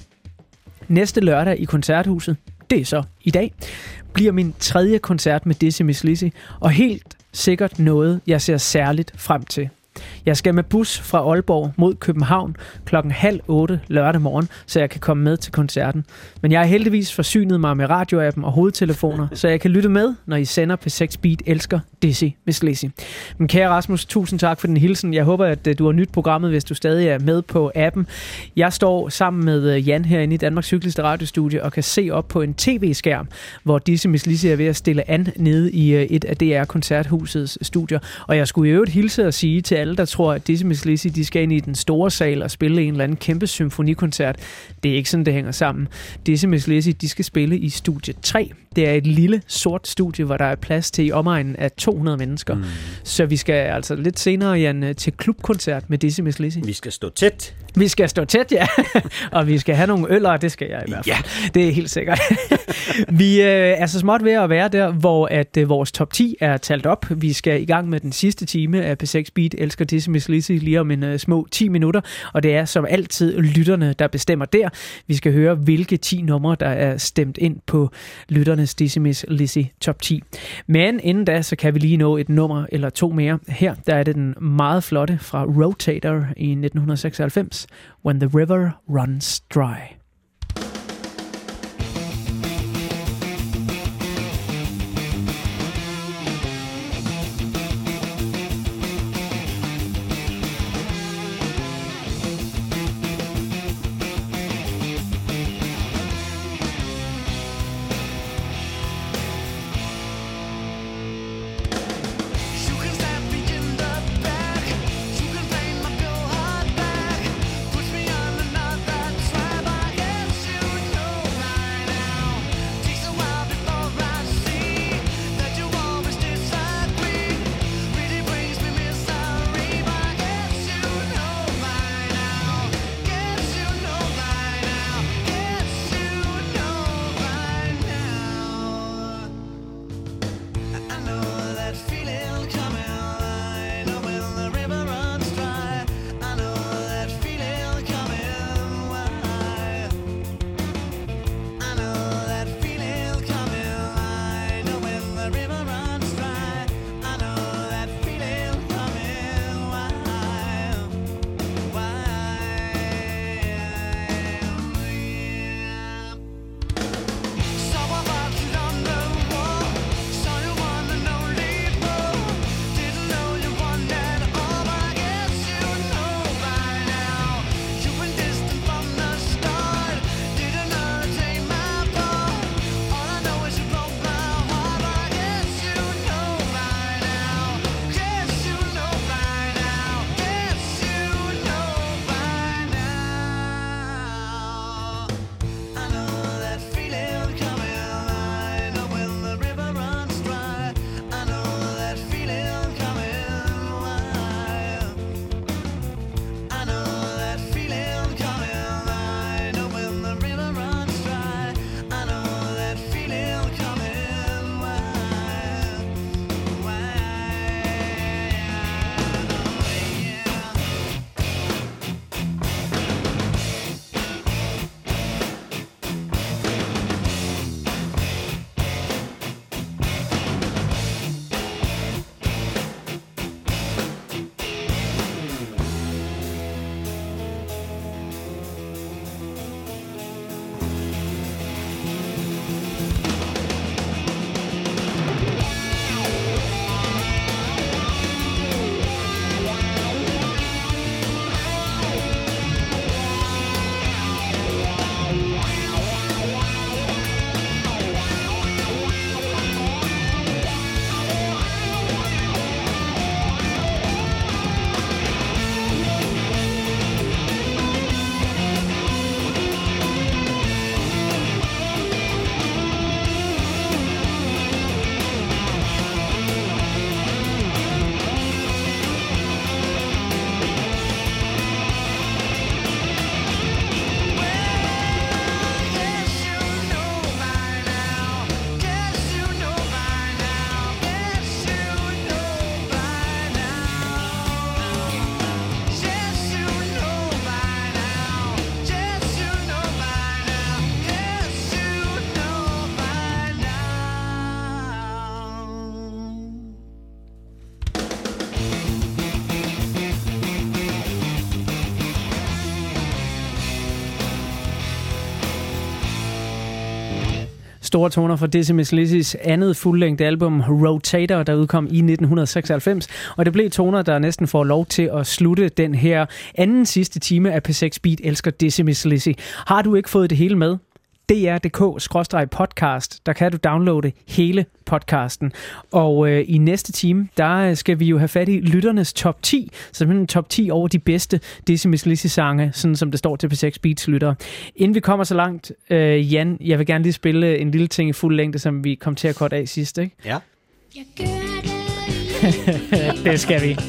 Næste lørdag i Koncerthuset, det er så i dag, bliver min tredje koncert med Dizzy Miss Lizzy, og helt sikkert noget, jeg ser særligt frem til. Jeg skal med bus fra Aalborg mod København klokken halv otte lørdag morgen, så jeg kan komme med til koncerten. Men jeg har heldigvis forsynet mig med radioappen og hovedtelefoner, så jeg kan lytte med, når I sender P seks Beat elsker Dizzy Miss Lizzy. Men kære Rasmus, tusind tak for den hilsen. Jeg håber, at du har nyt programmet, hvis du stadig er med på appen. Jeg står sammen med Jan herinde i Danmarks hyggeligste radiostudie og kan se op på en tv-skærm, hvor Dizzy Miss Lizzy er ved at stille an nede i et af D R-koncerthusets studier. Og jeg skulle i øvrigt hilse og sige til alle, der tror, at Dizzy Miss Lizzy, de skal ind i den store sal og spille en eller anden kæmpe symfonikoncert. Det er ikke sådan, det hænger sammen. Dizzy Miss Lizzy, de skal spille i studie tre. Det er et lille sort studie, hvor der er plads til i omegnen af to hundrede mennesker. Mm. Så vi skal altså lidt senere, Jan, til klubkoncert med Dizzy Miss Lizzy. Vi skal stå tæt. Vi skal stå tæt, ja. Og vi skal have nogle øller, det skal jeg i hvert fald. Ja. Det er helt sikkert. Vi øh, er så småt ved at være der, hvor at øh, vores top ti er talt op. Vi skal i gang med den sidste time af P seks Beat elsker Dizzy Miss Lizzy lige om en øh, små ti minutter. Og det er som altid lytterne, der bestemmer der. Vi skal høre, hvilke ti numre, der er stemt ind på lytternes Dizzy Miss Lizzy top ti. Men inden da, så kan vi lige nå et nummer eller to mere. Her der er det den meget flotte fra Rotator i nitten seksoghalvfems. When the River Runs Dry. Push me on another try by Store toner fra Dizzy Miss Lizzys andet fuldlængde album Rotator, der udkom i nitten seksoghalvfems. Og det blev toner, der næsten får lov til at slutte den her anden sidste time af P seks Beat elsker Dizzy Miss Lizzy. Har du ikke fået det hele med? D R punktum d k skråstreg podcast, der kan du downloade hele podcasten. Og øh, i næste time, der skal vi jo have fat i lytternes top ti, simpelthen top ti over de bedste Dizzy Miss Lizzy sange, sådan som det står til P seks Beats lyttere. Inden vi kommer så langt, øh, Jan, jeg vil gerne lige spille en lille ting i fuld længde, som vi kom til at korte af sidst, ikke? Ja. Det skal vi.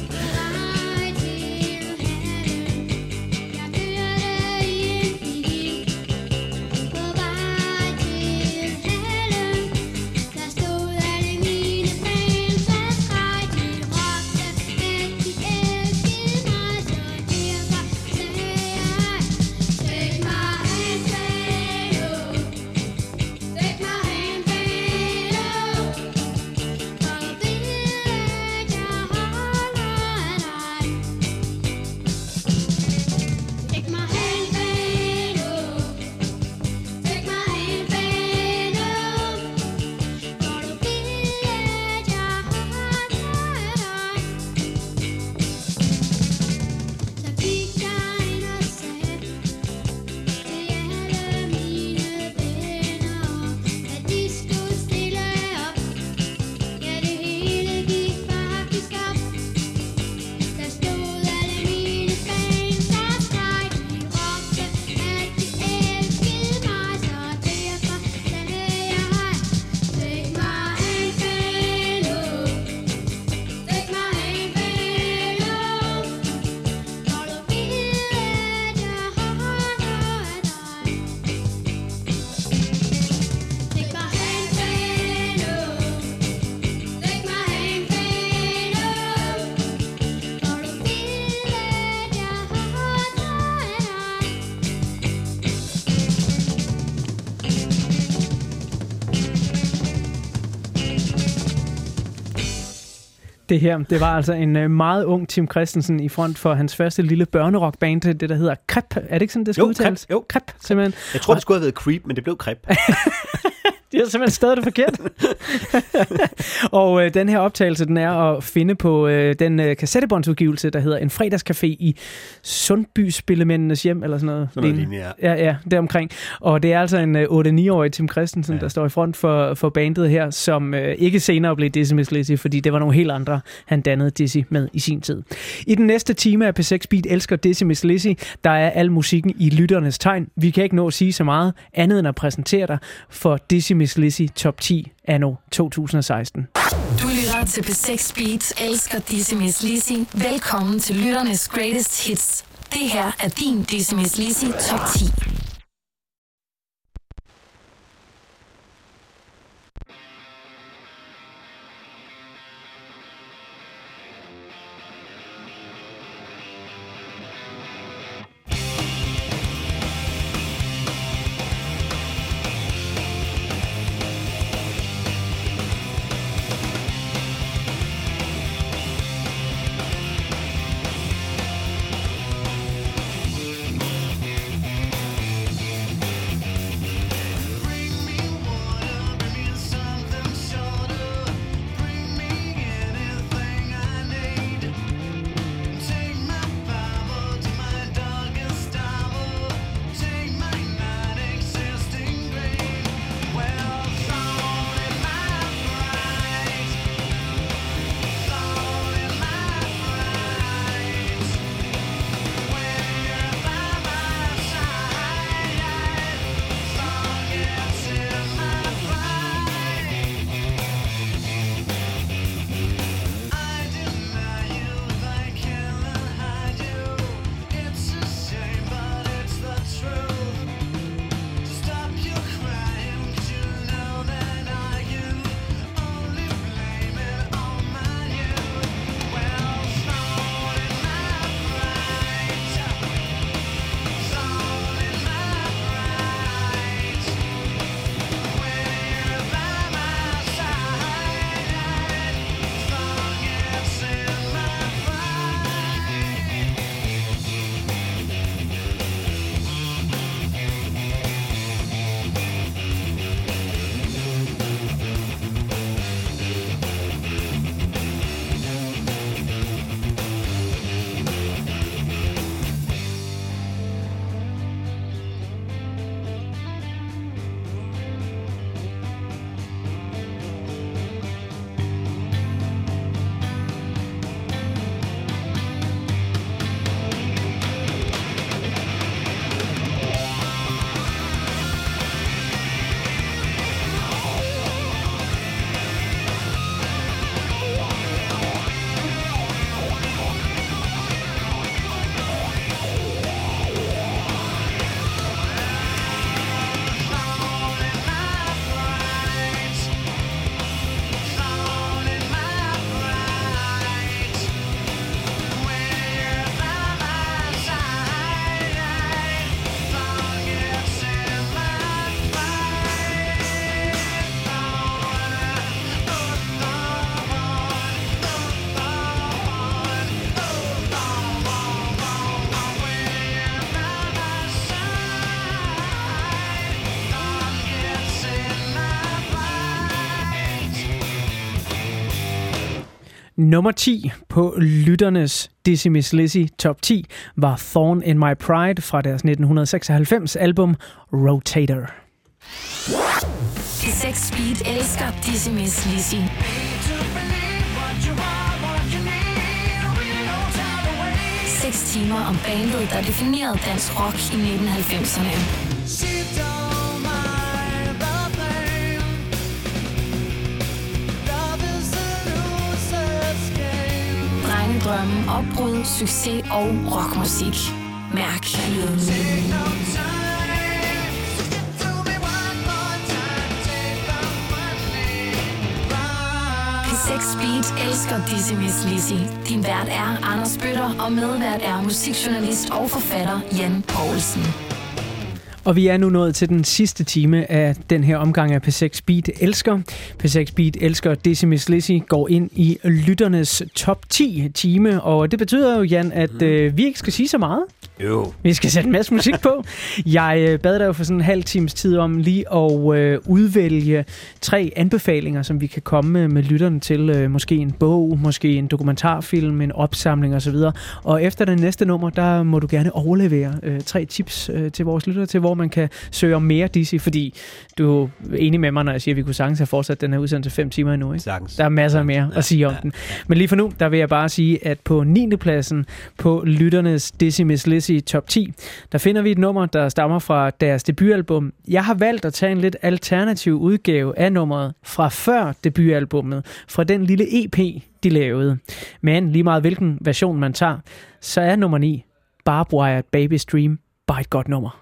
Det her, det var altså en meget ung Tim Christensen i front for hans første lille børnerockband, det der hedder Crep. Er det ikke sådan, det skal jo, udtales? Crep, jo, Crep, simpelthen. Jeg tror, det skulle have været Creep, men det blev Crep. Det er simpelthen stadig det forkert. Og øh, den her optagelse, den er at finde på øh, den øh, kassettebåndsudgivelse, der hedder En fredagscafé i Sundby-spillemændenes hjem, eller sådan noget. Sådan noget lignende, ja. Ja, ja, deromkring. Og det er altså en øh, otte-ni-årig Tim Christensen, ja. der står i front for, for bandet her, som øh, ikke senere blev Dizzy Miss Lizzy, fordi det var nogle helt andre, han dannede Dizzy med i sin tid. I den næste time af P seks Beat elsker Dizzy Miss Lizzy, der er al musikken i lytternes tegn. Vi kan ikke nå at sige så meget andet end at præsentere dig for Dizzy Miss Lizzy top ti anno to tusind og seksten. Du lytter til P seks Beats elsker Dizzy Miss Lizzy. Velkommen til lytternes greatest hits. Det her er din Dizzy Miss Lizzy top ti. Nummer ti på lytternes Dizzy Miss Lizzy top ti var Thorn in My Pride fra deres nitten seksoghalvfems album Rotator. P seks Speed elsker Dizzy Miss Lizzy. Seks timer om bandet, der definerede dansk rock i nitten halvfemserne. Drengedrømme, opbrud, succes og rockmusik. Mærk lyden. P seks Speed elsker Dizzy Miss Lizzy. Din vært er Anders Bøtter, og medvært er musikjournalist og forfatter Jan Poulsen. Og vi er nu nået til den sidste time af den her omgang af P seks Speed elsker. P seks Speed elsker Dizzy Miss Lizzy går ind i lytternes top ti time, og det betyder jo, Jan, at mm. øh, vi ikke skal sige så meget. Jo. Vi skal sætte en masse musik på. Jeg øh, bad dig jo for sådan en halv times tid om lige at øh, udvælge tre anbefalinger, som vi kan komme med, med lytterne til. Øh, måske en bog, måske en dokumentarfilm, en opsamling osv. Og efter det næste nummer, der må du gerne overlevere øh, tre tips øh, til vores lyttere til, hvor man kan søge om mere Dizzy, fordi du er enig med mig, når jeg siger, at vi kunne sagtens have fortsat den her udsendelse fem timer endnu. Ikke? Sagtens. Der er masser mere at sige om den. Men lige for nu, der vil jeg bare sige, at på niende pladsen på lytternes Dizzy Miss Lizzy top ti, der finder vi et nummer, der stammer fra deres debutalbum. Jeg har valgt at tage en lidt alternativ udgave af nummeret fra før debutalbummet, fra den lille E P, de lavede. Men lige meget hvilken version man tager, så er nummer ni, Barbed Wire Baby's Dream, bare et godt nummer.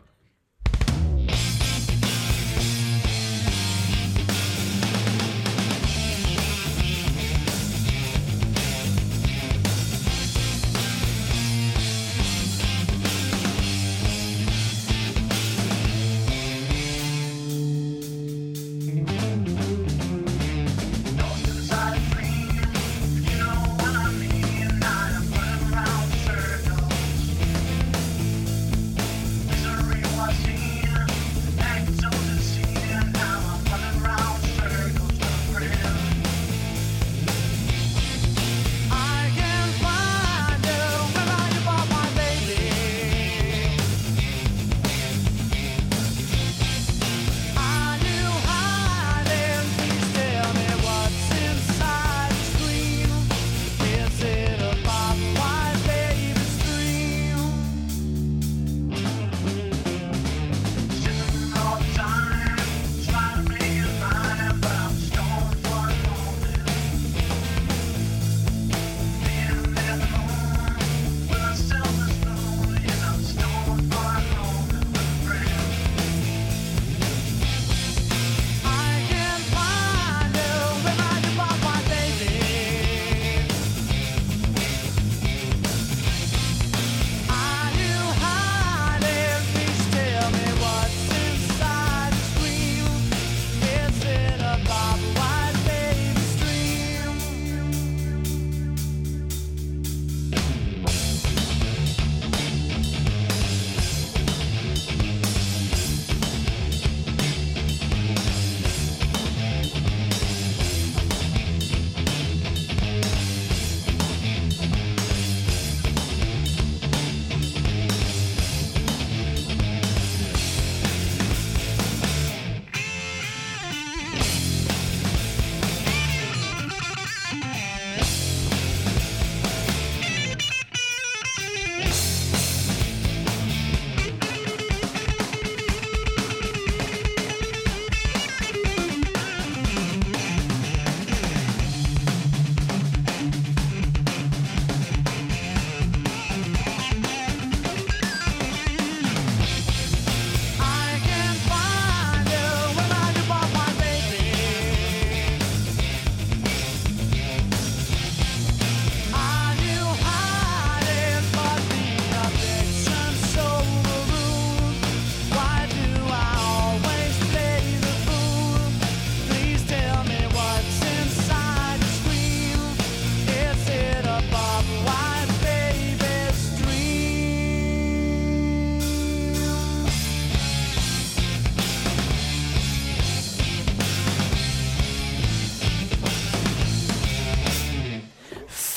Misery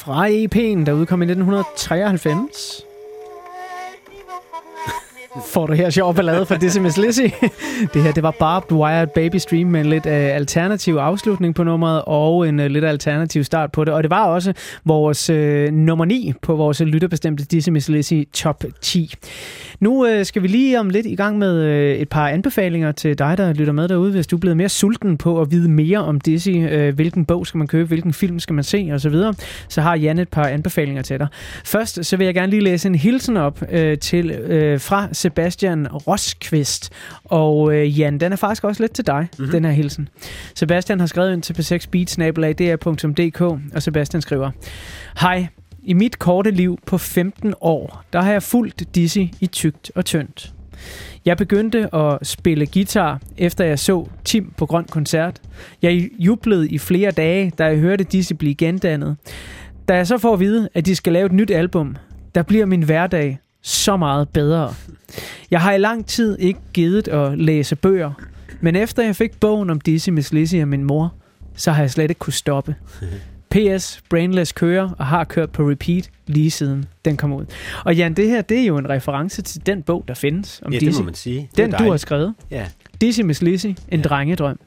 fra E P'en, der udkom i nitten treoghalvfems. Får du her sjov ballade fra Dizzy Miss Lizzy. Det her, det var Barbed Wire Baby Stream med en lidt uh, alternativ afslutning på nummeret og en uh, lidt alternativ start på det. Og det var også vores uh, nummer ni på vores lytterbestemte Dizzy Miss Lizzy top ti. Nu uh, skal vi lige om lidt i gang med uh, et par anbefalinger til dig, der lytter med derude. Hvis du er blevet mere sulten på at vide mere om Dizzy, uh, hvilken bog skal man købe, hvilken film skal man se osv., så, så har Jan et par anbefalinger til dig. Først så vil jeg gerne lige læse en hilsen op uh, til uh, fra Sebastian Roskvist. Og øh, Jan, den er faktisk også lidt til dig, mm-hmm. den her hilsen. Sebastian har skrevet ind til p seks beat snabel-a d r punktum d k, og Sebastian skriver: Hej, i mit korte liv på femten år, der har jeg fulgt Dizzy i tykt og tyndt. Jeg begyndte at spille guitar, efter jeg så Tim på Grøn Koncert. Jeg jublede i flere dage, da jeg hørte Dizzy blive gendannet. Da jeg så får at vide, at de skal lave et nyt album, der bliver min hverdag så meget bedre. Jeg har i lang tid ikke givet at læse bøger, men efter jeg fik bogen om Dizzy Miss Lizzy af min mor, så har jeg slet ikke kunne stoppe. P S. Brainless kører og har kørt på repeat lige siden den kom ud. Og Jan, det her, det er jo en reference til den bog, der findes om ja, Dizzy. Det må man sige. Den, du har skrevet. Ja. Dizzy Miss Lizzy, en ja. drengedrøm.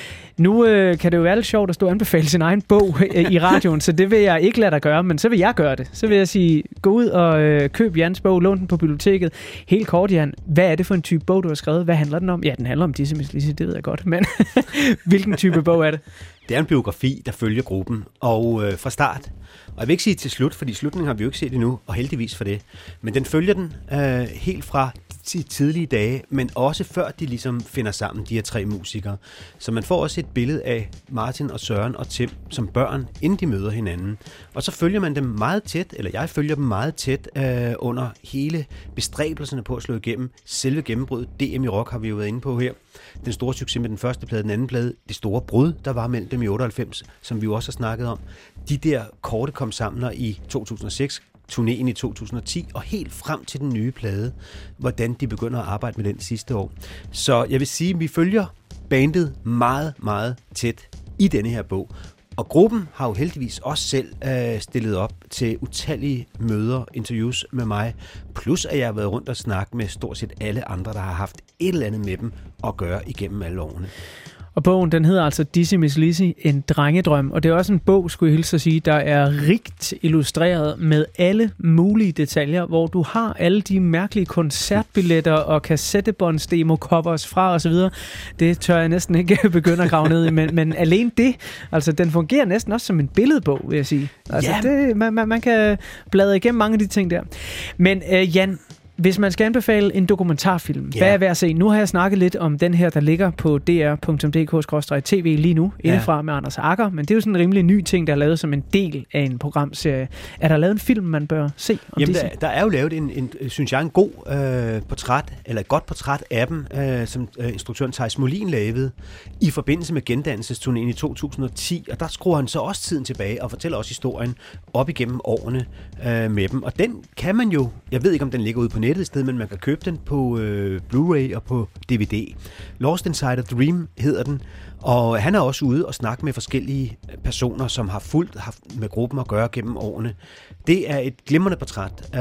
Nu øh, kan det jo være lidt sjovt at stå og anbefale sin egen bog øh, i radioen, så det vil jeg ikke lade dig gøre, men så vil jeg gøre det. Så vil jeg sige, gå ud og øh, køb Jans bog, lån den på biblioteket. Helt kort, Jan, hvad er det for en type bog, du har skrevet? Hvad handler den om? Ja, den handler om Dizzy Miss Lizzy, det ved jeg godt, men hvilken type bog er det? Det er en biografi, der følger gruppen, og øh, fra start. Og jeg vil ikke sige til slut, fordi slutningen har vi jo ikke set endnu, og heldigvis for det. Men den følger den øh, helt fra de tidlige dage, men også før de ligesom finder sammen, de her tre musikere. Så man får også et billede af Martin og Søren og Tim som børn, inden de møder hinanden. Og så følger man dem meget tæt, eller jeg følger dem meget tæt øh, under hele bestræbelserne på at slå igennem. Selve gennembruddet, D M i rock har vi jo været inde på her. Den store succes med den første plade, den anden plade, det store brud, der var mellem dem i otteoghalvfems, som vi jo også har snakket om. De der korte kom sammen i to tusind og seks, turnéen i to tusind og ti, og helt frem til den nye plade, hvordan de begynder at arbejde med den sidste år. Så jeg vil sige, at vi følger bandet meget, meget tæt i denne her bog. Og gruppen har jo heldigvis også selv øh, stillet op til utallige møder, interviews med mig, plus at jeg har været rundt og snakket med stort set alle andre, der har haft et eller andet med dem at gøre igennem alle årene. Og bogen, den hedder altså Dizzy Miss Lizzy, en drengedrøm. Og det er også en bog, skulle jeg hilse at sige, der er rigt illustreret med alle mulige detaljer, hvor du har alle de mærkelige koncertbilletter og kassettebånds, demo-covers fra osv. Det tør jeg næsten ikke begynde at grave ned i, men, men alene det, altså den fungerer næsten også som en billedbog, vil jeg sige. Altså yeah. det, man, man, man kan bladre igennem mange af de ting der. Men øh, Jan, hvis man skal anbefale en dokumentarfilm, yeah. hvad er værd at se? Nu har jeg snakket lidt om den her, der ligger på d r punktum d k skråstreg t v lige nu, yeah. indefra med Anders Agger, men det er jo sådan en rimelig ny ting, der er lavet som en del af en programserie. Er der lavet en film, man bør se om Jamen, Dizzy? Der, der er jo lavet en, en synes jeg, en god øh, portræt, eller et godt portræt af dem, øh, som øh, instruktøren Theis Molin lavede, i forbindelse med gendannelsesturnéen i to tusind og ti, og der skruer han så også tiden tilbage og fortæller også historien op igennem årene øh, med dem. Og den kan man jo, jeg ved ikke om den ligger ude på nettet et sted, men man kan købe den på øh, Blu-ray og på D V D. Lost Inside a Dream hedder den, og han er også ude og snakke med forskellige personer, som har fulgt haft med gruppen at gøre gennem årene. Det er et glimrende portræt øh,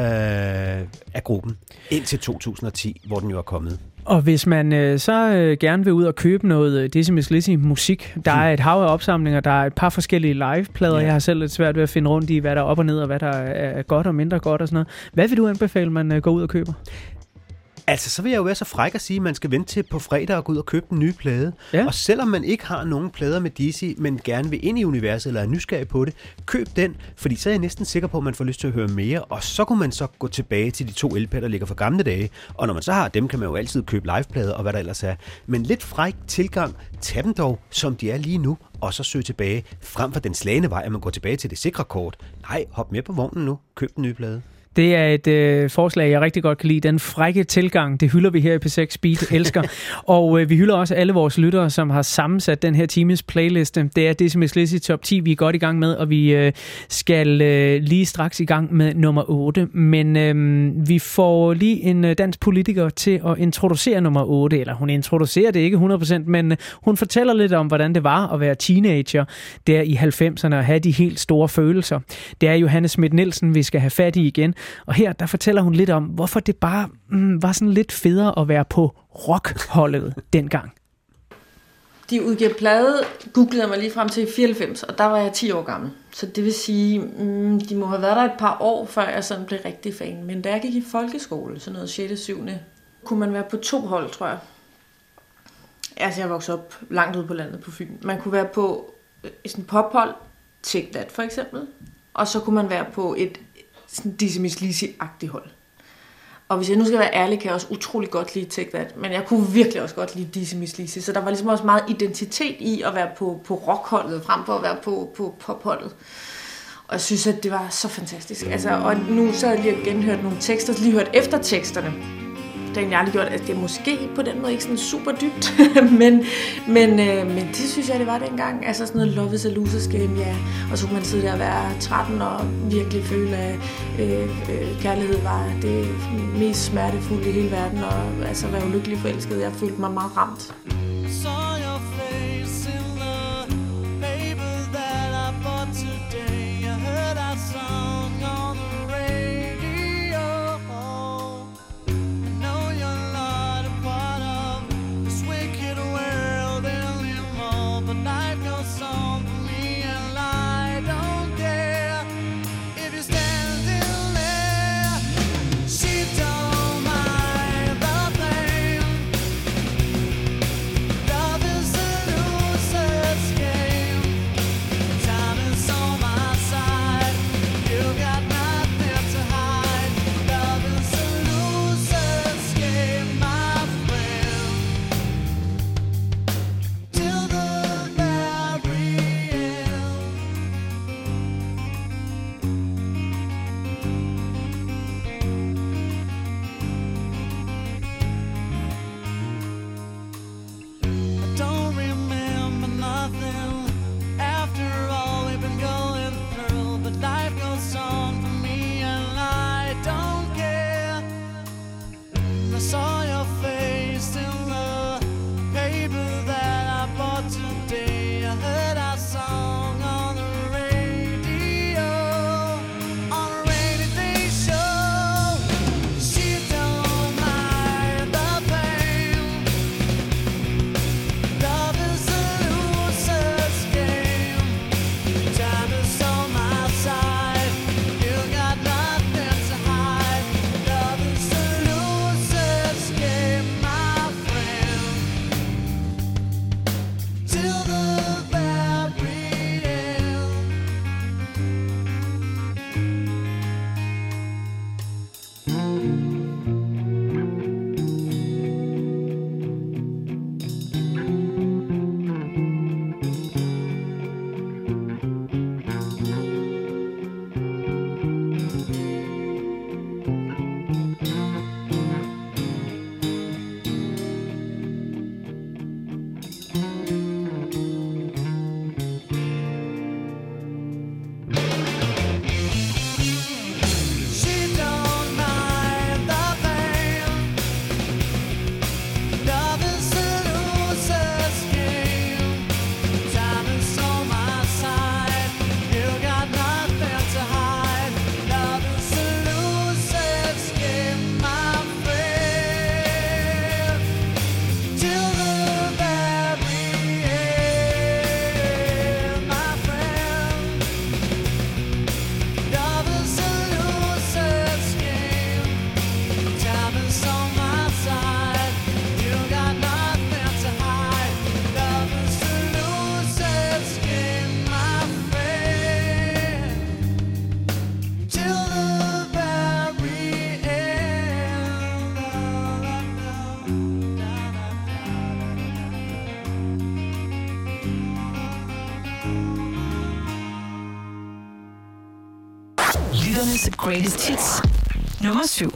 af gruppen indtil to tusind og ti, hvor den jo er kommet. Og hvis man øh, så øh, gerne vil ud og købe noget øh, Dizzy Miss Lizzy musik, der er et hav af opsamlinger, der er et par forskellige liveplader. Ja. Jeg har selv lidt svært ved at finde rundt i, hvad der er op og ned, og hvad der er godt og mindre godt og sådan noget. Hvad vil du anbefale, man øh, går ud og køber? Altså, så vil jeg jo være så fræk at sige, at man skal vente til på fredag og gå ud og købe den nye plade. Ja. Og selvom man ikke har nogen plader med Dizzy, men gerne vil ind i universet eller er nysgerrig på det, køb den, fordi så er jeg næsten sikker på, at man får lyst til at høre mere, og så kunne man så gå tilbage til de to L P'er, der ligger fra gamle dage. Og når man så har dem, kan man jo altid købe liveplader og hvad der ellers er. Men lidt fræk tilgang, tag dem dog, som de er lige nu, og så søg tilbage, frem for den slagende vej, at man går tilbage til det sikre kort. Nej, hop med på vognen nu, køb den nye plade. Det er et øh, forslag, jeg rigtig godt kan lide. Den frække tilgang, det hylder vi her i P seks Beat, elsker. Og øh, vi hylder også alle vores lyttere, som har sammensat den her times playliste. Det er Decimus Lizzy Top ti, vi er godt i gang med, og vi øh, skal øh, lige straks i gang med nummer otte. Men øh, vi får lige en øh, dansk politiker til at introducere nummer otte, eller hun introducerer det ikke hundrede procent, men øh, hun fortæller lidt om, hvordan det var at være teenager der i halvfemserne og have de helt store følelser. Det er Johanne Schmidt-Nielsen, vi skal have fat i igen. Og her, der fortæller hun lidt om, hvorfor det bare mm, var sådan lidt federe at være på rockholdet dengang. De udgav plade, googlede jeg mig lige frem til fireoghalvfems, og der var jeg ti år gammel. Så det vil sige, mm, de må have været der et par år, før jeg sådan blev rigtig fan. Men da jeg gik i folkeskole, sådan noget sjette syv kunne man være på to hold, tror jeg. Altså, jeg voksede op langt ude på landet på Fyn. Man kunne være på sådan et pophold, Take That for eksempel, og så kunne man være på et sådan Decimus Lizzy-agtigt hold. Og hvis jeg nu skal være ærlig, kan jeg også utrolig godt lide Take That, men jeg kunne virkelig også godt lide Decimus Lizzy, så der var ligesom også meget identitet i at være på, på rockholdet, frem for at være på, på popholdet. Og jeg synes, at det var så fantastisk. Altså, og nu så har jeg lige genhørt nogle tekster, lige hørt efter teksterne. Det har jeg aldrig gjort, at det er måske på den måde ikke sådan super dybt, men, men, øh, men det synes jeg, det var dengang. Altså sådan noget Love is a Loser's Game, ja. Og så kunne man sidde der og være tretten og virkelig føle, at øh, øh, kærlighed var det mest smertefulde i hele verden, og altså være ulykkelig forelsket. Jeg følte mig meget ramt. Lytternes greatest hits nummer syv.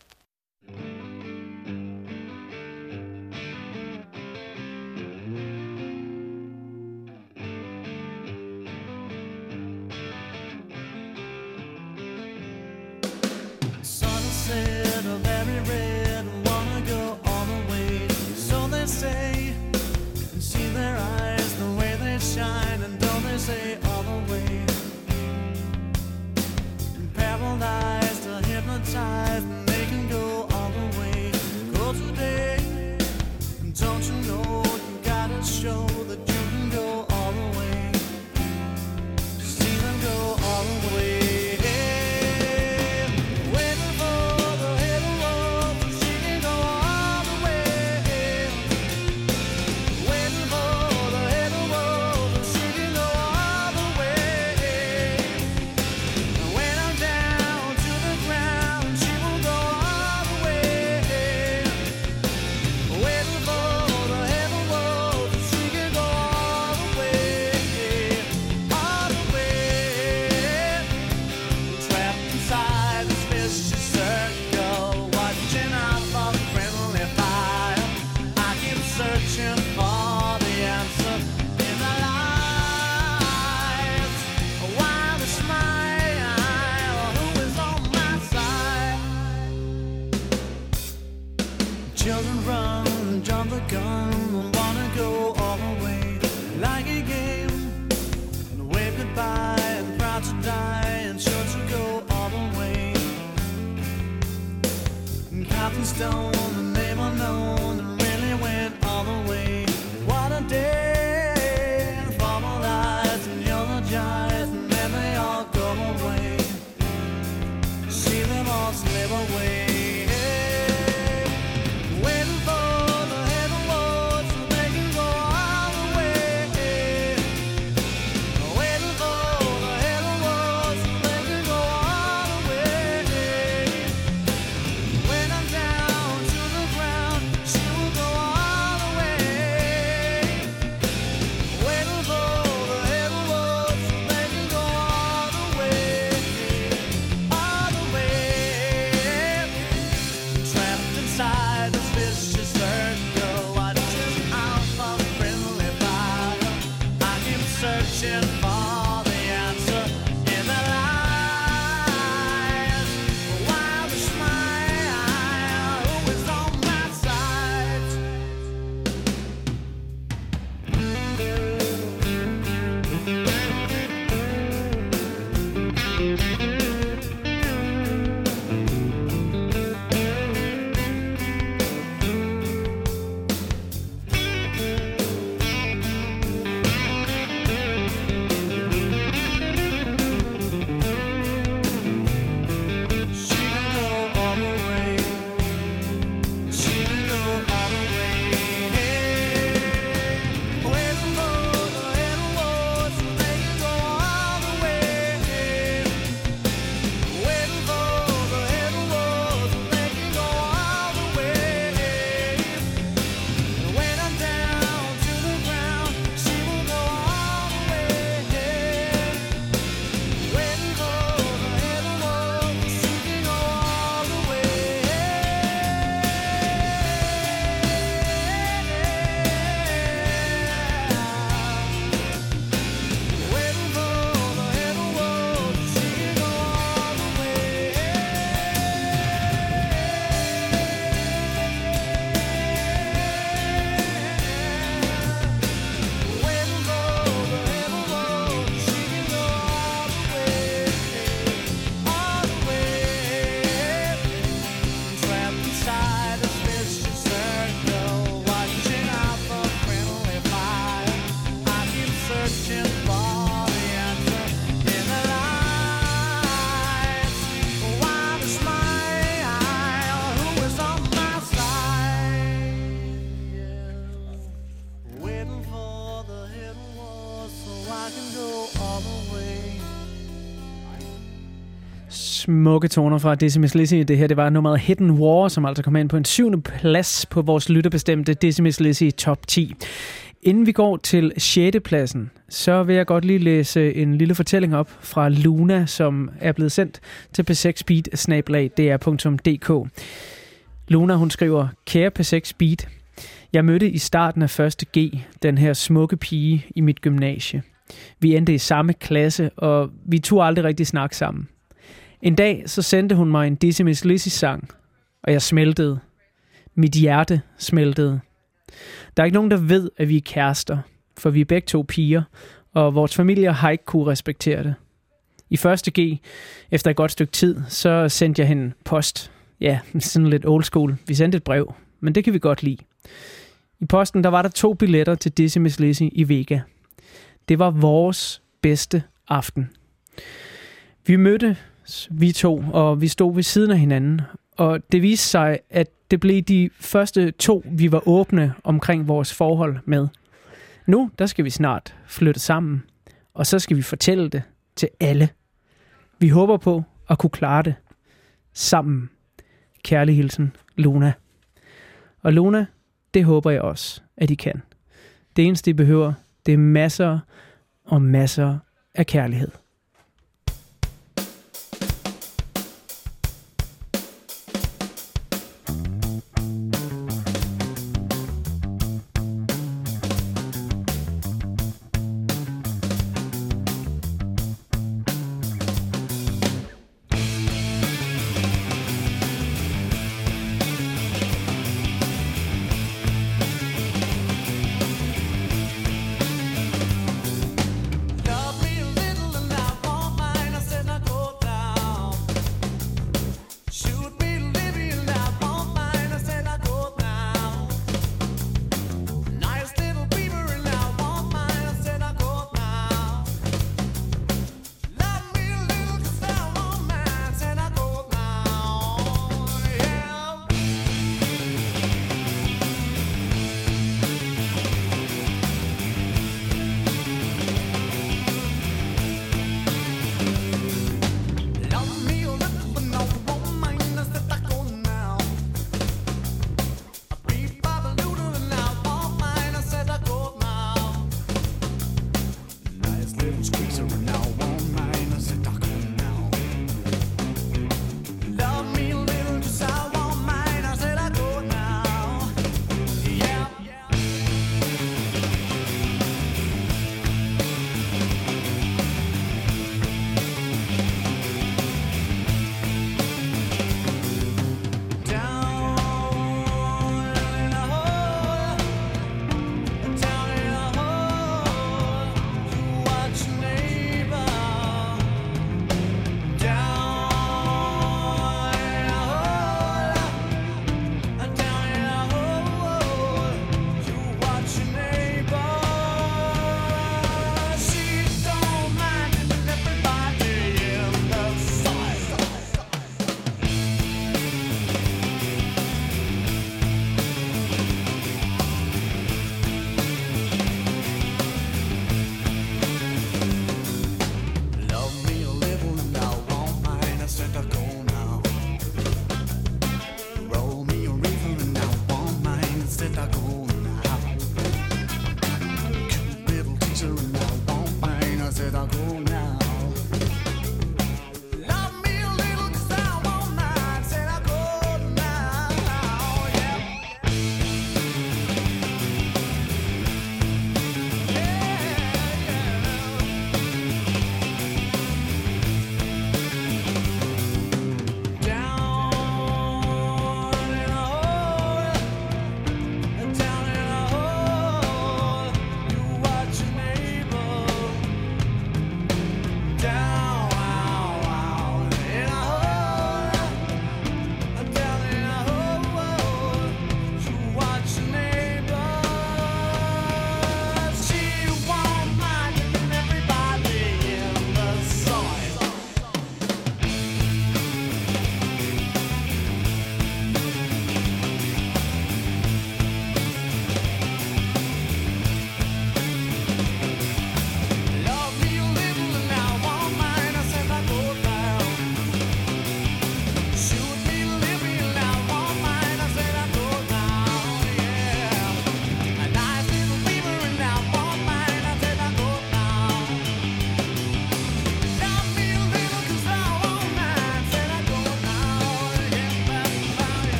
Smukke toner fra Dizzy Miss Lizzy. Det her, det var nummeret Hidden War, som altså kom ind på en syvende plads på vores lytterbestemte Dizzy Miss Lizzy top ti. Inden vi går til sjette pladsen, så vil jeg godt lige læse en lille fortælling op fra Luna, som er blevet sendt til p seks speed snabel-a d r punktum d k. Luna, hun skriver: Kære p seks speed, jeg mødte i starten af første G den her smukke pige i mit gymnasie. Vi endte i samme klasse, og vi turde aldrig rigtig snakke sammen. En dag så sendte hun mig en Dizzy Miss Lizzy sang, og jeg smeltede. Mit hjerte smeltede. Der er ikke nogen, der ved, at vi er kærester, for vi er begge to piger, og vores familier har ikke kunne respektere det. I første G, efter et godt stykke tid, så sendte jeg hende post. Ja, sådan lidt old school. Vi sendte et brev, men det kan vi godt lide. I posten, der var der to billetter til Dizzy Miss Lizzy i Vega. Det var vores bedste aften. Vi mødte vi to, og vi stod ved siden af hinanden, og det viste sig, at det blev de første to, vi var åbne omkring vores forhold med. Nu, der skal vi snart flytte sammen, og så skal vi fortælle det til alle. Vi håber på at kunne klare det sammen. Kærlig hilsen, Luna. Og Luna, det håber jeg også, at I kan. Det eneste, I behøver, det er masser og masser af kærlighed.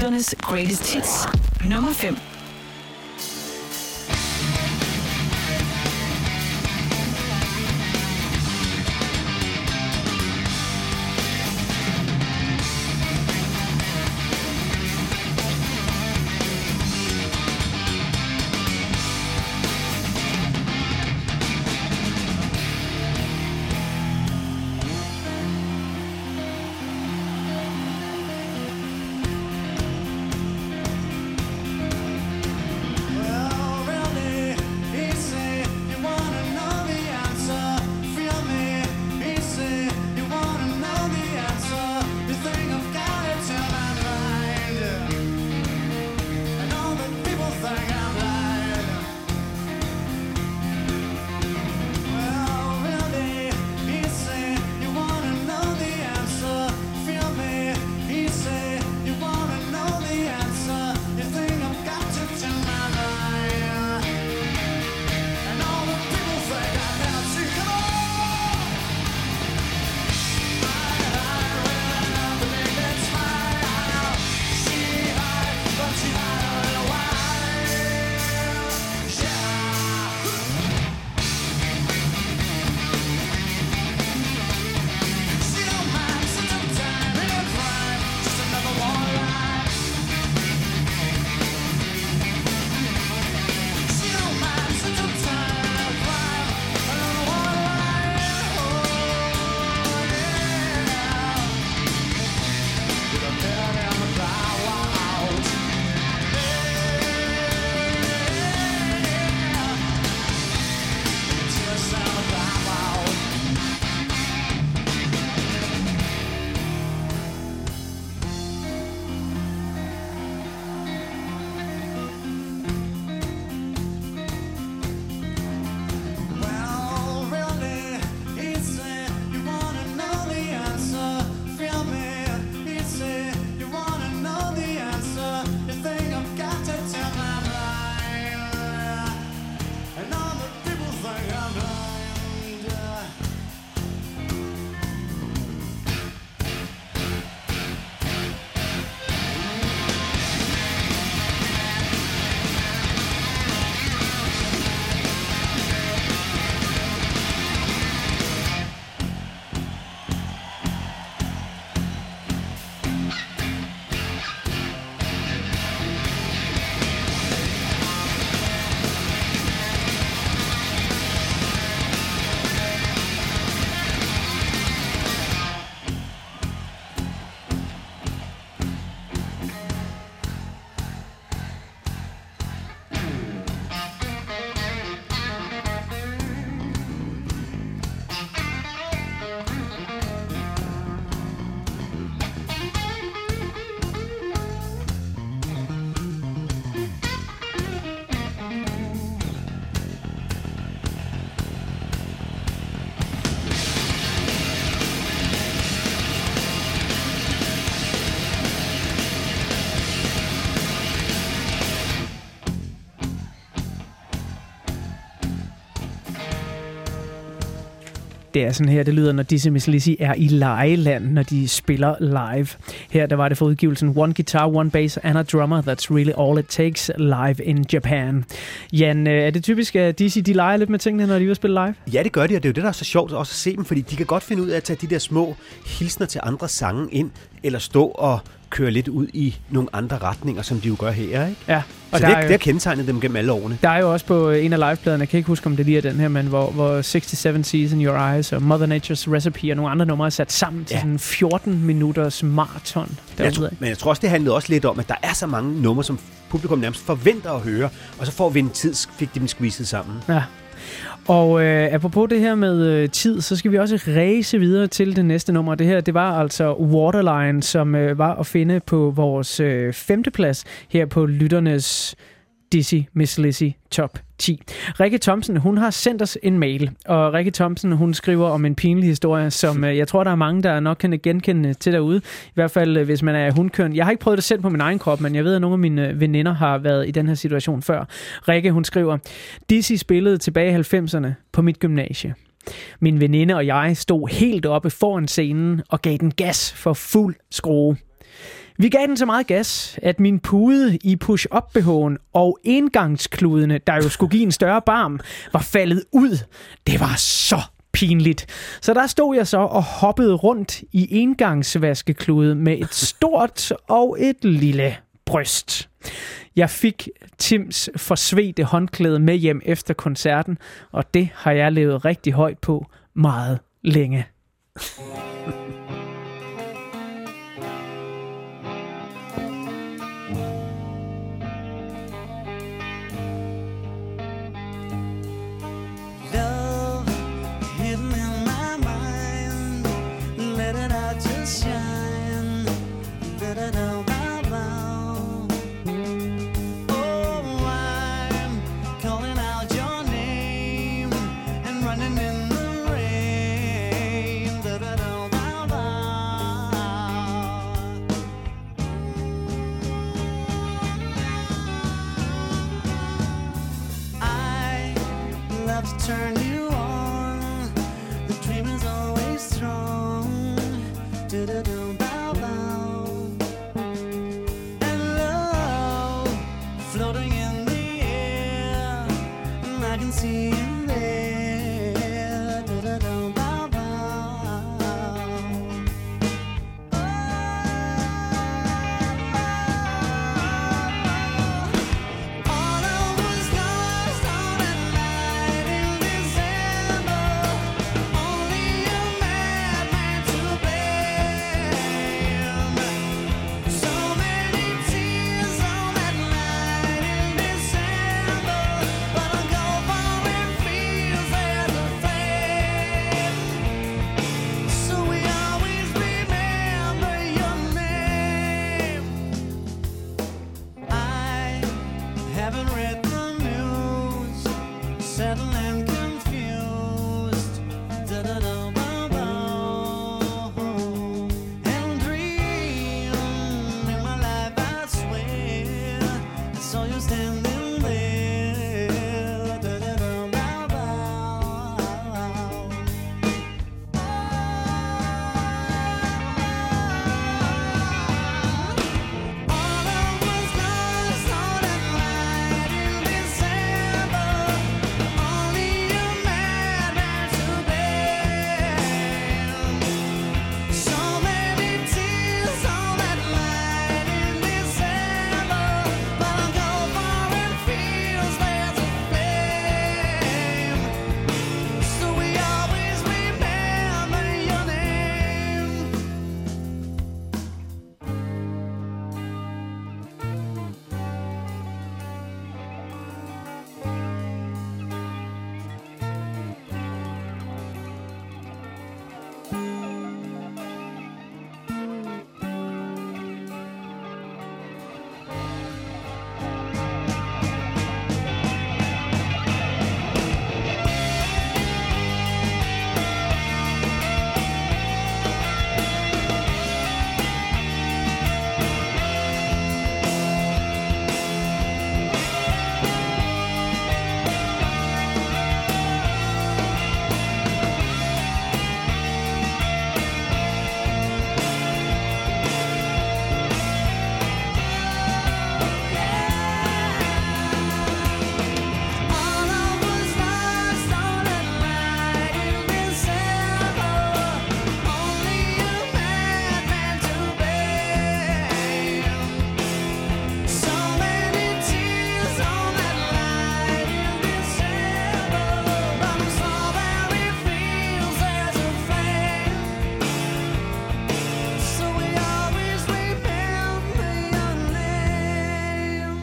Lytternes Greatest Hits. Nummer fem. Det er sådan her, det lyder, når Dizzy Miss Lizzy er i lejeland, når de spiller live. Her der var det for udgivelsen One Guitar, One Bass and a Drummer. That's really all it takes live in Japan. Jan, er det typisk, at Dizzy de leger lidt med tingene, når de vil spille live? Ja, det gør de, og det er jo det, der er så sjovt også at se dem, fordi de kan godt finde ud af at tage de der små hilsner til andre sange ind, eller stå og køre lidt ud i nogle andre retninger, som de jo gør her, ikke? Ja. Og så der det, er jo, det har kendetegnet dem gennem alle årene. Der er jo også på en af livepladerne, jeg kan ikke huske, om det lige er den her, men hvor, hvor sixty-seven Seas in Your Eyes og Mother Nature's Recipe og nogle andre numre er sat sammen til ja. sådan fjorten minutters maraton. Jeg tror, men jeg tror også, det handlede også lidt om, at der er så mange numre, som publikum nærmest forventer at høre, og så får vi en tid, fik de dem squeezet sammen. Ja. Og øh, apropos det her med øh, tid, så skal vi også ræse videre til det næste nummer. Det her, det var altså Waterline, som øh, var at finde på vores øh, femteplads her på lytternes Dizzy Miss Lizzy Top ti. Rikke Thomsen, hun har sendt os en mail, og Rikke Thomsen, hun skriver om en pinlig historie, som øh, jeg tror, der er mange, der nok kan genkende til derude. I hvert fald, øh, hvis man er hundkøn. Jeg har ikke prøvet det selv på min egen krop, men jeg ved, at nogle af mine veninder har været i den her situation før. Rikke, hun skriver, Dizzy spillede tilbage i halvfemserne på mit gymnasie. Min veninde og jeg stod helt oppe foran scenen og gav den gas for fuld skrue. Vi gav den så meget gas, at min pude i push-up-B H'en og engangskludene, der jo skulle give en større barm, var faldet ud. Det var så pinligt. Så der stod jeg så og hoppede rundt i engangsvaskeklude med et stort og et lille bryst. Jeg fik Tims forsvedte håndklæde med hjem efter koncerten, og det har jeg levet rigtig højt på meget længe. Turn you on. The dream is always strong. Do-do-do, bow, bow. And love floating in the air. And I can see you there. Do-do-do, bow, bow. All I was lost on a night in December. Only a madman to blame. So many tears on that night in December. But I go far and feels there's a flame. So we always remember your name. I haven't read the news, settled and confused. Da-da-da-ba-ba. And dream in my life, I swear I saw you standing there. Da-da-da-ba-ba. All I was lost on a night in December. Only a madman to blame. So many tears on that night in December. But I go far and feels there's a flame. So we always remember your name. All I was lost on a night in December. Only a madman to blame. So many tears on that night in December. But I'm sorry it feels there's a flame. So we always remember your name.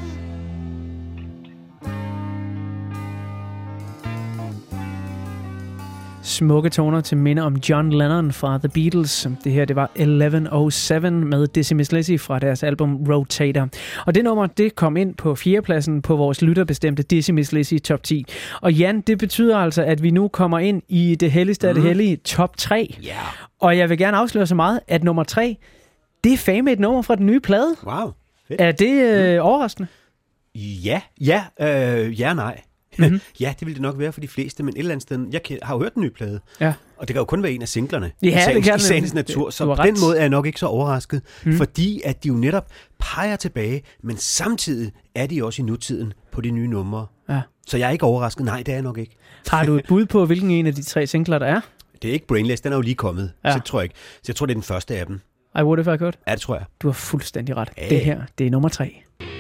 Smukke toner til minde om John Lennon fra The Beatles. Det her, det var elleve oh syv med Dizzy Miss Lizzy fra deres album Rotator. Og det nummer, det kom ind på fjerdepladsen på vores lytterbestemte Dizzy Miss Lizzy top ti. Og Jan, det betyder altså, at vi nu kommer ind i det helligste af det hellige top tre. Ja. Og jeg vil gerne afsløre så meget, at nummer tre, det er fandme et nummer fra den nye plade. Wow. Fedt. Er det øh, overraskende? Ja, ja, øh, ja, nej. Mm-hmm. Ja, det vil det nok være for de fleste, men et eller andet sted, jeg har jo hørt den nye plade, ja. og det kan jo kun være en af singlerne ja, i sagens, det i sagens natur, så på den måde er jeg nok ikke så overrasket, mm. fordi at de jo netop peger tilbage, men samtidig er de også i nutiden på de nye numre. Ja. Så jeg er ikke overrasket. Nej, det er jeg nok ikke. Har du et bud på, hvilken en af de tre singler der er? Det er ikke Brainless, den er jo lige kommet, ja. så det tror jeg ikke. Så jeg tror, det er den første af dem. I Would If I Could? Ja, det tror jeg. Du har fuldstændig ret. Ja. Det her, det er nummer tre.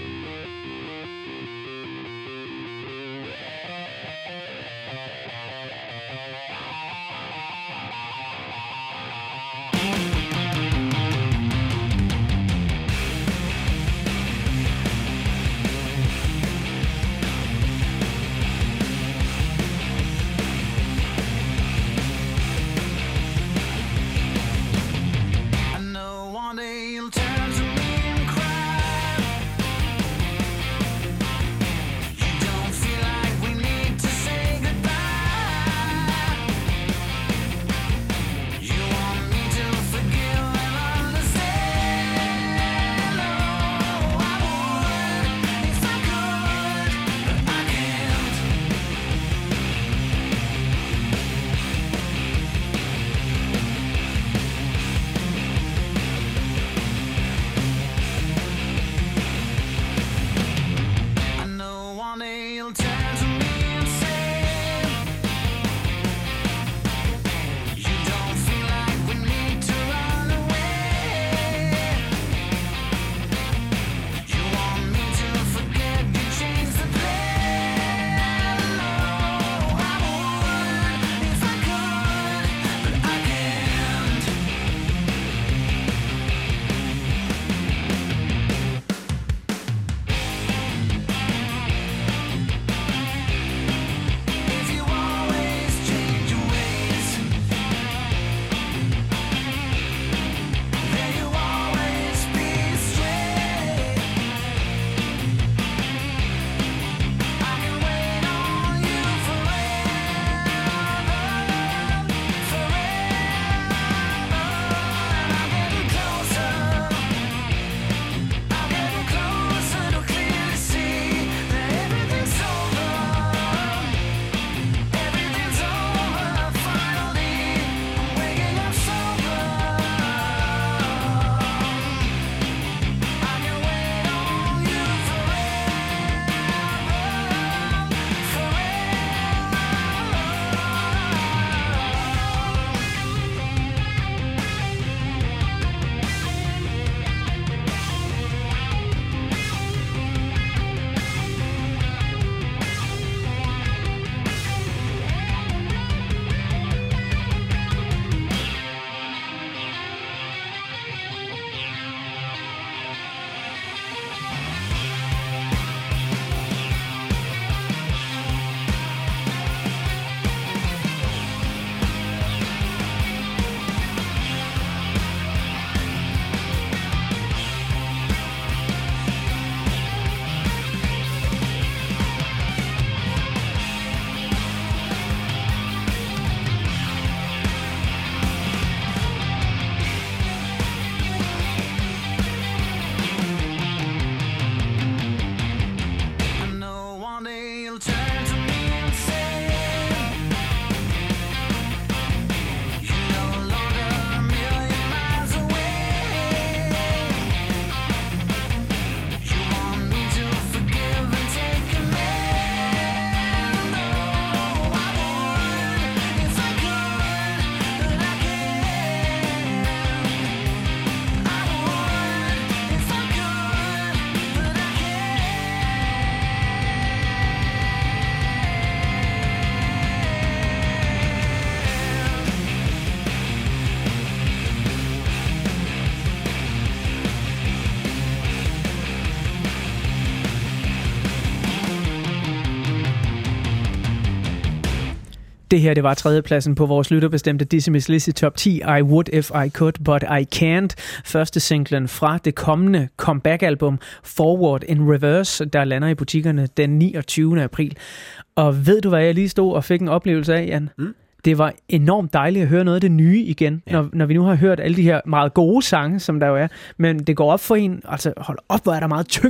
Det her, det var tredjepladsen på vores lytterbestemte Dizzy Miss Lizzy Top ti, I Would If I Could, But I Can't. Første singlen fra det kommende comeback-album Forward in Reverse, der lander i butikkerne den niogtyvende april. Og ved du, hvad jeg lige stod og fik en oplevelse af, Jan? Mm. Det var enormt dejligt at høre noget af det nye igen, ja. når, når vi nu har hørt alle de her meget gode sange, som der jo er. Men det går op for en, altså hold op, hvor er der meget tyngde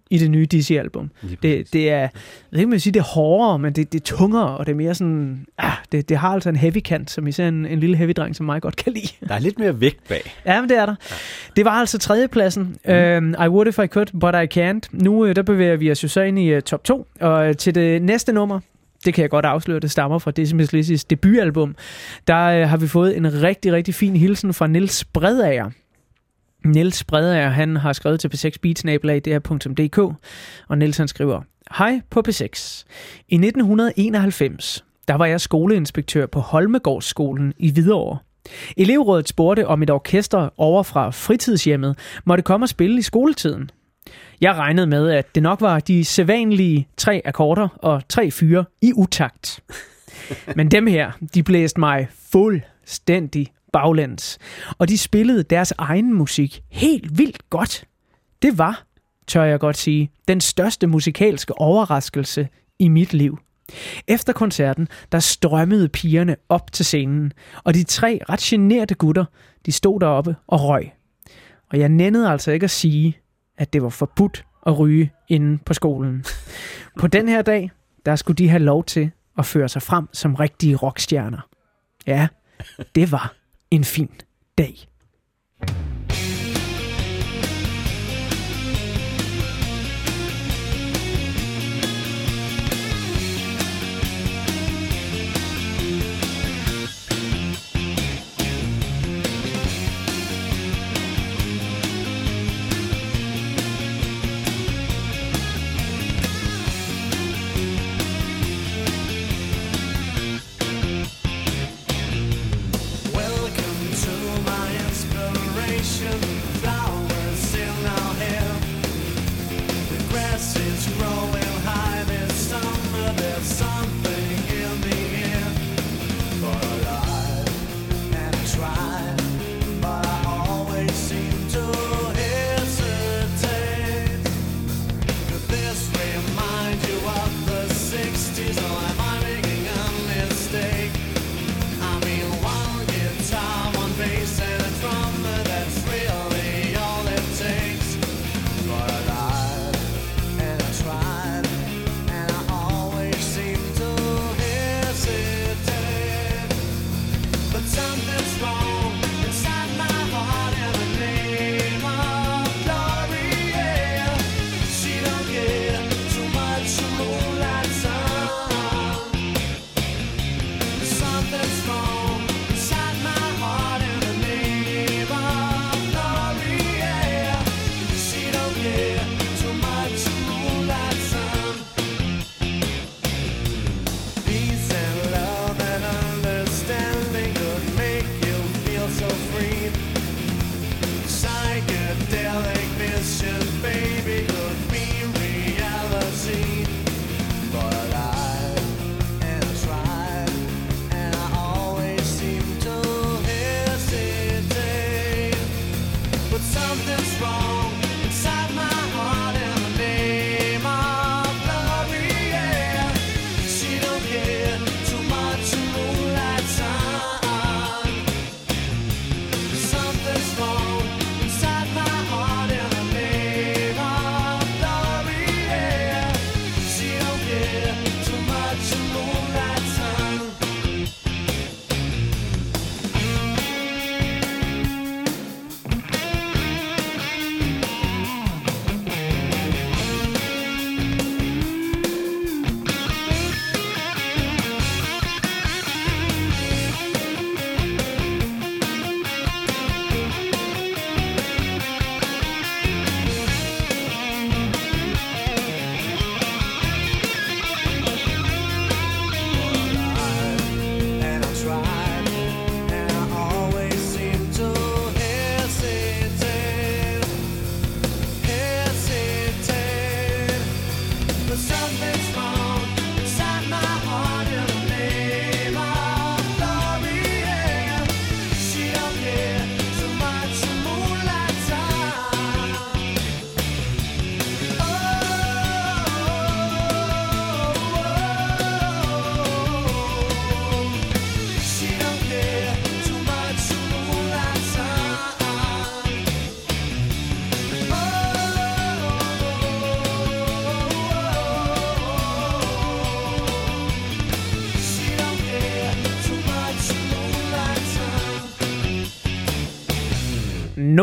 i det nye Dizzy-album. Det, det er, jeg ved ikke, man sige, det er hårdere, men det, det er tungere, og det er mere sådan, ah, det, det har altså en heavy kant, som især en, en lille heavy-dreng, som mig godt kan lide. Der er lidt mere vægt bag. Ja, men det er der. Ja. Det var altså tredjepladsen. Mm. Um, I would if I could, but I can't. Nu der bevæger vi os jo så ind i uh, top to, og uh, til det næste nummer, det kan jeg godt afsløre, det stammer fra Dizzy Mizz Lizzys debutalbum. Der uh, har vi fået en rigtig, rigtig fin hilsen fra Niels Bredager. Niels Bredager, han har skrevet til p seks beat snabel-a d r punktum d k, og Niels han skriver: Hej på P seks. I nitten enoghalvfems, der var jeg skoleinspektør på Holmegårdsskolen i Hvidovre. Elevrådet spurgte, om et orkester over fra fritidshjemmet måtte komme og spille i skoletiden. Jeg regnede med, at det nok var de sædvanlige tre akkorder og tre fyre i utakt. Men dem her, de blæste mig fuldstændig baglæns, og de spillede deres egen musik helt vildt godt. Det var, tør jeg godt sige, den største musikalske overraskelse i mit liv. Efter koncerten, der strømmede pigerne op til scenen, og de tre ret generte gutter, de stod deroppe og røg. Og jeg nændede altså ikke at sige, at det var forbudt at ryge inde på skolen. På den her dag, der skulle de have lov til at føre sig frem som rigtige rockstjerner. Ja, det var en fin dag.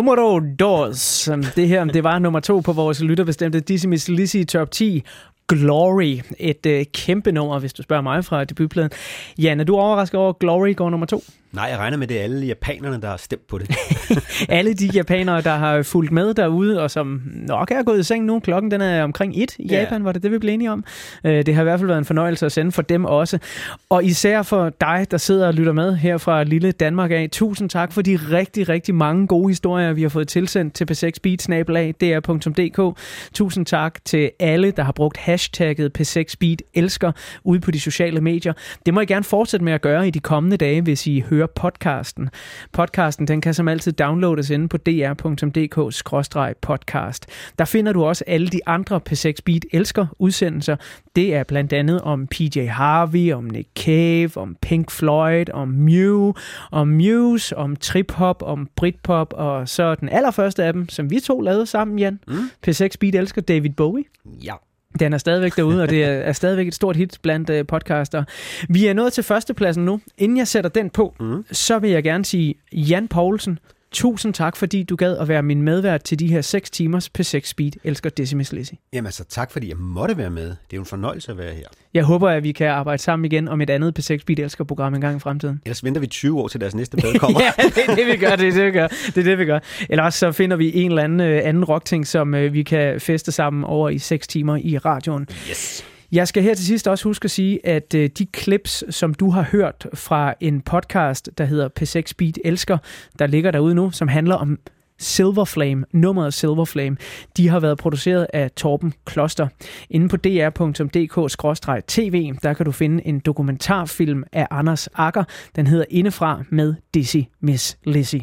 Numero dos. Det her, det var nummer to på vores lytterbestemte Dizzy Miss Lizzy Top ti. Glory. Et øh, kæmpe nummer, hvis du spørger mig fra debutpladen. Jan, er du overrasket over, at Glory går nummer to? Nej, jeg regner med, det er alle japanerne, der har stemt på det. Alle de japanere, der har fulgt med derude, og som nok er gået i seng nu. Klokken den er omkring et i Japan, yeah. Var det det, vi blev enige om. Det har i hvert fald været en fornøjelse at sende for dem også. Og især for dig, der sidder og lytter med her fra lille Danmark af. Tusind tak for de rigtig, rigtig mange gode historier, vi har fået tilsendt til p seks beat snabel-a d r punktum d k. Tusind tak til alle, der har brugt hashtagget p seks beat elsker ude på de sociale medier. Det må I gerne fortsætte med at gøre i de kommende dage, hvis I hører podcasten. Podcasten, den kan som altid downloades inde på d r punktum d k skråstreg podcast. Der finder du også alle de andre P seks Beat elsker udsendelser. Det er blandt andet om P J Harvey, om Nick Cave, om Pink Floyd, om Mew, om Muse, om trip-hop, om Britpop, og så den allerførste af dem, som vi to lavede sammen, Jan. Mm. P seks Beat elsker David Bowie. Ja. Den er stadigvæk derude, og det er stadigvæk et stort hit blandt uh, podcaster. Vi er nået til førstepladsen nu. Inden jeg sætter den på, mm. så vil jeg gerne sige, Jan Poulsen, tusind tak, fordi du gad at være min medvært til de her seks timers P seks Beat elsker Dizzy Miss Lizzy. Jamen altså, tak fordi jeg måtte være med. Det er jo en fornøjelse at være her. Jeg håber, at vi kan arbejde sammen igen om et andet P seks Beat elsker program en gang i fremtiden. Ellers venter vi tyve år til deres næste plade kommer. Ja, det er det, vi gør. Det er det, vi gør. Det er det, vi gør. Ellers så finder vi en eller anden, uh, anden rockting, som uh, vi kan feste sammen over i seks timer i radioen. Yes. Jeg skal her til sidst også huske at sige, at øh, de clips, som du har hørt fra en podcast, der hedder P seks Beat elsker, der ligger derude nu, som handler om Silver Flame, nummeret Silver Flame, de har været produceret af Torben Kloster. Inde på d r punktum d k skråstreg t v, der kan du finde en dokumentarfilm af Anders Agger. Den hedder Indefra med Dizzy Miss Lizzy.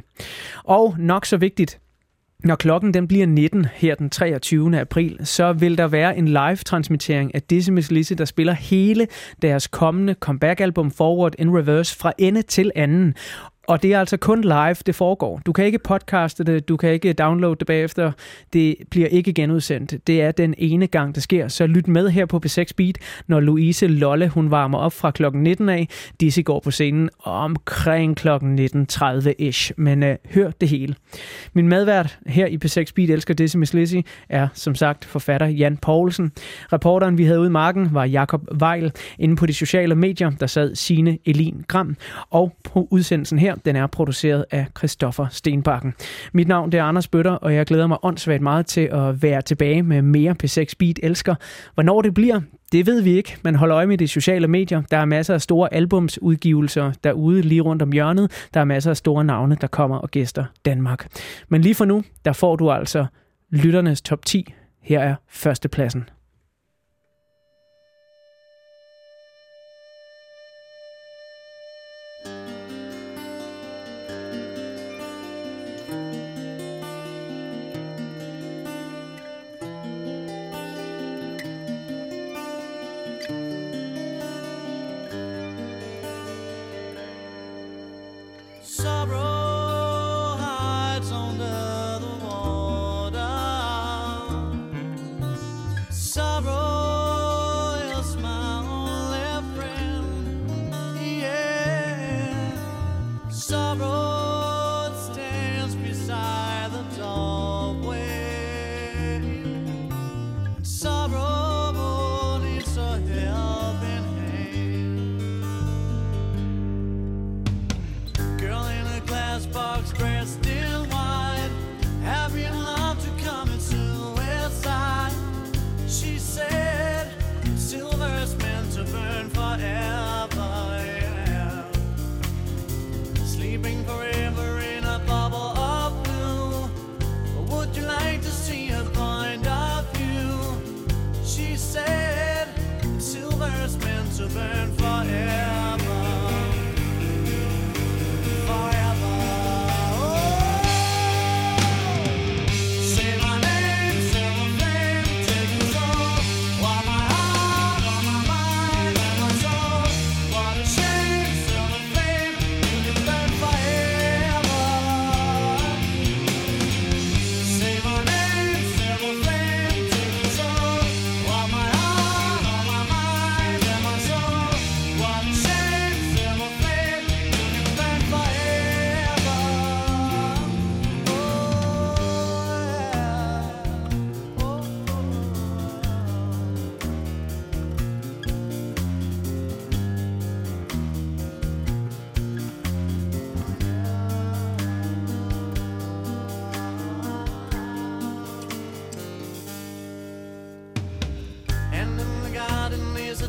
Og nok så vigtigt, når klokken den bliver nitten her den treogtyvende april, så vil der være en live-transmittering af Dizzy Miss Lizzy, der spiller hele deres kommende comeback-album Forward in Reverse fra ende til anden. Og det er altså kun live, det foregår. Du kan ikke podcaste det, du kan ikke downloade det bagefter. Det bliver ikke genudsendt. Det er den ene gang, det sker. Så lyt med her på P seks Beat, når Louise Lolle, hun varmer op fra klokken nitten af. Dizzy går på scenen omkring klokken nitten tredive-ish. Men uh, hør det hele. Min medvært her i P seks Beat elsker Dizzy Miss Lizzy er som sagt forfatter Jan Poulsen. Reporteren, vi havde ude i marken, var Jakob Weil. Inde på de sociale medier, der sad Signe Elin Gram. Og på udsendelsen her, den er produceret af Christoffer Stenbakken. Mit navn det er Anders Bøtter, og jeg glæder mig åndssvagt meget til at være tilbage med mere P seks Beat elsker. Hvornår det bliver, det ved vi ikke, men hold øje med de sociale medier. Der er masser af store albumsudgivelser derude lige rundt om hjørnet. Der er masser af store navne, der kommer og gæster Danmark. Men lige for nu, der får du altså lytternes top ti. Her er førstepladsen.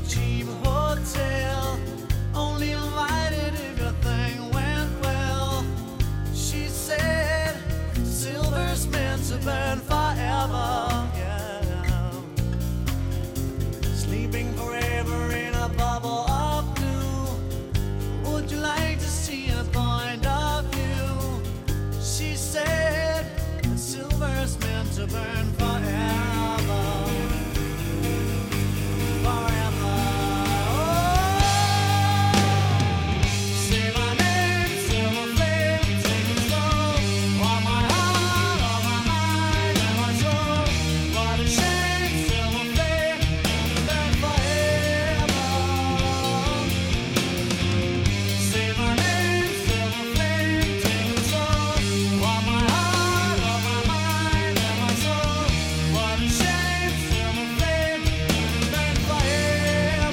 cheap hotel. Only invited if your thing went well. She said silver's meant to burn forever. Yeah. Sleeping forever in a bubble of blue. Would you like to see a point of view? She said silver's meant to burn forever. Forever. Oh, say my name, silver flame, take it slow. On my heart, on my mind, and my soul. What a shame, silver flame, burn forever. Say my name, silver flame, take it slow. On my heart, on my mind, and my soul. What a shame, silver flame, burn forever.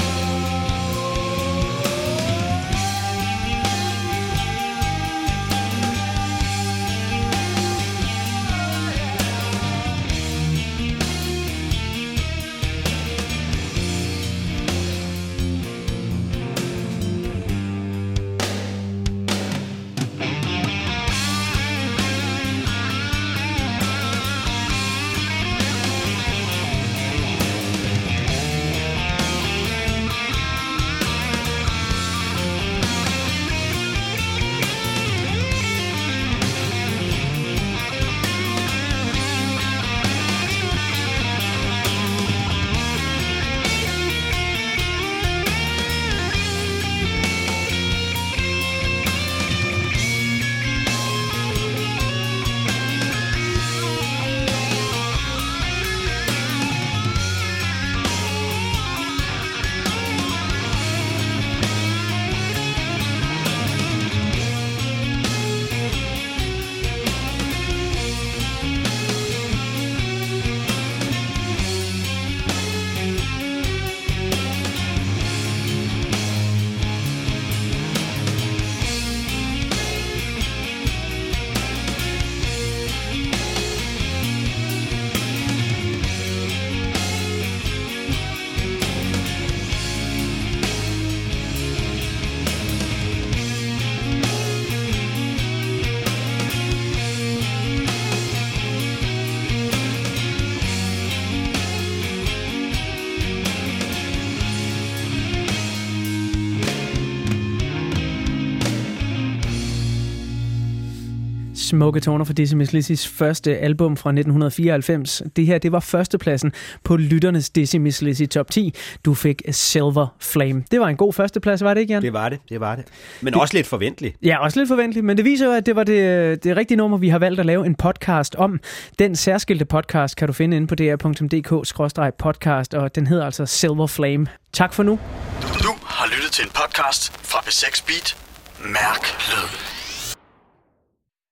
Smukke toner fra Dizzy Miss Lizzys første album fra nitten fireoghalvfems. Det her, det var førstepladsen på lytternes Dizzy Miss Lizzy top ti. Du fik Silver Flame. Det var en god førsteplads, var det ikke, Jan? Det var det, det var det. Men det, også lidt forventeligt. Ja, også lidt forventeligt, men det viser jo, at det var det, det rigtige nummer, vi har valgt at lave en podcast om. Den særskilte podcast kan du finde inde på d r punktum d k skråstreg podcast, og den hedder altså Silver Flame. Tak for nu. Du har lyttet til en podcast fra B seks Beat. Mærk lød.